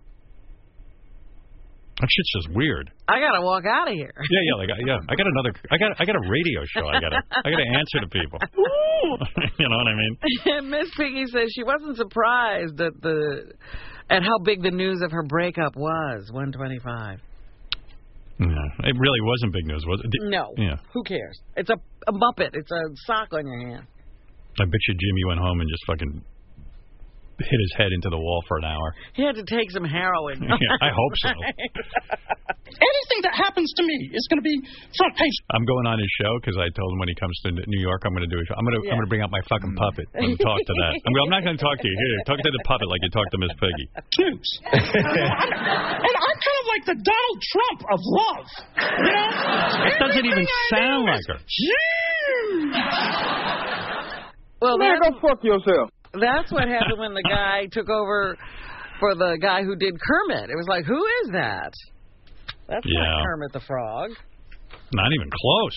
that shit's just weird. I gotta walk out of here. I got a radio show. I gotta answer to people. You know what I mean? Miss Piggy says she wasn't surprised at how big the news of her breakup was. 125. Yeah, it really wasn't big news, was it? No. Yeah. Who cares? It's a Muppet. It's a sock on your hand. I bet you Jimmy went home and just fucking hit his head into the wall for an hour. He had to take some heroin. Yeah, I hope so. Anything that happens to me is going to be front page. I'm going on his show because I told him when he comes to New York, I'm going to do a show. I'm going to bring out my fucking puppet and talk to that. I'm not going to talk to you. Here, talk to the puppet like you talk to Miss Piggy. News. And I'm kind of like the Donald Trump of love. It doesn't even sound like her. Well, go fuck yourself. That's what happened when the guy took over for the guy who did Kermit. It was like, who is that? That's not Kermit the Frog. Not even close.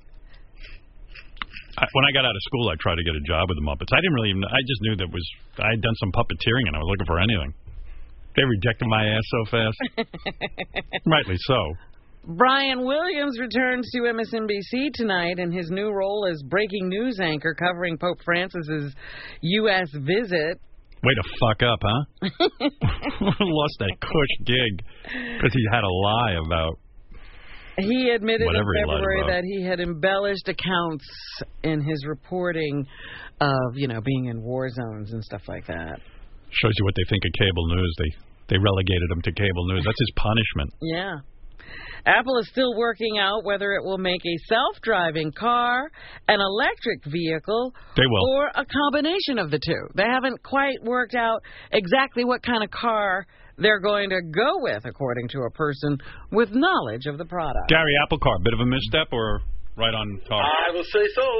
When I got out of school, I tried to get a job with the Muppets. I didn't really even. I just knew I had done some puppeteering and I was looking for anything. They rejected my ass so fast. Rightly so. Brian Williams returns to MSNBC tonight in his new role as breaking news anchor covering Pope Francis's U.S. visit. Way to fuck up, huh? Lost that cush gig because he had a lie about. He admitted in February that he had embellished accounts in his reporting of, being in war zones and stuff like that. Shows you what they think of cable news. They relegated him to cable news. That's his punishment. Yeah. Apple is still working out whether it will make a self-driving car, an electric vehicle, or a combination of the two. They haven't quite worked out exactly what kind of car they're going to go with, according to a person with knowledge of the product. Gary, Apple car, bit of a misstep or right on target? I will say so.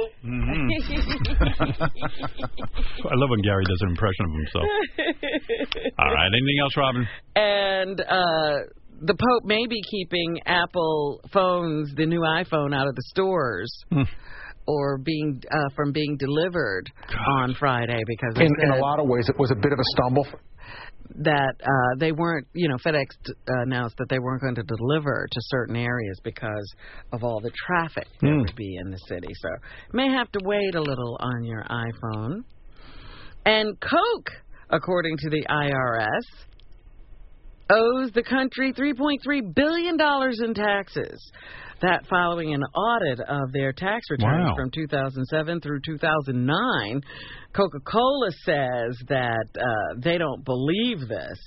Mm-hmm. I love when Gary does an impression of himself. All right, anything else, Robin? And the Pope may be keeping Apple phones, the new iPhone, out of the stores. Or being from being delivered on Friday because in a lot of ways it was a bit of a stumble. That they weren't, FedEx announced that they weren't going to deliver to certain areas because of all the traffic that would be in the city. So may have to wait a little on your iPhone. And Coke, according to the IRS, owes the country $3.3 billion in taxes. That following an audit of their tax returns from 2007 through 2009. Coca-Cola says that they don't believe this.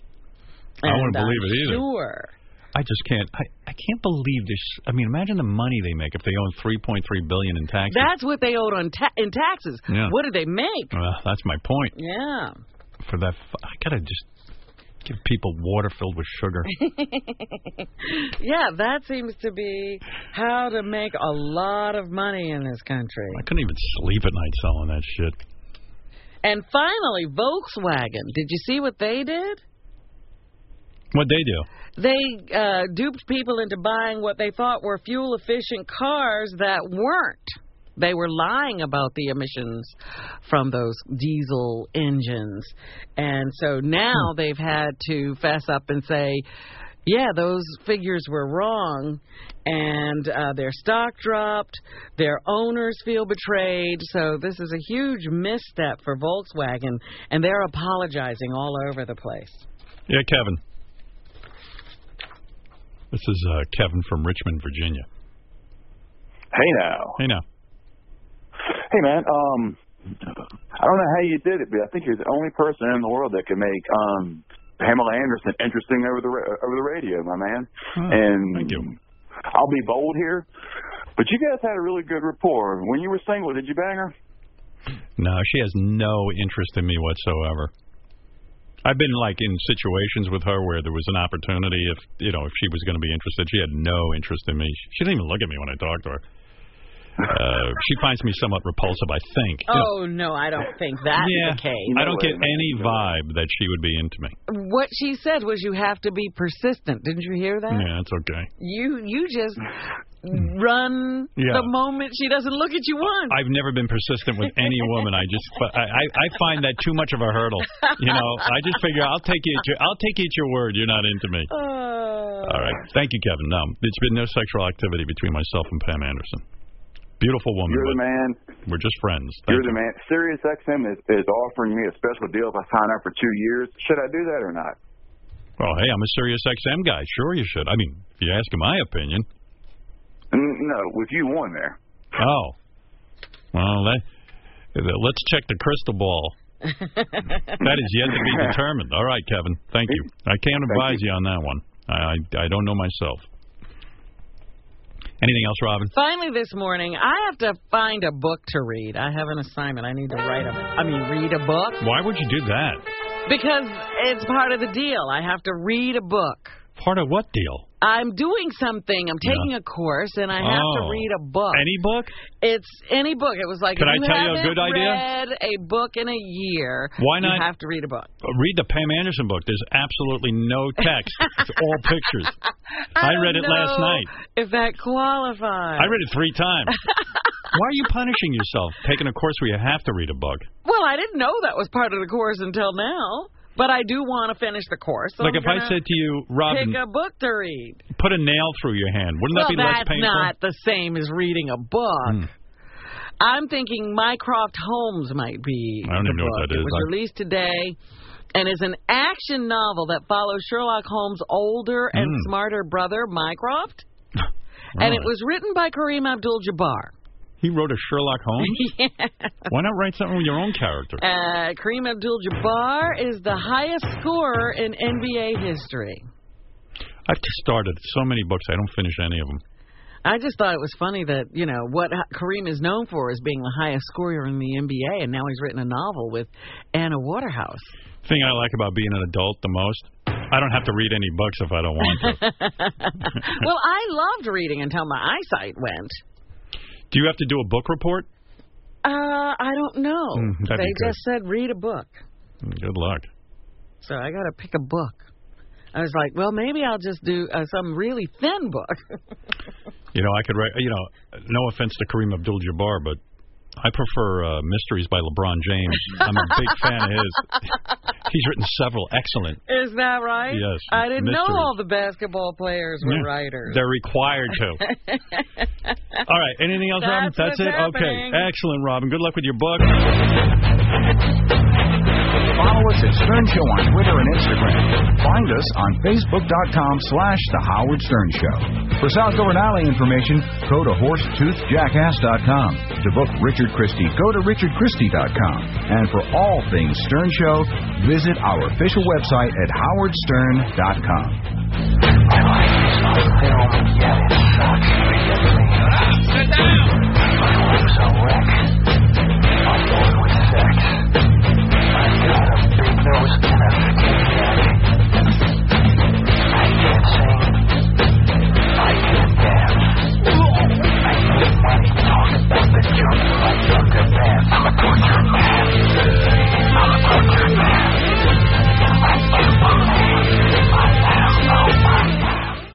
I wouldn't believe it either. Sure. I just can't. I can't believe this. I mean, imagine the money they make if they own $3.3 billion in taxes. That's what they owed in taxes. Yeah. What did they make? Well, that's my point. Yeah. For that, I gotta just give people water filled with sugar. Yeah, that seems to be how to make a lot of money in this country. I couldn't even sleep at night selling that shit. And finally, Volkswagen. Did you see what they did? What'd they do? They duped people into buying what they thought were fuel-efficient cars that weren't. They were lying about the emissions from those diesel engines. And so now they've had to fess up and say, yeah, those figures were wrong, and their stock dropped, their owners feel betrayed. So this is a huge misstep for Volkswagen, and they're apologizing all over the place. Yeah, Kevin. This is Kevin from Richmond, Virginia. Hey, now. Hey, now. Hey, man, I don't know how you did it, but I think you're the only person in the world that can make Pamela Anderson interesting over the radio, my man. And thank you. I'll be bold here, but you guys had a really good rapport. When you were single, did you bang her? No, she has no interest in me whatsoever. I've been in situations with her where there was an opportunity if she was going to be interested. She had no interest in me. She didn't even look at me when I talked to her. She finds me somewhat repulsive, I think. Oh, no, I don't think that's the case. I don't get any vibe that she would be into me. What she said was you have to be persistent. Didn't you hear that? Yeah, that's okay. You just run the moment she doesn't look at you once. I've never been persistent with any woman. I find that too much of a hurdle. You know, I just figure I'll take you at your word. You're not into me. All right. Thank you, Kevin. No, there's been no sexual activity between myself and Pam Anderson. Beautiful woman. You're the man. We're just friends. You're the man. Sirius XM is offering me a special deal if I sign up for 2 years. Should I do that or not? Well, hey, I'm a Sirius XM guy. Sure you should. I mean, if you ask my opinion. No, with you on there. Oh. Well, let's check the crystal ball. That is yet to be determined. All right, Kevin. Thank you. I can't advise you on that one. I don't know myself. Anything else, Robin? Finally this morning, I have to find a book to read. I have an assignment. I need to read a book. Why would you do that? Because it's part of the deal. I have to read a book. Part of what deal? I'm doing something. I'm taking a course, and I have to read a book. Any book? It's any book. It was like, Can if I tell you a good idea? read a book in a year, why not? You have to read a book. Read the Pam Anderson book. There's absolutely no text. It's all pictures. I read it last night. If that qualifies. I read it 3 times. Why are you punishing yourself, taking a course where you have to read a book? Well, I didn't know that was part of the course until now. But I do want to finish the course. So like if I said to you, Robin, pick a book to read. Put a nail through your hand. Wouldn't that be less painful? Well, that's not the same as reading a book. I'm thinking Mycroft Holmes might be I don't even know what that is. It was released today and is an action novel that follows Sherlock Holmes' older and smarter brother, Mycroft. And it was written by Kareem Abdul-Jabbar. He wrote a Sherlock Holmes? Yeah. Why not write something with your own character? Kareem Abdul-Jabbar is the highest scorer in NBA history. I've started so many books, I don't finish any of them. I just thought it was funny that, you know, what Kareem is known for is being the highest scorer in the NBA, and now he's written a novel with Anna Waterhouse. The thing I like about being an adult the most, I don't have to read any books if I don't want to. Well, I loved reading until my eyesight went. Do you have to do a book report? I don't know. They just said read a book. Good luck. So I got to pick a book. I was like, well, maybe I'll just do some really thin book. You know, I could write, you know, no offense to Kareem Abdul-Jabbar, but I prefer Mysteries by LeBron James. I'm a big fan of his. He's written several excellent. Is that right? Yes. I didn't know all the basketball players were writers. They're required to. All right. Anything else, Robin? That's it? Happening. Okay. Excellent, Robin. Good luck with your book. Follow us at Stern Show on Twitter and Instagram. Find us on Facebook.com/The Howard Stern Show. For South Silver Alley information, go to HorsetoothJackass.com. To book Richard Christie, go to RichardChristie.com. And for all things Stern Show, visit our official website at HowardStern.com. I like this film, yes.